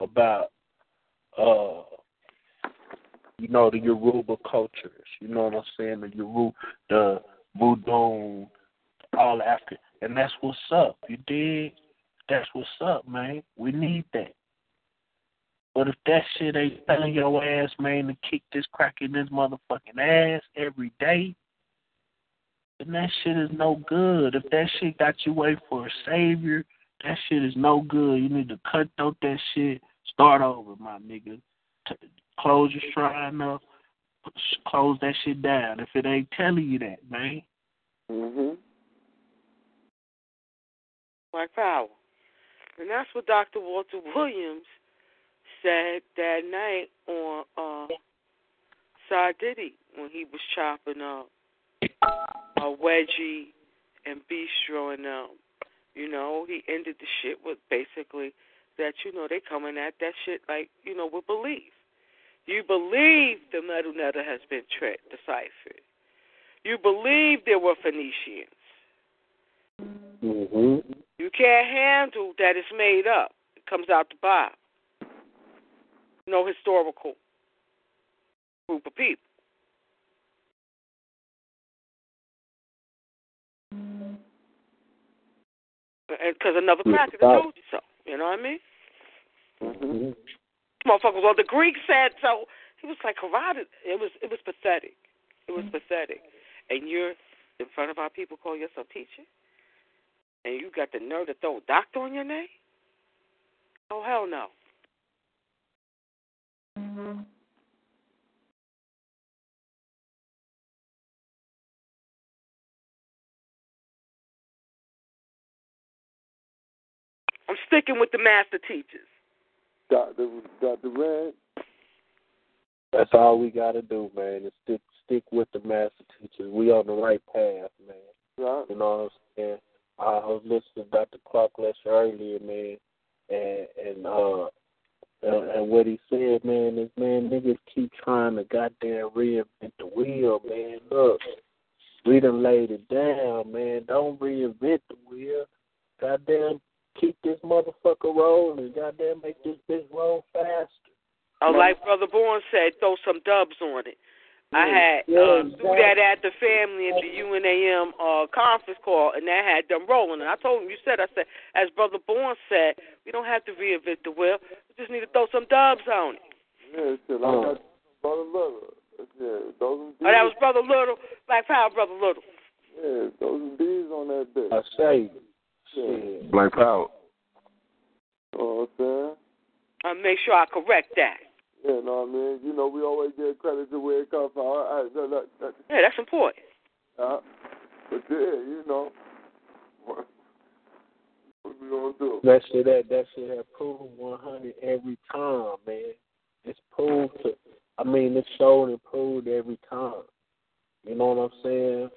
you know, the Yoruba cultures. You know what I'm saying? The Voodoo, all African, and that's what's up. You dig? That's what's up, man. We need that. But if that shit ain't telling your ass, man, to kick this crack in this motherfucking ass every day, then that shit is no good. If that shit got you wait for a savior, that shit is no good. You need to cut out that shit. Start over, my nigga. Close your shrine up. Close that shit down if it ain't telling you that, man. Black Power. And that's what Dr. Walter Williams said that night on Side Diddy when he was chopping up Wedgie and Bistro and you know, he ended the shit with basically that, you know, they coming at that shit like, you know, with belief. You believe the metal netter has been deciphered. You believe there were Phoenicians. You can't handle that it's made up. It comes out the Bible. No historical group of people. Because another cracker told you so. You know what I mean? Motherfuckers, well, the Greek said so. He was like, carotid. It was pathetic. It was pathetic. And you're in front of our people, call yourself teacher? And you got the nerve to throw a doctor on your name? Oh, hell no. I'm sticking with the master teachers. Dr. Red. That's all we gotta do, man. Is stick with the master teachers. We on the right path, man. Right. You know what I'm saying? I was listening to Dr. Clark lecture earlier, man, and what he said, man, is, man, niggas keep trying to goddamn reinvent the wheel, man. Look, we done laid it down, man. Don't reinvent the wheel. Goddamn, keep this motherfucker rolling. Goddamn, make this bitch roll faster. Oh, like Brother Bourne said, throw some dubs on it. I had do that at the family at the UNAM conference call, and that had them rolling. And I told him, I said, as Brother Bourne said, we don't have to reinvent the wheel. We just need to throw some dubs on it. Yeah, shit, I got Brother Little. Yeah, that was Brother Little, Black Power Brother Little. Yeah, throw some D's on that bitch. I say, yeah. Black Power. Oh, okay. I'll make sure I correct that. Yeah, know what I mean? You know, we always give credit to where it comes from. Yeah, that's important. But yeah, you know, what we gonna do? That shit have proved 100 every time, man. It's proved it's shown and proved every time. You know what I'm saying?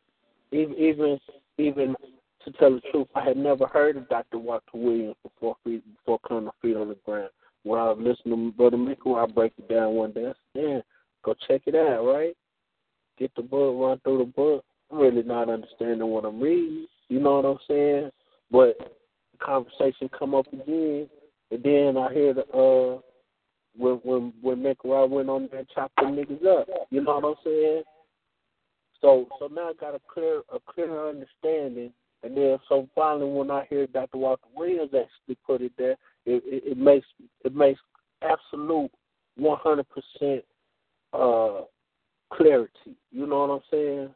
Even to tell the truth, I had never heard of Dr. Walter Williams before coming to Feet on the Ground. When I was listening to Brother Mickle, I break it down one day. I said, "Man, go check it out, right? Get the book, run through the book. I'm really not understanding what I'm reading. You know what I'm saying? But the conversation come up again, and then I hear when Mickle went on there and chopped them niggas up. You know what I'm saying? So now I got a clearer understanding. And then so finally, when I hear Dr. Walter Williams actually put it there, it makes absolute 100% clarity. You know what I'm saying?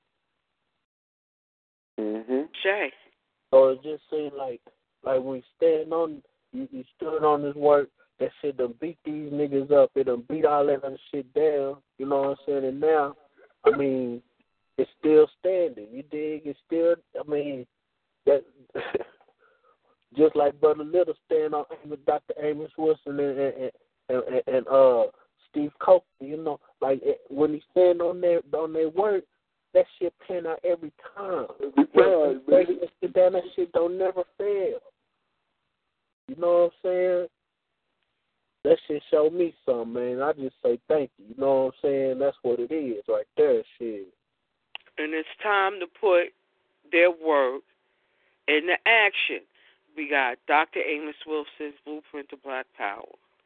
Shay. So it just seems like when you stood on this work, that shit done beat these niggas up. It done beat all that other shit down. You know what I'm saying? And now, I mean, it's still standing. You dig? It's still, I mean, that just like Brother Little stand on with Dr. Amos Wilson and Steve Coker, you know, like when he stand on their work, that shit pan out every time. Every time, man. That shit don't never fail. You know what I'm saying? That shit show me something, man. I just say thank you. You know what I'm saying? That's what it is right there, shit. And it's time to put their work into action. We got Dr. Amos Wilson's Blueprint to Black Power.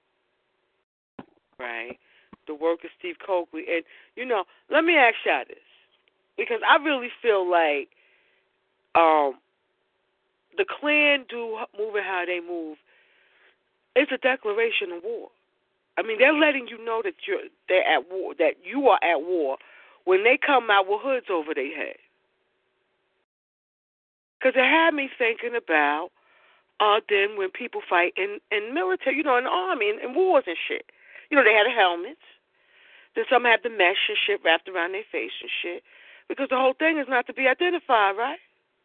Right? The work of Steve Coakley. And, you know, let me ask y'all this. Because I really feel like the Klan moving how they move, it's a declaration of war. I mean, they're letting you know that they're at war, that you are at war when they come out with hoods over their head. Because it had me thinking about then when people fight in military, you know, in the army, in wars and shit. You know, they had the helmets. Then some have the mesh and shit wrapped around their face and shit. Because the whole thing is not to be identified, right?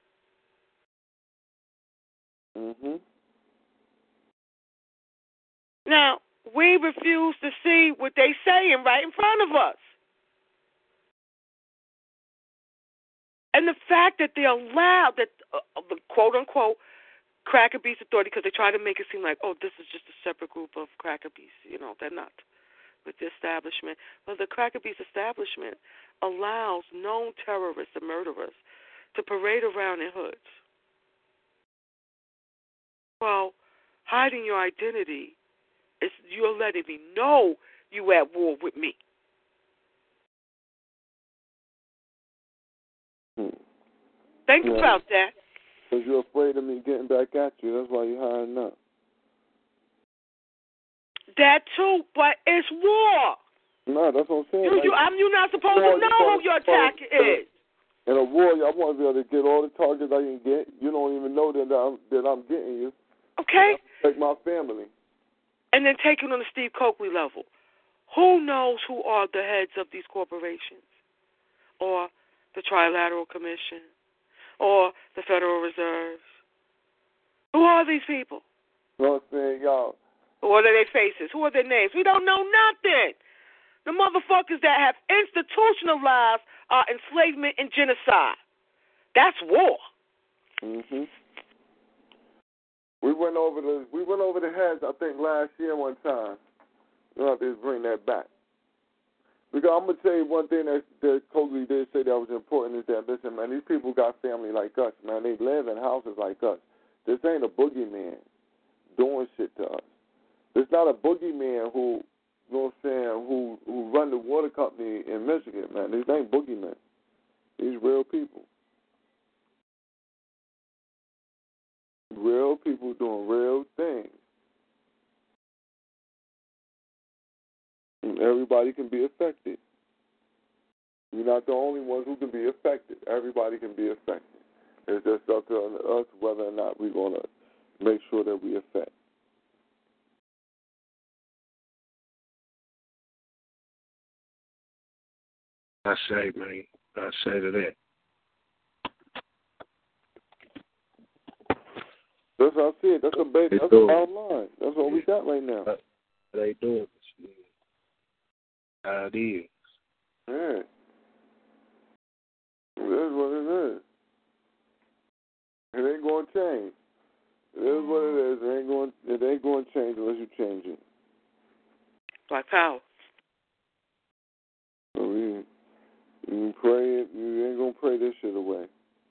Mm-hmm. Now, we refuse to see what they saying right in front of us. And the fact that they allowed that the quote-unquote Cracker Beast Authority, because they try to make it seem like, oh, this is just a separate group of Cracker Beasts. You know, they're not with the establishment. Well, the Cracker Beast establishment allows known terrorists and murderers to parade around in hoods. Well, hiding your identity is you're letting me know you at war with me. Think about that. Because you're afraid of me getting back at you. That's why you're hiding up. That too, but it's war. No, that's what I'm saying. You're not supposed to know who your attacker is. In a war, I want to be able to get all the targets I can get. You don't even know that I'm getting you. Okay. Like my family. And then take it on the Steve Coakley level. Who knows who are the heads of these corporations? Or the Trilateral Commission? Or the Federal Reserve? Who are these people? You know what I'm saying, y'all? What are their faces? Who are their names? We don't know nothing. The motherfuckers that have institutionalized our enslavement and genocide. That's war. Mhm. We went over the heads, I think, last year one time. We'll have to bring that back. Because I'm gonna tell you one thing that Coakley did say that was important is that, listen, man, these people got family like us, man. They live in houses like us. This ain't a boogeyman doing shit to us. There's not a boogeyman who, you know what I'm saying, who run the water company in Michigan, man. These ain't boogeymen. These real people. Real people doing real things. And everybody can be affected. You're not the only ones who can be affected. Everybody can be affected. It's just up to us whether or not we're going to make sure that we affect. I say, man. I say to that. That's how I see it. That's the bottom line. That's what we got right now. They doing it. How it is. Yeah. It is what it is. It ain't going to change. It is what it is. It ain't going to change unless you change it. Black power. So you pray it. You ain't going to pray this shit away.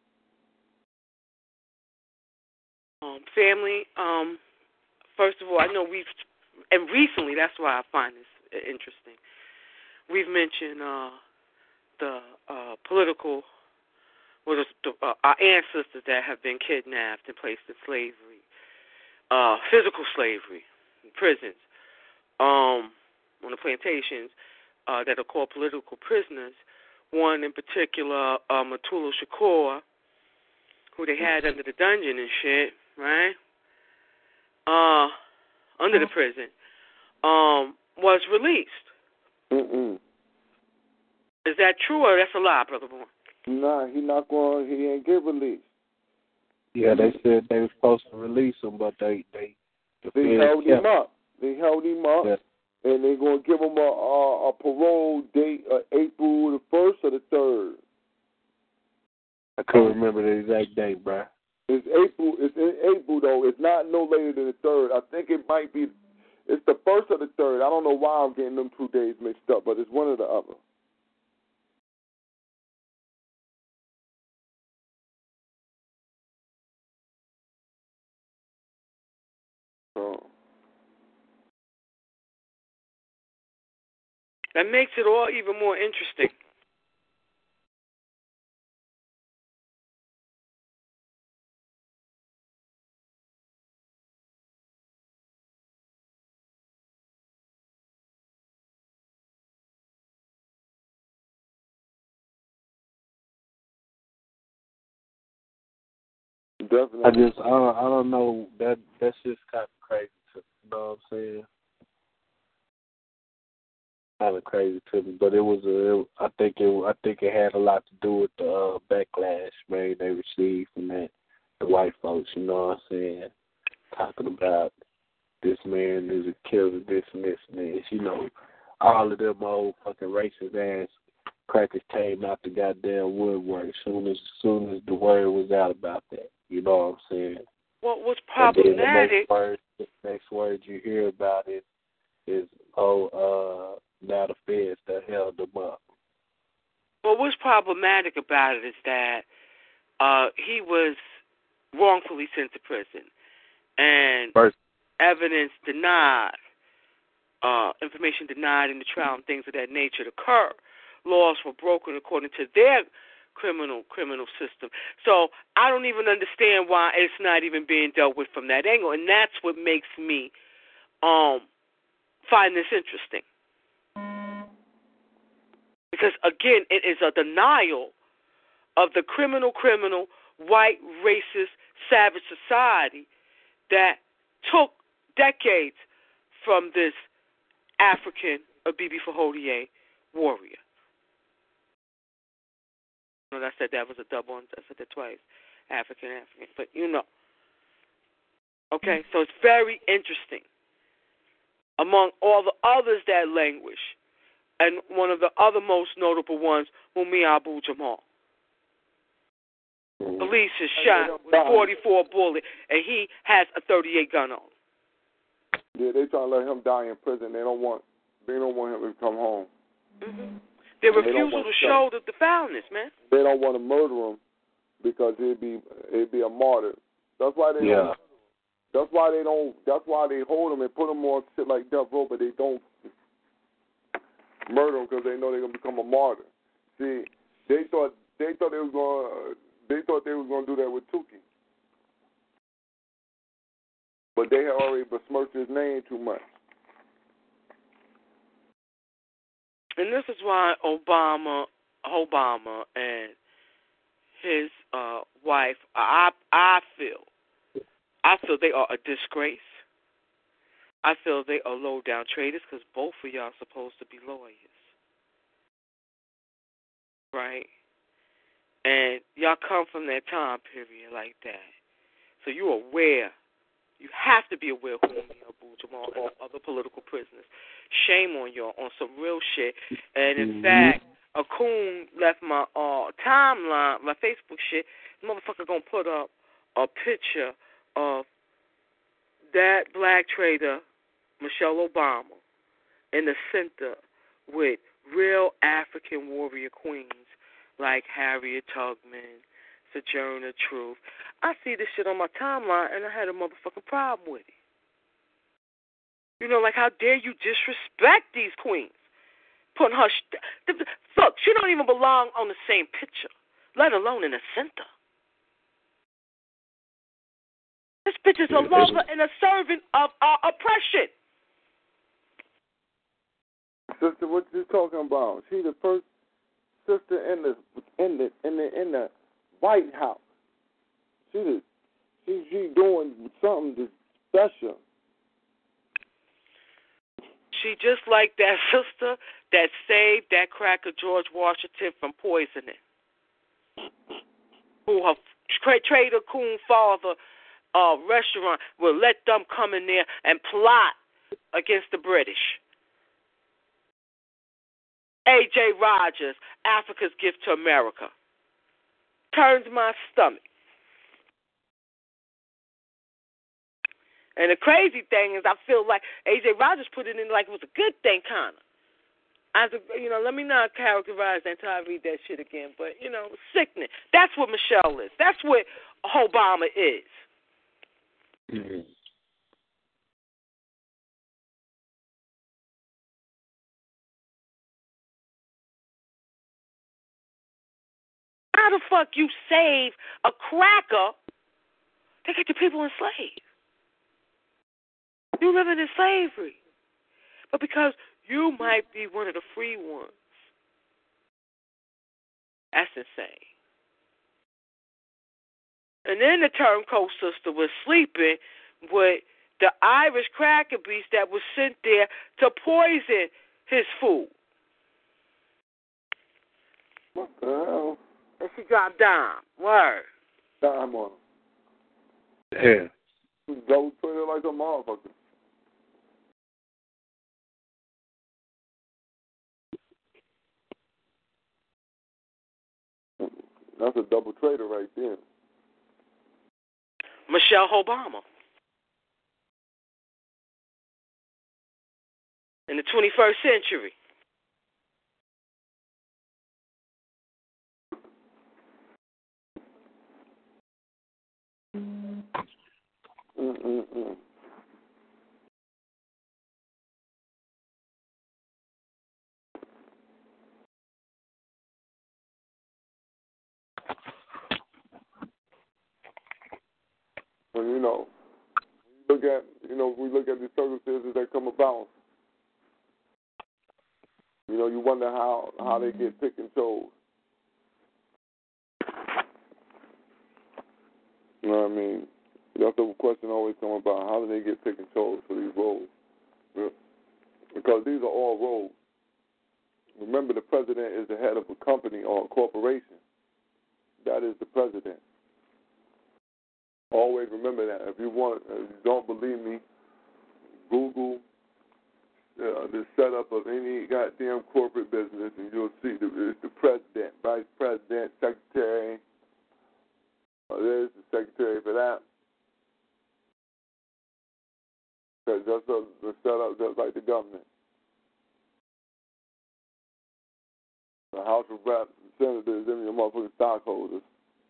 Family, first of all, I know and recently, that's why I find this interesting, we've mentioned the political, our ancestors that have been kidnapped and placed in slavery, physical slavery, in prisons, on the plantations that are called political prisoners. One in particular, Matulu Shakur, who they had under the dungeon and shit, right? Under the prison, was released. Mm-mm. Is that true or that's a lie, Brother Bourne? Nah, he ain't get released. Yeah, they said they were supposed to release him, but they held him up. They held him up, yeah. And they're going to give him a parole date, April the 1st or the 3rd. I couldn't remember the exact date, bro. It's April. It's in April though. It's not no later than the 3rd. I think it might be. It's the 1st or the 3rd. I don't know why I'm getting them 2 days mixed up, but it's one or the other. That makes it all even more interesting. Definitely. I don't know. That's just kind of crazy to me. You know what I'm saying? Kind of crazy to me, but I think it had a lot to do with the backlash, man, they received from the white folks. You know what I'm saying? Talking about this man is a killer, this and this and this. You know, all of them old fucking racist ass crackers came out the goddamn woodwork as soon as the word was out about that. You know what I'm saying? What was problematic? The next word you hear about it is, now the feds that held them up. Well, what's problematic about it is that he was wrongfully sent to prison, and evidence denied, information denied in the trial, and things of that nature occur. Laws were broken according to their criminal system. So I don't even understand why it's not even being dealt with from that angle, and that's what makes me find this interesting. Because, again, it is a denial of the criminal, white, racist, savage society that took decades from this African Abibi Fahodie warrior. Well, I said that was a double. I said that twice. African. But you know. Okay, so it's very interesting. Among all the others that languish, and one of the other most notable ones, Mumia Abu-Jamal. Police is shot with a 44 bullet, and he has a 38 gun on. Yeah, they trying to let him die in prison. They don't want him to come home. Mm-hmm. Their refusal to show the foulness, man. They don't want to murder him because it'd be a martyr. That's why they don't. That's why they hold him and put him on shit like death row, but they don't murder him because they know they're gonna become a martyr. See, they thought they was gonna do that with Tukey, but they had already besmirched his name too much. And this is why Obama and his wife, I feel they are a disgrace. I feel they are low-down traitors because both of y'all are supposed to be lawyers. Right? And y'all come from that time period like that. So you're aware. You have to be aware of Mumia Abu-Jamal and the other political prisoners. Shame on y'all on some real shit. And in fact, Akun left my timeline, my Facebook shit. The motherfucker gonna put up a picture of that black traitor, Michelle Obama, in the center with real African warrior queens like Harriet Tubman, Sojourner Truth. I see this shit on my timeline, and I had a motherfucking problem with it. You know, like, how dare you disrespect these queens? Putting her... Look, she don't even belong on the same picture, let alone in the center. This bitch is a lover and a servant of our oppression. Sister, what you talking about? She the first sister in the White House. She doing something special. She just like that sister that saved that cracker George Washington from poisoning. Who her Trader Coon father restaurant will let them come in there and plot against the British. A.J. Rogers, Africa's Gift to America. turns my stomach. And the crazy thing is, I feel like A.J. Rogers put it in like it was a good thing, kind of. As a, let me not characterize that until I read that shit again. But, sickening. That's what Michelle is. That's what Obama is. Mm-hmm. How the fuck you save a cracker that got your people enslaved? You living in slavery. But because you might be one of the free ones. That's insane. And then the turncoat sister was sleeping with the Irish cracker beast that was sent there to poison his food. What the hell? And she dropped dime. Word. Dime on him. Yeah. Double Twitter like a motherfucker. That's a double trader right there. Michelle Obama. In the 21st century. Mm-mm-mm. When we look at the circumstances that come about, you wonder how they get picked and chose. You know what I mean? That's the question always come about. How do they get picked and chose for these roles? Yeah. Because these are all roles. Remember, the president is the head of a company or a corporation. That is the president. Always remember that. If you don't believe me, Google the setup of any goddamn corporate business, and you'll see it's the president, vice president, secretary. There's the secretary for that. Because that's the setup just like the government. The House of Reps, the senators, them your motherfucking stockholders.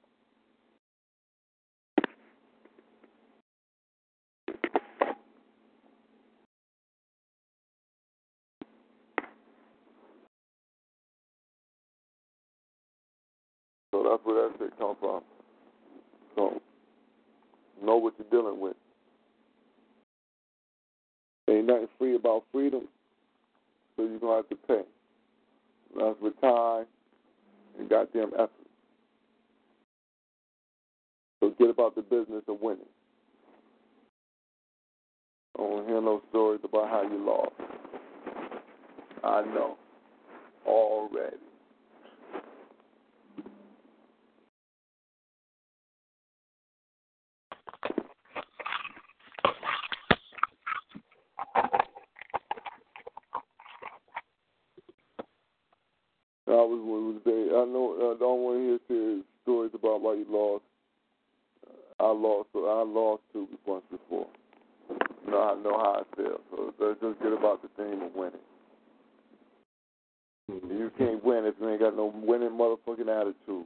So that's where that shit comes from. So know what you're dealing with. Ain't nothing free about freedom, so you're going to have to pay. That's with time and goddamn effort. So get about the business of winning. I don't hear no stories about how you lost. I know. Already. I know I don't want to hear stories about why you lost. I lost too once before. I know how I feel. So let's just get about the theme of winning. You can't win if you ain't got no winning motherfucking attitude.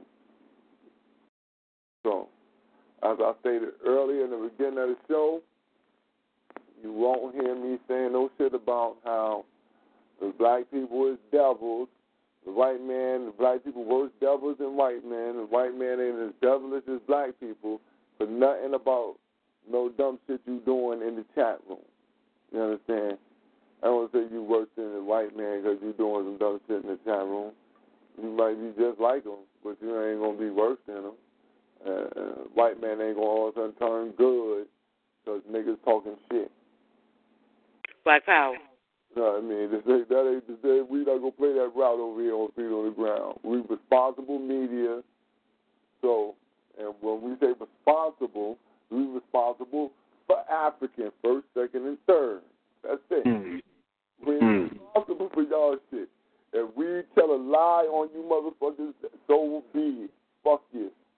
So, as I stated earlier in the beginning of the show, you won't hear me saying no shit about how the black people is devils. The black people worse devils than white men. The white man ain't as devilish as black people, but nothing about no dumb shit you doing in the chat room. You understand? I don't say you worse than the white man because you doing some dumb shit in the chat room. You might be just like them, but you ain't going to be worse than them. White man ain't going to all of a sudden turn good because niggas talking shit. Black power. No, I mean, that ain't to say we not going to play that route over here on Feet on the Ground. We responsible media. So, and when we say responsible, we responsible for African, first, second, and third. That's it. Mm. We're responsible for y'all shit. If we tell a lie on you motherfuckers, so be it. Fuck you.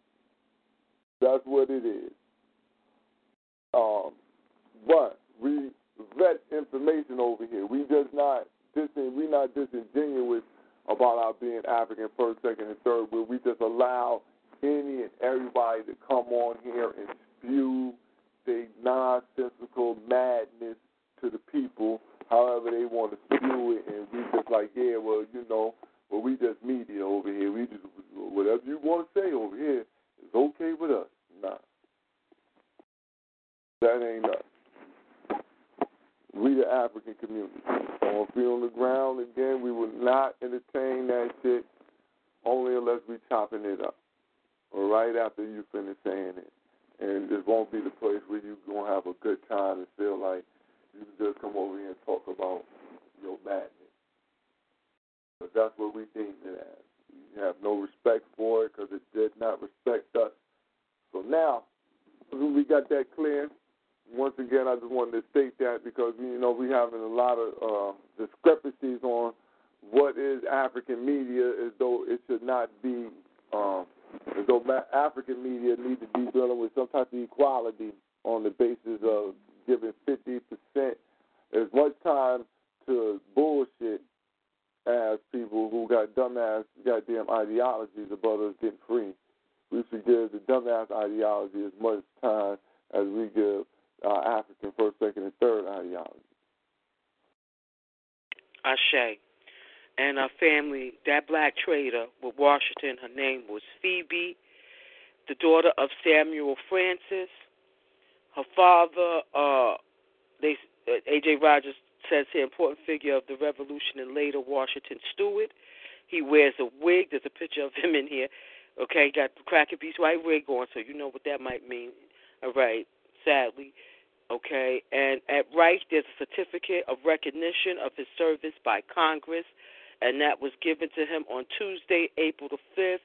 information over here. We just not we're not disingenuous about our being African first, second, and third. Where we just allow any and everybody to come on here and spew their nonsensical madness to the people, however they want to spew it, and we just like, yeah, well, well, we just media over here. We just whatever you want to say over here is okay with us. Nah, that ain't us. We the African community. On feet on the ground, again, we will not entertain that shit only unless we chopping it up. Or right after you finish saying it. And this won't be the place where you're going to have a good time and feel like you can just come over here and talk about your madness. But that's what we deem it as. We have no respect for it because it did not respect us. So now, we got that clear. Once again, I just wanted to state that because, we're having a lot of discrepancies on what is African media, as though it should not be, as though African media needs to be dealing with some type of equality on the basis of giving 50% as much time to bullshit as people who got dumbass goddamn ideologies about us getting free. We should give the dumbass ideology as much time as we give African first, second, and third ideology. Ashe. And her family, that black trader with Washington, her name was Phoebe, the daughter of Samuel Francis. Her father, A.J. Rogers says here, important figure of the Revolution and later Washington Stewart. He wears a wig. There's a picture of him in here. Okay, got the Cracker Beast white wig on, so you know what that might mean. All right, sadly. Okay, and at Rice, there's a certificate of recognition of his service by Congress, and that was given to him on Tuesday, April the 5th,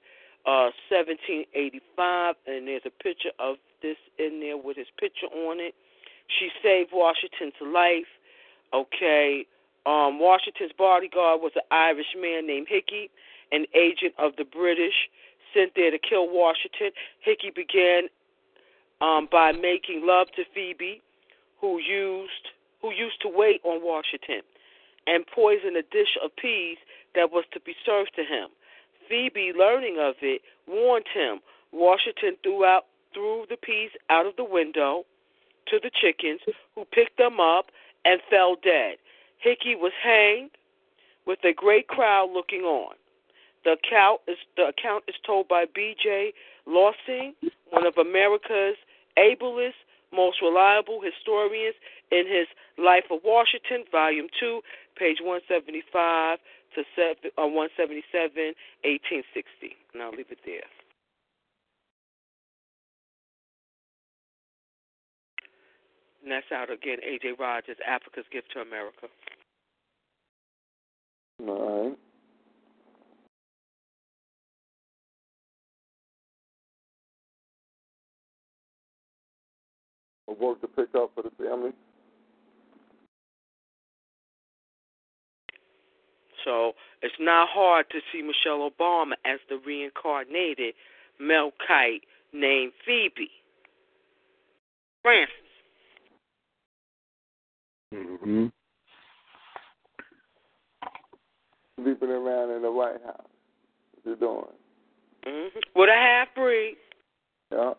1785, and there's a picture of this in there with his picture on it. She saved Washington's life. Okay, Washington's bodyguard was an Irish man named Hickey, an agent of the British sent there to kill Washington. Hickey began by making love to Phoebe, who used to wait on Washington, and poisoned a dish of peas that was to be served to him. Phoebe, learning of it, warned him. Washington threw the peas out of the window to the chickens, who picked them up and fell dead. Hickey was hanged with a great crowd looking on. The account is told by B.J. Lossing, one of America's ablest, most reliable historians, in his Life of Washington, Volume 2, page 175 to 177, 1860. And I'll leave it there. And that's out again, A.J. Rogers, Africa's Gift to America. All right. Work to pick up for the family. So it's not hard to see Michelle Obama as the reincarnated Melkite named Phoebe Francis. Mm-hmm. Sleeping around in the White House. What you doing? Mm-hmm. With a half-breed. Yeah.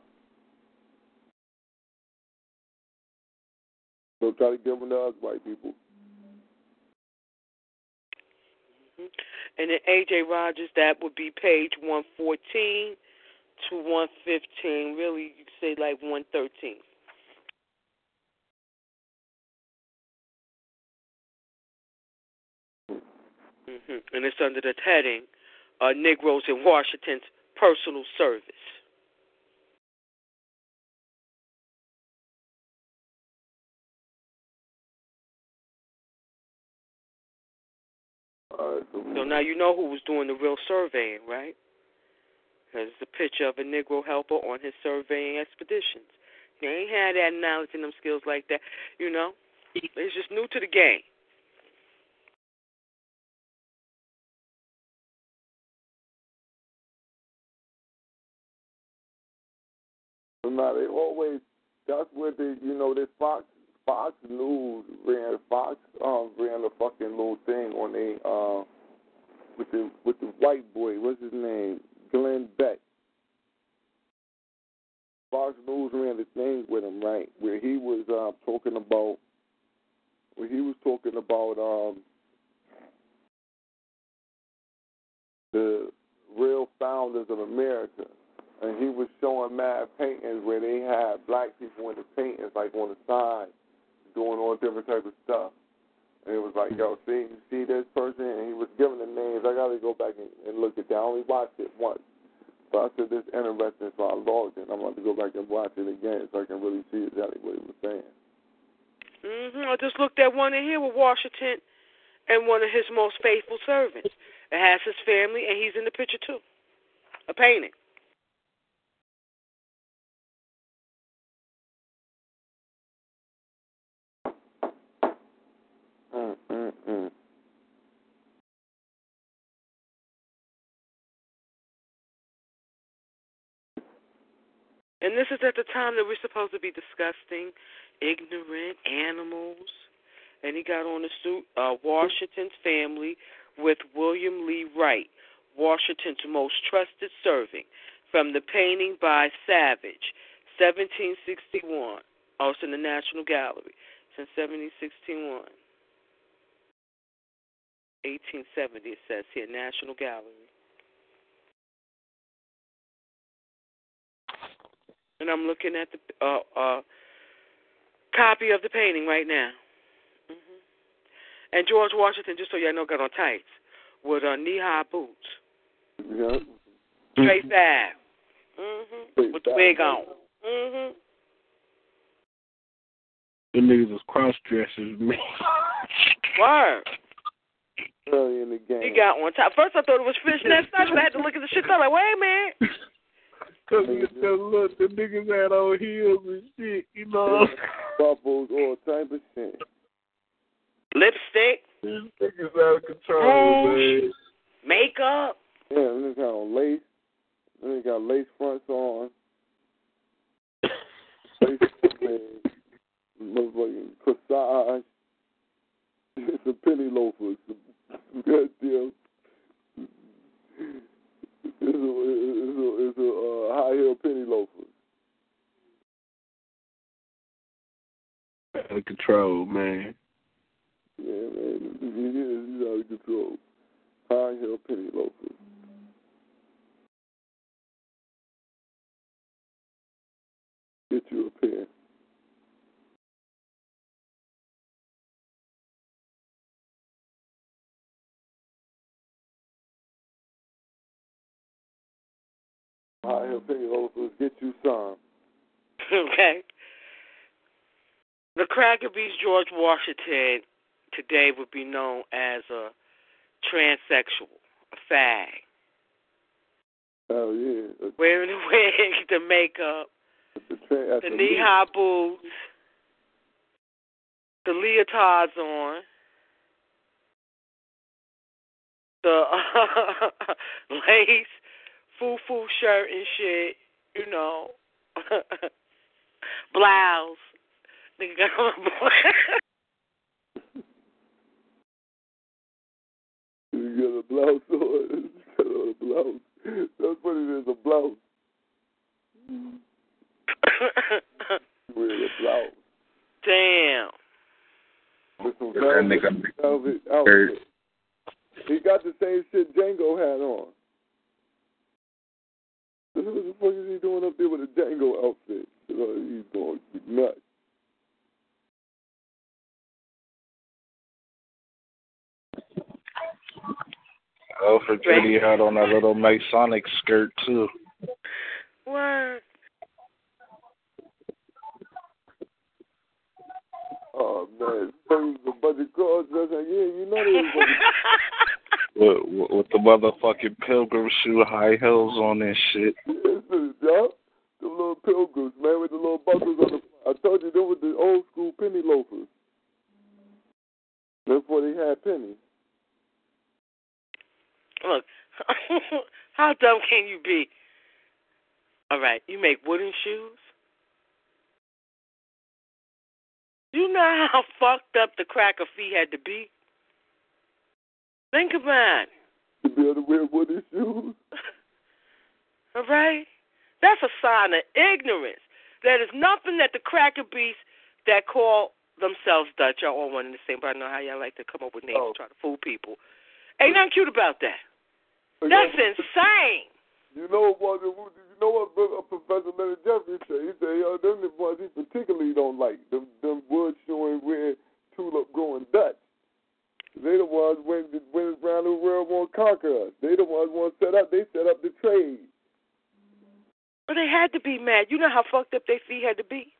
So try to give them to us white people. Mm-hmm. And then A.J. Rogers, that would be page 114 to 115. Really, you could say like 113. Mm-hmm. And it's under the heading, Negroes in Washington's Personal Service. So now you know who was doing the real surveying, right? There's a picture of a Negro helper on his surveying expeditions. He ain't had that knowledge and them skills like that, you know. He's just new to the game. So now they always, that's where they, this Fox Fox News ran ran a fucking little thing on a with the white boy. What's his name? Glenn Beck. Fox News ran the thing with him, right? Where he was talking about the real founders of America. And he was showing mad paintings where they had black people in the paintings, like on the side, doing all different type of stuff. And it was like, yo, see, you see this person? And he was giving the names. I got to go back and look at that. I only watched it once. But I said, this is interesting, so I logged in. I'm going to go back and watch it again so I can really see exactly what he was saying. I just looked at one in here with Washington and one of his most faithful servants. It has his family, and he's in the picture, too. A painting. And this is at the time that we're supposed to be disgusting, ignorant animals. And he got on the suit, Washington's family with William Lee Wright, Washington's most trusted servant, from the painting by Savage, 1761. Oh, it's in the National Gallery since 1761. 1870, it says here, National Gallery. And I'm looking at the copy of the painting right now. And George Washington, just so y'all know, got on tights with knee-high boots. Yeah. Straight fab. With the wig on. The niggas was cross-dressers, man. Word. Early in the game. He got on top. First I thought it was fishnet stuff, but I had to look at the shit. I'm like, wait a minute. Because look, the niggas had on heels and shit, you know. Bubbles, all type of shit. Lipstick. These niggas out of control, man. Makeup. Yeah, niggas got on lace. They got lace fronts on. Lace motherfucking corsage. Some penny loafers. Some goddamn. It's a high heel penny loafers. Out of control, man. Yeah, man. He's out of control. High heel penny loafers. Get you a pair. High heel penny loafers. Get you some. Okay. The Cracker Beast George Washington today would be known as a transsexual, a fag. Oh, yeah. Wearing the wig, the makeup, the knee-high boots, the leotards on, the lace, foo-foo shirt and shit, you know, blouse. Nigga got on a blouse. You got a blouse on. You got on a blouse. That's funny, there's a blouse. Wearing a blouse. Damn. With some velvet outfit. He got the same shit Django had on. What the fuck is he doing up there with a Django outfit? He's going nuts. For Judy had on that little Masonic skirt too. What? Oh man, there's a bunch of girls dressed like, yeah, you know they was With the motherfucking pilgrim shoe high heels on and shit. Yeah, the little pilgrims, man, with the little buckles on the front. I told you they were the old school penny loafers. That's before they had pennies. Look, how dumb can you be? All right, you make wooden shoes? You know how fucked up the cracker feet had to be? Think about it. To be able to wear wooden shoes. All right? That's a sign of ignorance. There is nothing that the cracker beasts that call themselves Dutch are all one and the same, but I know how y'all like to come up with names to try to fool people. Ain't nothing cute about that. That's insane. You know what Professor Leonard Jeffries said? He said, them the ones he particularly don't like. Them wood showing red tulip growing Dutch. They the ones when around the world won't conquer us. They the ones set up the trade. But they had to be mad. You know how fucked up their feet had to be?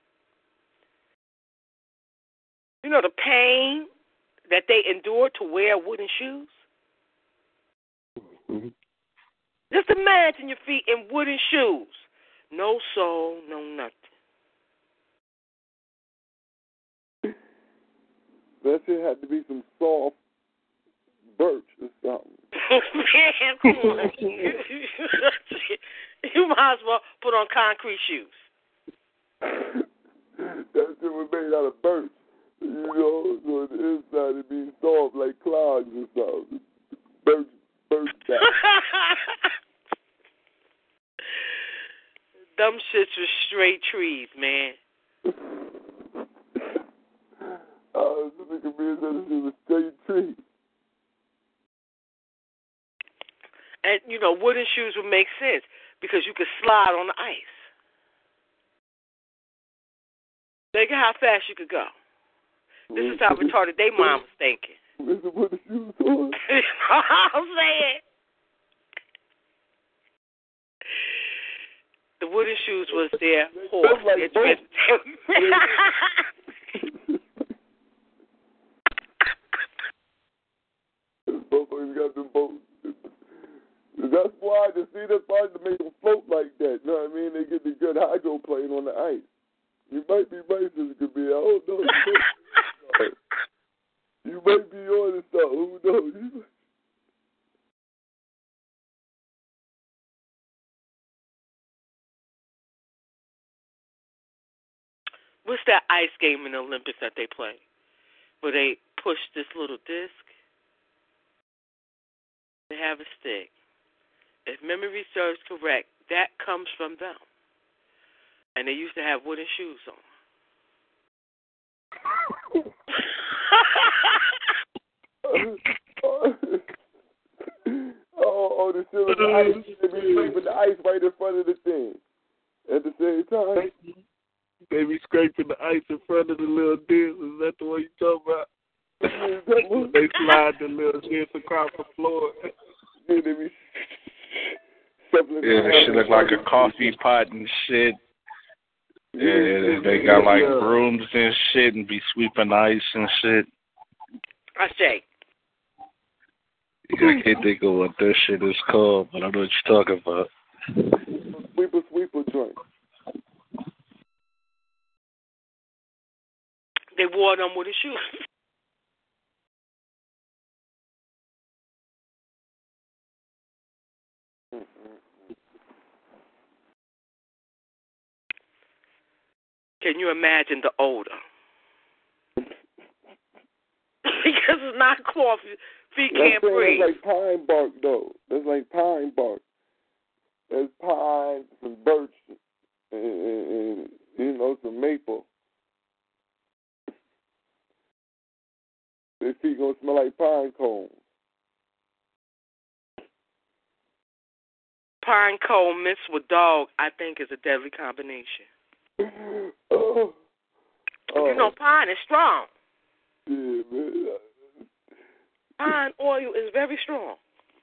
You know the pain that they endured to wear wooden shoes? Mm-hmm. Just imagine your feet in wooden shoes. No sole, no nothing. That shit had to be some soft birch or something. Man, come on. You might as well put on concrete shoes. That shit was made out of birch. You know, so the inside it be soft like clogs or something. Birch back. Them shits was straight trees, man. This nigga means that it was straight tree. And, you know, wooden shoes would make sense because you could slide on the ice. Think of how fast you could go. This is how retarded they mom was thinking. With the wooden shoes on? I'm saying. The wooden shoes was their horse. Like Motherfuckers got them boats. That's why to see that part to make them float like that. You know what I mean? They get the good hydroplane on the ice. You might be racist, could be. I don't know. You might be on to something. Who knows? What's that ice game in the Olympics that they play? Where they push this little disc. They have a stick. If memory serves correct, that comes from them. And they used to have wooden shoes on. The silver ice. They be scraping the ice right in front of the thing. At the same time. They be scraping the ice in front of the little disc. Is that the one you talking about? They slide the little disc across the floor. Yeah, they be that shit look like a coffee pot and shit. Yeah, they got like brooms and shit and be sweeping ice and shit. I say. Yeah, I can't think of what this shit is called, but I know what you're talking about. Sweeper joint. They wore them with the shoes. Can you imagine the odor? Because it's not coffee. Feet can't breathe. That's like pine bark, though. That's like pine bark. There's pine, some birch, and you know, some maple. Their feet gonna smell like pine cones. Pine cone mixed with dog, I think, is a deadly combination. You know, pine is strong. Yeah, man. Pine oil is very strong.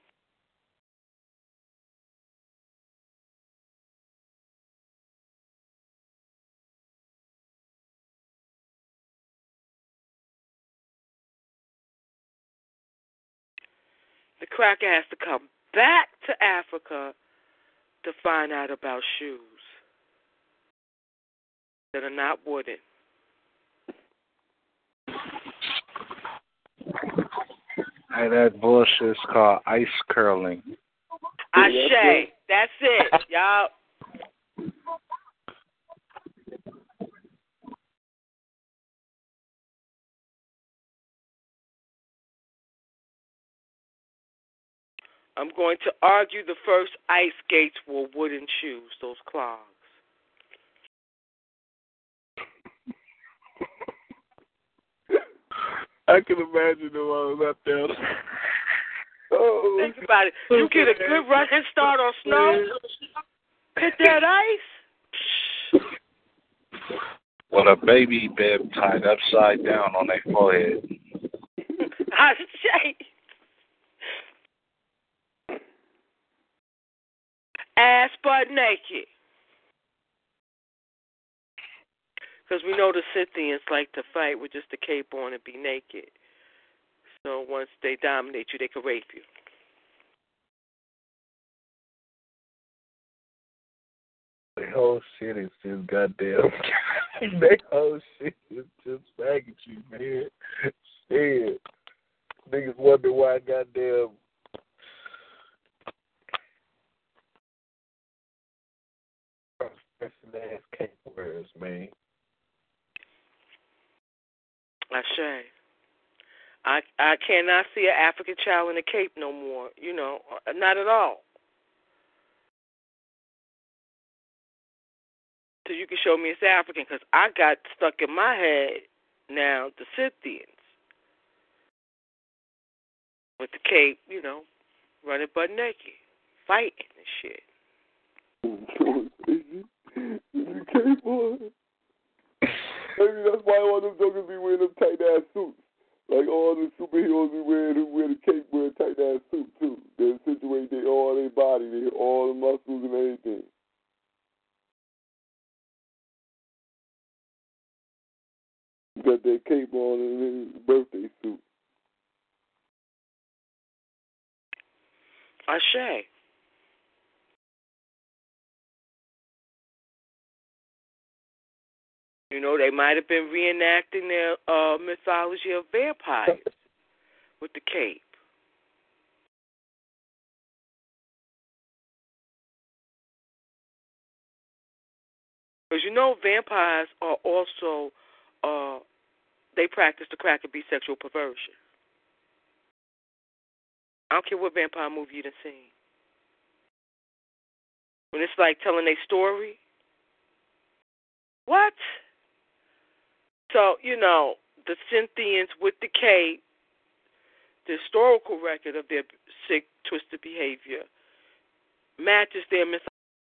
The cracker has to come back to Africa to find out about shoes that are not wooden. Hey, that bullshit's called ice curling. Ashe. That's it, y'all. I'm going to argue the first ice skates were wooden shoes, those clogs. I can imagine the ones up there. Oh, think about it. You get a good running start on snow, hit that ice. With a baby bib tied upside down on their forehead. I say. Ass butt naked. Because we know the Scythians like to fight with just the cape on and be naked. So once they dominate you, they can rape you. The whole shit is just goddamn. That whole shit is just faggotry, man. Shit. Niggas wonder why goddamn. Ass cape wearers, man. I say. I cannot see an African child in a cape no more. You know, not at all. So you can show me it's African, because I got stuck in my head now the Scythians with the cape, you know, running butt naked, fighting and shit. The cape on. Maybe that's why all them jokers be wearing them tight ass suits. Like all the superheroes be wearing who wear the cape, wear tight ass suit too. They situate all their body, all the muscles and everything. Got their cape on and their birthday suit. Ashe. You know, they might have been reenacting their mythology of vampires with the cape. Because you know, vampires are also, they practice the crack and be sexual perversion. I don't care what vampire movie you done seen. When it's like telling their story. What? So, you know, the Scythians with the cape, the historical record of their sick, twisted behavior matches their mythology.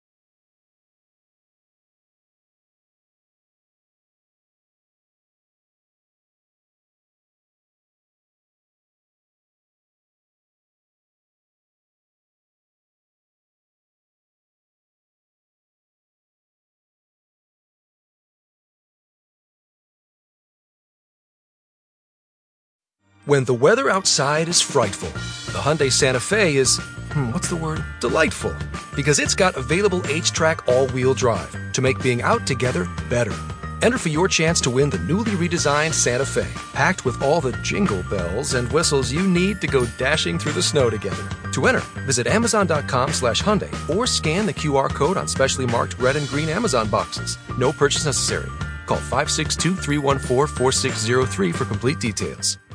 When the weather outside is frightful, the Hyundai Santa Fe is, delightful. Because it's got available H-Track all-wheel drive to make being out together better. Enter for your chance to win the newly redesigned Santa Fe, packed with all the jingle bells and whistles you need to go dashing through the snow together. To enter, visit Amazon.com/Hyundai or scan the QR code on specially marked red and green Amazon boxes. No purchase necessary. Call 562-314-4603 for complete details.